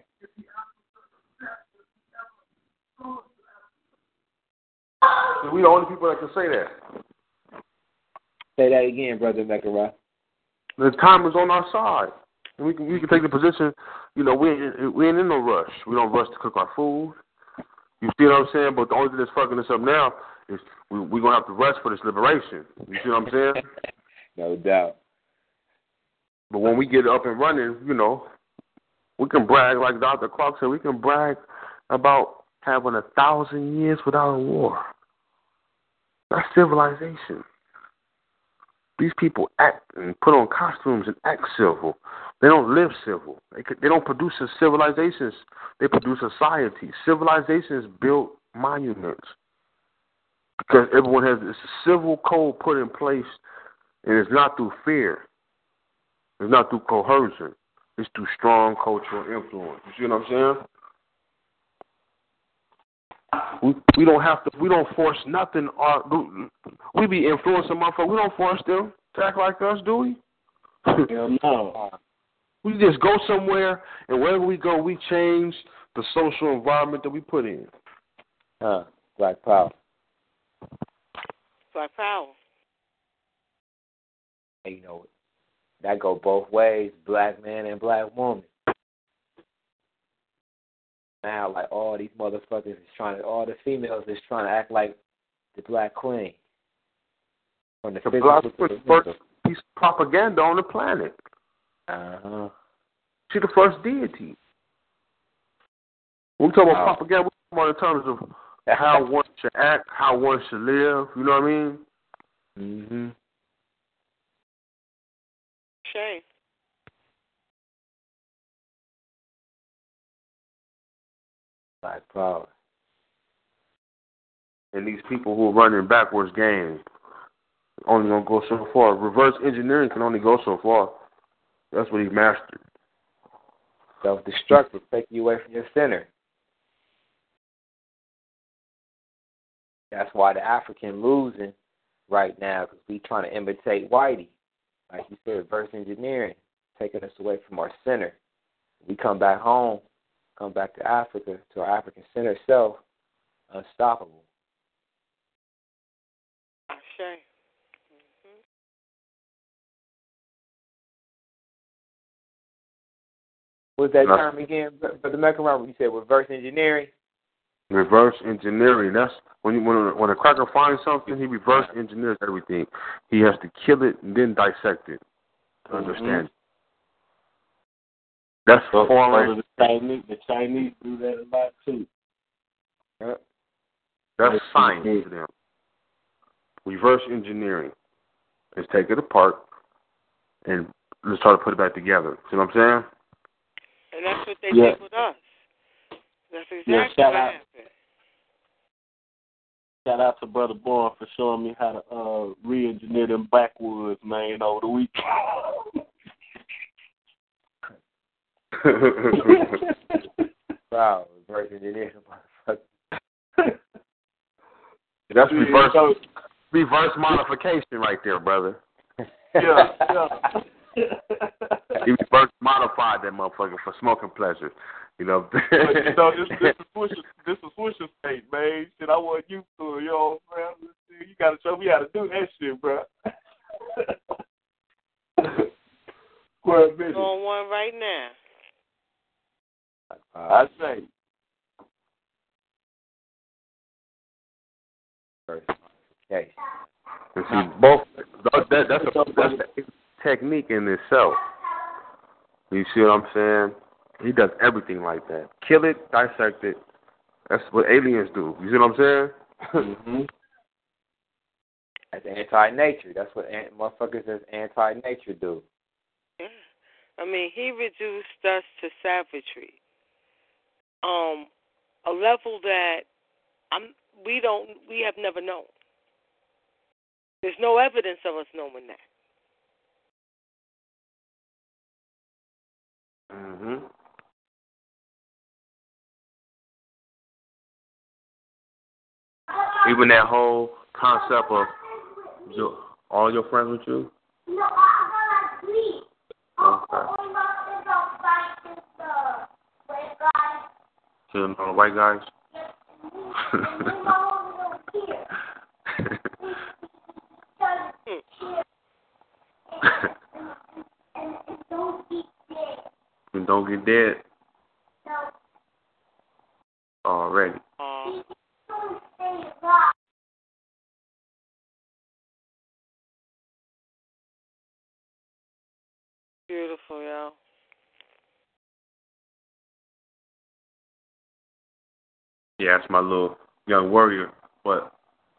We the only people that can say that. Say that again, Brother Mecca. The time is on our side. And we can take the position, you know, we ain't in no rush. We don't rush to cook our food. You see what I'm saying? But the only thing that's fucking us up now is we're going to have to rush for this liberation. You see what I'm saying? No doubt. But when we get up and running, you know, we can brag, like Dr. Clark said, we can brag about having 1,000 years without a war. That's civilization. These people act and put on costumes and act civil. They don't live civil. They don't produce civilizations. They produce societies. Civilizations build monuments because everyone has this civil code put in place, and it's not through fear. It's not through coercion. It's through strong cultural influence. You see what I'm saying? We don't have to. We don't force nothing. We be influencing motherfuckers. We don't force them to act like us, do we? Hell no. We just go somewhere, and wherever we go, we change the social environment that we put in. Black Power. Black Power. And you know, that go both ways, black man and black woman. Now, like, all these motherfuckers all the females is trying to act like the black queen. From the black queen, first piece of propaganda on the planet. Uh-huh. She's the first deity. When we talk about propaganda, we're talking about in terms of how one should act, how one should live. You know what I mean? Mm-hmm. Shay. Black power. And these people who are running backwards games only gonna go so far. Reverse engineering can only go so far. That's what he mastered. Self-destructive, take you away from your center. That's why the African losing right now, because we trying to imitate Whitey. Like you said, reverse engineering, taking us away from our center. We come back home, come back to Africa, to our African center self, unstoppable. Shay. What's that term again, Brother Mecca? You said reverse engineering? Reverse engineering. That's when a cracker finds something, he reverse engineers everything. He has to kill it and then dissect it to understand it. That's foreign. The Chinese do that a lot too. Yep. That's science to them. Reverse engineering is take it apart and let's try to put it back together. See what I'm saying? And that's what they did with us. That's exactly what happened. Shout out to Brother Bourne for showing me how to re-engineer them backwoods, man, over the weekend. Wow, reverse engineering, motherfucker. That's reverse modification right there, brother. Yeah. He reverse modified that motherfucker for smoking pleasure. You know. But, this is Swisher State, man. Shit, I want you to, you know what I'm saying? You gotta show me how to do that shit, bro. On one right now. I say. Okay. And see, both that's a technique in itself. You see what I'm saying? He does everything like that. Kill it, dissect it. That's what aliens do. You see what I'm saying? Mm-hmm. That's anti-nature. That's what motherfuckers as anti-nature do. Yeah. I mean, he reduced us to savagery. A level that we have never known. There's no evidence of us knowing that. Mm-hmm. Even that whole concept of all your friends with you? No, okay. You know the white guys? And don't get dead. Already. Beautiful, yo. Yeah, that's my little young warrior. But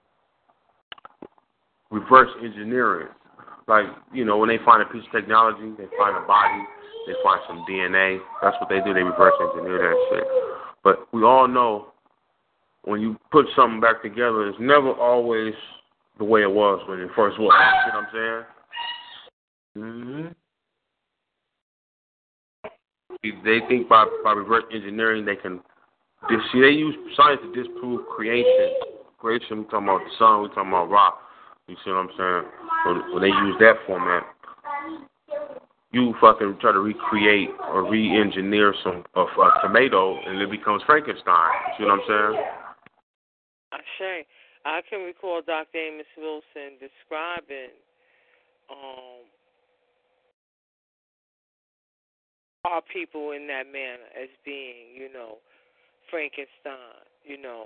reverse engineering, like, you know, when they find a piece of technology, they find a body, they find some DNA. That's what they do. They reverse engineer that shit. But we all know when you put something back together, it's never always the way it was when it first was. You know what I'm saying? Mm-hmm. They think by reverse engineering they can. See, they use science to disprove creation. Creation, we talking about the sun, we talking about rock. You see what I'm saying? When they use that format, you fucking try to recreate or re-engineer a tomato, and it becomes Frankenstein. You see what I'm saying? I can recall Dr. Amos Wilson describing our people in that manner as being, you know, Frankenstein, you know,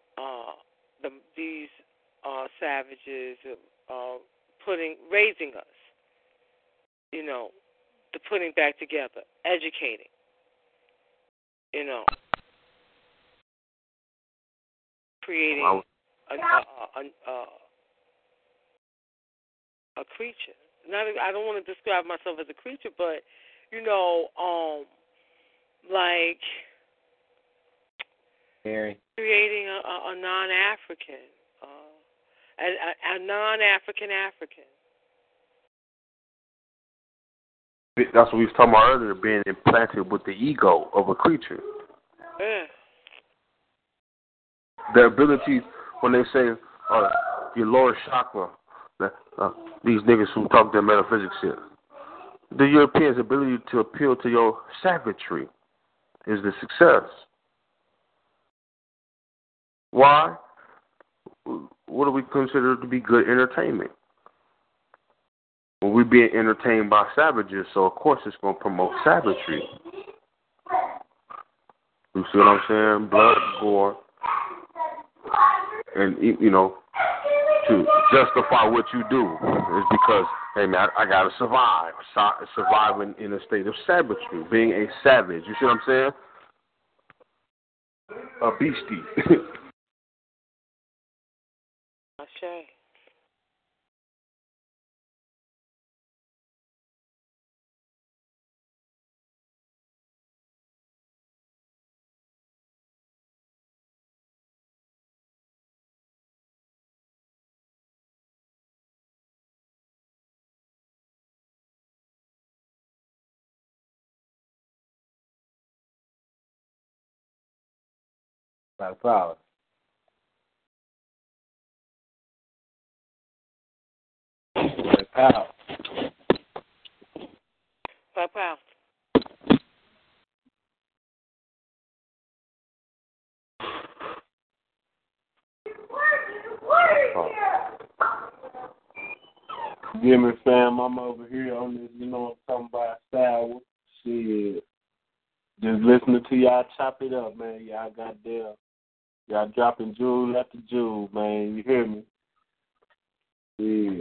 these savages raising us, you know, the putting back together, educating, you know, creating a creature. I don't want to describe myself as a creature, but you know, like creating a non-African, a non-African African. That's what we was talking about earlier, being implanted with the ego of a creature. Yeah. The ability, when they say your lower chakra, these niggas who talk their metaphysics shit, the Europeans' ability to appeal to your savagery is the success. Why? What do we consider to be good entertainment? Well, we're being entertained by savages, so of course it's going to promote savagery. You see what I'm saying? Blood, gore, and, you know, to justify what you do is because, hey, man, I got to survive. Surviving in a state of savagery, being a savage. You see what I'm saying? A beastie. right. Black power. Black power. Black power. Yeah, me, fam, I'm over here on this, I'm talking about style. Shit. Just listening to y'all chop it up, man. Y'all goddamn. Y'all dropping jewel after jewel, man. You hear me? Yeah.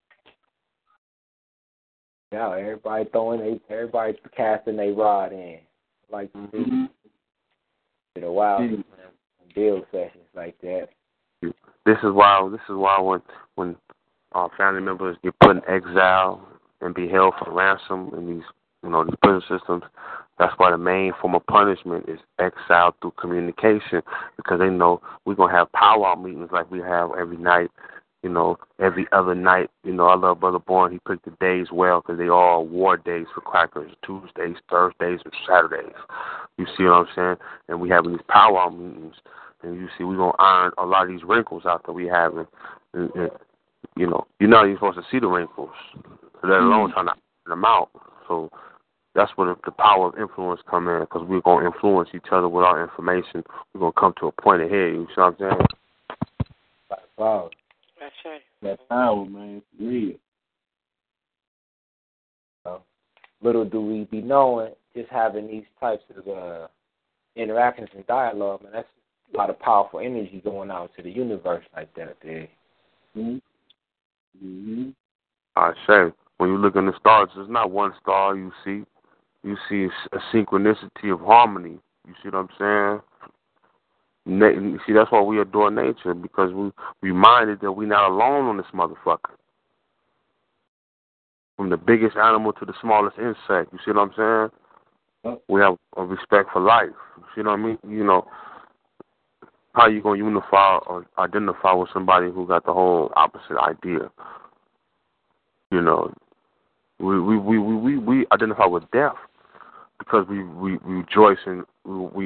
Yeah, everybody everybody casting their rod in. Like to see. Did a while build sessions like that. This is why when our family members get put in exile and be held for ransom in these these prison systems, that's why the main form of punishment is exile through communication, because they know we're gonna have powwow meetings like we have every night, every other night. I love Brother Bourne. He picked the days well because they all war days for crackers: Tuesdays, Thursdays, and Saturdays. You see what I'm saying? And we having these powwow meetings, and you see we're gonna iron a lot of these wrinkles out that we having. And, you're supposed to see the wrinkles, let alone trying to iron them out. So that's where the power of influence come in, because we're going to influence each other with our information. We're going to come to a point ahead. You see what I'm saying? Wow. That's right. That power, man. It's real. Little do we be knowing, just having these types of interactions and dialogue, man, that's a lot of powerful energy going out to the universe like that, dude. I say, when you look in the stars, there's not one star you see. You see a synchronicity of harmony. You see what I'm saying? See, that's why we adore nature, because we reminded that we're not alone on this motherfucker. From the biggest animal to the smallest insect. You see what I'm saying? We have a respect for life. You see what I mean? How you gonna unify or identify with somebody who got the whole opposite idea? We identify with death because we rejoice and we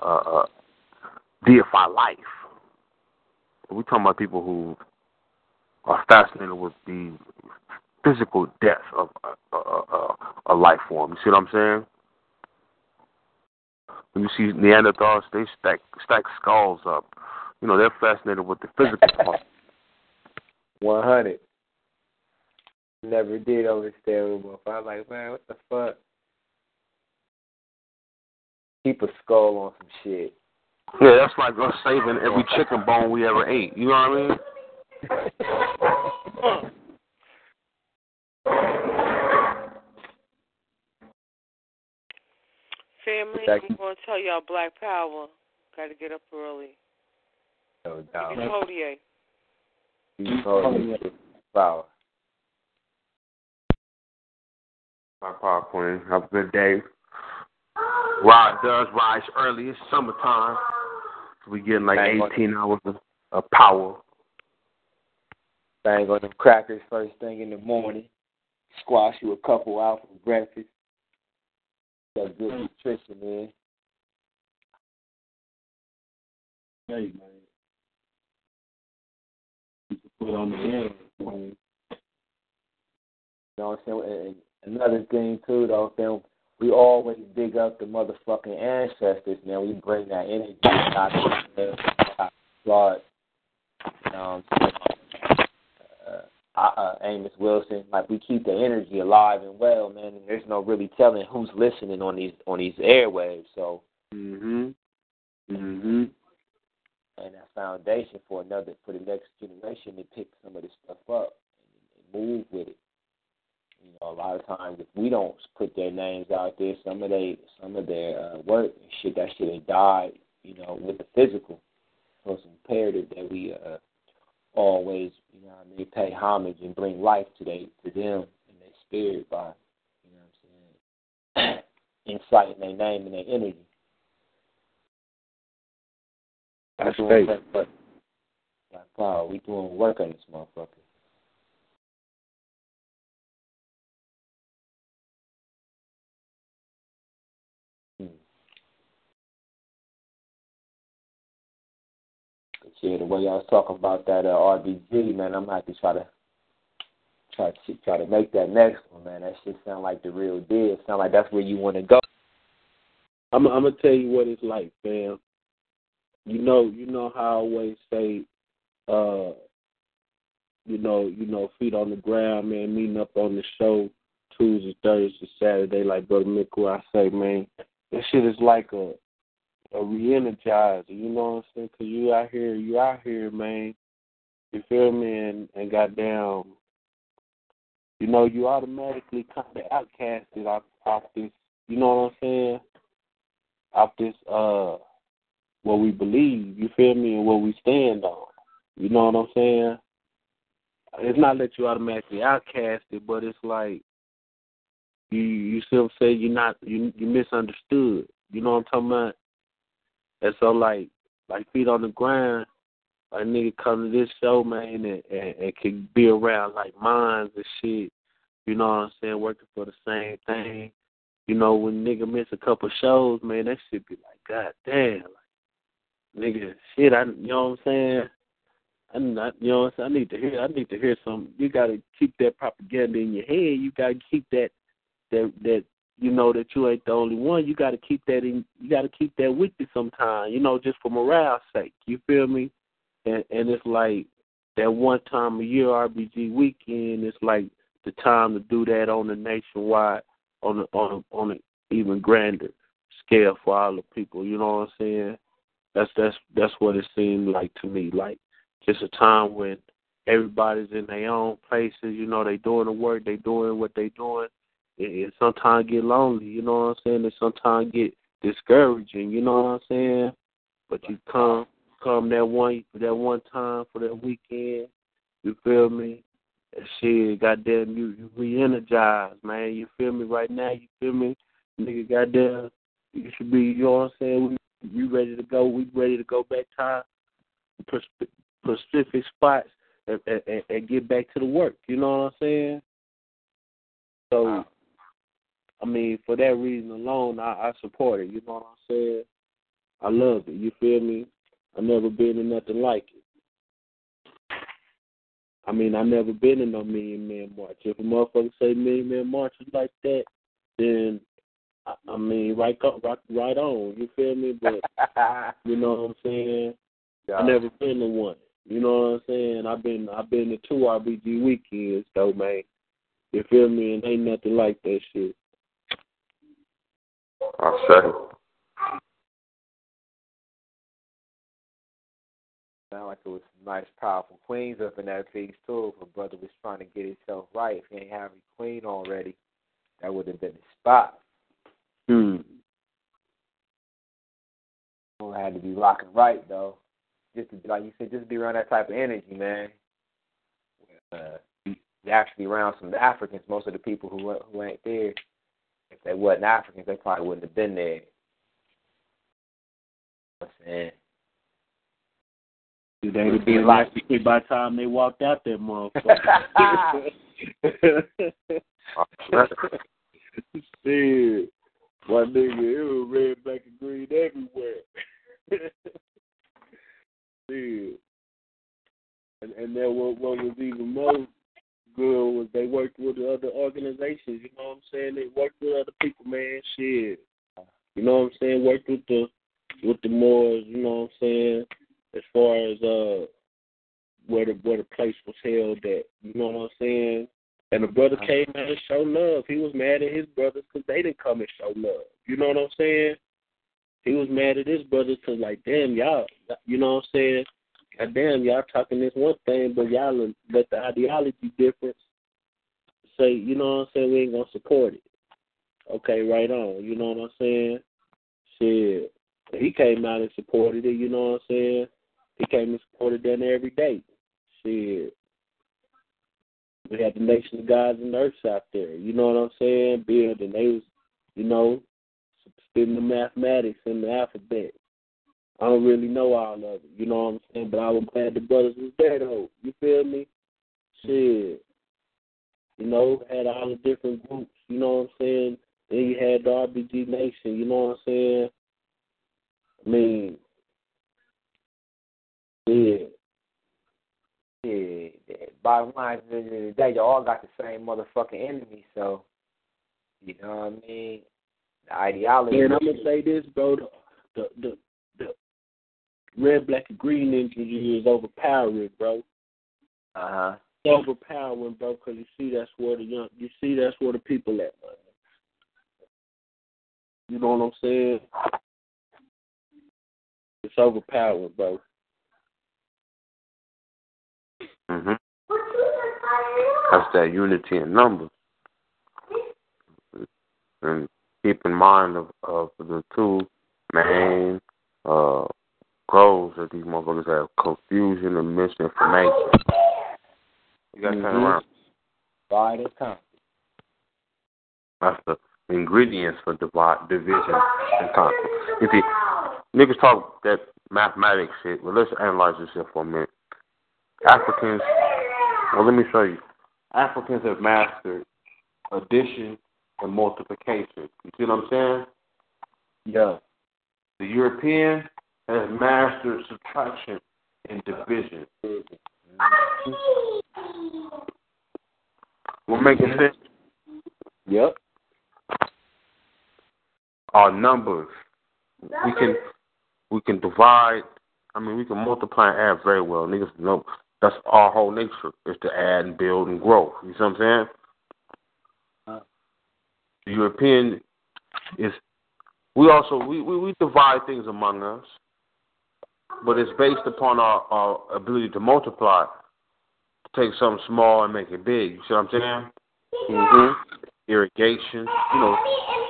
deify life. We're talking about people who are fascinated with the physical death of a life form. You see what I'm saying? When you see Neanderthals, they stack skulls up. They're fascinated with the physical part. 100. Never did overstay with I'm like, man, what the fuck? Keep a skull on some shit. Yeah, that's like us saving every chicken bone we ever ate. You know what I mean? Family, I'm going to tell y'all Black Power. Got to get up early. No doubt. Power. My power queen. Have a good day. Rod does rise early. It's summertime. So we getting like 18 hours of power. Bang on them crackers first thing in the morning. Squash you a couple out for breakfast. Got good nutrition, man. Hey, man. You can put on the air, man. You know what I'm saying? And another thing, too, though, man, we always dig up the motherfucking ancestors, man. We bring that energy out of the blood. Amos Wilson, like we keep the energy alive and well, man. And there's no really telling who's listening on these airwaves. So, and that foundation for the next generation to pick some of this stuff up and move with it. A lot of times if we don't put their names out there, some of their work and shit, that shit has died, with the physical. So it's imperative that we always, pay homage and bring life to them and their spirit by, inciting their name and their energy. That's great. Like, wow, we doing work on this motherfucker. Yeah, the way y'all was talking about that RBG, man, I'm gonna have to try to make that next one, man. That shit sound like the real deal. Sound like that's where you want to go. I'm gonna tell you what it's like, fam. You know how I always say, feet on the ground, man, meeting up on the show Tuesday, Thursday, Saturday, like Brother Mickle, I say, man, that shit is like a re-energizer, you know what I'm saying? Because you out here, man, you feel me, and goddamn, you automatically kind of outcasted off this, you know what I'm saying? Off this, what we believe, you feel me, and what we stand on, you know what I'm saying? It's not that you automatically outcasted, but it's like you still say you misunderstood, you know what I'm talking about? And so, like feet on the ground, a nigga come to this show, man, and can be around, like, minds and shit, you know what I'm saying, working for the same thing. When nigga miss a couple shows, man, that shit be like, God damn, like, nigga, shit, you know what I'm saying? I'm not, you know what I'm saying? I need to hear some. You got to keep that propaganda in your head. You got to keep that that you ain't the only one. You got to keep that with you sometime, just for morale's sake. You feel me? And it's like that one time a year RBG weekend. It's like the time to do that on the nationwide, on an even grander scale for all the people. You know what I'm saying? That's what it seemed like to me. Like just a time when everybody's in their own places. They doing the work, they doing what they doing. It sometimes get lonely, you know what I'm saying? It sometimes get discouraging, you know what I'm saying? But you come that one time for that weekend, you feel me? And shit, goddamn, you re-energized, man. You feel me right now? You feel me? Nigga, goddamn, you should be, you know what I'm saying? We ready to go. We ready to go back to specific spots and get back to the work, you know what I'm saying? So, I mean, for that reason alone, I support it. You know what I'm saying? I love it. You feel me? I never been in nothing like it. I mean, I never been in no Million Man March. If a motherfucker say Million Man March is like that, then I mean, right on. You feel me? But you know what I'm saying? Yeah. I never been to one. You know what I'm saying? I've been to 2 RBG weekends though, man. You feel me? And ain't nothing like that shit. I'll say. Sound like it was some nice, powerful queens up in that piece, too. If a brother was trying to get himself right, if he ain't have a queen already, that would have been the spot. It had to be rocking right, though. Just to be, like you said, just be around that type of energy, man. You actually around some Africans. Most of the people who ain't there, if they wasn't Africans, they probably wouldn't have been there. You know what I'm saying? They'd have been like by the time they walked out that motherfucker. Shit. My nigga, it was red, black, and green everywhere. Shit. And then what was even more good was they worked with the other organizations, you know what I'm saying? They worked with other people, man, shit. You know what I'm saying? Worked with the Moors, you know what I'm saying? As far as where the place was held at, you know what I'm saying? And the brother came out and showed love. He was mad at his brothers because they didn't come and show love. You know what I'm saying? He was mad at his brothers because, like, damn, y'all, you know what I'm saying? God damn, y'all talking this one thing, but y'all let the ideology difference say, you know what I'm saying, we ain't going to support it. Okay, right on. You know what I'm saying? Shit. He came out and supported it, you know what I'm saying? He came and supported that every day. shit. We had the nation of gods and earths out there. You know what I'm saying? Building. They was, you know, spitting the mathematics and the alphabet. I don't really know all of it. You know what I'm saying? But I was glad the brothers was there, though. You feel me? Shit. You know, had all the different groups. You know what I'm saying? Then you had the RBG Nation. You know what I'm saying? I mean, yeah. Yeah, bottom line, at the end of the day, you all got the same motherfucking enemy, so, you know what I mean? The ideology. And I'm going to say this, bro, the red, black, and green energy is overpowering, bro. Uh-huh. It's overpowering, bro, because you see that's where the people at, man. You know what I'm saying? It's overpowering, bro. Mm-hmm. That's that unity in numbers. And keep in mind of the two main goals that these motherfuckers have: confusion and misinformation. You got to turn around. Divide and conquer. That's the ingredients for division and conquer. You see, niggas talk that mathematics shit. Well, let's analyze this shit for a minute. Africans, well, let me show you. Africans have mastered addition and multiplication. You see what I'm saying? Yeah. The European has mastered subtraction and division. We're making sense? Yep. Our numbers. We can divide. I mean, we can multiply and add very well. Niggas know that's our whole nature, is to add and build and grow. You see what I'm saying? The European is, we divide things among us, but it's based upon our ability to multiply, to take something small and make it big. You see what I'm saying? Mm-hmm. Irrigation, you know,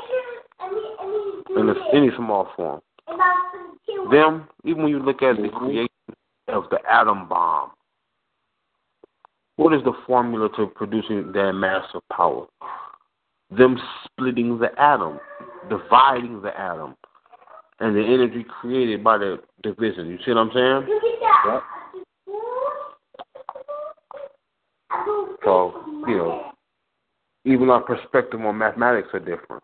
in any small form. Them, even when you look at the creation of the atom bomb, what is the formula to producing that massive power? Them splitting the atom, dividing the atom, and the energy created by the division. You see what I'm saying? Yep. So, you know, even our perspective on mathematics are different.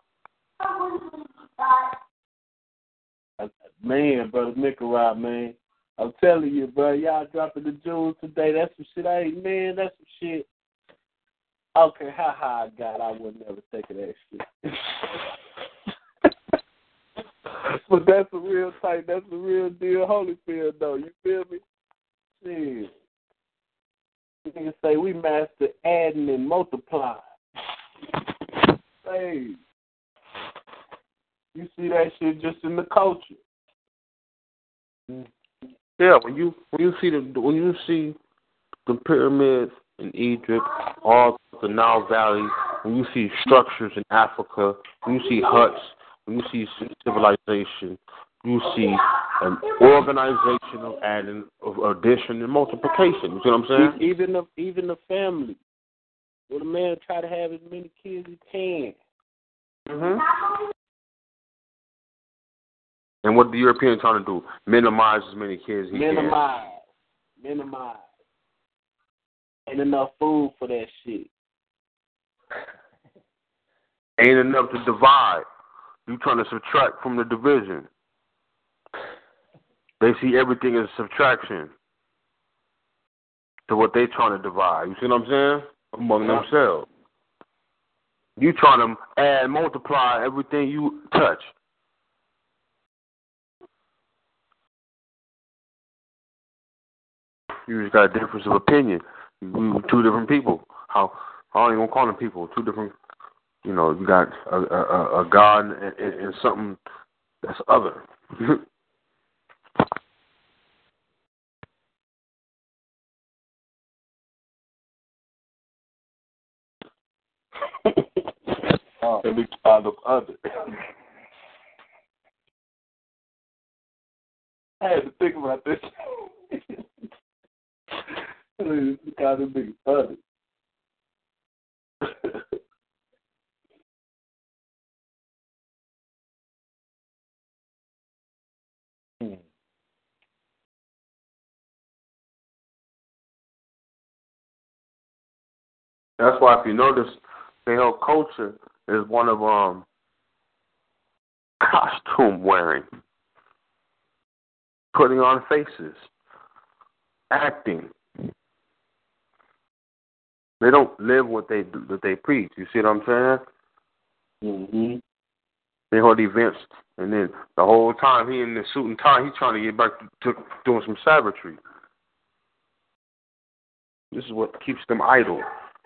Man, brother Nicarag, man. I'm telling you, bro, y'all dropping the jewels today. That's some shit that's some shit. I don't care how high I got, I would never take of that shit. But that's a real type, that's a real deal Holyfield, though. You feel me? Shit. You can say we master adding and multiplying. Hey. You see that shit just in the culture. Yeah, when you see the pyramids in Egypt, all the Nile Valley, when you see structures in Africa, when you see huts, when you see civilization, you see an organization of adding, of addition and multiplication. You see what I'm saying? Even the family. Well, the man try to have as many kids as he can. Mm-hmm. And what the Europeans trying to do? Minimize as many kids as he can. Minimize. Ain't enough food for that shit. Ain't enough to divide. You trying to subtract from the division. They see everything as subtraction to what they trying to divide. You see what I'm saying? Among themselves. You trying to add, multiply everything you touch. You just got a difference of opinion. We were two different people. I don't even call them people. Two different, you know, you got a God and something that's other. And we call them other. I had to think about this. It's gotta be funny. That's why if you notice, their whole culture is one of costume wearing, putting on faces, acting. They don't live what they do, what they preach. You see what I'm saying? Mm-hmm. They hold events, and then the whole time he in the suit and tie, he's trying to get back to doing some savagery. This is what keeps them idle.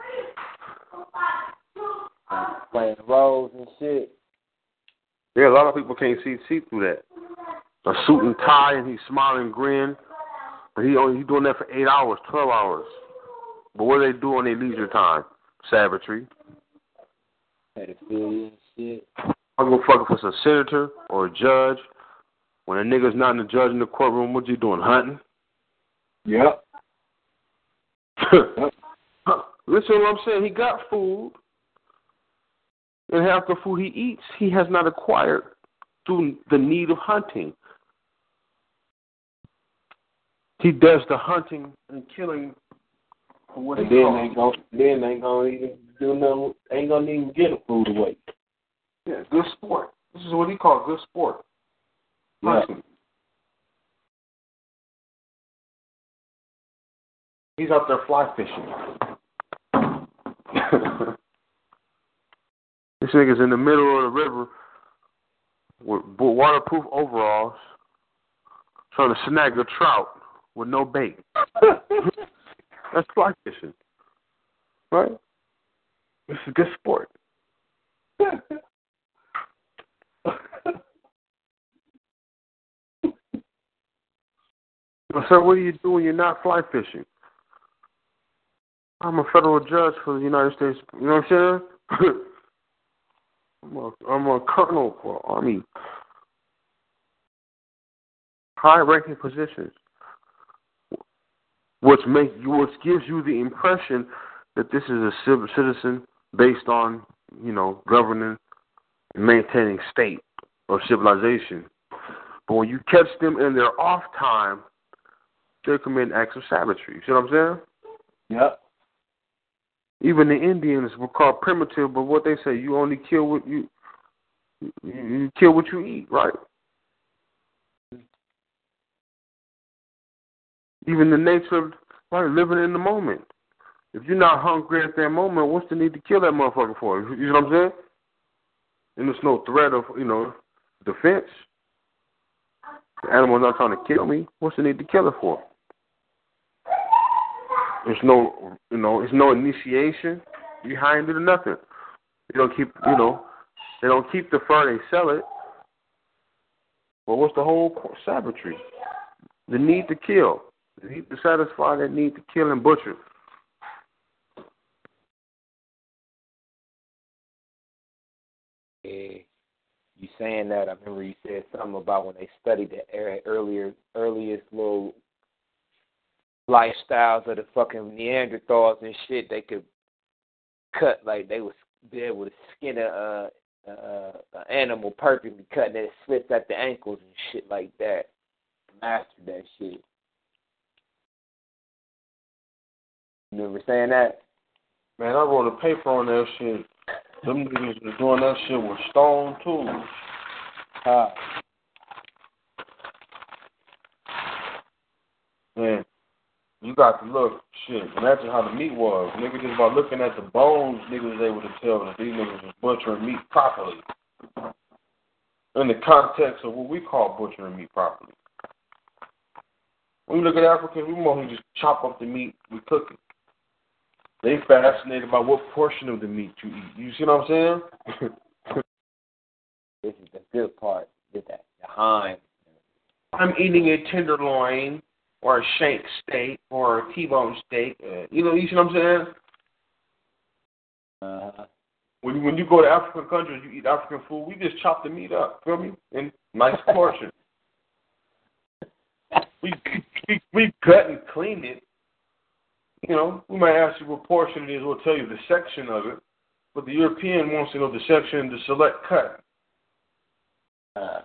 Playing roles and shit. Yeah, a lot of people can't see through that. A suit and tie, and he's smiling, grin, but he doing that for 8 hours, 12 hours. But what do they do on their leisure time? Savagery. Pedophilia and shit. I'm gonna fuck if it's a senator or a judge. When a nigga's not in the judge in the courtroom, what you doing? Hunting? Yep. Listen to what I'm saying. He got food, and half the food he eats, he has not acquired through the need of hunting. He does the hunting and killing for what and he then calls. they ain't gonna even do nothing. Ain't gonna even get the food away. Yeah, good sport. This is what he calls good sport. Yeah. Hunting. He's out there fly fishing. This nigga's in the middle of the river with waterproof overalls trying to snag a trout with no bait. That's fly fishing. Right? This is good sport. So what do you do when you're not fly fishing? I'm a federal judge for the United States. You know what I'm saying? I'm a colonel for Army. High-ranking positions. Which gives you the impression that this is a citizen based on, governing and maintaining state or civilization. But when you catch them in their off time, they commit acts of savagery. You see what I'm saying? Yep. Even the Indians were called primitive, but what they say, you only kill what you kill what you eat, right? Even the nature of living in the moment. If you're not hungry at that moment, what's the need to kill that motherfucker for? You know what I'm saying? And there's no threat of, defense. The animal's not trying to kill me. What's the need to kill it for? There's no, there's no initiation behind it or nothing. They don't keep, they don't keep the fur, they sell it. Well, what's the whole savagery? The need to kill. The need to satisfy that need to kill and butcher. Yeah. You saying that, I remember you said something about when they studied the earliest little lifestyles of the fucking Neanderthals and shit. They could cut, like they would be able to skin a animal perfectly, cutting it slits at the ankles and shit like that. Mastered that shit. You remember saying that? Man, I wrote a paper on that shit. Them niggas was doing that shit with stone tools. Man, you got to look, shit, imagine how the meat was. Niggas just by looking at the bones, niggas was able to tell that these niggas was butchering meat properly. In the context of what we call butchering meat properly. When we look at Africans, we mostly just chop up the meat, we cook it. They fascinated by what portion of the meat you eat. You see what I'm saying? This is the good part. Get that, the hind. I'm eating a tenderloin or a shank steak or a T-bone steak. You see what I'm saying? When you go to African countries, you eat African food, we just chop the meat up, feel me? In nice portions. We cut and clean it. we might ask you what portion it is. We'll tell you the section of it. But the European wants to know the section, the select cut. And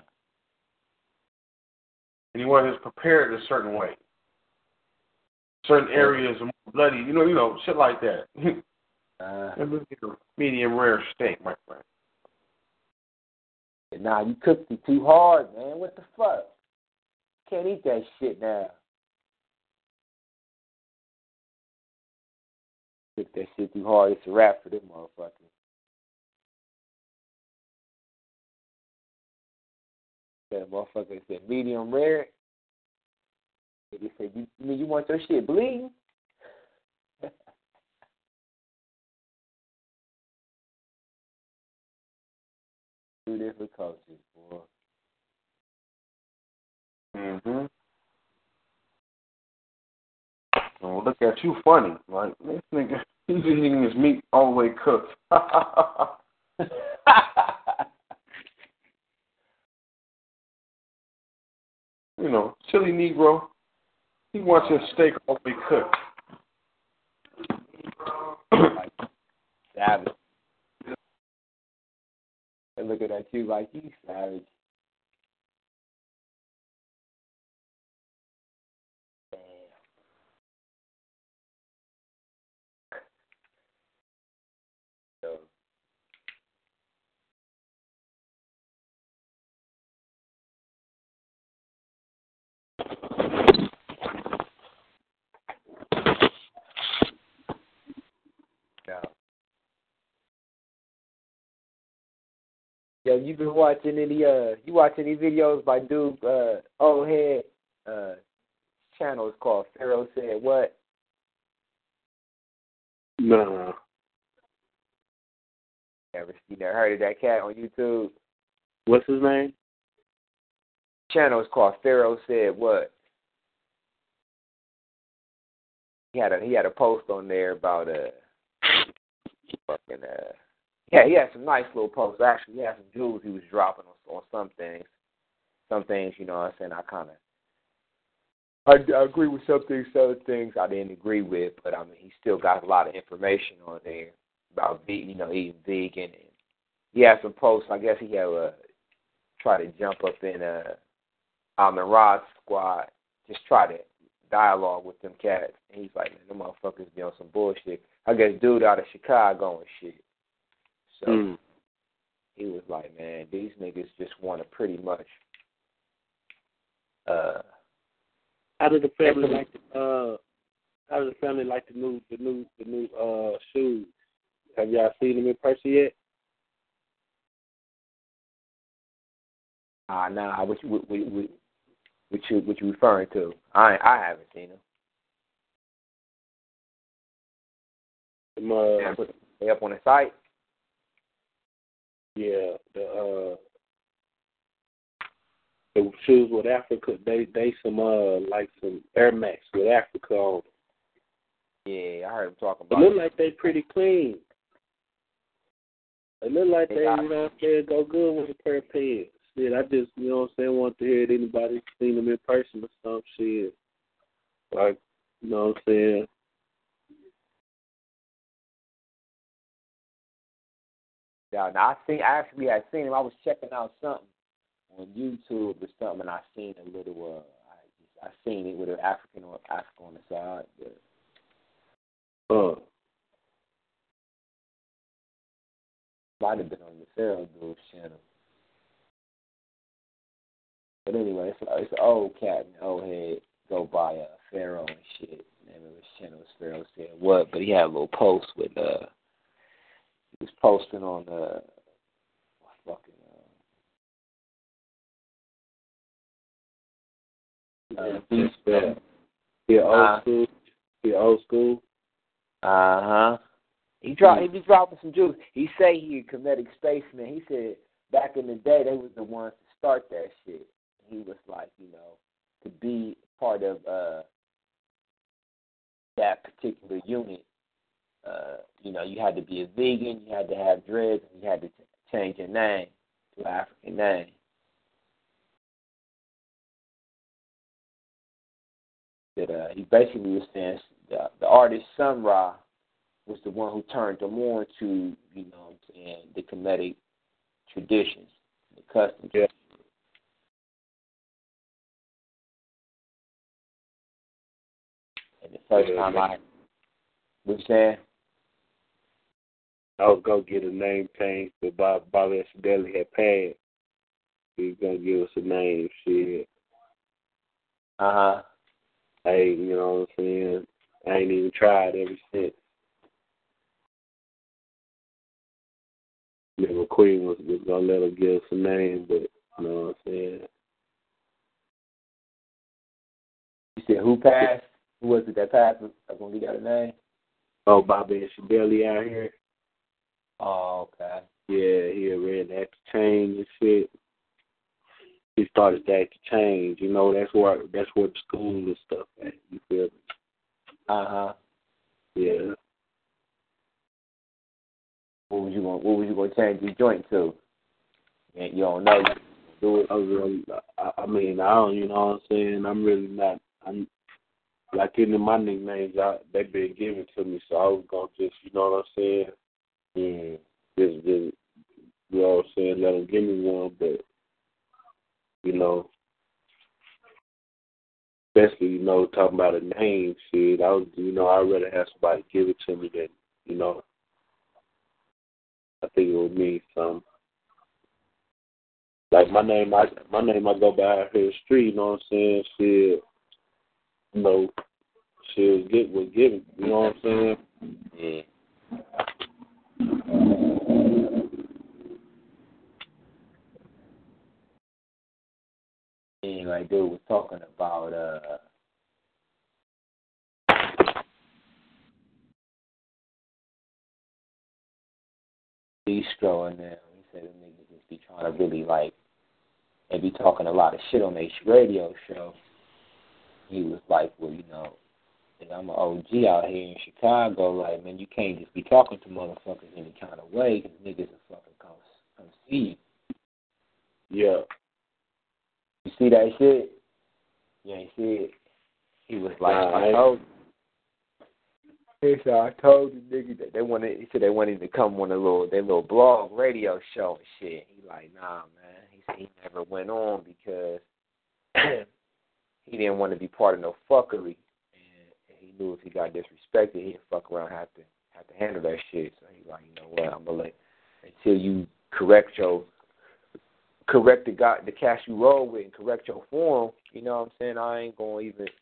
he wants it prepared a certain way. Certain areas are more bloody, shit like that. Medium rare steak, my friend. Nah, you cooked it too hard, man. What the fuck? Can't eat that shit now. Cook that shit too hard, it's a wrap for them motherfuckers. That motherfucker said medium rare. They said, you want your shit bleeding? Two different cultures, boy. Mm-hmm. Oh, look at you funny. Like, this nigga, he's eating his meat all the way cooked. Silly Negro. He wants his steak all the way cooked. Savage. And looking at you like you savage. Yo, you been watching any videos by dude old head channel is called Pharaoh Said What? No. You never heard of that cat on YouTube? What's his name? Channel is called Pharaoh Said What? He had a post on there about he had some nice little posts. Actually, he had some jewels he was dropping on some things. Some things, you know what I'm saying, I agree with some things I didn't agree with, but I mean, he still got a lot of information on there about eating vegan. And he had some posts. I guess he had try to jump up in Alman Rod's squad, just try to dialogue with them cats. And he's like, man, them motherfuckers be on some bullshit. I guess dude out of Chicago and shit. So he was like, man, these niggas just want to pretty much. How did the family like the new shoes? Have y'all seen them in person yet? Nah. What you referring to? I haven't seen them. They up on the site? Yeah, the shoes with Africa, they some like some Air Max with Africa on. Yeah, I heard him talking about. It look like they pretty clean. It look like they go good with a pair of pants. Shit, I just want to hear it. Anybody seen them in person or some shit? Like, you know what I'm saying? Yeah, now I actually had seen him. I was checking out something on YouTube or something, and I seen a little. I seen it with an Africa on the side. But, might have been on the Pharaoh Dude's channel. But anyway, it's an old cat and old head go by Pharaoh and shit. The name of his channel is Pharaoh Said What, but he had a little post with he was posting on old school. He be dropping some jewels. He say he a comedic spaceman. He said back in the day they was the ones to start that shit. He was like, to be part of that particular unit, you had to be a vegan, you had to have dreads, and you had to change your name to an African name. that he basically was saying the artist Sun Ra was the one who turned them on to, you know what I'm saying, the Kemetic traditions, the customs. Yeah. And the first time what you saying? I was gonna get a name change, but Bobby Deli had passed. He was gonna give us a name, shit. Hey, you know what I'm saying? I ain't even tried ever since. Nigga Queen was gonna let him give us a name, but you know what I'm saying? You said who passed? Who was it that passed? I gonna get that a name. Oh, Bobby and Shadeli out here. Oh, okay. Yeah, he had read that to change and shit. He started that to change. You know, that's where the school and stuff at. You feel me? Yeah. What was you gonna change your joint to? You don't know. Do it. I mean, I don't. You know what I'm saying? I'm really not. I'm like any of my nicknames. They've been given to me, so I was gonna just. You know what I'm saying? Yeah. Just you know what I'm saying? Let them give me one, but you know, especially you know talking about a name, shit. I'd rather have somebody give it to me than you know. I think it would mean something. Like my name I go by out here the street, you know what I'm saying? Shit, you know, shit was given, you know what I'm saying? Yeah. And like dude was talking about Bistro and them. He said them niggas just be trying to really like and be talking a lot of shit on their radio show. He was like, well, you know, I'm an OG out here in Chicago. Like, man, you can't just be talking to motherfuckers any kind of way because niggas will fucking come see you. Yeah. You see that shit? You ain't see it? He was like, I told the nigga that he said they wanted to come on their little blog radio show and shit. He like, nah, man. He said he never went on because he didn't want to be part of no fuckery. And he knew if he got disrespected, he'd fuck around have to handle that shit. So he like, you know what, I'm gonna let until you correct the cast you roll with and correct your form, you know what I'm saying? I ain't gonna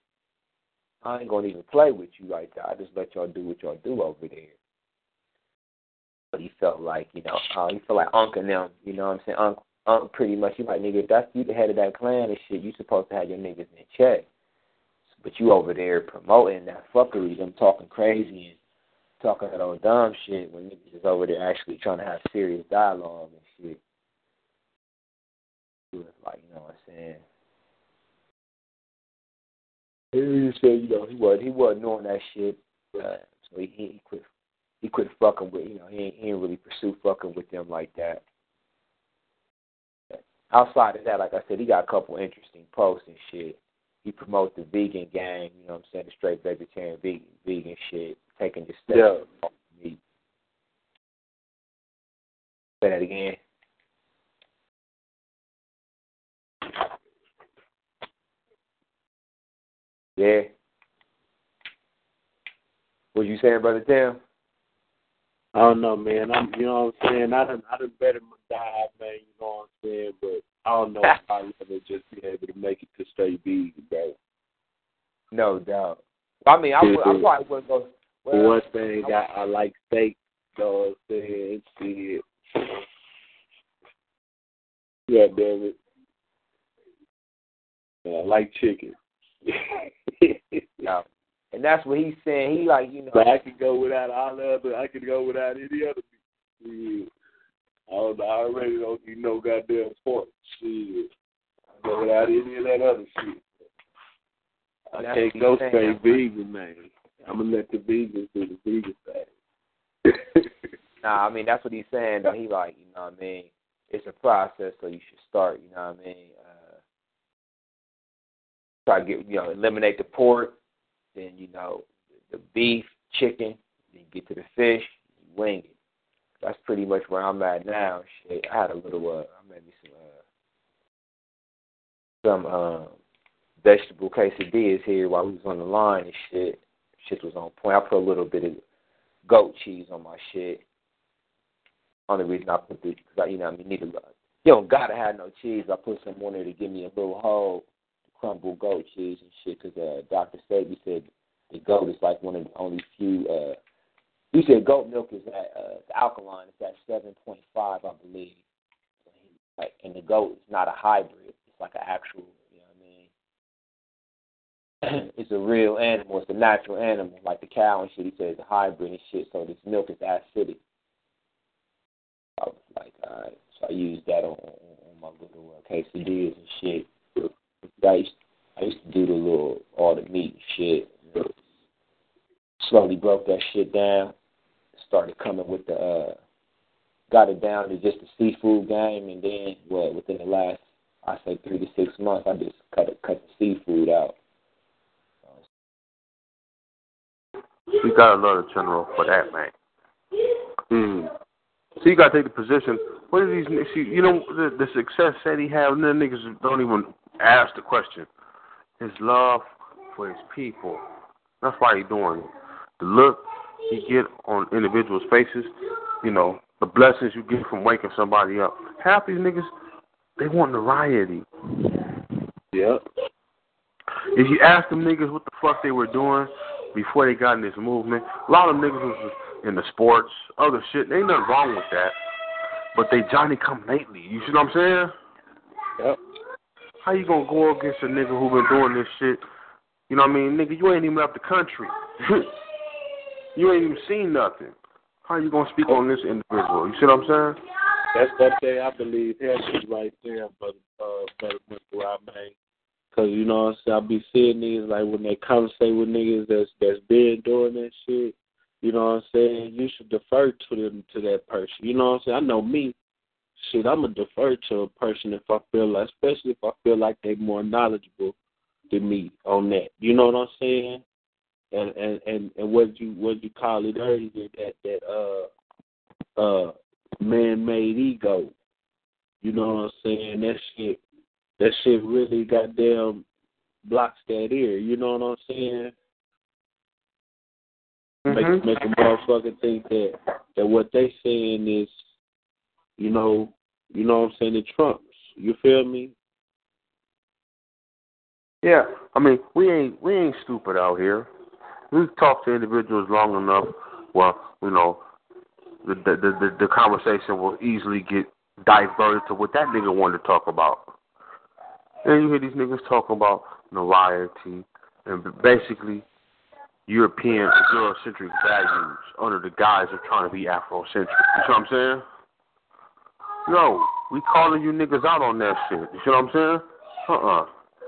even play with you like that. I just let y'all do what y'all do over there. But he felt like, you know, Unc and them, you know what I'm saying? Unc pretty much, he like, nigga, if that's you the head of that clan and shit, you supposed to have your niggas in check. But you over there promoting that fuckery, them talking crazy and talking that old dumb shit when niggas is over there actually trying to have serious dialogue and shit. He was like, you know what I'm saying? He said, you know, he wasn't doing that shit, so he quit. He quit fucking with, you know, he ain't really pursue fucking with them like that. Outside of that, like I said, he got a couple interesting posts and shit. He promotes the vegan gang, you know what I'm saying, the straight vegetarian vegan shit, taking the steps off meat. Say that again. Yeah. What you saying, Brother Tim? I don't know, man. You know what I'm saying? I done better my diet, man, you know what I'm saying? But I don't know if I'll ever just be able to make it to straight vegan, bro. No doubt. I mean, I probably wouldn't go. Well, one thing, I like steak, you know what I'm saying? Shit. Yeah, damn it. And I like chicken. No. And that's what he's saying. He like, you know. But I could go without I could go without any other meat. I already don't eat no goddamn pork. Shit. I go without any of that other shit. I can't go straight vegan, man. I'm going to let the vegans do the vegan thing. Nah, I mean, that's what he's saying, though. He like, you know what I mean? It's a process, so you should start, you know what I mean? Try to get, you know, eliminate the pork, then, you know, the beef, chicken, then you get to the fish, you wing it. That's pretty much where I'm at now. Shit, I had a little, I made me some vegetable quesadillas here while we was on the line and shit. Shit was on point. I put a little bit of goat cheese on my shit. Only reason I put this, because you know, I mean, you don't gotta have no cheese. I put some on there to give me a little hole, crumbled goat cheese and shit. Because Dr. Sabi said the goat is like one of the only few. He said goat milk is at the alkaline is at 7.5, I believe. Like, and the goat is not a hybrid. It's like an actual. You know what I mean? It's a real animal. It's a natural animal, like the cow and shit. He said it's a hybrid and shit. So this milk is acidic. I was like, all right. So I used that on my little quesadillas and shit. I used to do the little, all the meat and shit. Slowly broke that shit down. Started coming with the, got it down to just the seafood game. And then, within the last, I say 3 to 6 months, I just cut the seafood out. You got another general for that, man. So you got to take the position. What are these niggas? You know, the success that he have, and the niggas don't even ask the question. His love for his people. That's why he doing it. The look you get on individuals' faces, you know, the blessings you get from waking somebody up. Half these niggas, they want notoriety. Yep. If you ask them niggas what the fuck they were doing before they got in this movement, a lot of them niggas was in the sports, other shit. There ain't nothing wrong with that. But they Johnny come lately. You see what I'm saying? Yep. How you gonna go against a nigga who been doing this shit? You know what I mean? Nigga, you ain't even left the country. You ain't even seen nothing. How you gonna speak on this individual? You see what I'm saying? That's that day I believe heavy right there, brother Mr. Made. Cause you know what I'm saying, I be seeing niggas like when they conversate with niggas that's been doing that shit. You know what I'm saying? You should defer to that person. You know what I'm saying? I know me. Shit, I'm going to defer to a person if I feel like, especially if I feel like they're more knowledgeable than me on that. You know what I'm saying? And what you call it earlier, that man-made ego. You know what I'm saying? That shit really goddamn blocks that ear. You know what I'm saying? Mm-hmm. Make a motherfucker think that what they saying is, you know what I'm saying, it trumps. You feel me? Yeah, I mean, we ain't stupid out here. We've talked to individuals long enough. Well, you know, the conversation will easily get diverted to what that nigga wanted to talk about. And you hear these niggas talking about notoriety and basically European and Eurocentric values under the guise of trying to be Afrocentric. You see what I'm saying? Yo, we calling you niggas out on that shit. You see what I'm saying?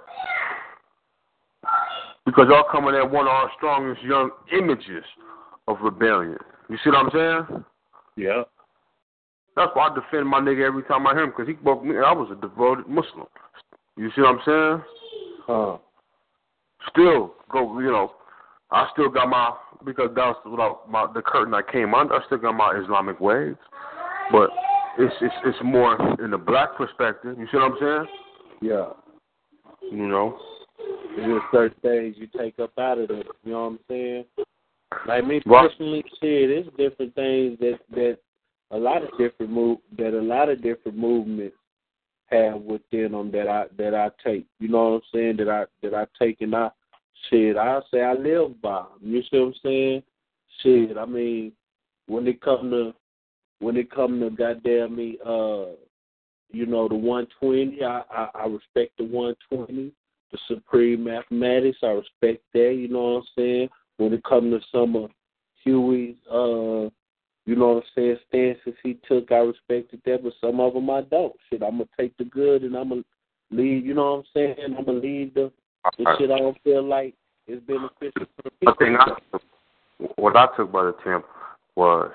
Because y'all coming at one of our strongest young images of rebellion. You see what I'm saying? Yeah. That's why I defend my nigga every time I hear him, because he broke me. I was a devoted Muslim. You see what I'm saying? Still go, you know, I still got my, because that was the curtain I came under, I still got my Islamic ways. But it's more in the black perspective. You see what I'm saying? Yeah. You know? There's certain things you take up out of it. You know what I'm saying? Like me personally, shit, there's different things that a lot of different movements have within them that I take. You know what I'm saying? That I take and I say I live by 'em. You see what I'm saying? Shit, I mean, when it come to goddamn me, you know, the 120, I respect the 120. The supreme mathematics, I respect that. You know what I'm saying? When it comes to some of Huey's, you know what I'm saying, stances he took, I respected that, but some of them I don't. Shit, I'm going to take the good and I'm going to leave, you know what I'm saying? I'm going to leave the shit I don't feel like is beneficial for the people. What I took by the Tim was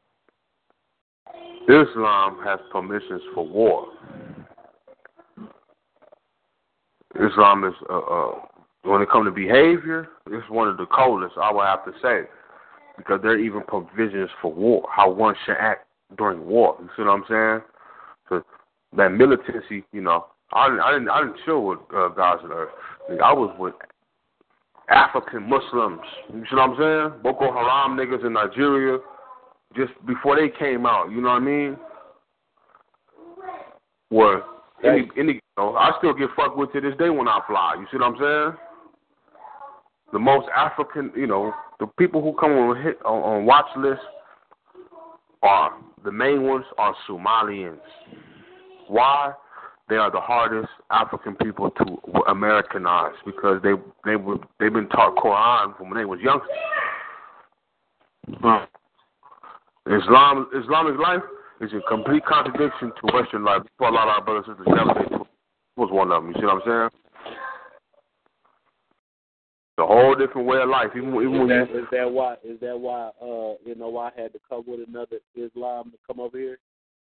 Islam has permissions for war. Islam is when it comes to behavior, it's one of the coldest, I would have to say, because there are even provisions for war, how one should act during war. You see what I'm saying? So that militancy, I didn't chill with guys on earth. I was with African Muslims. You see what I'm saying? Boko Haram niggas in Nigeria, just before they came out. You know what I mean? Where I still get fucked with to this day when I fly. You see what I'm saying? The most African, the people who come on watch lists are the main ones are Somalians. Why? They are the hardest African people to Americanize because they've been taught Quran from when they was youngsters. Islamic life is a complete contradiction to Western life. For a lot of our brothers and sisters never was one of them. You see what I'm saying? The whole different way of life. Is that why I had to come with another Islam to come over here?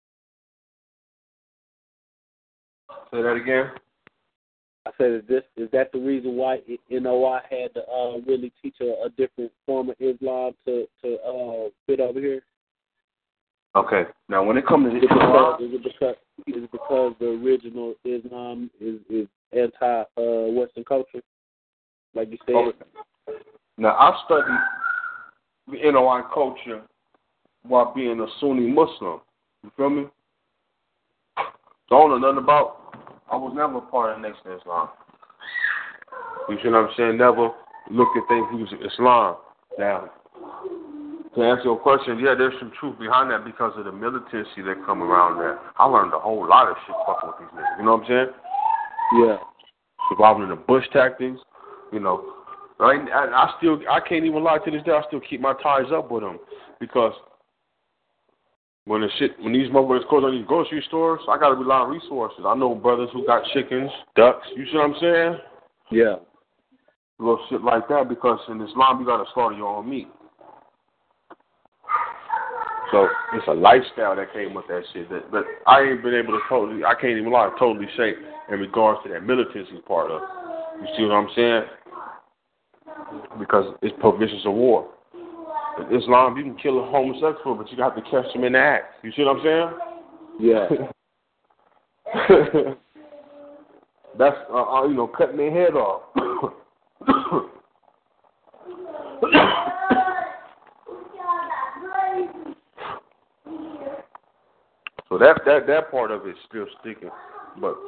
Say that again. I said, is that the reason why I had to really teach a different form of Islam to fit over here? Okay. Now, when it comes to Islam, is it because the original Islam is anti-Western culture, like you said? Okay. Now, I studied the NOI culture while being a Sunni Muslim. You feel me? Don't know nothing about. I was never a part of the Nation of Islam. You see what I'm saying? Never looked at things using Islam. Now, to answer your question, yeah, there's some truth behind that because of the militancy that come around there. I learned a whole lot of shit fucking with these niggas. You know what I'm saying? Yeah. Involved in the Bush tactics, I can't even lie to this day. I still keep my ties up with them because when these motherfuckers close on these grocery stores, I got to rely on resources. I know brothers who got chickens, ducks. You see what I'm saying? Yeah. Little shit like that because in Islam you got to slaughter your own meat. So it's a lifestyle that came with that shit. But I ain't been able to I can't even lie, totally say in regards to that militancy part of it. You see what I'm saying? Because it's provisions of war. In Islam, you can kill a homosexual, but you have to catch them in the act. You see what I'm saying? Yeah. That's, cutting their head off. So that part of it is still sticking. But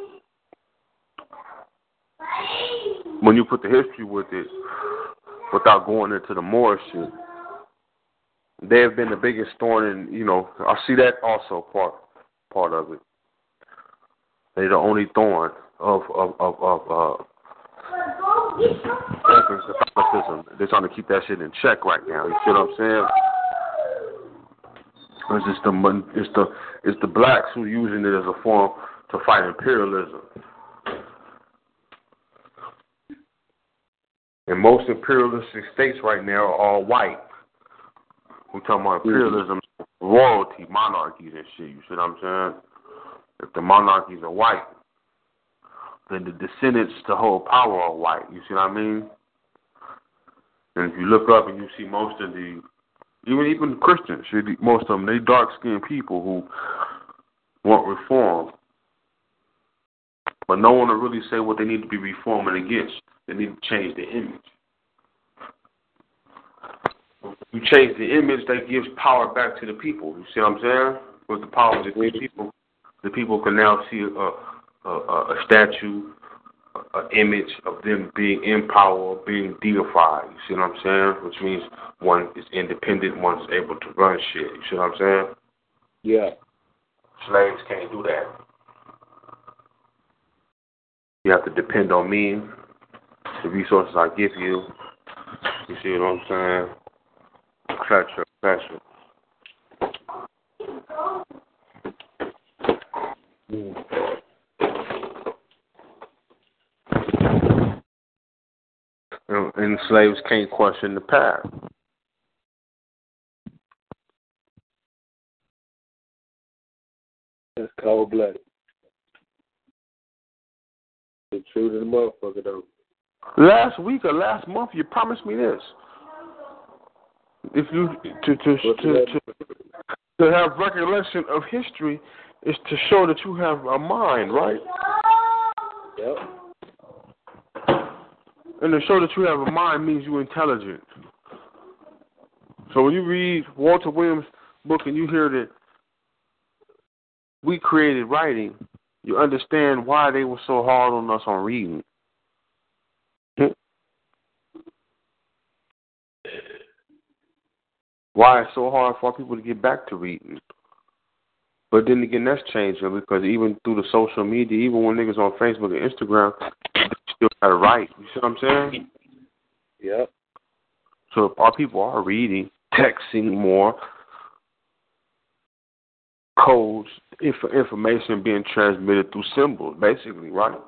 when you put the history with it, without going into the more shit, they have been the biggest thorn in, I see that also part of it. They're the only thorn of Catholicism. They're trying to keep that shit in check right now. You see what I'm saying? It's the blacks who are using it as a form to fight imperialism. And most imperialistic states right now are all white. We're talking about imperialism, royalty, monarchies and shit. You see what I'm saying? If the monarchies are white, then the descendants to hold power are white. You see what I mean? And if you look up and you see most of the, even Christians, most of them, they dark-skinned people who want reform. But no one will really say what they need to be reforming against. They need to change the image. You change the image, that gives power back to the people. You see what I'm saying? With the power of the people can now see a statue, an image of them being in power, being deified. You see what I'm saying? Which means one is independent, one is able to run shit. You see what I'm saying? Yeah. Slaves can't do that. You have to depend on me, the resources I give you. You see what I'm saying? Etc. And slaves can't question the past. That's cold-blooded. It's true to the motherfucker, though. Last week or last month, you promised me this. If you to have recollection of history is to show that you have a mind, right? Yep. And to show that you have a mind means you're intelligent. So when you read Walter Williams' book and you hear that we created writing, you understand why they were so hard on us on reading. Why it's so hard for people to get back to reading. But then again, that's changing because even through the social media, even when niggas on Facebook and Instagram, they still gotta write. You see what I'm saying? Yep. So if our people are reading, texting more, codes, information being transmitted through symbols, basically, right?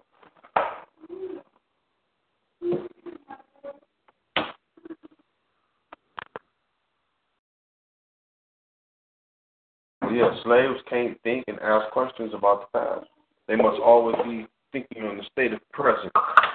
Yeah, slaves can't think and ask questions about the past. They must always be thinking on the state of present.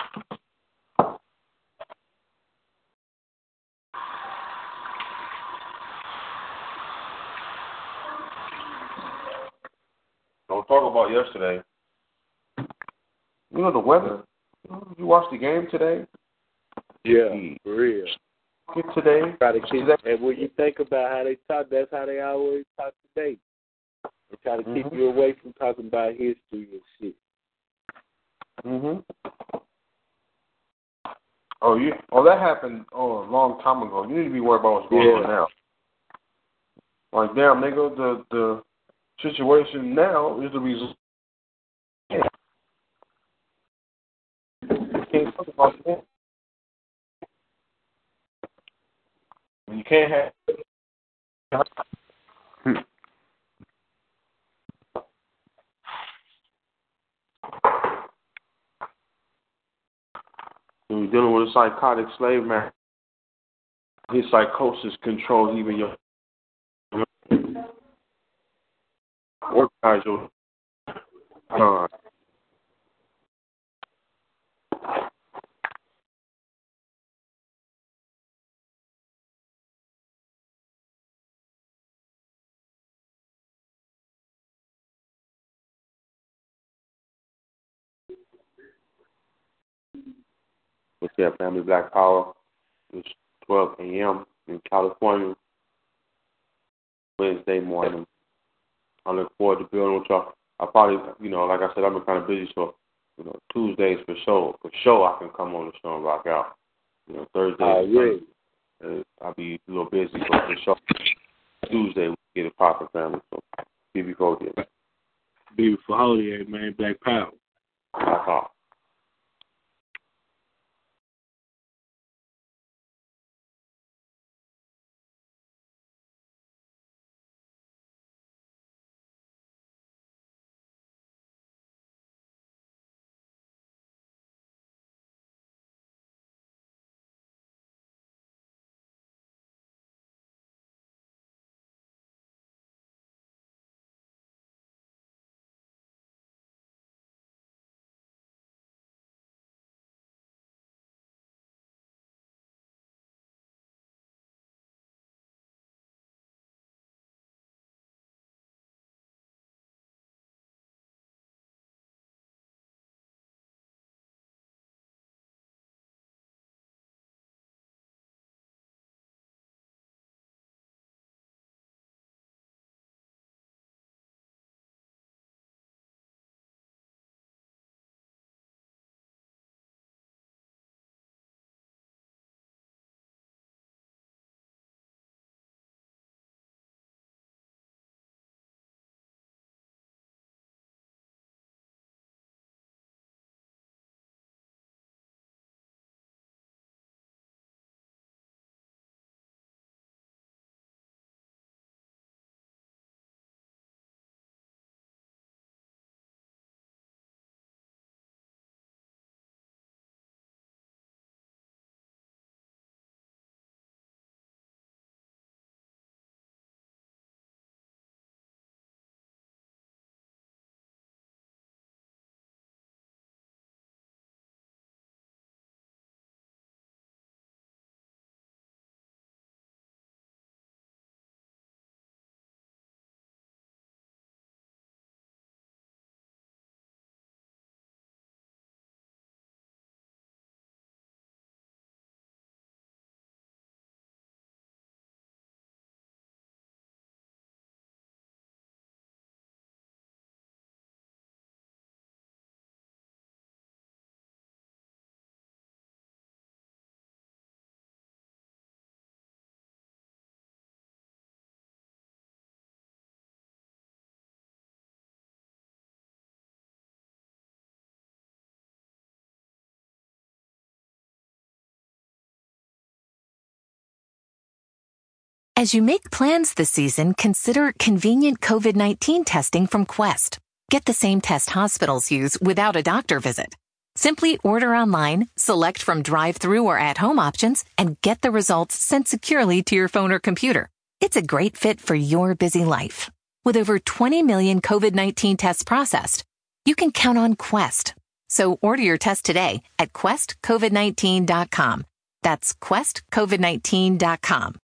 Don't talk about yesterday. You know the weather? You watched the game today? Yeah, for real. Today? And when you think about how they talk, that's how they always talk today. They try to keep you away from talking about history and shit. Oh, that happened a long time ago. You need to be worried about what's going on now. Like, damn, nigga, the situation now is the result. You can't talk about that. You can't have. When you're dealing with a psychotic slave man, his psychosis controls even your organize your with their Family Black Power. It's 12 a.m. in California, Wednesday morning. I look forward to building with y'all. I probably, like I said, I've been kind of busy, so, Tuesdays for sure I can come on the show and rock out. Thursdays, I'll be a little busy, but for sure, Tuesday we get a proper family, so be before then. Beautiful holiday, man, Black Power. Black Power. As you make plans this season, consider convenient COVID-19 testing from Quest. Get the same test hospitals use without a doctor visit. Simply order online, select from drive-through or at-home options, and get the results sent securely to your phone or computer. It's a great fit for your busy life. With over 20 million COVID-19 tests processed, you can count on Quest. So order your test today at questcovid19.com. That's questcovid19.com.